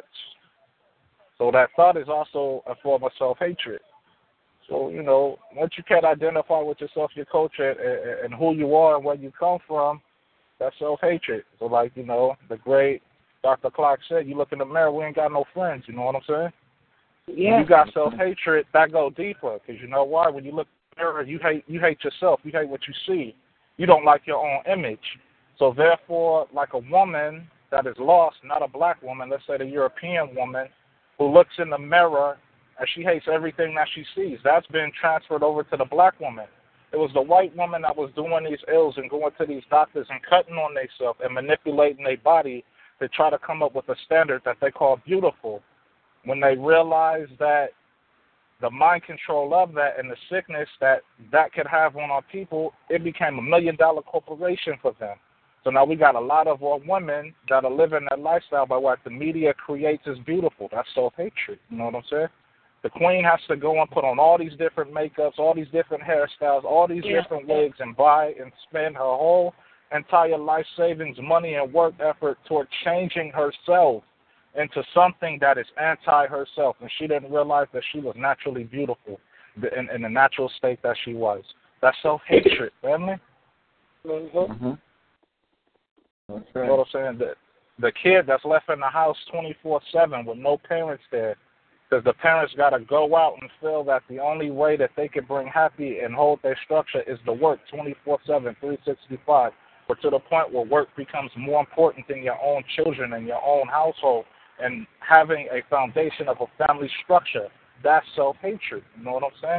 So that thought is also a form of self-hatred. So, you know, once you can't identify with yourself, your culture, and who you are and where you come from, that's self-hatred. So, like, you know, the great Dr. Clark said, you look in the mirror, we ain't got no friends, you know what I'm saying? Yeah. When you got self-hatred, that go deeper, because you know why? When you look in the mirror, you hate yourself. You hate what you see. You don't like your own image. So, therefore, like a woman that is lost, not a black woman, let's say the European woman, who looks in the mirror and she hates everything that she sees, that's been transferred over to the black woman. It was the white woman that was doing these ills and going to these doctors and cutting on themselves and manipulating their body to try to come up with a standard that they call beautiful. When they realized that the mind control of that and the sickness that could have on our people, it became $1 million corporation for them. So now we got a lot of our women that are living that lifestyle by what the media creates as beautiful. That's self-hatred. You know what I'm saying? The queen has to go and put on all these different makeups, all these different hairstyles, all these different wigs, and buy and spend her whole entire life savings, money, and work effort toward changing herself into something that is anti-herself. And she didn't realize that she was naturally beautiful in the natural state that she was. That's self-hatred, family. Mm-hmm. That's right. You know what I'm saying? The kid that's left in the house 24/7 with no parents there, because the parents got to go out and feel that the only way that they can bring happy and hold their structure is to work 24/7, 365, or to the point where work becomes more important than your own children and your own household and having a foundation of a family structure. That's self-hatred. You know what I'm saying?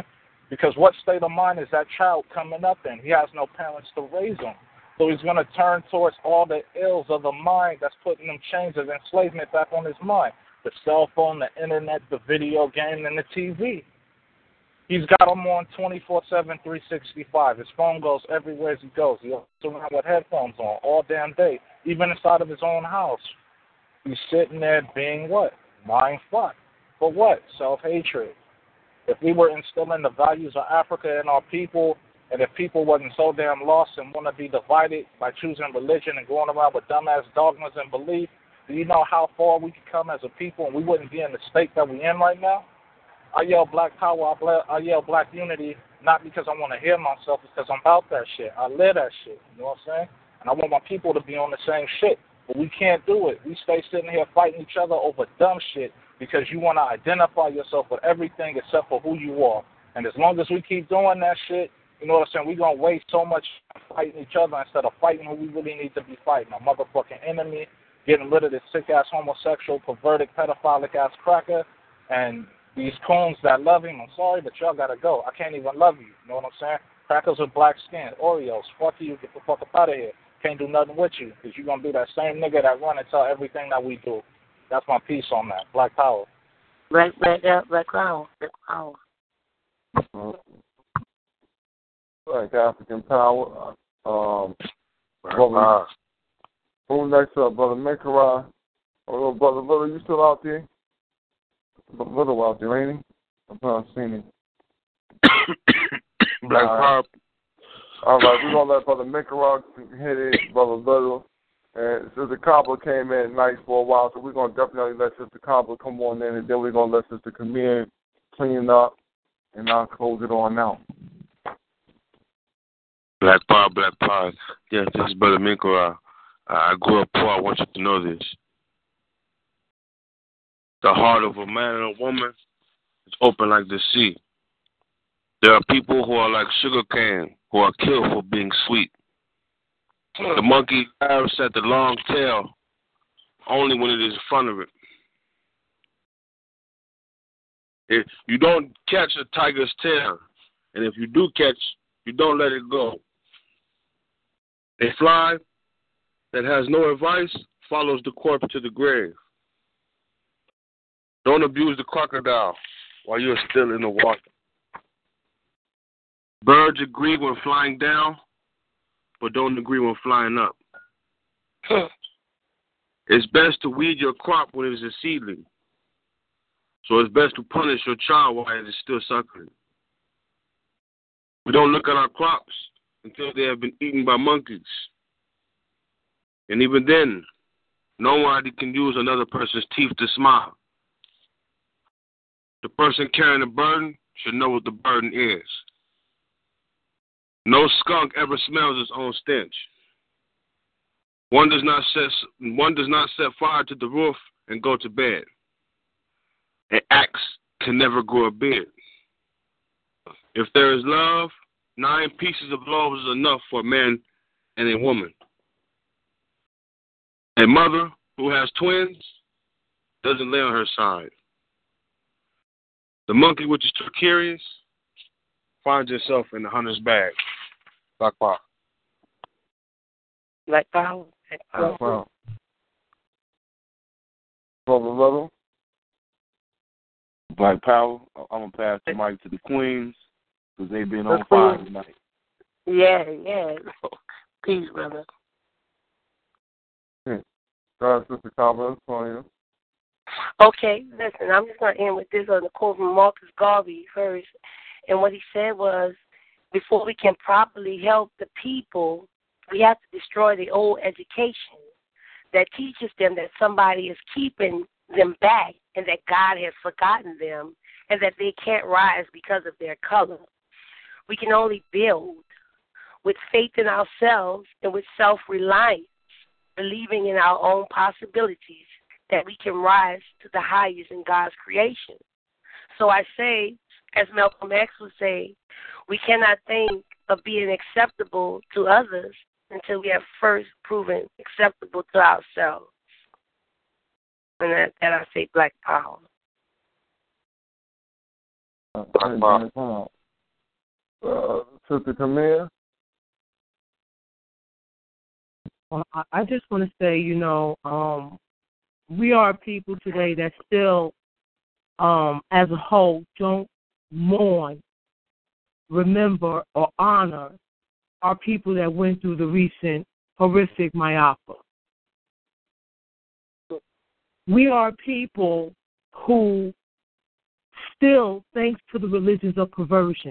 Because what state of mind is that child coming up in? He has no parents to raise him. So he's going to turn towards all the ills of the mind that's putting them chains of enslavement back on his mind. The cell phone, the internet, the video game, and the TV. He's got him on 24/7, 365. His phone goes everywhere as he goes. He walks around with headphones on all damn day, even inside of his own house. He's sitting there being what? Mind fucked. For what? Self-hatred. If we were instilling the values of Africa in our people, and if people wasn't so damn lost and want to be divided by choosing religion and going around with dumbass dogmas and belief, do you know how far we could come as a people and we wouldn't be in the state that we're in right now? I yell black power, I yell black unity, not because I want to hear myself, it's because I'm about that shit. I live that shit, you know what I'm saying? And I want my people to be on the same shit. But we can't do it. We stay sitting here fighting each other over dumb shit because you want to identify yourself with everything except for who you are. And as long as we keep doing that shit, you know what I'm saying, we're going to waste so much fighting each other instead of fighting who we really need to be fighting. A motherfucking enemy, getting rid of this sick-ass homosexual, perverted, pedophilic-ass cracker, and these coons that love him. I'm sorry, but y'all got to go. I can't even love you. You know what I'm saying? Crackers with black skin, Oreos, fuck you, get the fuck up out of here. Can't do nothing with you because you're going to be that same nigga that run and tell everything that we do. That's my piece on that. Black power. Black power. Black African power. Brother, who next up? Brother Mekara. Oh, Brother Little, you still out there? Little out there, ain't he? I'm not seeing him. Black power. All right, we're going to let Brother Mekara hit it, Brother Little. And Sister Cobbler came in nice for a while, so we're going to definitely let Sister Cobbler come on in, and then we're going to let Sister Camille clean up, and I'll close it on now. Black power, black power. Yes, this is Brother Mekara. I grew up poor. I want you to know this. The heart of a man and a woman is open like the sea. There are people who are like sugar cane, who are killed for being sweet. The monkey grabs at the long tail only when it is in front of it. If you don't catch a tiger's tail, and if you do catch, you don't let it go. A fly that has no advice follows the corpse to the grave. Don't abuse the crocodile while you're still in the water. Birds agree when flying down, but don't agree when flying up. It's best to weed your crop when it is a seedling. So it's best to punish your child while it is still suckling. We don't look at our crops until they have been eaten by monkeys. And even then, nobody can use another person's teeth to smile. The person carrying the burden should know what the burden is. No skunk ever smells its own stench. One does not set fire to the roof and go to bed. An axe can never grow a beard. If there is love, 9 pieces of love is enough for a man and a woman. A mother who has twins doesn't lay on her side. The monkey which is too curious finds itself in the hunter's bag. Black power. Black power. Black power. Brother Little. Black power. I'm going to pass the mic to the queens because they've been on fire tonight. Yeah. Peace, brother. Sister Cobbler, it's on you. Okay, listen, I'm just going to end with this on the quote from Marcus Garvey first. And what he said was, before we can properly help the people, we have to destroy the old education that teaches them that somebody is keeping them back and that God has forgotten them and that they can't rise because of their color. We can only build with faith in ourselves and with self-reliance, believing in our own possibilities, that we can rise to the highest in God's creation. So I say, as Malcolm X would say, we cannot think of being acceptable to others until we have first proven acceptable to ourselves. And that I say black power. Black power. Sister Camille? Well, I just want to say, we are people today that still, as a whole, don't mourn, remember, or honor our people that went through the recent horrific Mayapa. We are people who still, thanks to the religions of perversion,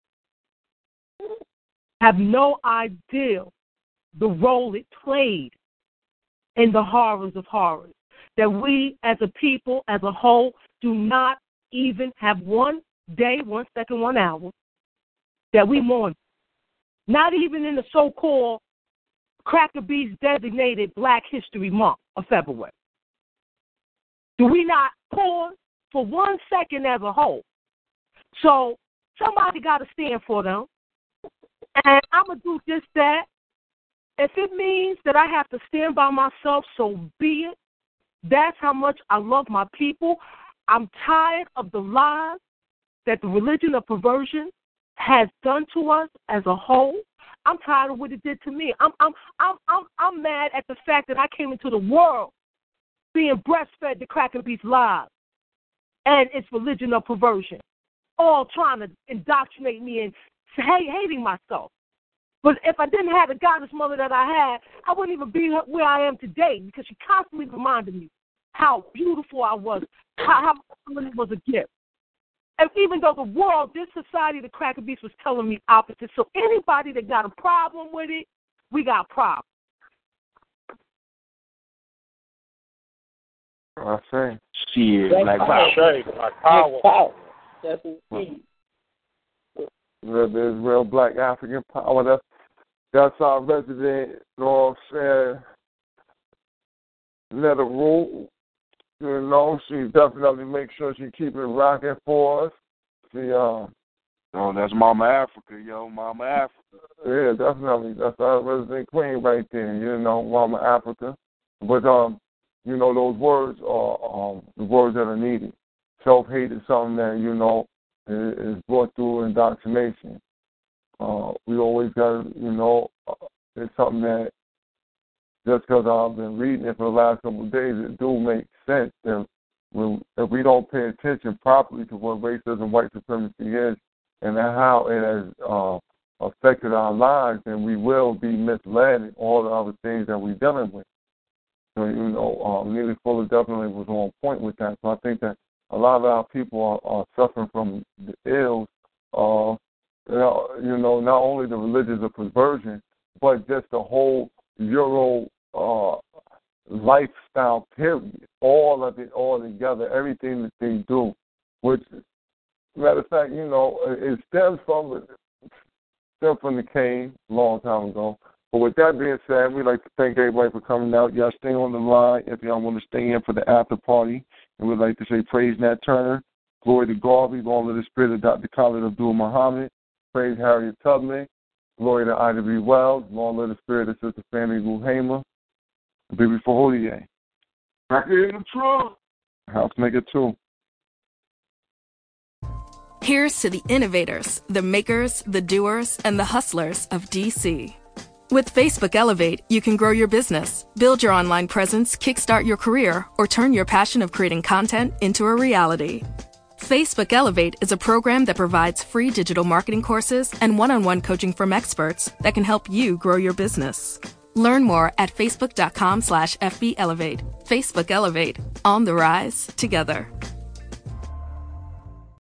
have no idea the role it played in the horrors of horrors. That we as a people, as a whole, do not even have 1 day, 1 second, 1 hour that we mourn. Not even in the so-called Cracker Beats designated Black History Month of February. Do we not pause for 1 second as a whole? So somebody got to stand for them. And I'm going to do just that. If it means that I have to stand by myself, so be it. That's how much I love my people. I'm tired of the lies that the religion of perversion has done to us as a whole. I'm tired of what it did to me. I'm mad at the fact that I came into the world being breastfed the Cracker Beats lies and its religion of perversion, all trying to indoctrinate me and hating myself. But if I didn't have the goddess mother that I had, I wouldn't even be where I am today, because she constantly reminded me how beautiful I was, how it was a gift. And even though the world, this society, the Cracker Beats, was telling me opposite. So anybody that got a problem with it, we got problems. I say. Shit, Black power. That's key. There's real Black African power. That's our resident, saying, let her rule. She definitely makes sure she keep it rocking for us. Oh, that's Mama Africa, Mama Africa. Yeah, definitely. That's our resident queen right there, Mama Africa. But, those words are the words that are needed. Self-hate is something that, is brought through indoctrination. We always got to, it's something that just because I've been reading it for the last couple of days, it do make sense that if we don't pay attention properly to what racism, white supremacy is, and how it has affected our lives, then we will be misled in all the other things that we're dealing with. So, Neely Fuller definitely was on point with that. So I think that a lot of our people are suffering from the ills of, not only the religions of perversion, but just the whole Euro lifestyle period, all of it all together, everything that they do, which, matter of fact, it stems from the cane a long time ago. But with that being said, we'd like to thank everybody for coming out. Y'all stay on the line if y'all want to stay in for the after party. And we'd like to say praise Nat Turner, glory to Garvey, long live the spirit of Dr. Khalid Abdul Muhammad, praise Harriet Tubman, glory to Ida B. Wells, long live the spirit of Sister Fannie Lou Hamer, Baby Faholier. Back in the trunk. Housemaker 2. Here's to the innovators, the makers, the doers, and the hustlers of DC. With Facebook Elevate, you can grow your business, build your online presence, kickstart your career, or turn your passion of creating content into a reality. Facebook Elevate is a program that provides free digital marketing courses and one-on-one coaching from experts that can help you grow your business. Learn more at facebook.com/FBElevate. Facebook Elevate. On the rise together.